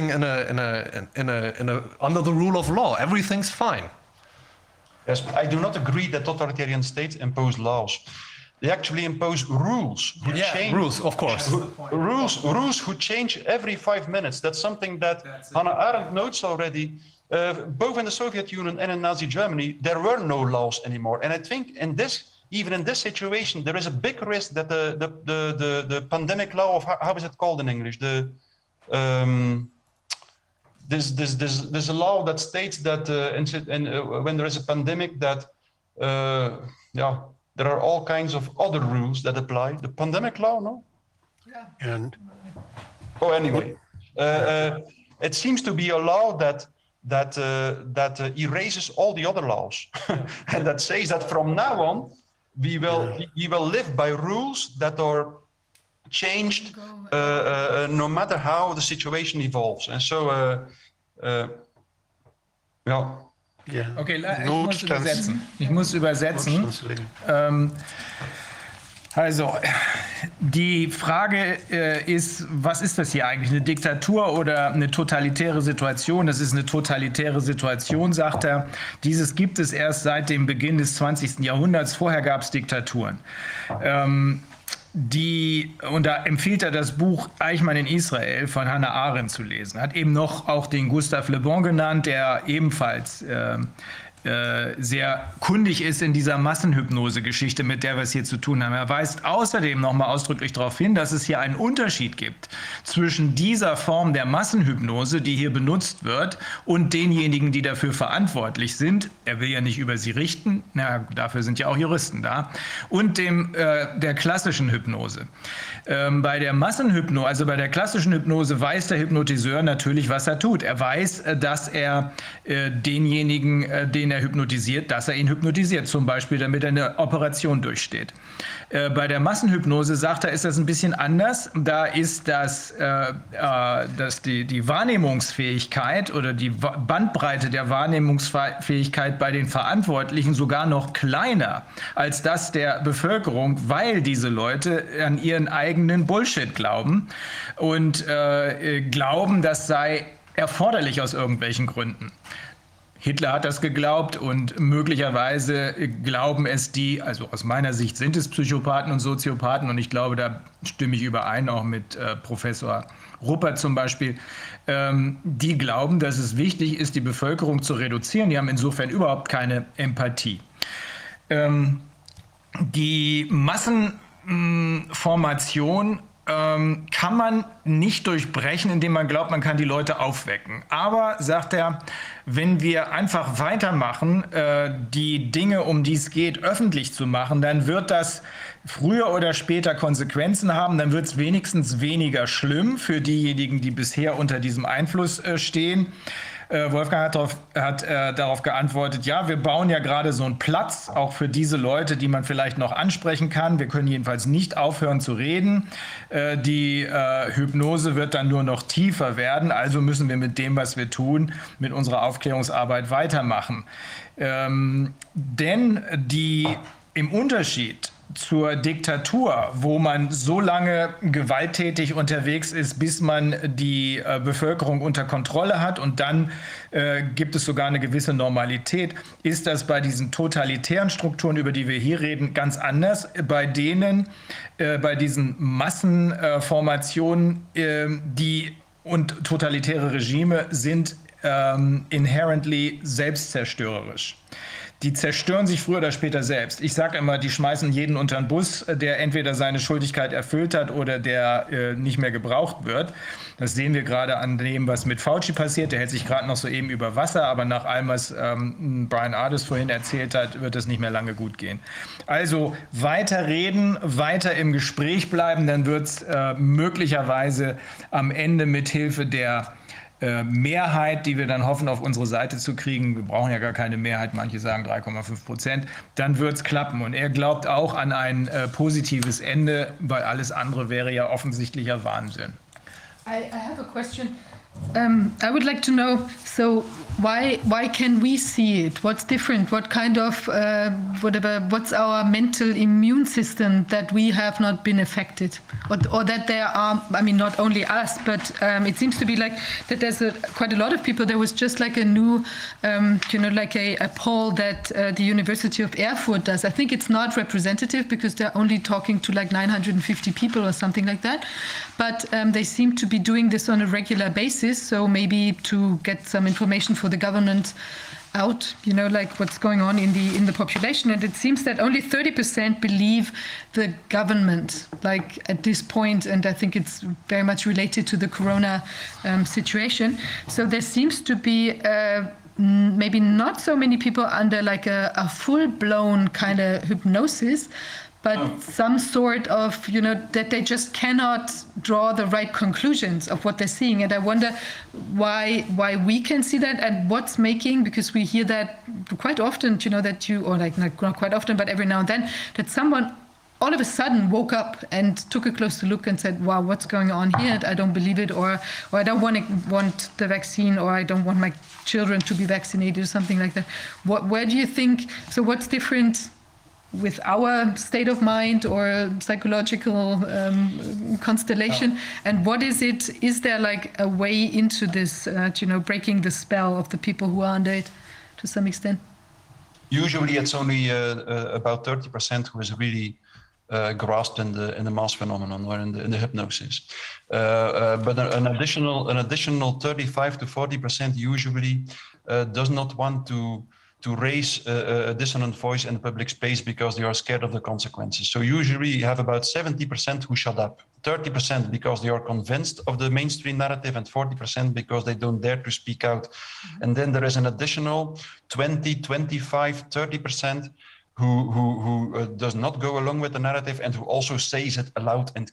under the rule of law. Everything's fine. Yes, I do not agree that totalitarian states impose laws. They actually impose rules. Rules, of course. Rules who change every 5 minutes. That's something that Hannah Arendt notes already. Both in the Soviet Union and in Nazi Germany, there were no laws anymore. And I think even in this situation, there is a big risk that the pandemic law of, how is it called in English? There's a law that states that when there is a pandemic that, there are all kinds of other rules that apply. The pandemic law, no? Yeah. And anyway, it seems to be a law that erases all the other laws, and that says that from now on we will live by rules that are changed no matter how the situation evolves. And so, Ja. Okay, ich muss übersetzen. Also, die Frage ist, was ist das hier eigentlich? Eine Diktatur oder eine totalitäre Situation? Das ist eine totalitäre Situation, sagt er. Dieses gibt es erst seit dem Beginn des 20. Jahrhunderts. Vorher gab es Diktaturen. Und da empfiehlt er das Buch Eichmann in Israel von Hannah Arendt zu lesen. Hat eben noch auch den Gustave Le Bon genannt, der ebenfalls sehr kundig ist in dieser Massenhypnose-Geschichte, mit der wir es hier zu tun haben. Er weist außerdem nochmal ausdrücklich darauf hin, dass es hier einen Unterschied gibt zwischen dieser Form der Massenhypnose, die hier benutzt wird, und denjenigen, die dafür verantwortlich sind. Er will ja nicht über sie richten, dafür sind ja auch Juristen da, und der klassischen Hypnose. Bei der Massenhypnose, also bei der klassischen Hypnose, weiß der Hypnotiseur natürlich, was er tut. Er weiß, dass er denjenigen, den er hypnotisiert, dass er ihn hypnotisiert, zum Beispiel, damit er eine Operation durchsteht. Bei der Massenhypnose, sagt er, ist das ein bisschen anders. Da ist die Wahrnehmungsfähigkeit oder die Bandbreite der Wahrnehmungsfähigkeit bei den Verantwortlichen sogar noch kleiner als das der Bevölkerung, weil diese Leute an ihren eigenen Bullshit glauben und glauben, das sei erforderlich aus irgendwelchen Gründen. Hitler hat das geglaubt und möglicherweise glauben es also aus meiner Sicht sind es Psychopathen und Soziopathen, und ich glaube, da stimme ich überein, auch mit Professor Ruppert zum Beispiel, die glauben, dass es wichtig ist, die Bevölkerung zu reduzieren. Die haben insofern überhaupt keine Empathie. Die Massenformation kann man nicht durchbrechen, indem man glaubt, man kann die Leute aufwecken. Aber, sagt er, wenn wir einfach weitermachen, die Dinge, um die es geht, öffentlich zu machen, dann wird das früher oder später Konsequenzen haben. Dann wird es wenigstens weniger schlimm für diejenigen, die bisher unter diesem Einfluss stehen. Wolfgang hat darauf geantwortet, ja, wir bauen ja gerade so einen Platz, auch für diese Leute, die man vielleicht noch ansprechen kann. Wir können jedenfalls nicht aufhören zu reden. Die Hypnose wird dann nur noch tiefer werden, also müssen wir mit dem, was wir tun, mit unserer Aufklärungsarbeit weitermachen. Denn im Unterschied zur Diktatur, wo man so lange gewalttätig unterwegs ist, bis man die Bevölkerung unter Kontrolle hat und dann gibt es sogar eine gewisse Normalität, ist das bei diesen totalitären Strukturen, über die wir hier reden, ganz anders. Bei denen, bei diesen Massenformationen, und totalitäre Regime sind inherently selbstzerstörerisch. Die zerstören sich früher oder später selbst. Ich sage immer, die schmeißen jeden unter den Bus, der entweder seine Schuldigkeit erfüllt hat oder der nicht mehr gebraucht wird. Das sehen wir gerade an dem, was mit Fauci passiert. Der hält sich gerade noch so eben über Wasser, aber nach allem, was Brian Ardis vorhin erzählt hat, wird es nicht mehr lange gut gehen. Also weiter reden, weiter im Gespräch bleiben, dann wird es möglicherweise am Ende mit Hilfe der Mehrheit, die wir dann hoffen, auf unsere Seite zu kriegen, wir brauchen ja gar keine Mehrheit, manche sagen 3,5%, dann wird es klappen. Und er glaubt auch an ein positives Ende, weil alles andere wäre ja offensichtlicher Wahnsinn. I have a question. I would like to know, so why can we see it? What's different? What kind of, what's our mental immune system that we have not been affected? Or that there are, I mean, not only us, but it seems to be like that there's quite a lot of people. There was just like a new, like a poll that the University of Erfurt does. I think it's not representative because they're only talking to like 950 people or something like that. But they seem to be doing this on a regular basis. So maybe to get some information for the government out, like what's going on in the population. And it seems that only 30% believe the government, like at this point, and I think it's very much related to the corona situation. So there seems to be maybe not so many people under like a full-blown kind of hypnosis, but some sort of, that they just cannot draw the right conclusions of what they're seeing. And I wonder why we can see that and what's making, because we hear that quite often, that or like not quite often, but every now and then, that someone all of a sudden woke up and took a closer look and said, wow, what's going on here? I don't believe it, or I don't want the vaccine, or I don't want my children to be vaccinated, or something like that. Where do you think, so what's different with our state of mind or psychological constellation, and what is it? Is there like a way into this, breaking the spell of the people who are under it to some extent? Usually, it's only about 30% who is really grasped in the mass phenomenon or in the hypnosis. But an additional 35 to 40% usually does not want to raise a dissonant voice in the public space because they are scared of the consequences. So usually you have about 70% who shut up, 30% because they are convinced of the mainstream narrative, and 40% because they don't dare to speak out. And then there is an additional 20, 25, 30% who does not go along with the narrative and who also says it aloud and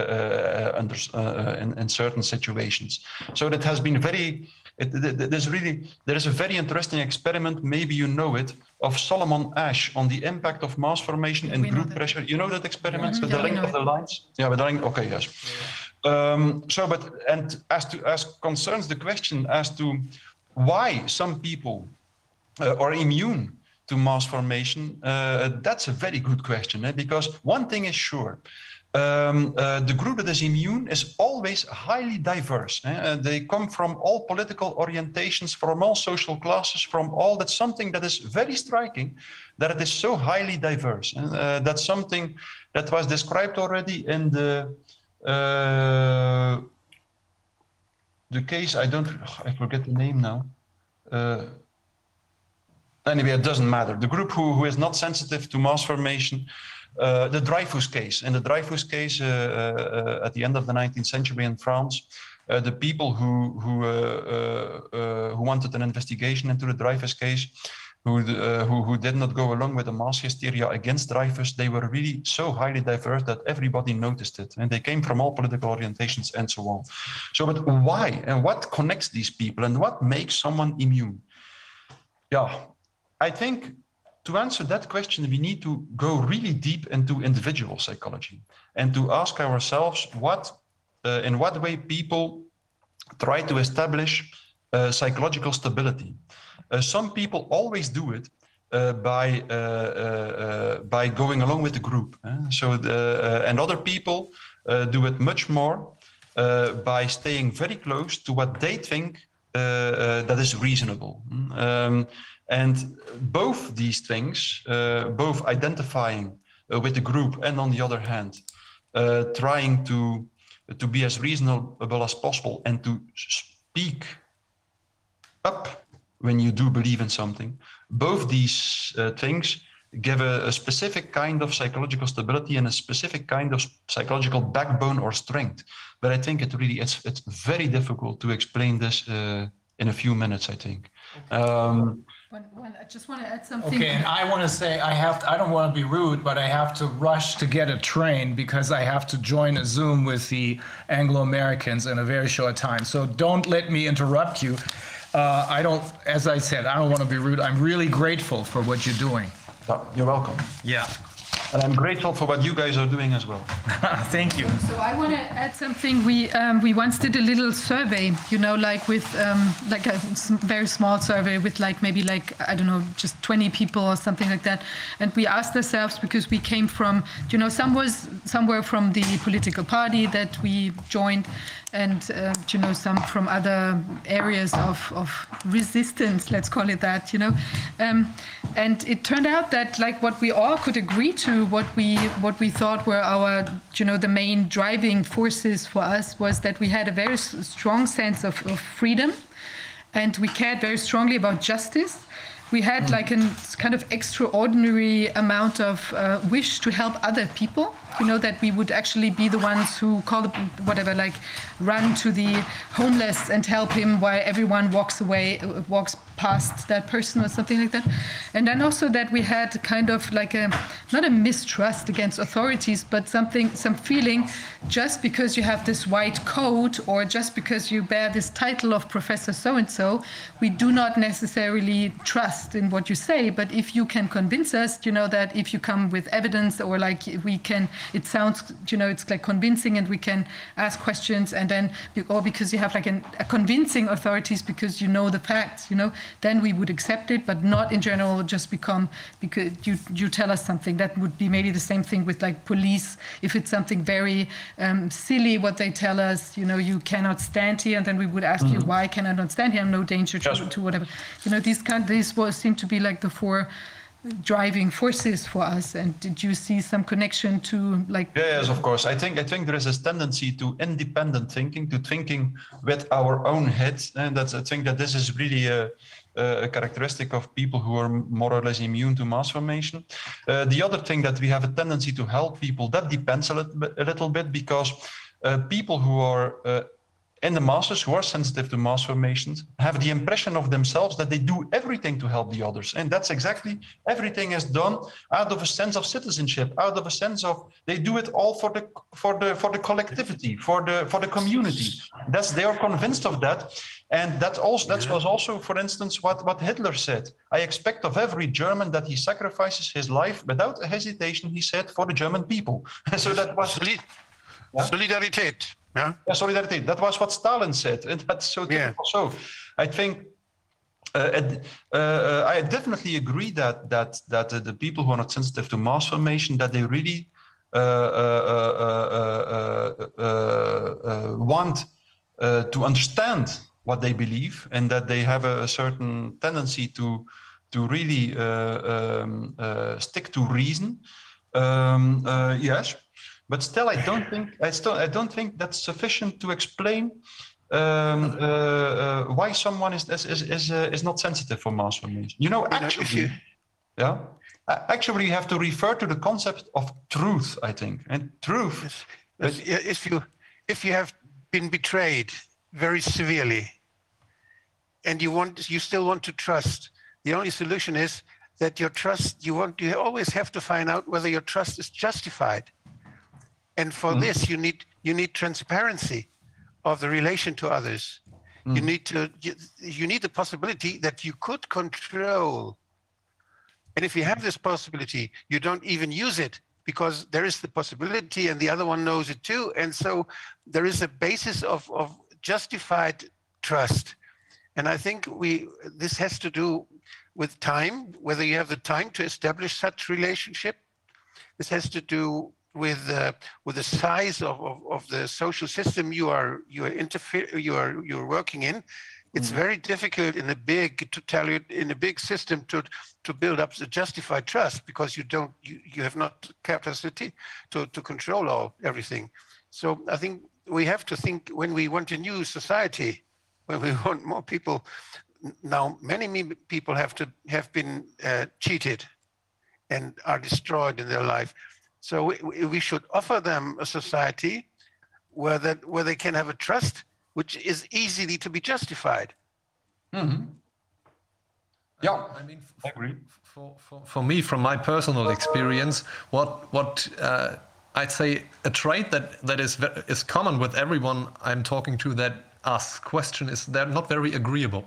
in certain situations. So that has been there is a very interesting experiment, maybe you know it, of Solomon Asch on the impact of mass formation and group pressure. You know that experiment with the length of the lines? Yeah, with the length, okay, yes. As concerns the question as to why some people are immune to mass formation, that's a very good question, because one thing is sure. The group that is immune is always highly diverse. They come from all political orientations, from all social classes, from all. That's something that is very striking, that it is so highly diverse. That's something that was described already in the case. I forget the name now. Anyway, it doesn't matter. The group who is not sensitive to mass formation. The Dreyfus case. In the Dreyfus case, at the end of the 19th century in France, the people who wanted an investigation into the Dreyfus case, who did not go along with the mass hysteria against Dreyfus, they were really so highly diverse that everybody noticed it, and they came from all political orientations and so on. So, but why and what connects these people, and what makes someone immune? Yeah, I think. To answer that question, we need to go really deep into individual psychology and to ask ourselves in what way people try to establish psychological stability. Some people always do it by going along with the group. And other people do it much more by staying very close to what they think that is reasonable. And both these things, both identifying with the group and on the other hand, trying to be as reasonable as possible and to speak up when you do believe in something, both these things give a specific kind of psychological stability and a specific kind of psychological backbone or strength. But I think it's very difficult to explain this in a few minutes, I think. I just want to add something. Okay, and I want to say I don't want to be rude, but I have to rush to get a train because I have to join a Zoom with the Anglo-Americans in a very short time. So don't let me interrupt you. As I said, I don't want to be rude. I'm really grateful for what you're doing. You're welcome. Yeah. And I'm grateful for what you guys are doing as well. Thank you. So I want to add something. We once did a little survey, like with like a very small survey with maybe I don't know, just 20 people or something like that. And we asked ourselves, because we came from, some was somewhere from the political party that we joined, and some from other areas of resistance, let's call it that, and it turned out that what we all could agree to, what we thought were our, the main driving forces for us, was that we had a very strong sense of freedom, and we cared very strongly about justice. We had a kind of extraordinary amount of wish to help other people, that we would actually be the ones who run to the homeless and help him while everyone walks past that person or something like that. And then also that we had kind of not a mistrust against authorities, but some feeling, just because you have this white coat or just because you bear this title of Professor so-and-so, we do not necessarily trust in what you say. But if you can convince us, that if you come with evidence or it sounds, it's convincing and we can ask questions, and then, or because you have a convincing authorities because the facts, then we would accept it, but not in general just because you tell us something. That would be maybe the same thing with police. If it's something very silly what they tell us, you cannot stand here, and then we would ask you, why can I not stand here? I'm no danger to whatever. These seem to be the four driving forces for us. And did you see some connection to Yes, of course. I think there is a tendency to independent thinking, to thinking with our own heads, and I think that this is really a characteristic of people who are more or less immune to mass formation. The other thing that we have a tendency to help people, that depends a little bit, because people who are in the masses, who are sensitive to mass formations, have the impression of themselves that they do everything to help the others. And that's exactly, everything is done out of a sense of citizenship, out of a sense of, they do it all for the collectivity, for the community. They are convinced of that. And that was also, for instance, what Hitler said. I expect of every German that he sacrifices his life without hesitation, he said, for the German people. So that was Solidarität. Yeah, solidarity. That was what Stalin said, and that's so typical. So, I think I definitely agree that the people who are not sensitive to mass formation, that they really want to understand what they believe, and that they have a certain tendency to really stick to reason. Yes. But still, I don't think that's sufficient to explain why someone is not sensitive for mass formation. Actually, you have to refer to the concept of truth, I think, and truth. If you have been betrayed very severely, and you still want to trust, the only solution is that your trust. You always have to find out whether your trust is justified. And for this, you need transparency of the relation to others. You need the possibility that you could control. And if you have this possibility, you don't even use it, because there is the possibility and the other one knows it too. And so there is a basis of justified trust. And I think this has to do with time, whether you have the time to establish such relationship. This has to do with the size of the social system you're working in. It's very difficult in a big system to build up the justified trust, because you have not capacity to control everything. So I think we have to think, when we want a new society, when we want more people. Now, many people have been cheated and are destroyed in their life. So we should offer them a society where they can have a trust which is easily to be justified. Mm-hmm. Yeah, I mean, I agree. For me, from my personal experience, what I'd say a trait that is common with everyone I'm talking to that asks question is they're not very agreeable.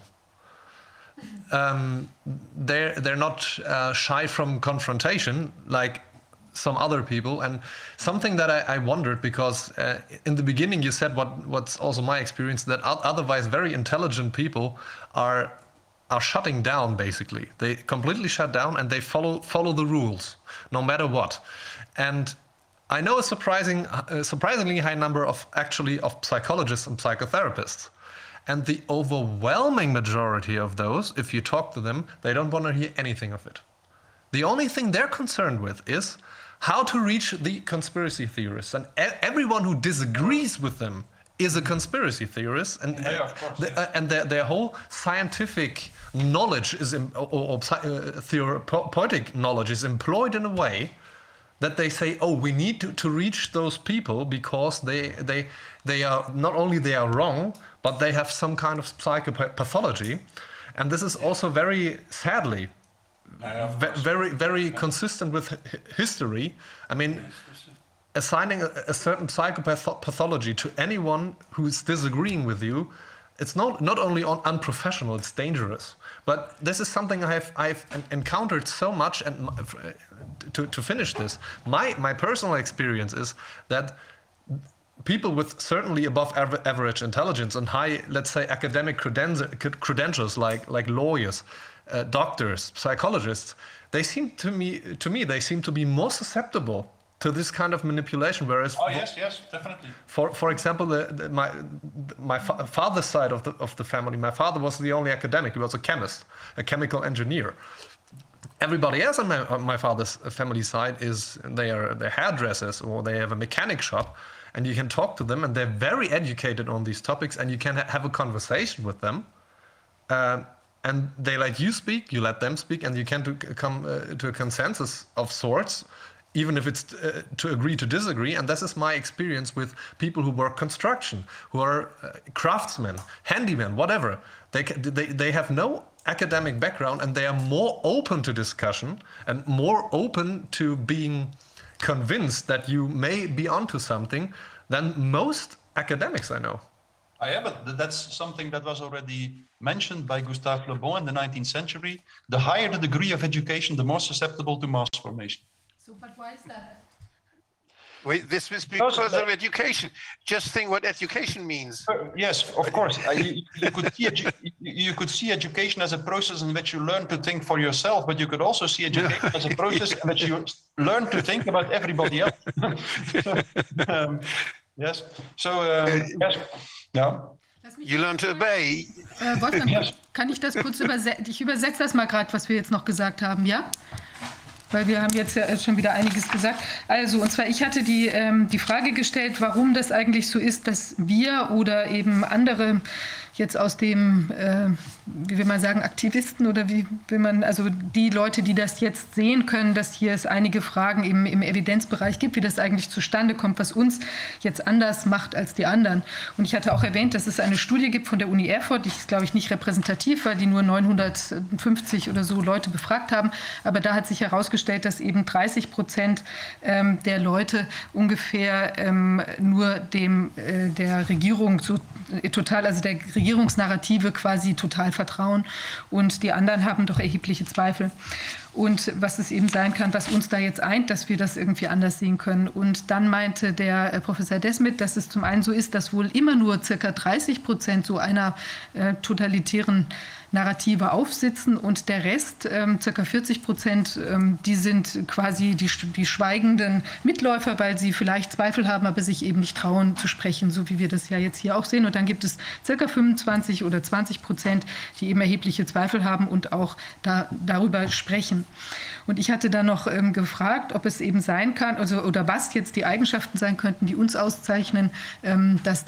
They're not shy from confrontation like some other people. And something that I wondered, because in the beginning you said what's also my experience, that otherwise very intelligent people are shutting down, basically. They completely shut down and they follow the rules no matter what. And I know a surprisingly high number of psychologists and psychotherapists. And the overwhelming majority of those, if you talk to them, they don't want to hear anything of it. The only thing they're concerned with is how to reach the conspiracy theorists. And everyone who disagrees with them is a conspiracy theorist. And, and their whole scientific knowledge is, therapeutic knowledge is employed in a way that they say, oh, we need to reach those people because they are not only they are wrong, but they have some kind of psychopathology. And this is also very sadly very consistent with history. I mean, assigning a certain psychopathology to anyone who is disagreeing with you, it's not only unprofessional, it's dangerous. But this is something I've encountered so much. And to finish this, my personal experience is that people with certainly above average intelligence and high, let's say, academic credentials, like lawyers, doctors, psychologists, they seem to me they seem to be more susceptible to this kind of manipulation. Whereas, yes, definitely. For example, my father's side of the family, my father was the only academic. He was a chemist, a chemical engineer. Everybody else on my father's family side they're hairdressers, or they have a mechanic shop, and you can talk to them, and they're very educated on these topics, and you can have a conversation with them. And they let you speak, you let them speak, and you can come to a consensus of sorts, even if it's to agree to disagree. And this is my experience with people who work construction, who are craftsmen, handymen, whatever. They have no academic background, and they are more open to discussion and more open to being convinced that you may be onto something than most academics I know. But that's something that was already mentioned by Gustave Le Bon in the 19th century. The higher the degree of education, the more susceptible to mass formation. So, but why is that? Wait, this is because of education. Just think what education means. Yes, of course. You could see education as a process in which you learn to think for yourself, but you could also see education as a process in which you learn to think about everybody else. Yes. So, yes. Ja. You learn to obey. Wolfgang, kann ich das kurz übersetzen? Ich übersetze das mal gerade, was wir jetzt noch gesagt haben, ja? Weil wir haben jetzt ja schon wieder einiges gesagt. Also, und zwar, ich hatte die Frage gestellt, warum das eigentlich so ist, dass wir oder eben andere jetzt aus dem, wie will man sagen, Aktivisten oder wie will man, also die Leute, die das jetzt sehen können, dass hier es einige Fragen im Evidenzbereich gibt, wie das eigentlich zustande kommt, was uns jetzt anders macht als die anderen. Und ich hatte auch erwähnt, dass es eine Studie gibt von der Uni Erfurt, die ist, glaube ich, nicht repräsentativ, weil die nur 950 oder so Leute befragt haben. Aber da hat sich herausgestellt, dass eben 30% der Leute ungefähr nur der Regierung so total, also der Regierungsnarrative quasi total vertrauen, und die anderen haben doch erhebliche Zweifel. und was es eben sein kann, was uns da jetzt eint, dass wir das irgendwie anders sehen können. Und dann meinte der Professor Desmet, dass es zum einen so ist, dass wohl immer nur ca. 30% so einer totalitären Narrative aufsitzen und der Rest, ca. 40%, die sind quasi die schweigenden Mitläufer, weil sie vielleicht Zweifel haben, aber sich eben nicht trauen zu sprechen, so wie wir das ja jetzt hier auch sehen. Und dann gibt es ca. 25 oder 20%, die eben erhebliche Zweifel haben und auch darüber sprechen. Und ich hatte dann noch gefragt, ob es eben sein kann, also, oder was jetzt die Eigenschaften sein könnten, die uns auszeichnen, dass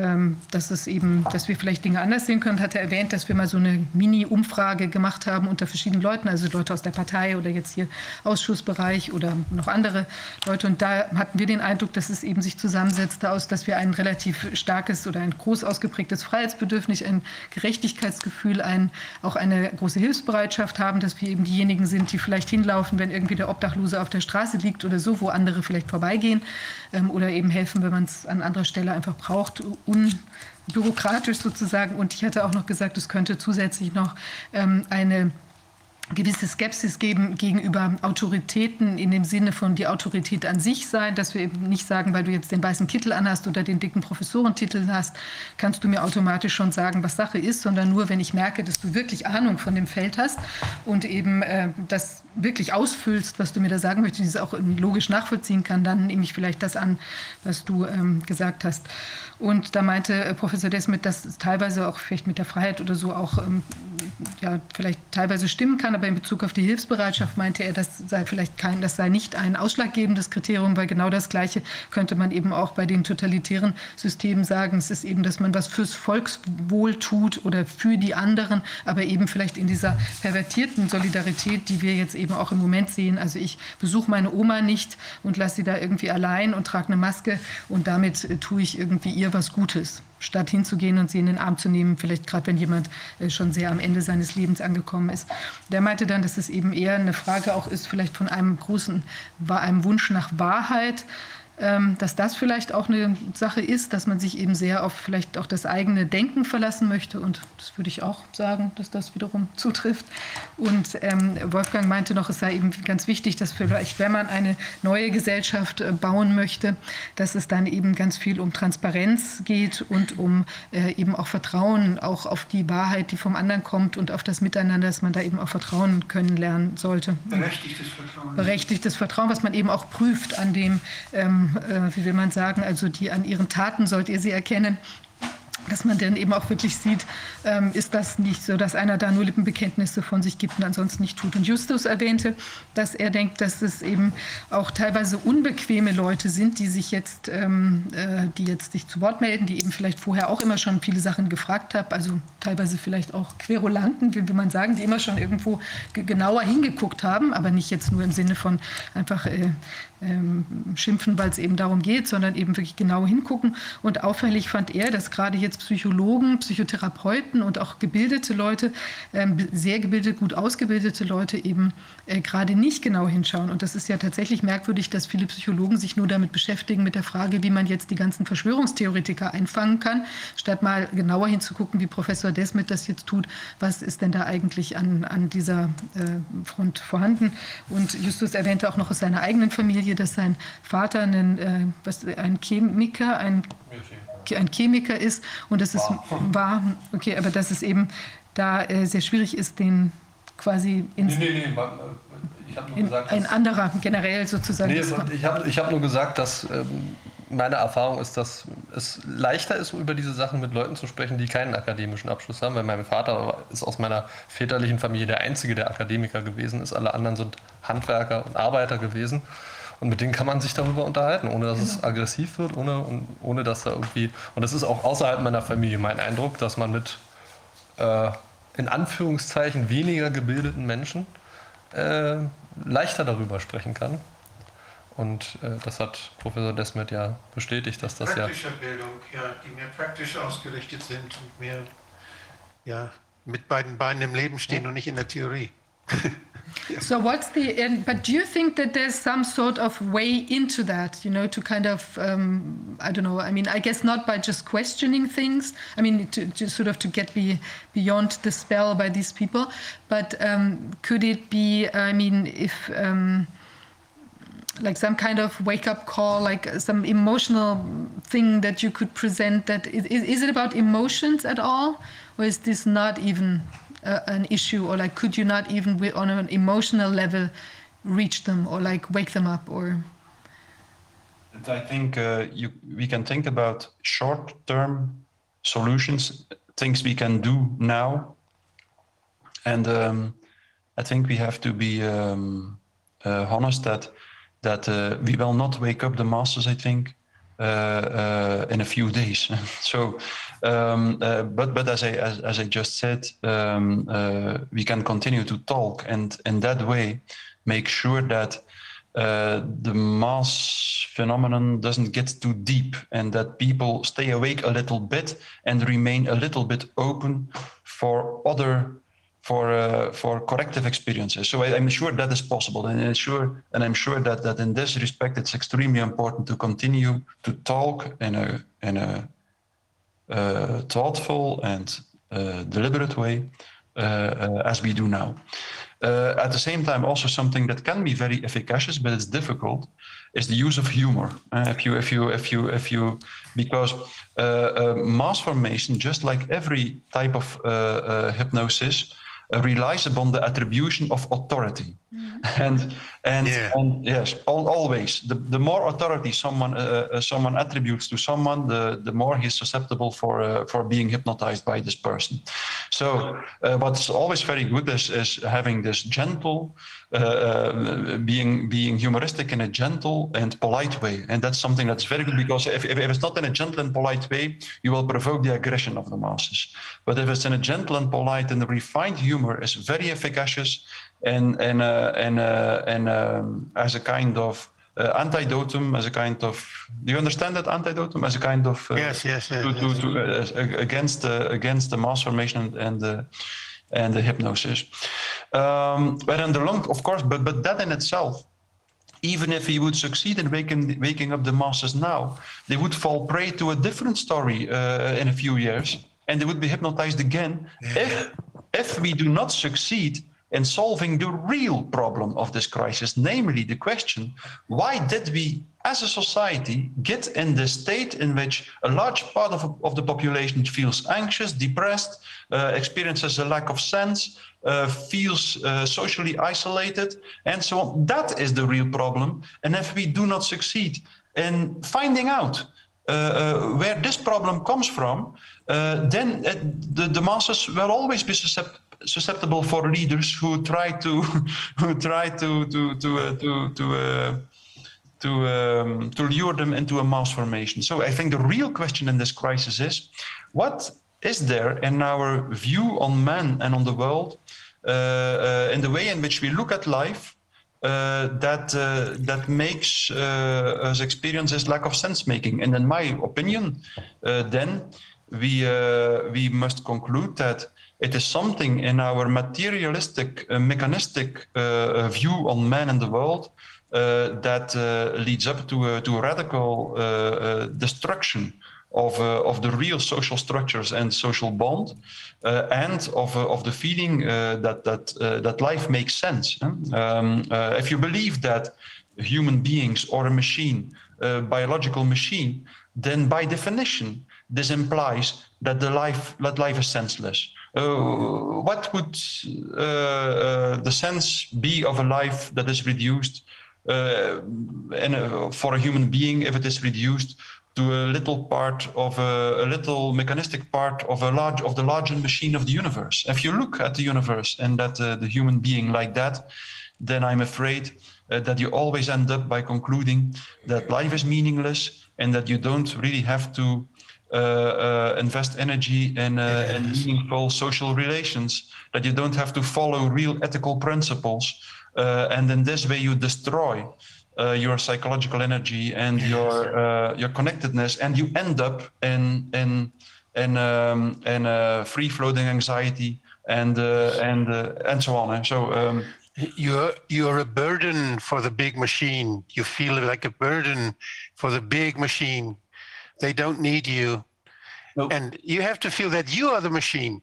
wir vielleicht Dinge anders sehen können. Hatte erwähnt, dass wir mal so eine Mini-Umfrage gemacht haben unter verschiedenen Leuten, also Leute aus der Partei oder jetzt hier Ausschussbereich oder noch andere Leute. Und da hatten wir den Eindruck, dass es eben sich zusammensetzte aus, dass wir ein relativ starkes oder ein groß ausgeprägtes Freiheitsbedürfnis, ein Gerechtigkeitsgefühl, auch eine große Hilfsbereitschaft haben, dass wir eben diejenigen sind, die vielleicht hinlaufen, wenn irgendwie der Obdachlose auf der Straße liegt oder so, wo andere vielleicht vorbeigehen, oder eben helfen, wenn man es an anderer Stelle einfach braucht, unbürokratisch sozusagen. Und ich hatte auch noch gesagt, es könnte zusätzlich noch eine gewisse Skepsis geben gegenüber Autoritäten in dem Sinne von die Autorität an sich sein, dass wir eben nicht sagen, weil du jetzt den weißen Kittel anhast oder den dicken Professorentitel hast, kannst du mir automatisch schon sagen, was Sache ist, sondern nur, wenn ich merke, dass du wirklich Ahnung von dem Feld hast und eben das wirklich ausfüllst, was du mir da sagen möchtest, und es auch logisch nachvollziehen kann, dann nehme ich vielleicht das an, was du gesagt hast. Und da meinte Professor Desmet, dass es teilweise auch vielleicht mit der Freiheit oder so auch vielleicht teilweise stimmen kann, aber in Bezug auf die Hilfsbereitschaft meinte er, das sei nicht ein ausschlaggebendes Kriterium, weil genau das Gleiche könnte man eben auch bei den totalitären Systemen sagen. Es ist eben, dass man was fürs Volkswohl tut oder für die anderen, aber eben vielleicht in dieser pervertierten Solidarität, die wir jetzt eben auch im Moment sehen. Also ich besuche meine Oma nicht und lasse sie da irgendwie allein und trage eine Maske und damit tue ich irgendwie ihr was Gutes, statt hinzugehen und sie in den Arm zu nehmen, vielleicht gerade wenn jemand schon sehr am Ende seines Lebens angekommen ist. Der meinte dann, dass es eben eher eine Frage auch ist, vielleicht von einem Wunsch nach Wahrheit, dass das vielleicht auch eine Sache ist, dass man sich eben sehr auf vielleicht auch das eigene Denken verlassen möchte. Und das würde ich auch sagen, dass das wiederum zutrifft. Und Wolfgang meinte noch, es sei eben ganz wichtig, dass vielleicht, wenn man eine neue Gesellschaft bauen möchte, dass es dann eben ganz viel um Transparenz geht und um eben auch Vertrauen, auch auf die Wahrheit, die vom anderen kommt und auf das Miteinander, dass man da eben auch Vertrauen können lernen sollte. Berechtigtes Vertrauen. Berechtigtes Vertrauen, was man eben auch prüft an dem, wie will man sagen, also an ihren Taten sollt ihr sie erkennen, dass man dann eben auch wirklich sieht, ist das nicht so, dass einer da nur Lippenbekenntnisse von sich gibt und ansonsten nicht tut. Und Justus erwähnte, dass er denkt, dass es eben auch teilweise unbequeme Leute sind, die jetzt sich zu Wort melden, die eben vielleicht vorher auch immer schon viele Sachen gefragt haben, also teilweise vielleicht auch Querulanten, wie will man sagen, die immer schon irgendwo genauer hingeguckt haben, aber nicht jetzt nur im Sinne von einfach schimpfen, weil es eben darum geht, sondern eben wirklich genau hingucken. Und auffällig fand er, dass gerade jetzt Psychologen, Psychotherapeuten und auch gebildete Leute, sehr gebildete, gut ausgebildete Leute eben gerade nicht genau hinschauen. Und das ist ja tatsächlich merkwürdig, dass viele Psychologen sich nur damit beschäftigen, mit der Frage, wie man jetzt die ganzen Verschwörungstheoretiker einfangen kann, statt mal genauer hinzugucken, wie Professor Desmet das jetzt tut. Was ist denn da eigentlich an dieser Front vorhanden? Und Justus erwähnte auch noch aus seiner eigenen Familie, dass sein Vater ein Chemiker ist und dass es okay, aber dass es eben da sehr schwierig ist, den quasi ich habe nur gesagt, ein anderer generell sozusagen. Ich hab nur gesagt, dass meine Erfahrung ist, dass es leichter ist, über diese Sachen mit Leuten zu sprechen, die keinen akademischen Abschluss haben, weil mein Vater ist aus meiner väterlichen Familie der Einzige, der Akademiker gewesen ist. Alle anderen sind Handwerker und Arbeiter gewesen. Und mit denen kann man sich darüber unterhalten, ohne dass es aggressiv wird, ohne dass da irgendwie... Und das ist auch außerhalb meiner Familie mein Eindruck, dass man mit in Anführungszeichen weniger gebildeten Menschen leichter darüber sprechen kann. Und das hat Professor Desmet ja bestätigt, dass das praktischer Bildung, ja, die mehr praktisch ausgerichtet sind und mehr mit beiden Beinen im Leben stehen und nicht in der Theorie. So but do you think that there's some sort of way into that, to kind of, I don't know, I mean, I guess not by just questioning things, I mean, to sort of to get beyond the spell by these people, but could it be, I mean, if, like some kind of wake-up call, like some emotional thing that you could present, that is it about emotions at all? Or is this not even an issue, or like could you not even on an emotional level reach them or like wake them up? Or I think we can think about short-term solutions, things we can do now, and I think we have to be honest that we will not wake up the masses, I think, in a few days. So, but as I just said, we can continue to talk, and in that way make sure that the mass phenomenon doesn't get too deep, and that people stay awake a little bit and remain a little bit open for corrective experiences. So I'm sure that is possible, and I'm sure that in this respect it's extremely important to continue to talk in a thoughtful and deliberate way as we do now. At the same time, also something that can be very efficacious, but it's difficult, is the use of humor. Because mass formation, just like every type of hypnosis, relies upon the attribution of authority. And yes, always the more authority someone attributes to someone, the more he's susceptible for being hypnotized by this person. So what's always very good is having this gentle, being humoristic in a gentle and polite way, and that's something that's very good, because if it's not in a gentle and polite way, you will provoke the aggression of the masses. But if it's in a gentle and polite and refined humor, is very efficacious, and as a kind of antidotum, as a kind of, do you understand that antidotum? As a kind of yes. Against the mass formation and the hypnosis. But in the long, of course, but that in itself, even if he would succeed in waking up the masses now, they would fall prey to a different story in a few years, and they would be hypnotized again if we do not succeed in solving the real problem of this crisis, namely the question, why did we as a society get in the state in which a large part of the population feels anxious, depressed, experiences a lack of sense, feels socially isolated, and so on. That is the real problem. And if we do not succeed in finding out where this problem comes from, then the masses will always be susceptible for leaders who try to lure them into a mass formation. So I think the real question in this crisis is, what is there in our view on man and on the world, in the way in which we look at life, that makes us experience this lack of sense making? And in my opinion, then we must conclude that it is something in our materialistic, mechanistic view on man and the world that leads up to a radical destruction of the real social structures and social bond, and of the feeling that life makes sense. If you believe that human beings or a machine, biological machine, then by definition this implies that life is senseless. What would the sense be of a life that is reduced for a human being, if it is reduced to a little part of a little mechanistic part of the larger machine of the universe? If you look at the universe and at the human being like that, then I'm afraid that you always end up by concluding that life is meaningless, and that you don't really have to invest energy in meaningful social relations, that you don't have to follow real ethical principles, and in this way you destroy your psychological energy and your connectedness, and you end up in free floating anxiety and so on. So You're a burden for the big machine. You feel like a burden for the big machine. They don't need you. Nope. And you have to feel that you are the machine.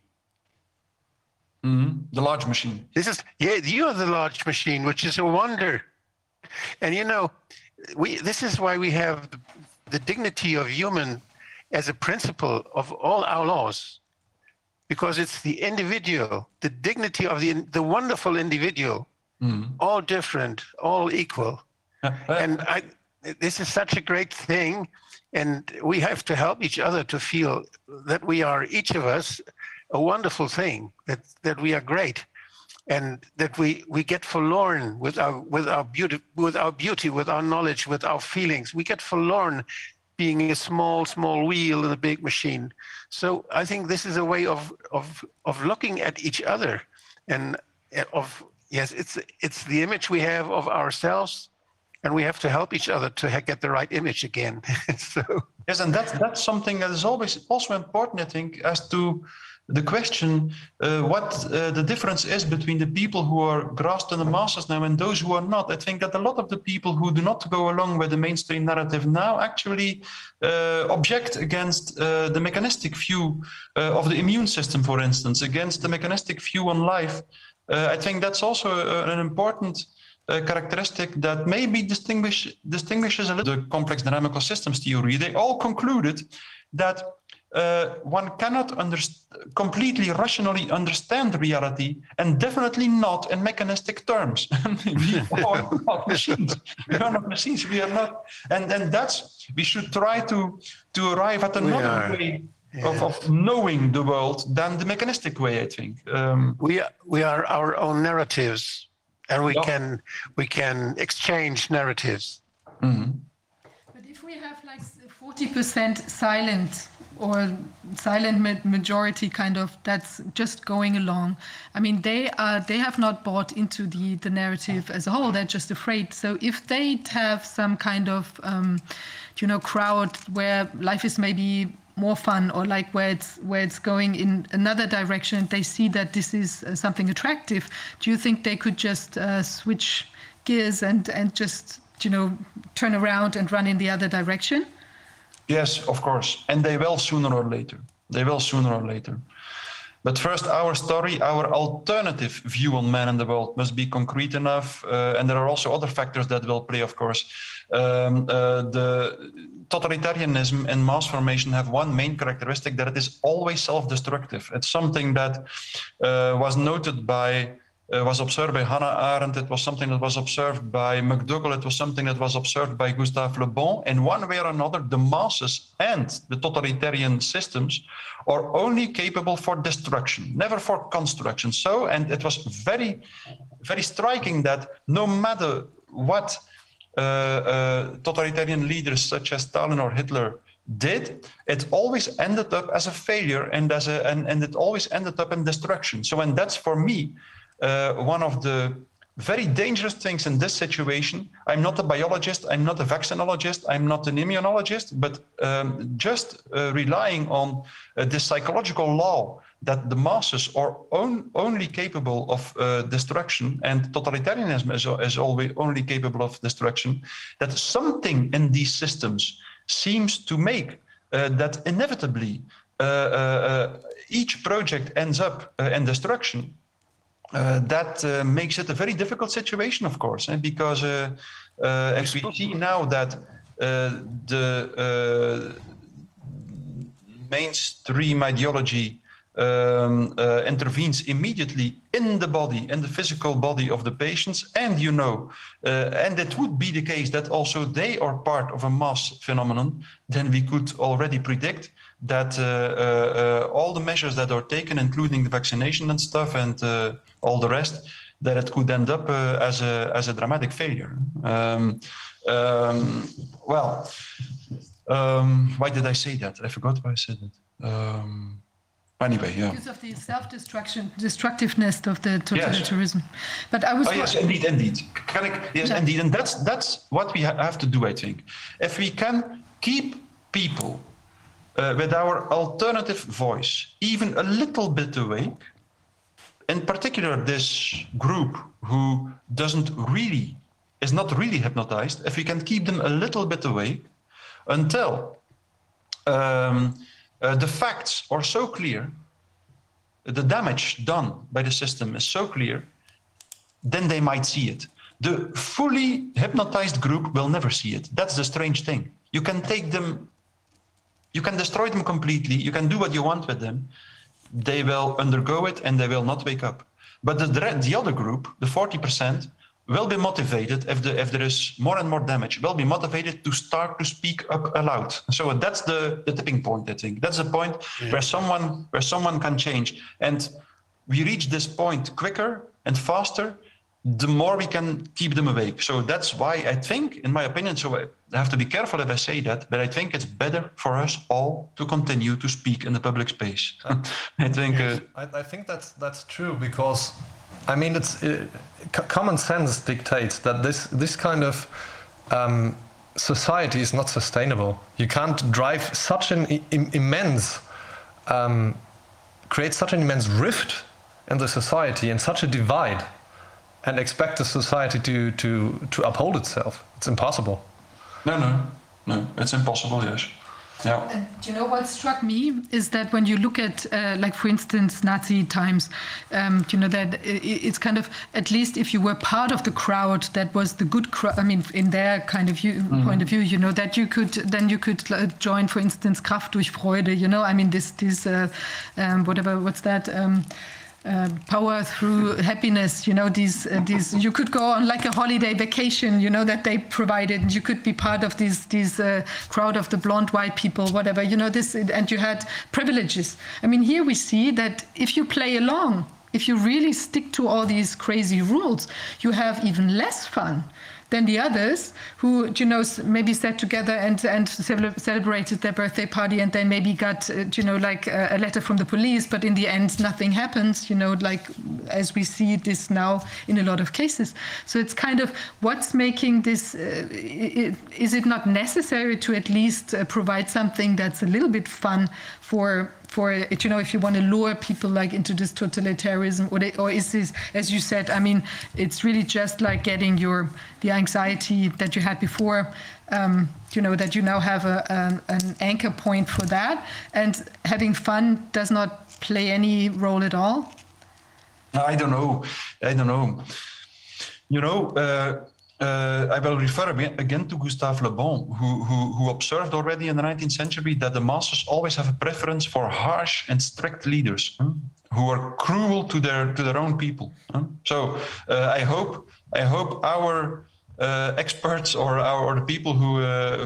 The large machine. You are the large machine, which is a wonder. And this is why we have the dignity of human as a principle of all our laws, because it's the individual, the dignity of the wonderful individual, all different, all equal. And this is such a great thing, and we have to help each other to feel that we are, each of us, a wonderful thing, that we are great, and that we get forlorn with our beauty, with our knowledge, with our feelings. We get forlorn being a small wheel in a big machine. So I think this is a way of looking at each other, and it's the image we have of ourselves, and we have to help each other to get the right image again. So yes, and that's something that is always also important, I think, as to the question what the difference is between the people who are grasped in the masses now and those who are not. I think that a lot of the people who do not go along with the mainstream narrative now actually object against the mechanistic view of the immune system, for instance, against the mechanistic view on life. I think that's also an important characteristic that maybe distinguishes a little the complex dynamical systems theory. They all concluded that one cannot completely rationally understand reality, and definitely not in mechanistic terms. We are not machines. We are not machines. We are not, and that's, we should try to arrive at another way of knowing the world than the mechanistic way, I think. We are our own narratives, and we can exchange narratives. Mm-hmm. But if we have like 40% silent or silent majority kind of that's just going along, I mean, they have not bought into the narrative as a whole. They're just afraid. So if they have some kind of crowd where life is maybe more fun, or like where it's going in another direction, they see that this is something attractive, do you think they could just switch gears and just turn around and run in the other direction? Yes, of course. And they will sooner or later. But first, our story, our alternative view on man and the world must be concrete enough. And there are also other factors that will play, of course. The totalitarianism and mass formation have one main characteristic, that it is always self-destructive. It's something that was observed by Hannah Arendt. It was something that was observed by McDougall. It was something that was observed by Gustave Le Bon. In one way or another, the masses and the totalitarian systems are only capable for destruction, never for construction. So, and it was very, very striking that no matter what totalitarian leaders such as Stalin or Hitler did, it always ended up as a failure, and it always ended up in destruction. So, and that's for me one of the very dangerous things in this situation. I'm not a biologist, I'm not a vaccinologist, I'm not an immunologist, but just relying on this psychological law that the masses are only capable of destruction, and totalitarianism is always only capable of destruction, that something in these systems seems to make that inevitably each project ends up in destruction. That makes it a very difficult situation, of course, because as we see now that the mainstream ideology intervenes immediately in the body, in the physical body of the patients, and and it would be the case that also they are part of a mass phenomenon, then we could already predict that all the measures that are taken, including the vaccination and stuff and all the rest, that it could end up as a dramatic failure. Why did I say that? I forgot why I said it. Anyway, yeah. Because of the self-destructiveness of the totalitarianism. Yes. But I was. Oh, yes, indeed. Indeed, and that's what we have to do, I think. If we can keep people with our alternative voice even a little bit awake, in particular this group who is not really hypnotized, if we can keep them a little bit awake until the facts are so clear, the damage done by the system is so clear, then they might see it. The fully hypnotized group will never see it. That's the strange thing. You can take them, you can destroy them completely, you can do what you want with them. They will undergo it and they will not wake up. But the other group, the 40%, will be motivated if there is more and more damage, will be motivated to start to speak up aloud. So that's the tipping point, I think. That's the point where someone can change. And we reach this point quicker and faster, the more we can keep them awake. So that's why I think, in my opinion, so I have to be careful if I say that, but I think it's better for us all to continue to speak in the public space. I think I think that's true, because I mean, it's common sense dictates that this kind of society is not sustainable. You can't drive such an immense, create such an immense rift in the society and such a divide, and expect the society to uphold itself. It's impossible. No, it's impossible. Yes. Yeah. And you know what struck me is that when you look at, like for instance, Nazi times, you know that it's kind of, at least if you were part of the crowd, that was the good crowd. I mean, in their kind of point of view, you know, that you could join, for instance, Kraft durch Freude. You know, I mean, this what's that? Power through happiness, you know, these you could go on like a holiday vacation, you know, that they provided. You could be part of these crowd of the blonde white people, whatever, you know, this, and you had privileges. I mean, here we see that if you play along, if you really stick to all these crazy rules, you have even less fun than the others who, you know, maybe sat together and celebrated their birthday party, and then maybe got, you know, like a letter from the police, but in the end nothing happens, you know, like as we see this now in a lot of cases. So it's kind of what's making this, is it not necessary to at least provide something that's a little bit fun for it, you know, if you want to lure people like into this totalitarianism, or is this, as you said, I mean, it's really just like getting the anxiety that you had before, you know, that you now have an anchor point for that, and having fun does not play any role at all? I don't know. You know, I will refer again to Gustave Le Bon, who observed already in the 19th century that the masses always have a preference for harsh and strict leaders who are cruel to their own people. So I hope our experts or the people who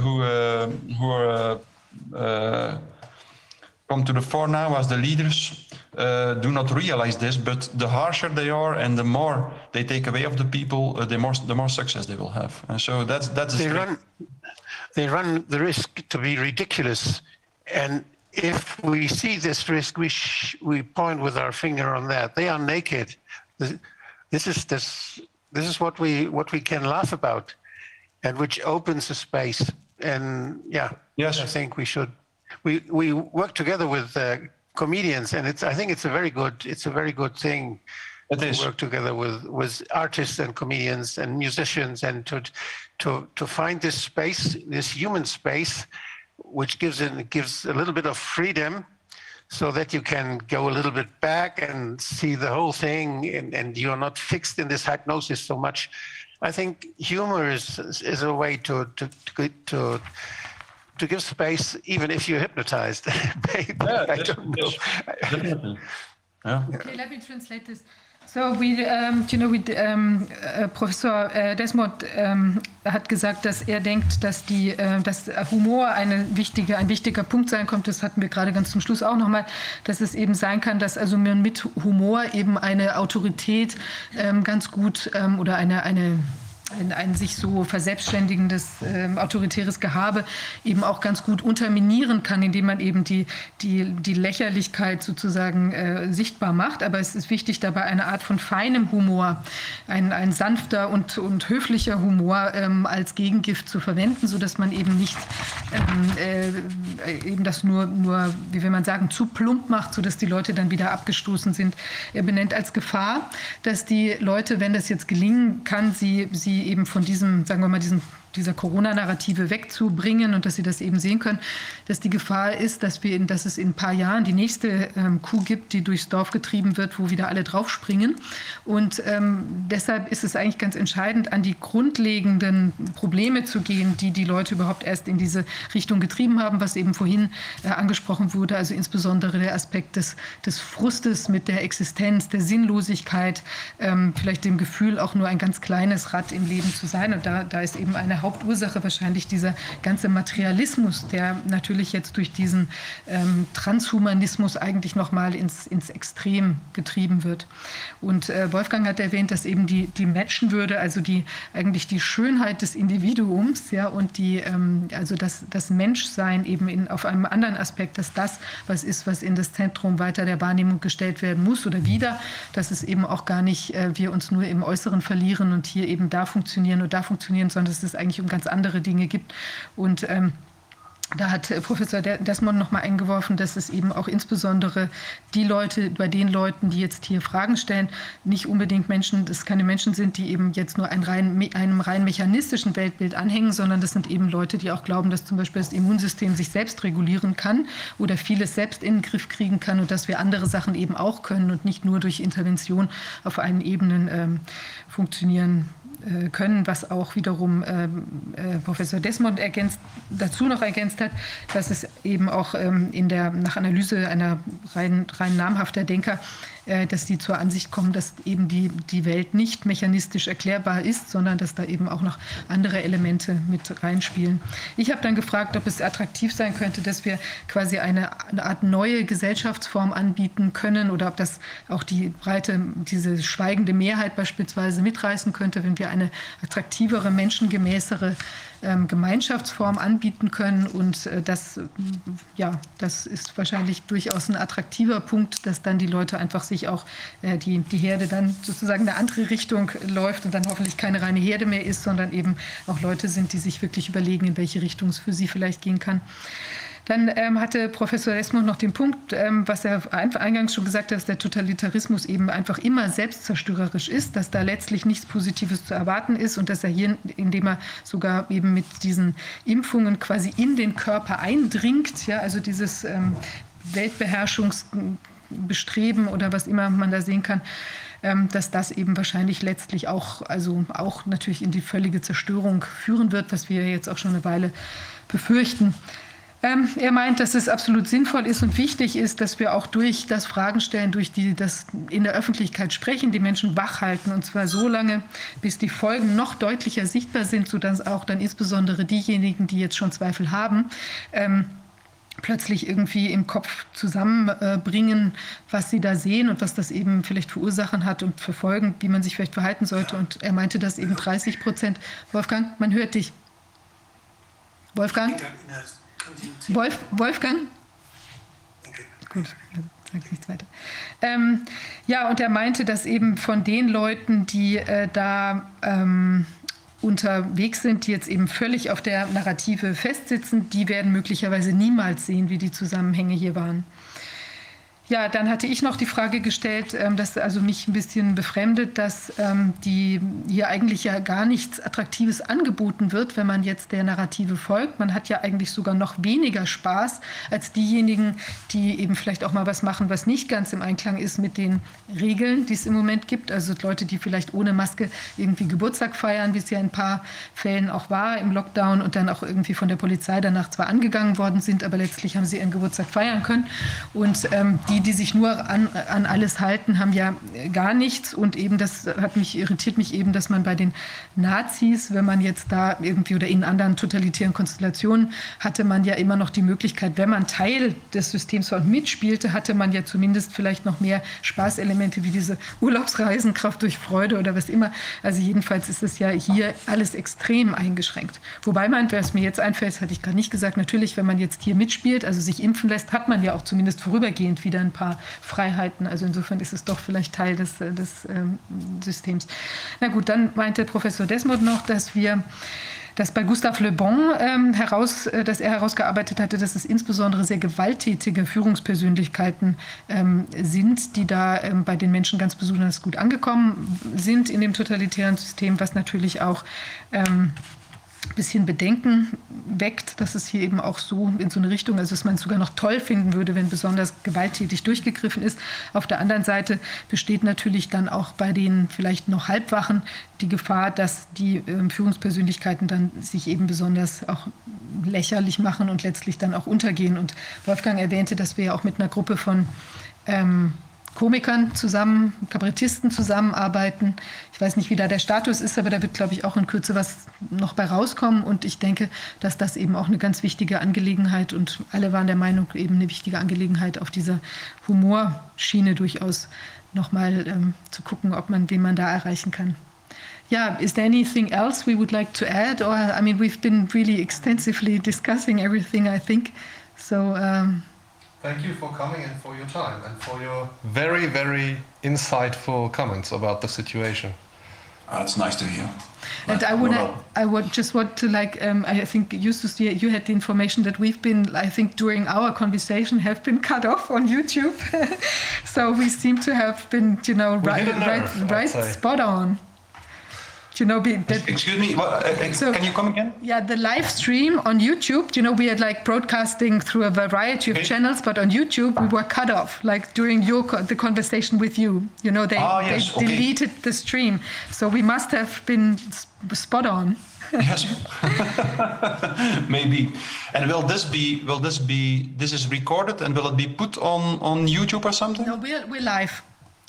come to the fore now as the leaders do not realize this, but the harsher they are and the more they take away of the people, the more success they will have. And so that's they run the risk to be ridiculous, and if we see this risk, we point with our finger on that. They are naked. This is what we can laugh about, and which opens a space. And yes, I think we should. We work together with comedians, and I think it's a very good thing to work together with artists and comedians and musicians, and to find this space, this human space, which gives a little bit of freedom, so that you can go a little bit back and see the whole thing, and you're not fixed in this hypnosis so much. I think humor is a way to give space, even if you're hypnotized. I don't know. Yeah. Okay, let me translate this. So Professor Desmond hat gesagt, dass er denkt, dass Humor ein wichtiger Punkt sein kommt. Das hatten wir gerade ganz zum Schluss auch nochmal, dass es eben sein kann, dass also man mit Humor eben eine Autorität ganz gut oder eine ein sich so verselbstständigendes autoritäres Gehabe eben auch ganz gut unterminieren kann, indem man eben die Lächerlichkeit sozusagen sichtbar macht. Aber es ist wichtig, dabei eine Art von feinem Humor, ein sanfter und höflicher Humor als Gegengift zu verwenden, sodass man eben nicht eben das nur, wie will man sagen, zu plump macht, sodass die Leute dann wieder abgestoßen sind. Er benennt als Gefahr, dass die Leute, wenn das jetzt gelingen kann, sie eben von diesem, sagen wir mal, dieser Corona-Narrative wegzubringen und dass sie das eben sehen können, dass die Gefahr ist, dass es in ein paar Jahren die nächste Kuh gibt, die durchs Dorf getrieben wird, wo wieder alle draufspringen. Und deshalb ist es eigentlich ganz entscheidend, an die grundlegenden Probleme zu gehen, die Leute überhaupt erst in diese Richtung getrieben haben, was eben vorhin angesprochen wurde, also insbesondere der Aspekt des Frustes mit der Existenz, der Sinnlosigkeit, vielleicht dem Gefühl, auch nur ein ganz kleines Rad im Leben zu sein. Und da ist eben eine Hauptursache wahrscheinlich dieser ganze Materialismus, der natürlich jetzt durch diesen Transhumanismus eigentlich nochmal ins Extrem getrieben wird. Und Wolfgang hat erwähnt, dass eben die Menschenwürde, also eigentlich die Schönheit des Individuums, ja, und also das Menschsein eben auf einem anderen Aspekt, dass das was ist, was in das Zentrum weiter der Wahrnehmung gestellt werden muss oder wieder, dass es eben auch gar nicht wir uns nur im Äußeren verlieren und hier eben da funktionieren, sondern dass es eigentlich um ganz andere Dinge gibt. Und da hat Professor Desmond noch mal eingeworfen, dass es eben auch insbesondere bei den Leuten, die jetzt hier Fragen stellen, nicht unbedingt keine Menschen sind, die eben jetzt nur einem rein mechanistischen Weltbild anhängen, sondern das sind eben Leute, die auch glauben, dass zum Beispiel das Immunsystem sich selbst regulieren kann oder vieles selbst in den Griff kriegen kann und dass wir andere Sachen eben auch können und nicht nur durch Intervention auf allen Ebenen funktionieren können, was auch wiederum Professor Desmond dazu noch ergänzt hat, dass es eben auch nach Analyse einer rein namhafter Denker, dass die zur Ansicht kommen, dass eben die Welt nicht mechanistisch erklärbar ist, sondern dass da eben auch noch andere Elemente mit reinspielen. Ich habe dann gefragt, ob es attraktiv sein könnte, dass wir quasi eine Art neue Gesellschaftsform anbieten können oder ob das auch diese schweigende Mehrheit beispielsweise mitreißen könnte, wenn wir eine attraktivere, menschengemäßere Gemeinschaftsform anbieten können. Und das ist wahrscheinlich durchaus ein attraktiver Punkt, dass dann die Leute einfach sich auch die Herde dann sozusagen in eine andere Richtung läuft und dann hoffentlich keine reine Herde mehr ist, sondern eben auch Leute sind, die sich wirklich überlegen, in welche Richtung es für sie vielleicht gehen kann. Dann hatte Professor Desmond noch den Punkt, was er eingangs schon gesagt hat, dass der Totalitarismus eben einfach immer selbstzerstörerisch ist, dass da letztlich nichts Positives zu erwarten ist und dass er hier, indem er sogar eben mit diesen Impfungen quasi in den Körper eindringt, ja, also dieses Weltbeherrschungsbestreben oder was immer man da sehen kann, dass das eben wahrscheinlich letztlich auch natürlich in die völlige Zerstörung führen wird, was wir jetzt auch schon eine Weile befürchten. Er meint, dass es absolut sinnvoll ist und wichtig ist, dass wir auch durch das Fragen stellen, durch das in der Öffentlichkeit sprechen, die Menschen wach halten. Und zwar so lange, bis die Folgen noch deutlicher sichtbar sind, sodass auch dann insbesondere diejenigen, die jetzt schon Zweifel haben, plötzlich irgendwie im Kopf zusammenbringen, was sie da sehen und was das eben vielleicht für Ursachen hat und für Folgen, wie man sich vielleicht verhalten sollte. Und er meinte, dass eben 30%. Wolfgang, man hört dich. Wolfgang? Wolfgang? Gut, sage ich nichts weiter. Und er meinte, dass eben von den Leuten, die da unterwegs sind, die jetzt eben völlig auf der Narrative festsitzen, die werden möglicherweise niemals sehen, wie die Zusammenhänge hier waren. Ja, dann hatte ich noch die Frage gestellt, dass also mich ein bisschen befremdet, dass hier eigentlich ja gar nichts Attraktives angeboten wird, wenn man jetzt der Narrative folgt. Man hat ja eigentlich sogar noch weniger Spaß als diejenigen, die eben vielleicht auch mal was machen, was nicht ganz im Einklang ist mit den Regeln, die es im Moment gibt. Also Leute, die vielleicht ohne Maske irgendwie Geburtstag feiern, wie es ja in ein paar Fällen auch war im Lockdown und dann auch irgendwie von der Polizei danach zwar angegangen worden sind, aber letztlich haben sie ihren Geburtstag feiern können. Und die die sich nur an alles halten, haben ja gar nichts. Und eben das irritiert mich eben, dass man bei den Nazis, wenn man jetzt da irgendwie oder in anderen totalitären Konstellationen, hatte man ja immer noch die Möglichkeit, wenn man Teil des Systems war und mitspielte, hatte man ja zumindest vielleicht noch mehr Spaßelemente wie diese Urlaubsreisen, Kraft durch Freude oder was immer. Also jedenfalls ist es ja hier alles extrem eingeschränkt. Wobei man, was mir jetzt einfällt, das hatte ich gerade nicht gesagt, natürlich, wenn man jetzt hier mitspielt, also sich impfen lässt, hat man ja auch zumindest vorübergehend wieder ein paar Freiheiten. Also insofern ist es doch vielleicht Teil des Systems. Na gut, dann meinte Professor Desmond noch, dass bei Gustave Le Bon dass er herausgearbeitet hatte, dass es insbesondere sehr gewalttätige Führungspersönlichkeiten sind, die da bei den Menschen ganz besonders gut angekommen sind in dem totalitären System, was natürlich auch ein bisschen Bedenken weckt, dass es hier eben auch so in so eine Richtung, also dass man es sogar noch toll finden würde, wenn besonders gewalttätig durchgegriffen ist. Auf der anderen Seite besteht natürlich dann auch bei den vielleicht noch Halbwachen die Gefahr, dass die Führungspersönlichkeiten dann sich eben besonders auch lächerlich machen und letztlich dann auch untergehen. Und Wolfgang erwähnte, dass wir ja auch mit einer Gruppe von Komikern zusammen, Kabarettisten zusammenarbeiten. Ich weiß nicht, wie da der Status ist, aber da wird, glaube ich, auch in Kürze was noch bei rauskommen. Und ich denke, dass das eben auch eine ganz wichtige Angelegenheit und alle waren der Meinung, eben eine wichtige Angelegenheit auf dieser Humorschiene durchaus nochmal zu gucken, wen man da erreichen kann. Yeah, is there anything else we would like to add? Or, I mean, we've been really extensively discussing everything, I think. So, thank you for coming and for your time and for your very, very insightful comments about the situation. It's nice to hear. And I would just want to I think Justus, you had the information that we've been, I think during our conversation, have been cut off on YouTube. So we seem to have been, right spot on. Excuse me, can you come again? Yeah, the live stream on YouTube, we had broadcasting through a variety of channels, but on YouTube we were cut off, during the conversation with you. They deleted the stream. So we must have been spot on. Yes, maybe. And this is recorded and will it be put on YouTube or something? No, we're live.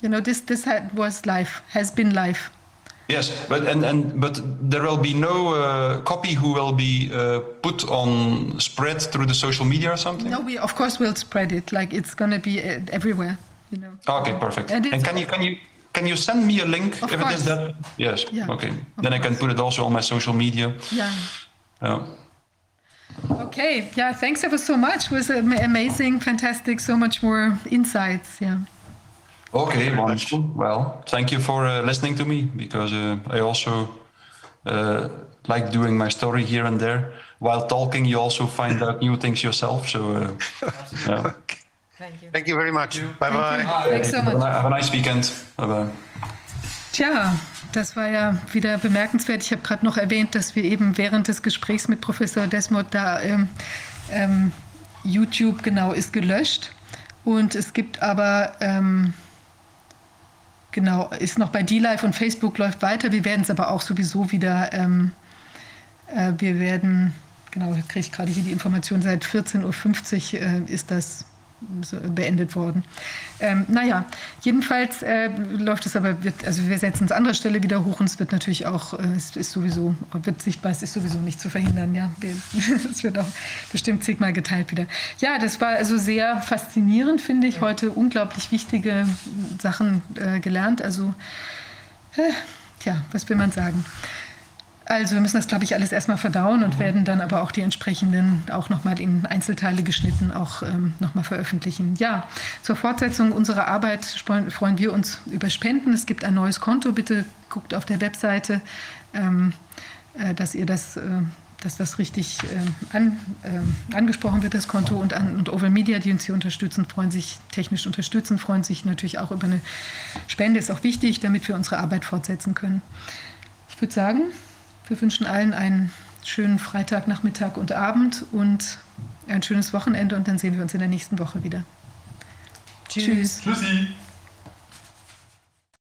Has been live. Yes, but there will be no copy who will be spread through the social media or something? No, we of course will spread it. It's going to be everywhere. Okay, perfect. And can you send me a link if it is that? Yes. Yeah, okay. Then I can put it also on my social media. Yeah. Okay. Yeah. Thanks ever so much. It was amazing, fantastic. So much more insights. Yeah. Okay, wonderful. Well, thank you for listening to me, because I also like doing my story here and there. While talking, you also find out new things yourself. So, yeah. Thank you. Thank you very much. Bye-bye. Thanks so much. Have a nice weekend. Bye-bye. Tja, das war ja wieder bemerkenswert. Ich habe gerade noch erwähnt, dass wir eben während des Gesprächs mit Professor Desmond da YouTube ist gelöscht. Und es gibt aber... ist noch bei DLive und Facebook läuft weiter. Wir werden es aber auch sowieso wieder, kriege ich gerade hier die Information, seit 14:50 Uhr ist das beendet worden. Jedenfalls läuft es aber, wir setzen es an anderer Stelle wieder hoch und es wird natürlich auch, wird sichtbar, es ist sowieso nicht zu verhindern, ja. Es wird auch bestimmt zigmal geteilt wieder. Ja, das war also sehr faszinierend, finde ich, heute unglaublich wichtige Sachen gelernt, also, was will man sagen? Also wir müssen das, glaube ich, alles erstmal verdauen und werden dann aber auch die entsprechenden, auch nochmal in Einzelteile geschnitten, auch nochmal veröffentlichen. Ja, zur Fortsetzung unserer Arbeit freuen wir uns über Spenden. Es gibt ein neues Konto. Bitte guckt auf der Webseite, dass das richtig angesprochen wird, das Konto. Und Oval Media, die uns hier technisch unterstützen, freuen sich natürlich auch über eine Spende. Ist auch wichtig, damit wir unsere Arbeit fortsetzen können. Ich würde sagen, wir wünschen allen einen schönen Freitag, Nachmittag und Abend und ein schönes Wochenende und dann sehen wir uns in der nächsten Woche wieder. Tschüss. Tschüssi.